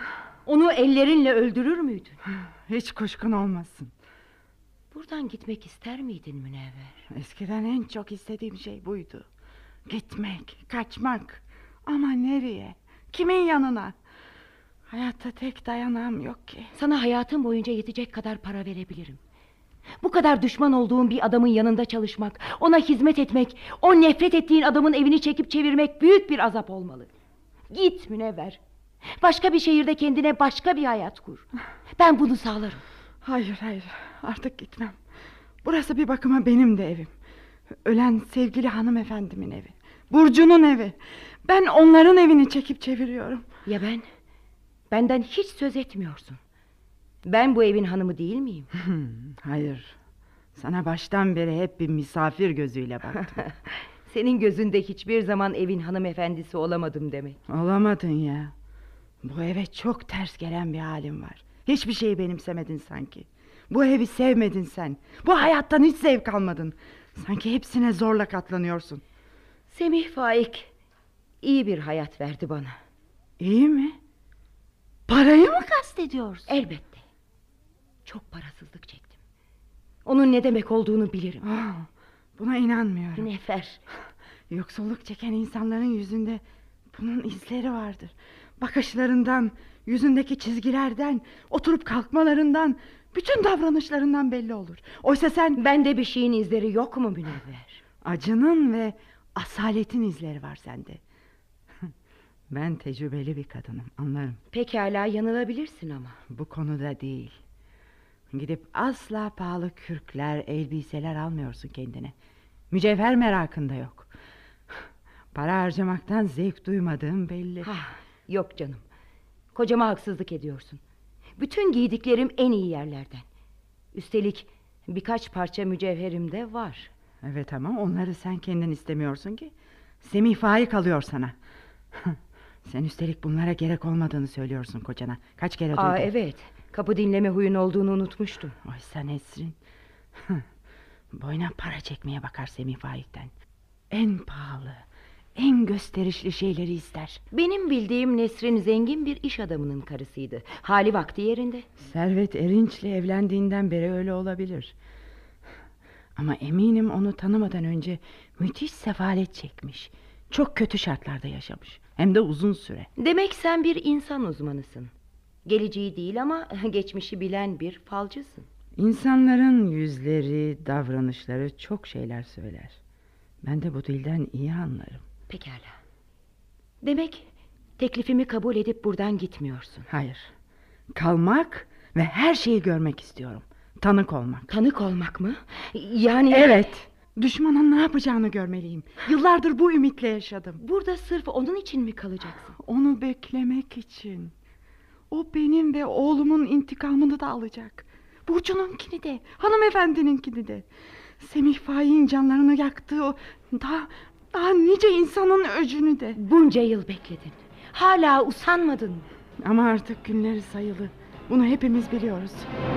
Onu ellerinle öldürür müydün? Hiç kuşkun olmasın. Buradan gitmek ister miydin Münevver? Eskiden en çok istediğim şey buydu. Gitmek, kaçmak. Ama nereye? Kimin yanına? Hayatta tek dayanağım yok ki. Sana hayatın boyunca yetecek kadar para verebilirim. Bu kadar düşman olduğun bir adamın yanında çalışmak, ona hizmet etmek, o nefret ettiğin adamın evini çekip çevirmek büyük bir azap olmalı. Git Münevver. Başka bir şehirde kendine başka bir hayat kur. Ben bunu sağlarım. Hayır, artık gitmem. Burası bir bakıma benim de evim. Ölen sevgili hanımefendimin evi. Burcu'nun evi. Ben onların evini çekip çeviriyorum. Ya ben? Benden hiç söz etmiyorsun. Ben bu evin hanımı değil miyim? Hayır. Sana baştan beri hep bir misafir gözüyle baktım. Senin gözünde hiçbir zaman evin hanımefendisi olamadım demek. Olamadın ya. Bu eve çok ters gelen bir halim var. Hiçbir şeyi benimsemedin sanki. Bu evi sevmedin sen. Bu hayattan hiç zevk almadın. Sanki hepsine zorla katlanıyorsun. Semih Faik iyi bir hayat verdi bana. İyi mi? Parayı mı kastediyorsun? Elbette. Çok parasızlık çektim. Onun ne demek olduğunu bilirim. Buna inanmıyorum. Nefer. Yoksulluk çeken insanların yüzünde bunun izleri vardır. Bakışlarından, yüzündeki çizgilerden, oturup kalkmalarından, bütün davranışlarından belli olur. Oysa sen... Bende bir şeyin izleri yok mu Münevver? Acının ve asaletin izleri var sende. Ben tecrübeli bir kadınım, anlarım. Pekala yanılabilirsin ama. Bu konuda değil. Gidip asla pahalı kürkler, elbiseler almıyorsun kendine. Mücevher merakında yok. Para harcamaktan zevk duymadığım belli. Yok canım. Kocama haksızlık ediyorsun. Bütün giydiklerim en iyi yerlerden. Üstelik birkaç parça mücevherim de var. Evet ama onları sen kendin istemiyorsun ki. Semih Faik alıyor sana. Sen üstelik bunlara gerek olmadığını söylüyorsun kocana. Kaç kere duydum. Evet. Kapı dinleme huyun olduğunu unutmuştum. Oysa Nesrin boyuna para çekmeye bakar Semih Faik'ten. En pahalı, en gösterişli şeyleri ister. Benim bildiğim Nesrin zengin bir iş adamının karısıydı. Hali vakti yerinde. Servet Erinç'le evlendiğinden beri öyle olabilir. Ama eminim onu tanımadan önce müthiş sefalet çekmiş. Çok kötü şartlarda yaşamış. Hem de uzun süre. Demek sen bir insan uzmanısın. Geleceği değil ama geçmişi bilen bir falcısın. İnsanların yüzleri, davranışları çok şeyler söyler. Ben de bu dilden iyi anlarım. Pekala. Demek teklifimi kabul edip buradan gitmiyorsun. Hayır. Kalmak ve her şeyi görmek istiyorum. Tanık olmak. Tanık olmak mı? Yani... Evet. Düşmanın ne yapacağını görmeliyim. Yıllardır bu ümitle yaşadım. Burada sırf onun için mi kalacaksın? Onu beklemek için. O benim ve oğlumun intikamını da alacak. Burcu'nunkini de, hanımefendininkini de. Semih Faik'in canlarını yaktığı o daha nice insanın öcünü de. Bunca yıl bekledin. Hala usanmadın mı? Ama artık günleri sayılı. Bunu hepimiz biliyoruz.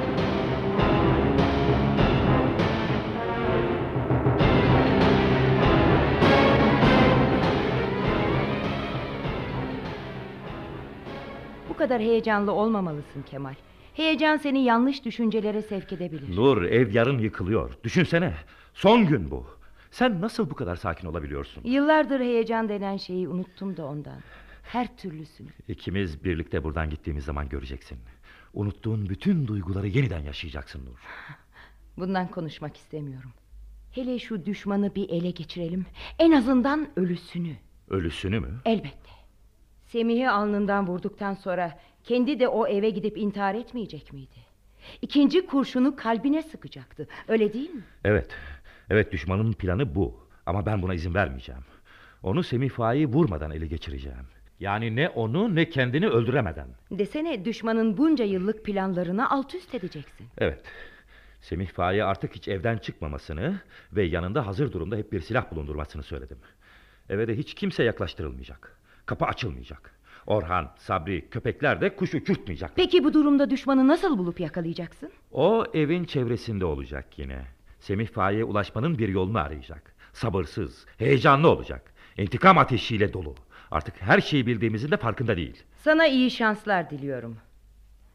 Bu kadar heyecanlı olmamalısın Kemal. Heyecan seni yanlış düşüncelere sevk edebilir. Nur, ev yarın yıkılıyor. Düşünsene. Son gün bu. Sen nasıl bu kadar sakin olabiliyorsun? Yıllardır heyecan denen şeyi unuttum da ondan. Her türlüsünü. İkimiz birlikte buradan gittiğimiz zaman göreceksin. Unuttuğun bütün duyguları yeniden yaşayacaksın Nur. Bundan konuşmak istemiyorum. Hele şu düşmanı bir ele geçirelim. En azından ölüsünü. Ölüsünü mü? Elbette. Semih'i alnından vurduktan sonra kendi de o eve gidip intihar etmeyecek miydi? İkinci kurşunu kalbine sıkacaktı. Öyle değil mi? Evet. Evet, düşmanın planı bu. Ama ben buna izin vermeyeceğim. Onu Semih Faik'i vurmadan ele geçireceğim. Yani ne onu ne kendini öldüremeden. Desene, düşmanın bunca yıllık planlarını alt üst edeceksin. Evet. Semih Faik'e artık hiç evden çıkmamasını ve yanında hazır durumda hep bir silah bulundurmasını söyledim. Eve de hiç kimse yaklaştırılmayacak. Kapı açılmayacak. Orhan, Sabri, köpekler de kuş uçurtmayacak. Peki bu durumda düşmanı nasıl bulup yakalayacaksın? O evin çevresinde olacak yine. Semih Faik'e ulaşmanın bir yolunu arayacak. Sabırsız, heyecanlı olacak. İntikam ateşiyle dolu. Artık her şeyi bildiğimizin de farkında değil. Sana iyi şanslar diliyorum.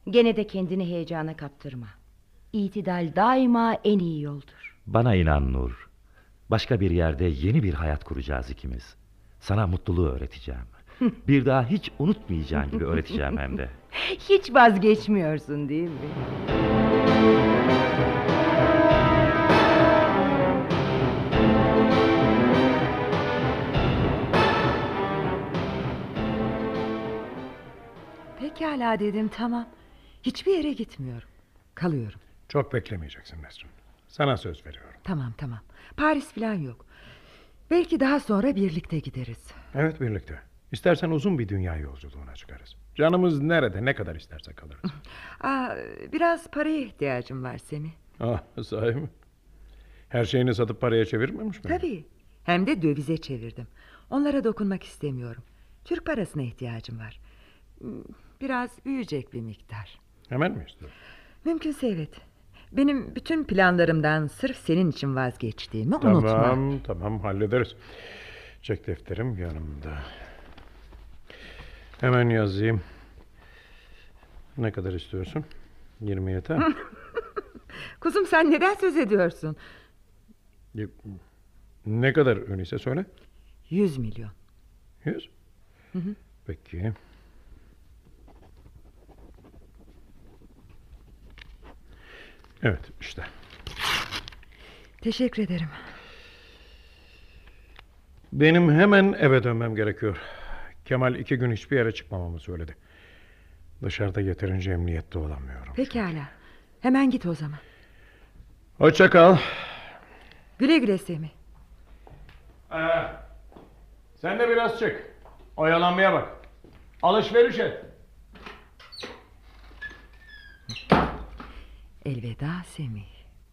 Gene de kendini heyecana kaptırma. İtidal daima en iyi yoldur. Bana inan Nur. Başka bir yerde yeni bir hayat kuracağız ikimiz. Sana mutluluğu öğreteceğim. Bir daha hiç unutmayacağın gibi öğreteceğim hem de. Hiç vazgeçmiyorsun değil mi? Pekala dedim, tamam. Hiçbir yere gitmiyorum. Kalıyorum. Çok beklemeyeceksin Nesrin. Sana söz veriyorum. Tamam. Paris falan yok. Belki daha sonra birlikte gideriz. Evet, birlikte. İstersen uzun bir dünya yolculuğuna çıkarız. Canımız nerede ne kadar isterse kalırız. Biraz paraya ihtiyacım var Semih. Sahi mi? Her şeyini satıp paraya çevirmemiş mi? Tabii. Hem de dövize çevirdim. Onlara dokunmak istemiyorum. Türk parasına ihtiyacım var. Biraz büyüyecek bir miktar. Hemen mi istiyorsun? Mümkünse evet. Benim bütün planlarımdan sırf senin için vazgeçtiğimi unutma. Tamam, hallederiz. Çek defterim yanımda. Hemen yazayım. Ne kadar istiyorsun? 20 yeter. Kuzum, sen neden söz ediyorsun? Ne kadar öyleyse söyle. 100 milyon. 100? Hı. Peki. Evet, işte. Teşekkür ederim. Benim hemen eve dönmem gerekiyor. Kemal 2 gün hiçbir yere çıkmamamı söyledi. Dışarıda yeterince emniyette olamıyorum. Pekala. Hemen git o zaman. Hoşça kal. Güle güle Semih. Sen de biraz çık. Oyalanmaya bak. Alışveriş et. Elveda Semih.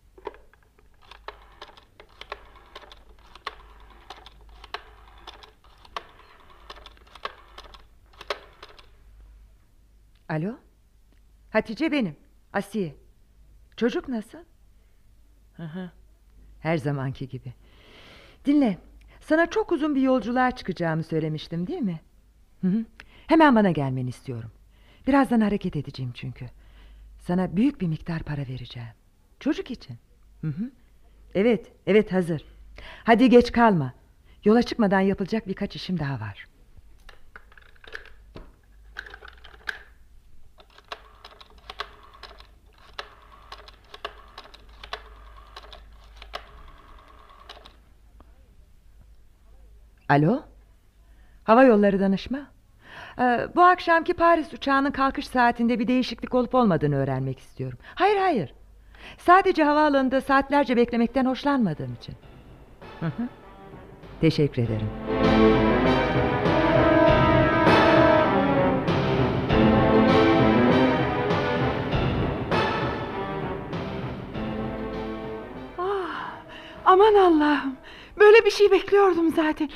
Alo? Hatice benim. Asiye. Çocuk nasıl? Her zamanki gibi. Dinle. Sana çok uzun bir yolculuğa çıkacağımı söylemiştim değil mi? Hemen bana gelmeni istiyorum. Birazdan hareket edeceğim çünkü. Sana büyük bir miktar para vereceğim. Çocuk için. Evet hazır. Hadi geç kalma. Yola çıkmadan yapılacak birkaç işim daha var. Alo? Hava Yolları Danışma. Bu akşamki Paris uçağının kalkış saatinde bir değişiklik olup olmadığını öğrenmek istiyorum. Hayır. Sadece havaalanında saatlerce beklemekten hoşlanmadığım için. Teşekkür ederim. Aman Allah'ım. Böyle bir şey bekliyordum zaten.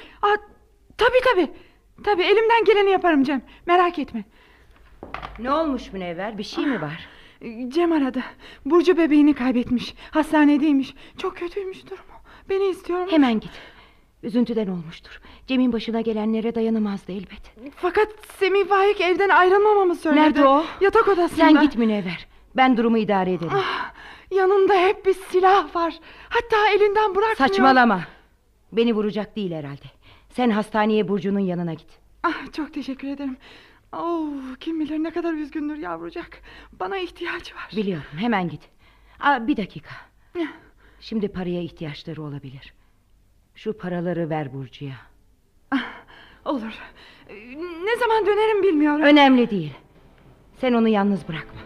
Tabii elimden geleni yaparım Cem. Merak etme. Ne olmuş Münevver? Bir şey mi var? Cem aradı. Burcu bebeğini kaybetmiş. Hastanedeymiş. Çok kötüymüş durumu. Beni istiyorum. Hemen git. Üzüntüden olmuştur. Cem'in başına gelenlere dayanamazdı elbet. Fakat Semih Faik evden ayrılmamamı söyledi. Nerede o? Yatak odasında. Sen git Münevver. Ben durumu idare ederim. Yanında hep bir silah var. Hatta elinden bırakmıyor. Saçmalama. Beni vuracak değil herhalde. Sen hastaneye Burcu'nun yanına git. Çok teşekkür ederim. Kim bilir ne kadar üzgündür yavrucak. Bana ihtiyacı var. Biliyorum, hemen git. Bir dakika. Şimdi paraya ihtiyaçları olabilir. Şu paraları ver Burcu'ya. Olur. Ne zaman dönerim bilmiyorum. Önemli değil. Sen onu yalnız bırakma.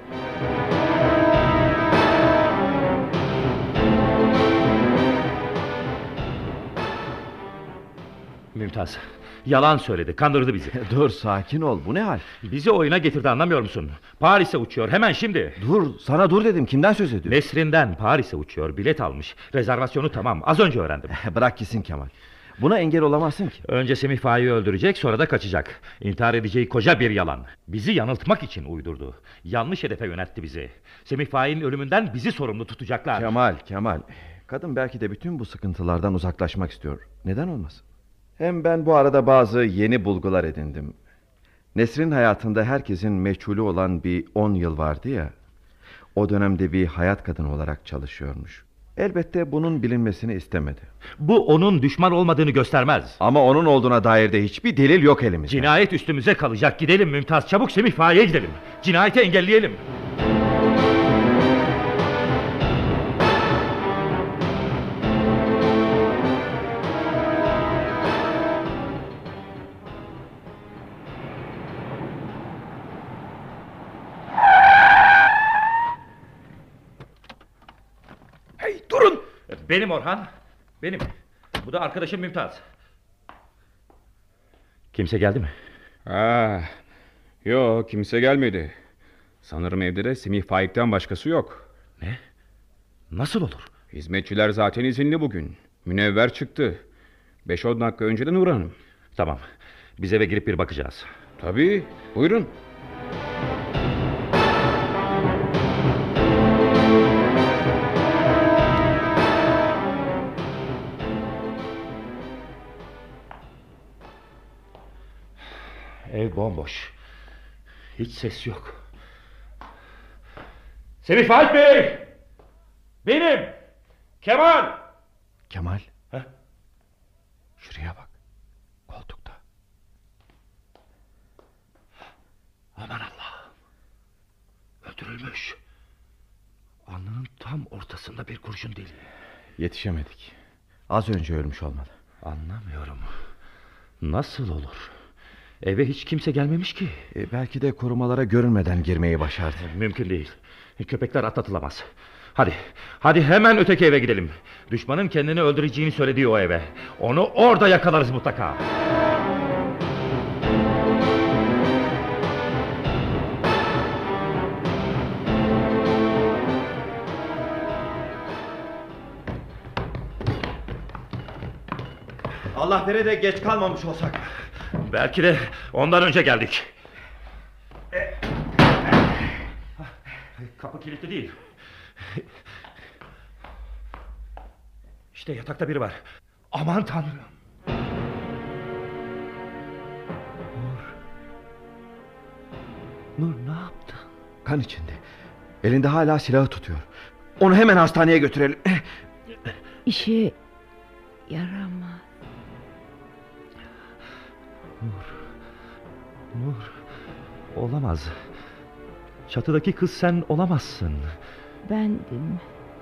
Mümtaz, yalan söyledi, kandırdı bizi. Dur, sakin ol, bu ne hal? Bizi oyuna getirdi, anlamıyor musun? Paris'e uçuyor hemen şimdi. Sana dur dedim, kimden söz ediyorsun? Nesrin'den. Paris'e uçuyor, bilet almış. Rezervasyonu tamam, az önce öğrendim. Bırak gitsin Kemal. Buna engel olamazsın ki. Önce Semih Faik'i öldürecek, sonra da kaçacak. İntihar edeceği koca bir yalan. Bizi yanıltmak için uydurdu. Yanlış hedefe yöneltti bizi. Semih Faik'in ölümünden bizi sorumlu tutacaklar. Kemal. Kadın belki de bütün bu sıkıntılardan uzaklaşmak istiyor. Neden olmasın? Hem ben bu arada bazı yeni bulgular edindim. Nesrin hayatında herkesin meçhulü olan bir 10 yıl vardı ya. O dönemde bir hayat kadını olarak çalışıyormuş. Elbette bunun bilinmesini istemedi. Bu onun düşman olmadığını göstermez. Ama onun olduğuna dair de hiçbir delil yok elimizde. Cinayet üstümüze kalacak. Gidelim Mümtaz, çabuk Semih Faik'e gidelim. Cinayeti engelleyelim. Hey durun! Benim Orhan. Benim. Bu da arkadaşım Mümtaz. Kimse geldi mi? Yok, kimse gelmedi. Sanırım evde de Semih Faik'ten başkası yok. Ne? Nasıl olur? Hizmetçiler zaten izinli bugün. Münevver çıktı. 5-10 dakika önce de Nur Hanım. Tamam. Biz eve girip bir bakacağız. Tabii. Buyurun. Ev bomboş. Hiç ses yok. Semih Faik Bey! Benim! Kemal! Kemal? Heh. Şuraya bak. Koltukta. Aman Allah'ım. Öldürülmüş. Alnının tam ortasında bir kurşun deliği. Yetişemedik. Az önce ölmüş olmalı. Anlamıyorum. Nasıl olur? Eve hiç kimse gelmemiş ki. Belki de korumalara görünmeden girmeyi başardı. Mümkün değil. Köpekler atlatılamaz. Hadi hemen öteki eve gidelim. Düşmanın kendini öldüreceğini söylediği o eve. Onu orada yakalarız mutlaka. Allah vere de geç kalmamış olsak. Belki de ondan önce geldik. Kapı kilitli değil. İşte yatakta biri var. Aman Tanrım. Nur ne yaptı? Kan içinde. Elinde hala silahı tutuyor. Onu hemen hastaneye götürelim. İşe yaramaz. Nur. Olamaz. Çatıdaki kız sen olamazsın. Bendim.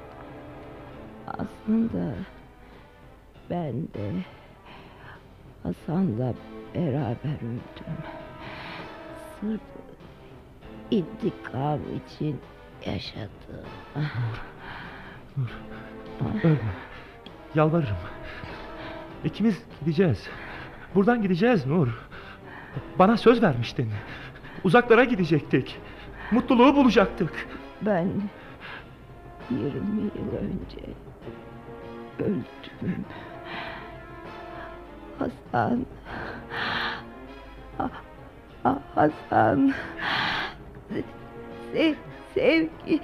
Aslında ben de Hasan'la beraber öldüm. Sırf intikam için yaşadım. Nur. Ölme. Yalvarırım. İkimiz gideceğiz. Buradan gideceğiz Nur. Bana söz vermiştin. Uzaklara gidecektik. Mutluluğu bulacaktık. Ben 20 yıl önce öldüm. Hasan. Hasan. Sevgi.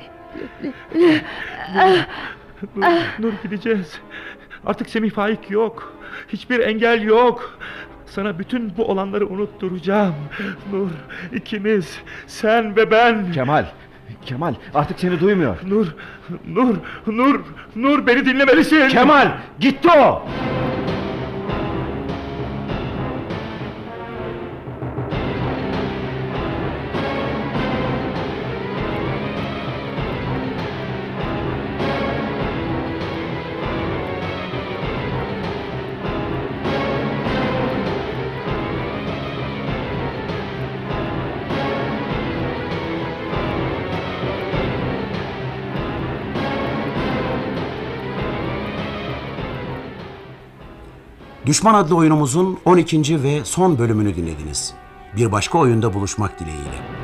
Nur gideceğiz. Artık Semih Faik yok. Hiçbir engel yok. Sana bütün bu olanları unutturacağım. Nur, ikimiz, sen ve ben. Kemal artık seni duymuyor. Nur beni dinlemelisin. Kemal gitti o. Düşman adlı oyunumuzun 12. ve son bölümünü dinlediniz. Bir başka oyunda buluşmak dileğiyle.